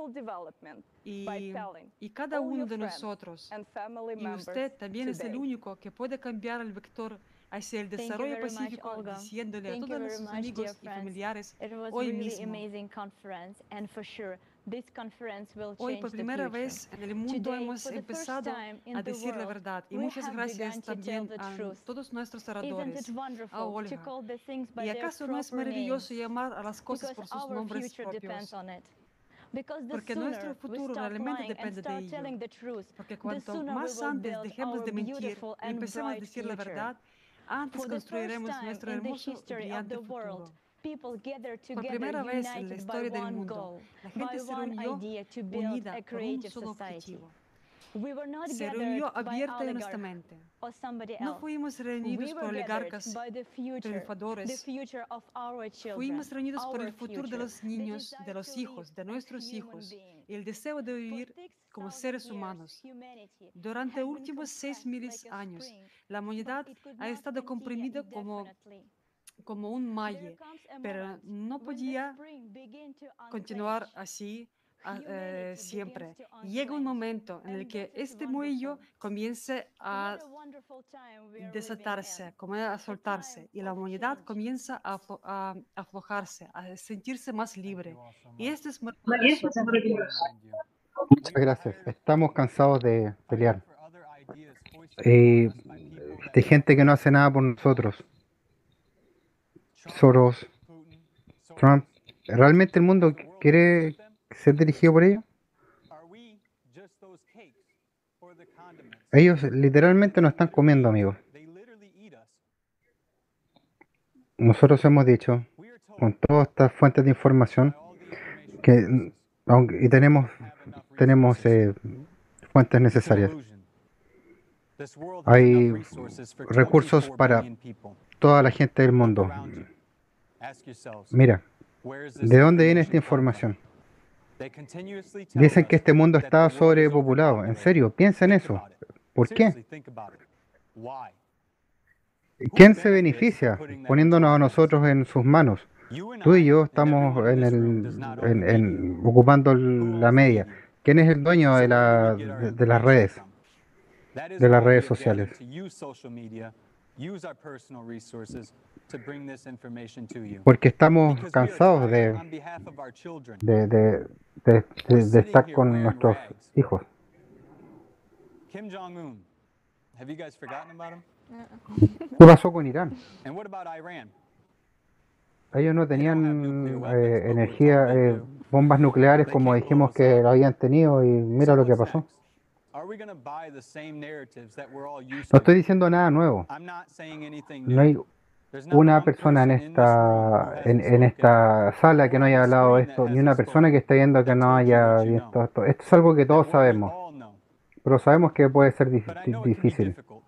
Y, y cada uno de nosotros, y usted también es el único que puede cambiar el vector hacia el Thank you desarrollo very much, pacífico, Olga. diciéndole a Thank you todos very sus much, dear amigos y friends. familiares It was a hoy really mismo. amazing conference, and for sure, this conference will Hoy change por the primera future. vez en el mundo Today, hemos for the first empezado time in a the decir la world, verdad. Y we muchas have gracias begun to tell también the a truth. todos nuestros Isn't it oradores, a wonderful to Olga. call the things by ¿Y their acaso no es proper names? maravilloso llamar a las cosas Because por sus our nombres future depends propios? on it. Because the Porque nuestro sooner we futuro stop realmente lying and depende de start ello. telling the truth, Porque the cuanto sooner we más will antes build dejemos our de mentir beautiful y and empecemos a bright decir la future. verdad, antes For the first construiremos time nuestro in the hermoso y history of brillante the world, futuro. people gathered Por together primera vez en la united by historia del one mundo, goal, la by gente se one reunió idea to build unida a por un creative solo society. objetivo. We were not Se gathered reunió by abierta y oligarchs honestamente. or somebody No else. fuimos We reunidos por were gathered oligarcas by the future, the triunfadores. future of our children, Fuimos reunidos por our el futuro de future, los the niños, de desire los to live hijos, de as nuestros human hijos beings. y el deseo de For vivir six como thousand seres years, humanos. humanity Durante has los been últimos seis compressed mil like a años, spring, la but humanidad it could ha not estado continue comprimida como, indefinitely. como un There malle, comes a pero moment no when the podía spring begin to continuar unclench. así a- eh, Humanity begins siempre. to Llega un unclench. momento en el And que that is este muelle wonderful. comience a What a wonderful time we are living desatarse, in. comienza a A time soltarse y la of humanidad change. comienza a, aflo- a aflojarse, a sentirse más libre. Y esto es Y eso maravilloso. es maravilloso. Muchas gracias. Estamos cansados de pelear. Eh, de gente que no hace nada por nosotros. Soros, Trump. ¿Realmente el mundo quiere ser dirigido por ellos? Ellos literalmente nos están comiendo, amigos. Nosotros hemos dicho, con todas estas fuentes de información, que aunque, y tenemos, tenemos eh, fuentes necesarias. Hay recursos para toda la gente del mundo. Mira, ¿de dónde viene esta información? Dicen que este mundo está sobrepopulado. En serio, piensa en eso. ¿Por qué? ¿Quién se beneficia poniéndonos a nosotros en sus manos? Tú y yo estamos en el, en, en- ocupando la media. ¿Quién es el dueño de, la, de, de las redes? De las redes sociales. Porque estamos cansados de, de, de, de, de- de estar con nuestros hijos. Kim Jong-un. Have you guys forgotten about him? ¿Qué pasó con Irán? And what about Iran? Ellos no tenían eh, energía, eh, bombas nucleares como dijimos que lo habían tenido y mira lo que pasó. Are we going to buy the same narratives that we're all used No to? estoy diciendo nada nuevo. I'm not saying anything No hay new. There's not una one persona en person in this room who esta hasn't en, en esta sala que no haya hablado de esto, ni una persona que esté viendo que no haya visto esto. Esto es algo que todos sabemos, all know. pero sabemos que puede ser dif- But I know it can be difícil. difficult.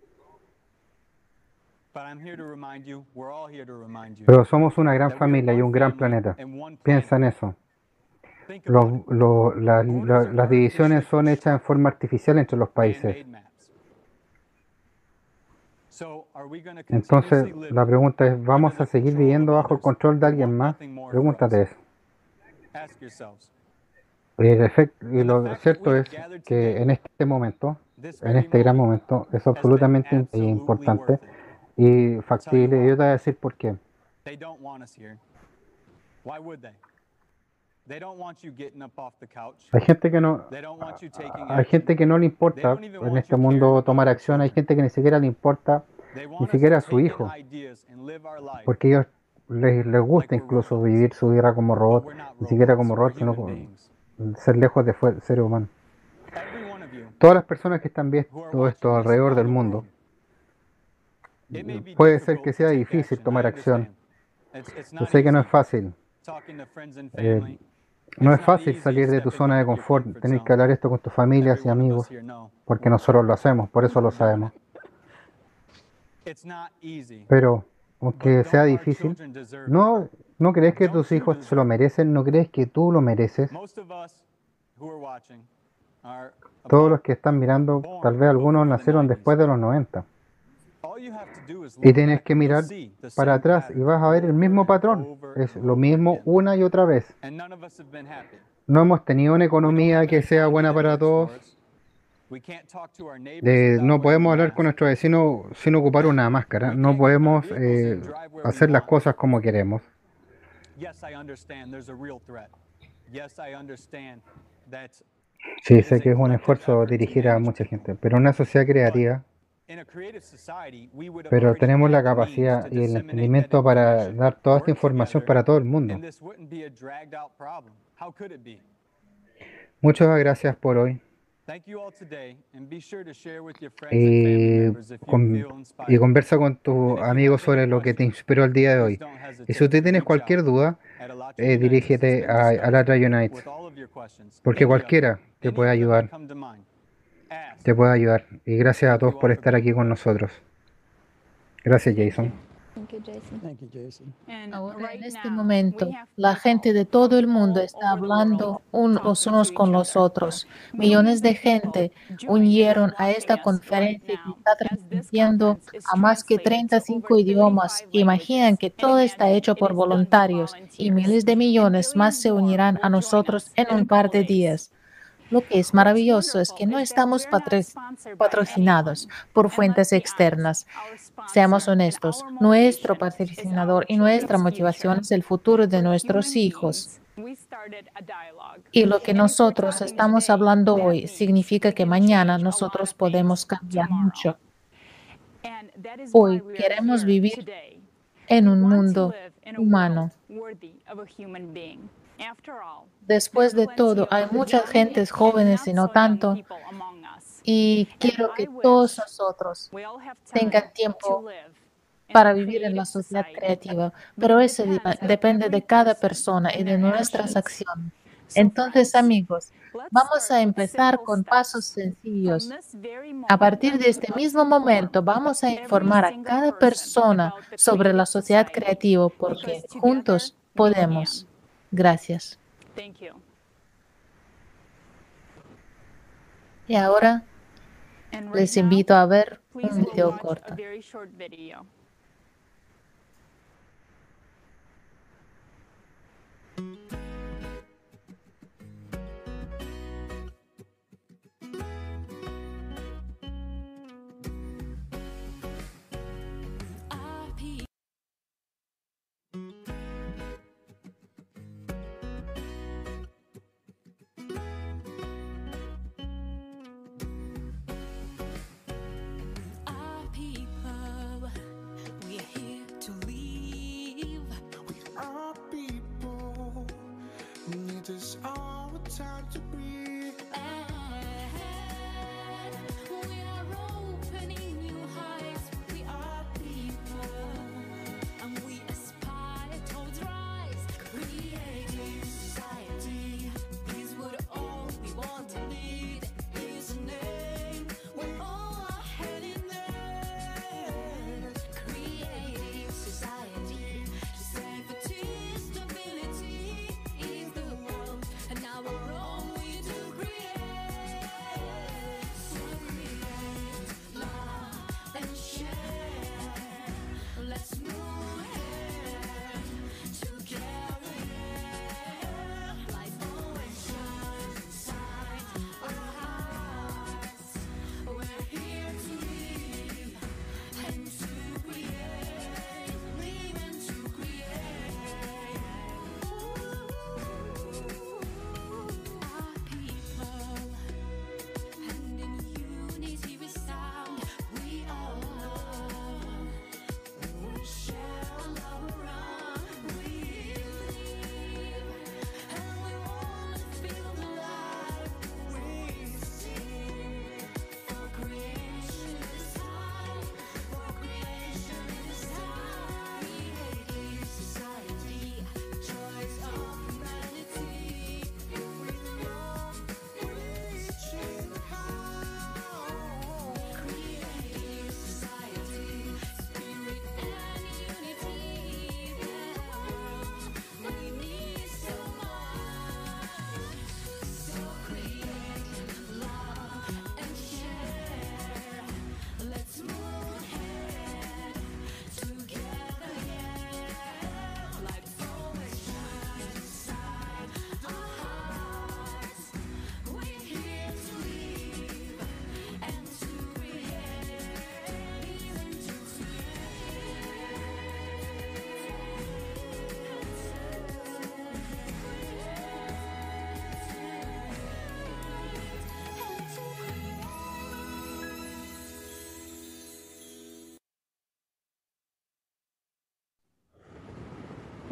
But I'm here to remind you, we're all here to remind you, Pero somos una gran that we are familia y one un gran family planeta. and one Piensa planet. en eso. Think about it. Los- lo- la- la- las divisiones son hechas en forma artificial entre los países. Man-made maps. Entonces, la pregunta es, ¿vamos a seguir viviendo bajo el control de alguien más? Pregúntate eso. Y, el efecto, y lo cierto es que en este momento, en este gran momento, es absolutamente importante y factible. Y yo te voy a decir por qué. Hay gente que no, hay gente que no le importa en este mundo tomar acción, hay gente que ni siquiera le importa, ni siquiera a su hijo, porque ellos les, les gusta incluso vivir su vida como robot, ni siquiera como robot, sino como ser lejos de seres humanos. Todas las personas que están viendo esto alrededor del mundo, puede ser que sea difícil tomar acción. Yo sé que no es fácil. Eh, no es fácil salir de tu zona de confort, tener que hablar esto con tus familias y amigos, porque nosotros lo hacemos, por eso lo sabemos. Pero, aunque sea difícil, ¿no, no crees que tus hijos se lo merecen? ¿No crees que tú lo mereces? Todos los que están mirando, tal vez algunos nacieron después de los noventa. Y tienes que mirar para atrás y vas a ver el mismo patrón. Es lo mismo una y otra vez. No hemos tenido una economía que sea buena para todos. Eh, no podemos hablar con nuestro vecino sin ocupar una máscara. No podemos eh, hacer las cosas como queremos. Sí, sé que es un esfuerzo dirigir a mucha gente, pero una sociedad creativa, pero tenemos la capacidad y el entendimiento para dar toda esta información para todo el mundo. Muchas gracias por hoy. Y, con, y conversa con tus amigos sobre lo que te inspiró el día de hoy. Y si usted tienes cualquier duda, eh, dirígete a Alatra Unite, porque cualquiera te puede ayudar. Te puede ayudar. Y gracias a todos por estar aquí con nosotros. Gracias, Jason. Ahora, en este momento, la gente de todo el mundo está hablando unos unos con los otros. Millones de gente unieron a esta conferencia que está transmitiendo a más que treinta y cinco idiomas. Imaginan que todo está hecho por voluntarios y miles de millones más se unirán a nosotros en un par de días. Lo que es maravilloso es que no estamos patrocinados por fuentes externas. Seamos honestos, nuestro patrocinador y nuestra motivación es el futuro de nuestros hijos. Y lo que nosotros estamos hablando hoy significa que mañana nosotros podemos cambiar mucho. Hoy queremos vivir en un mundo humano. Después de todo, hay muchas gentes jóvenes y no tanto, y quiero que todos nosotros tengan tiempo para vivir en la sociedad creativa, pero eso depende de cada persona y de nuestras acciones. Entonces, amigos, vamos a empezar con pasos sencillos. A partir de este mismo momento, vamos a informar a cada persona sobre la sociedad creativa, porque juntos podemos. Gracias. Y ahora les invito a ver un video corto. This all the time to breathe. And we are opening new heights. We are people, and we aspire towards rise. Creating society is what all we want and need. Is a name we're all are heading there. Creating society, safety, stability. And now we're all we do.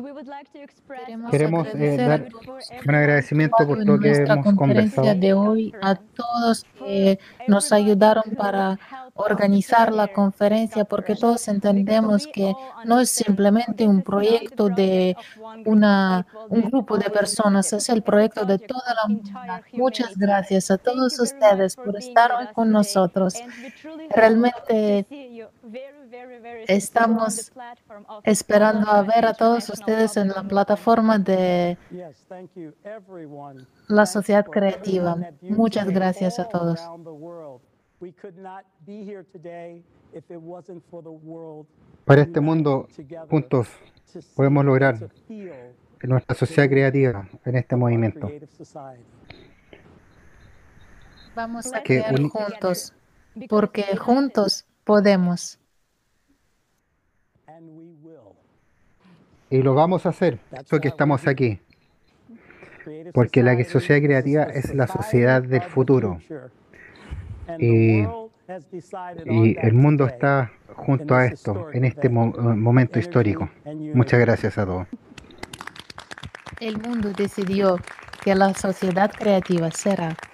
Queremos Queremos eh, agradecer a dar todos un agradecimiento por en todo lo que nuestra hemos conferencia conversado. de hoy, a todos que nos ayudaron para organizar la conferencia, porque todos entendemos que no es simplemente un proyecto de una, un grupo de personas, es el proyecto de toda la humanidad. Muchas gracias a todos ustedes por estar hoy con nosotros. Realmente estamos esperando a ver a todos ustedes en la plataforma de la sociedad creativa. Muchas gracias a todos. Para este mundo, juntos, podemos lograr nuestra sociedad creativa en este movimiento. Vamos a Que crear uni- juntos, porque juntos podemos. y lo vamos a hacer, eso que estamos aquí. Porque la sociedad creativa es la sociedad del futuro. Y, y el mundo está junto a esto, en este mo- momento histórico. Muchas gracias a todos. El mundo decidió que la sociedad creativa será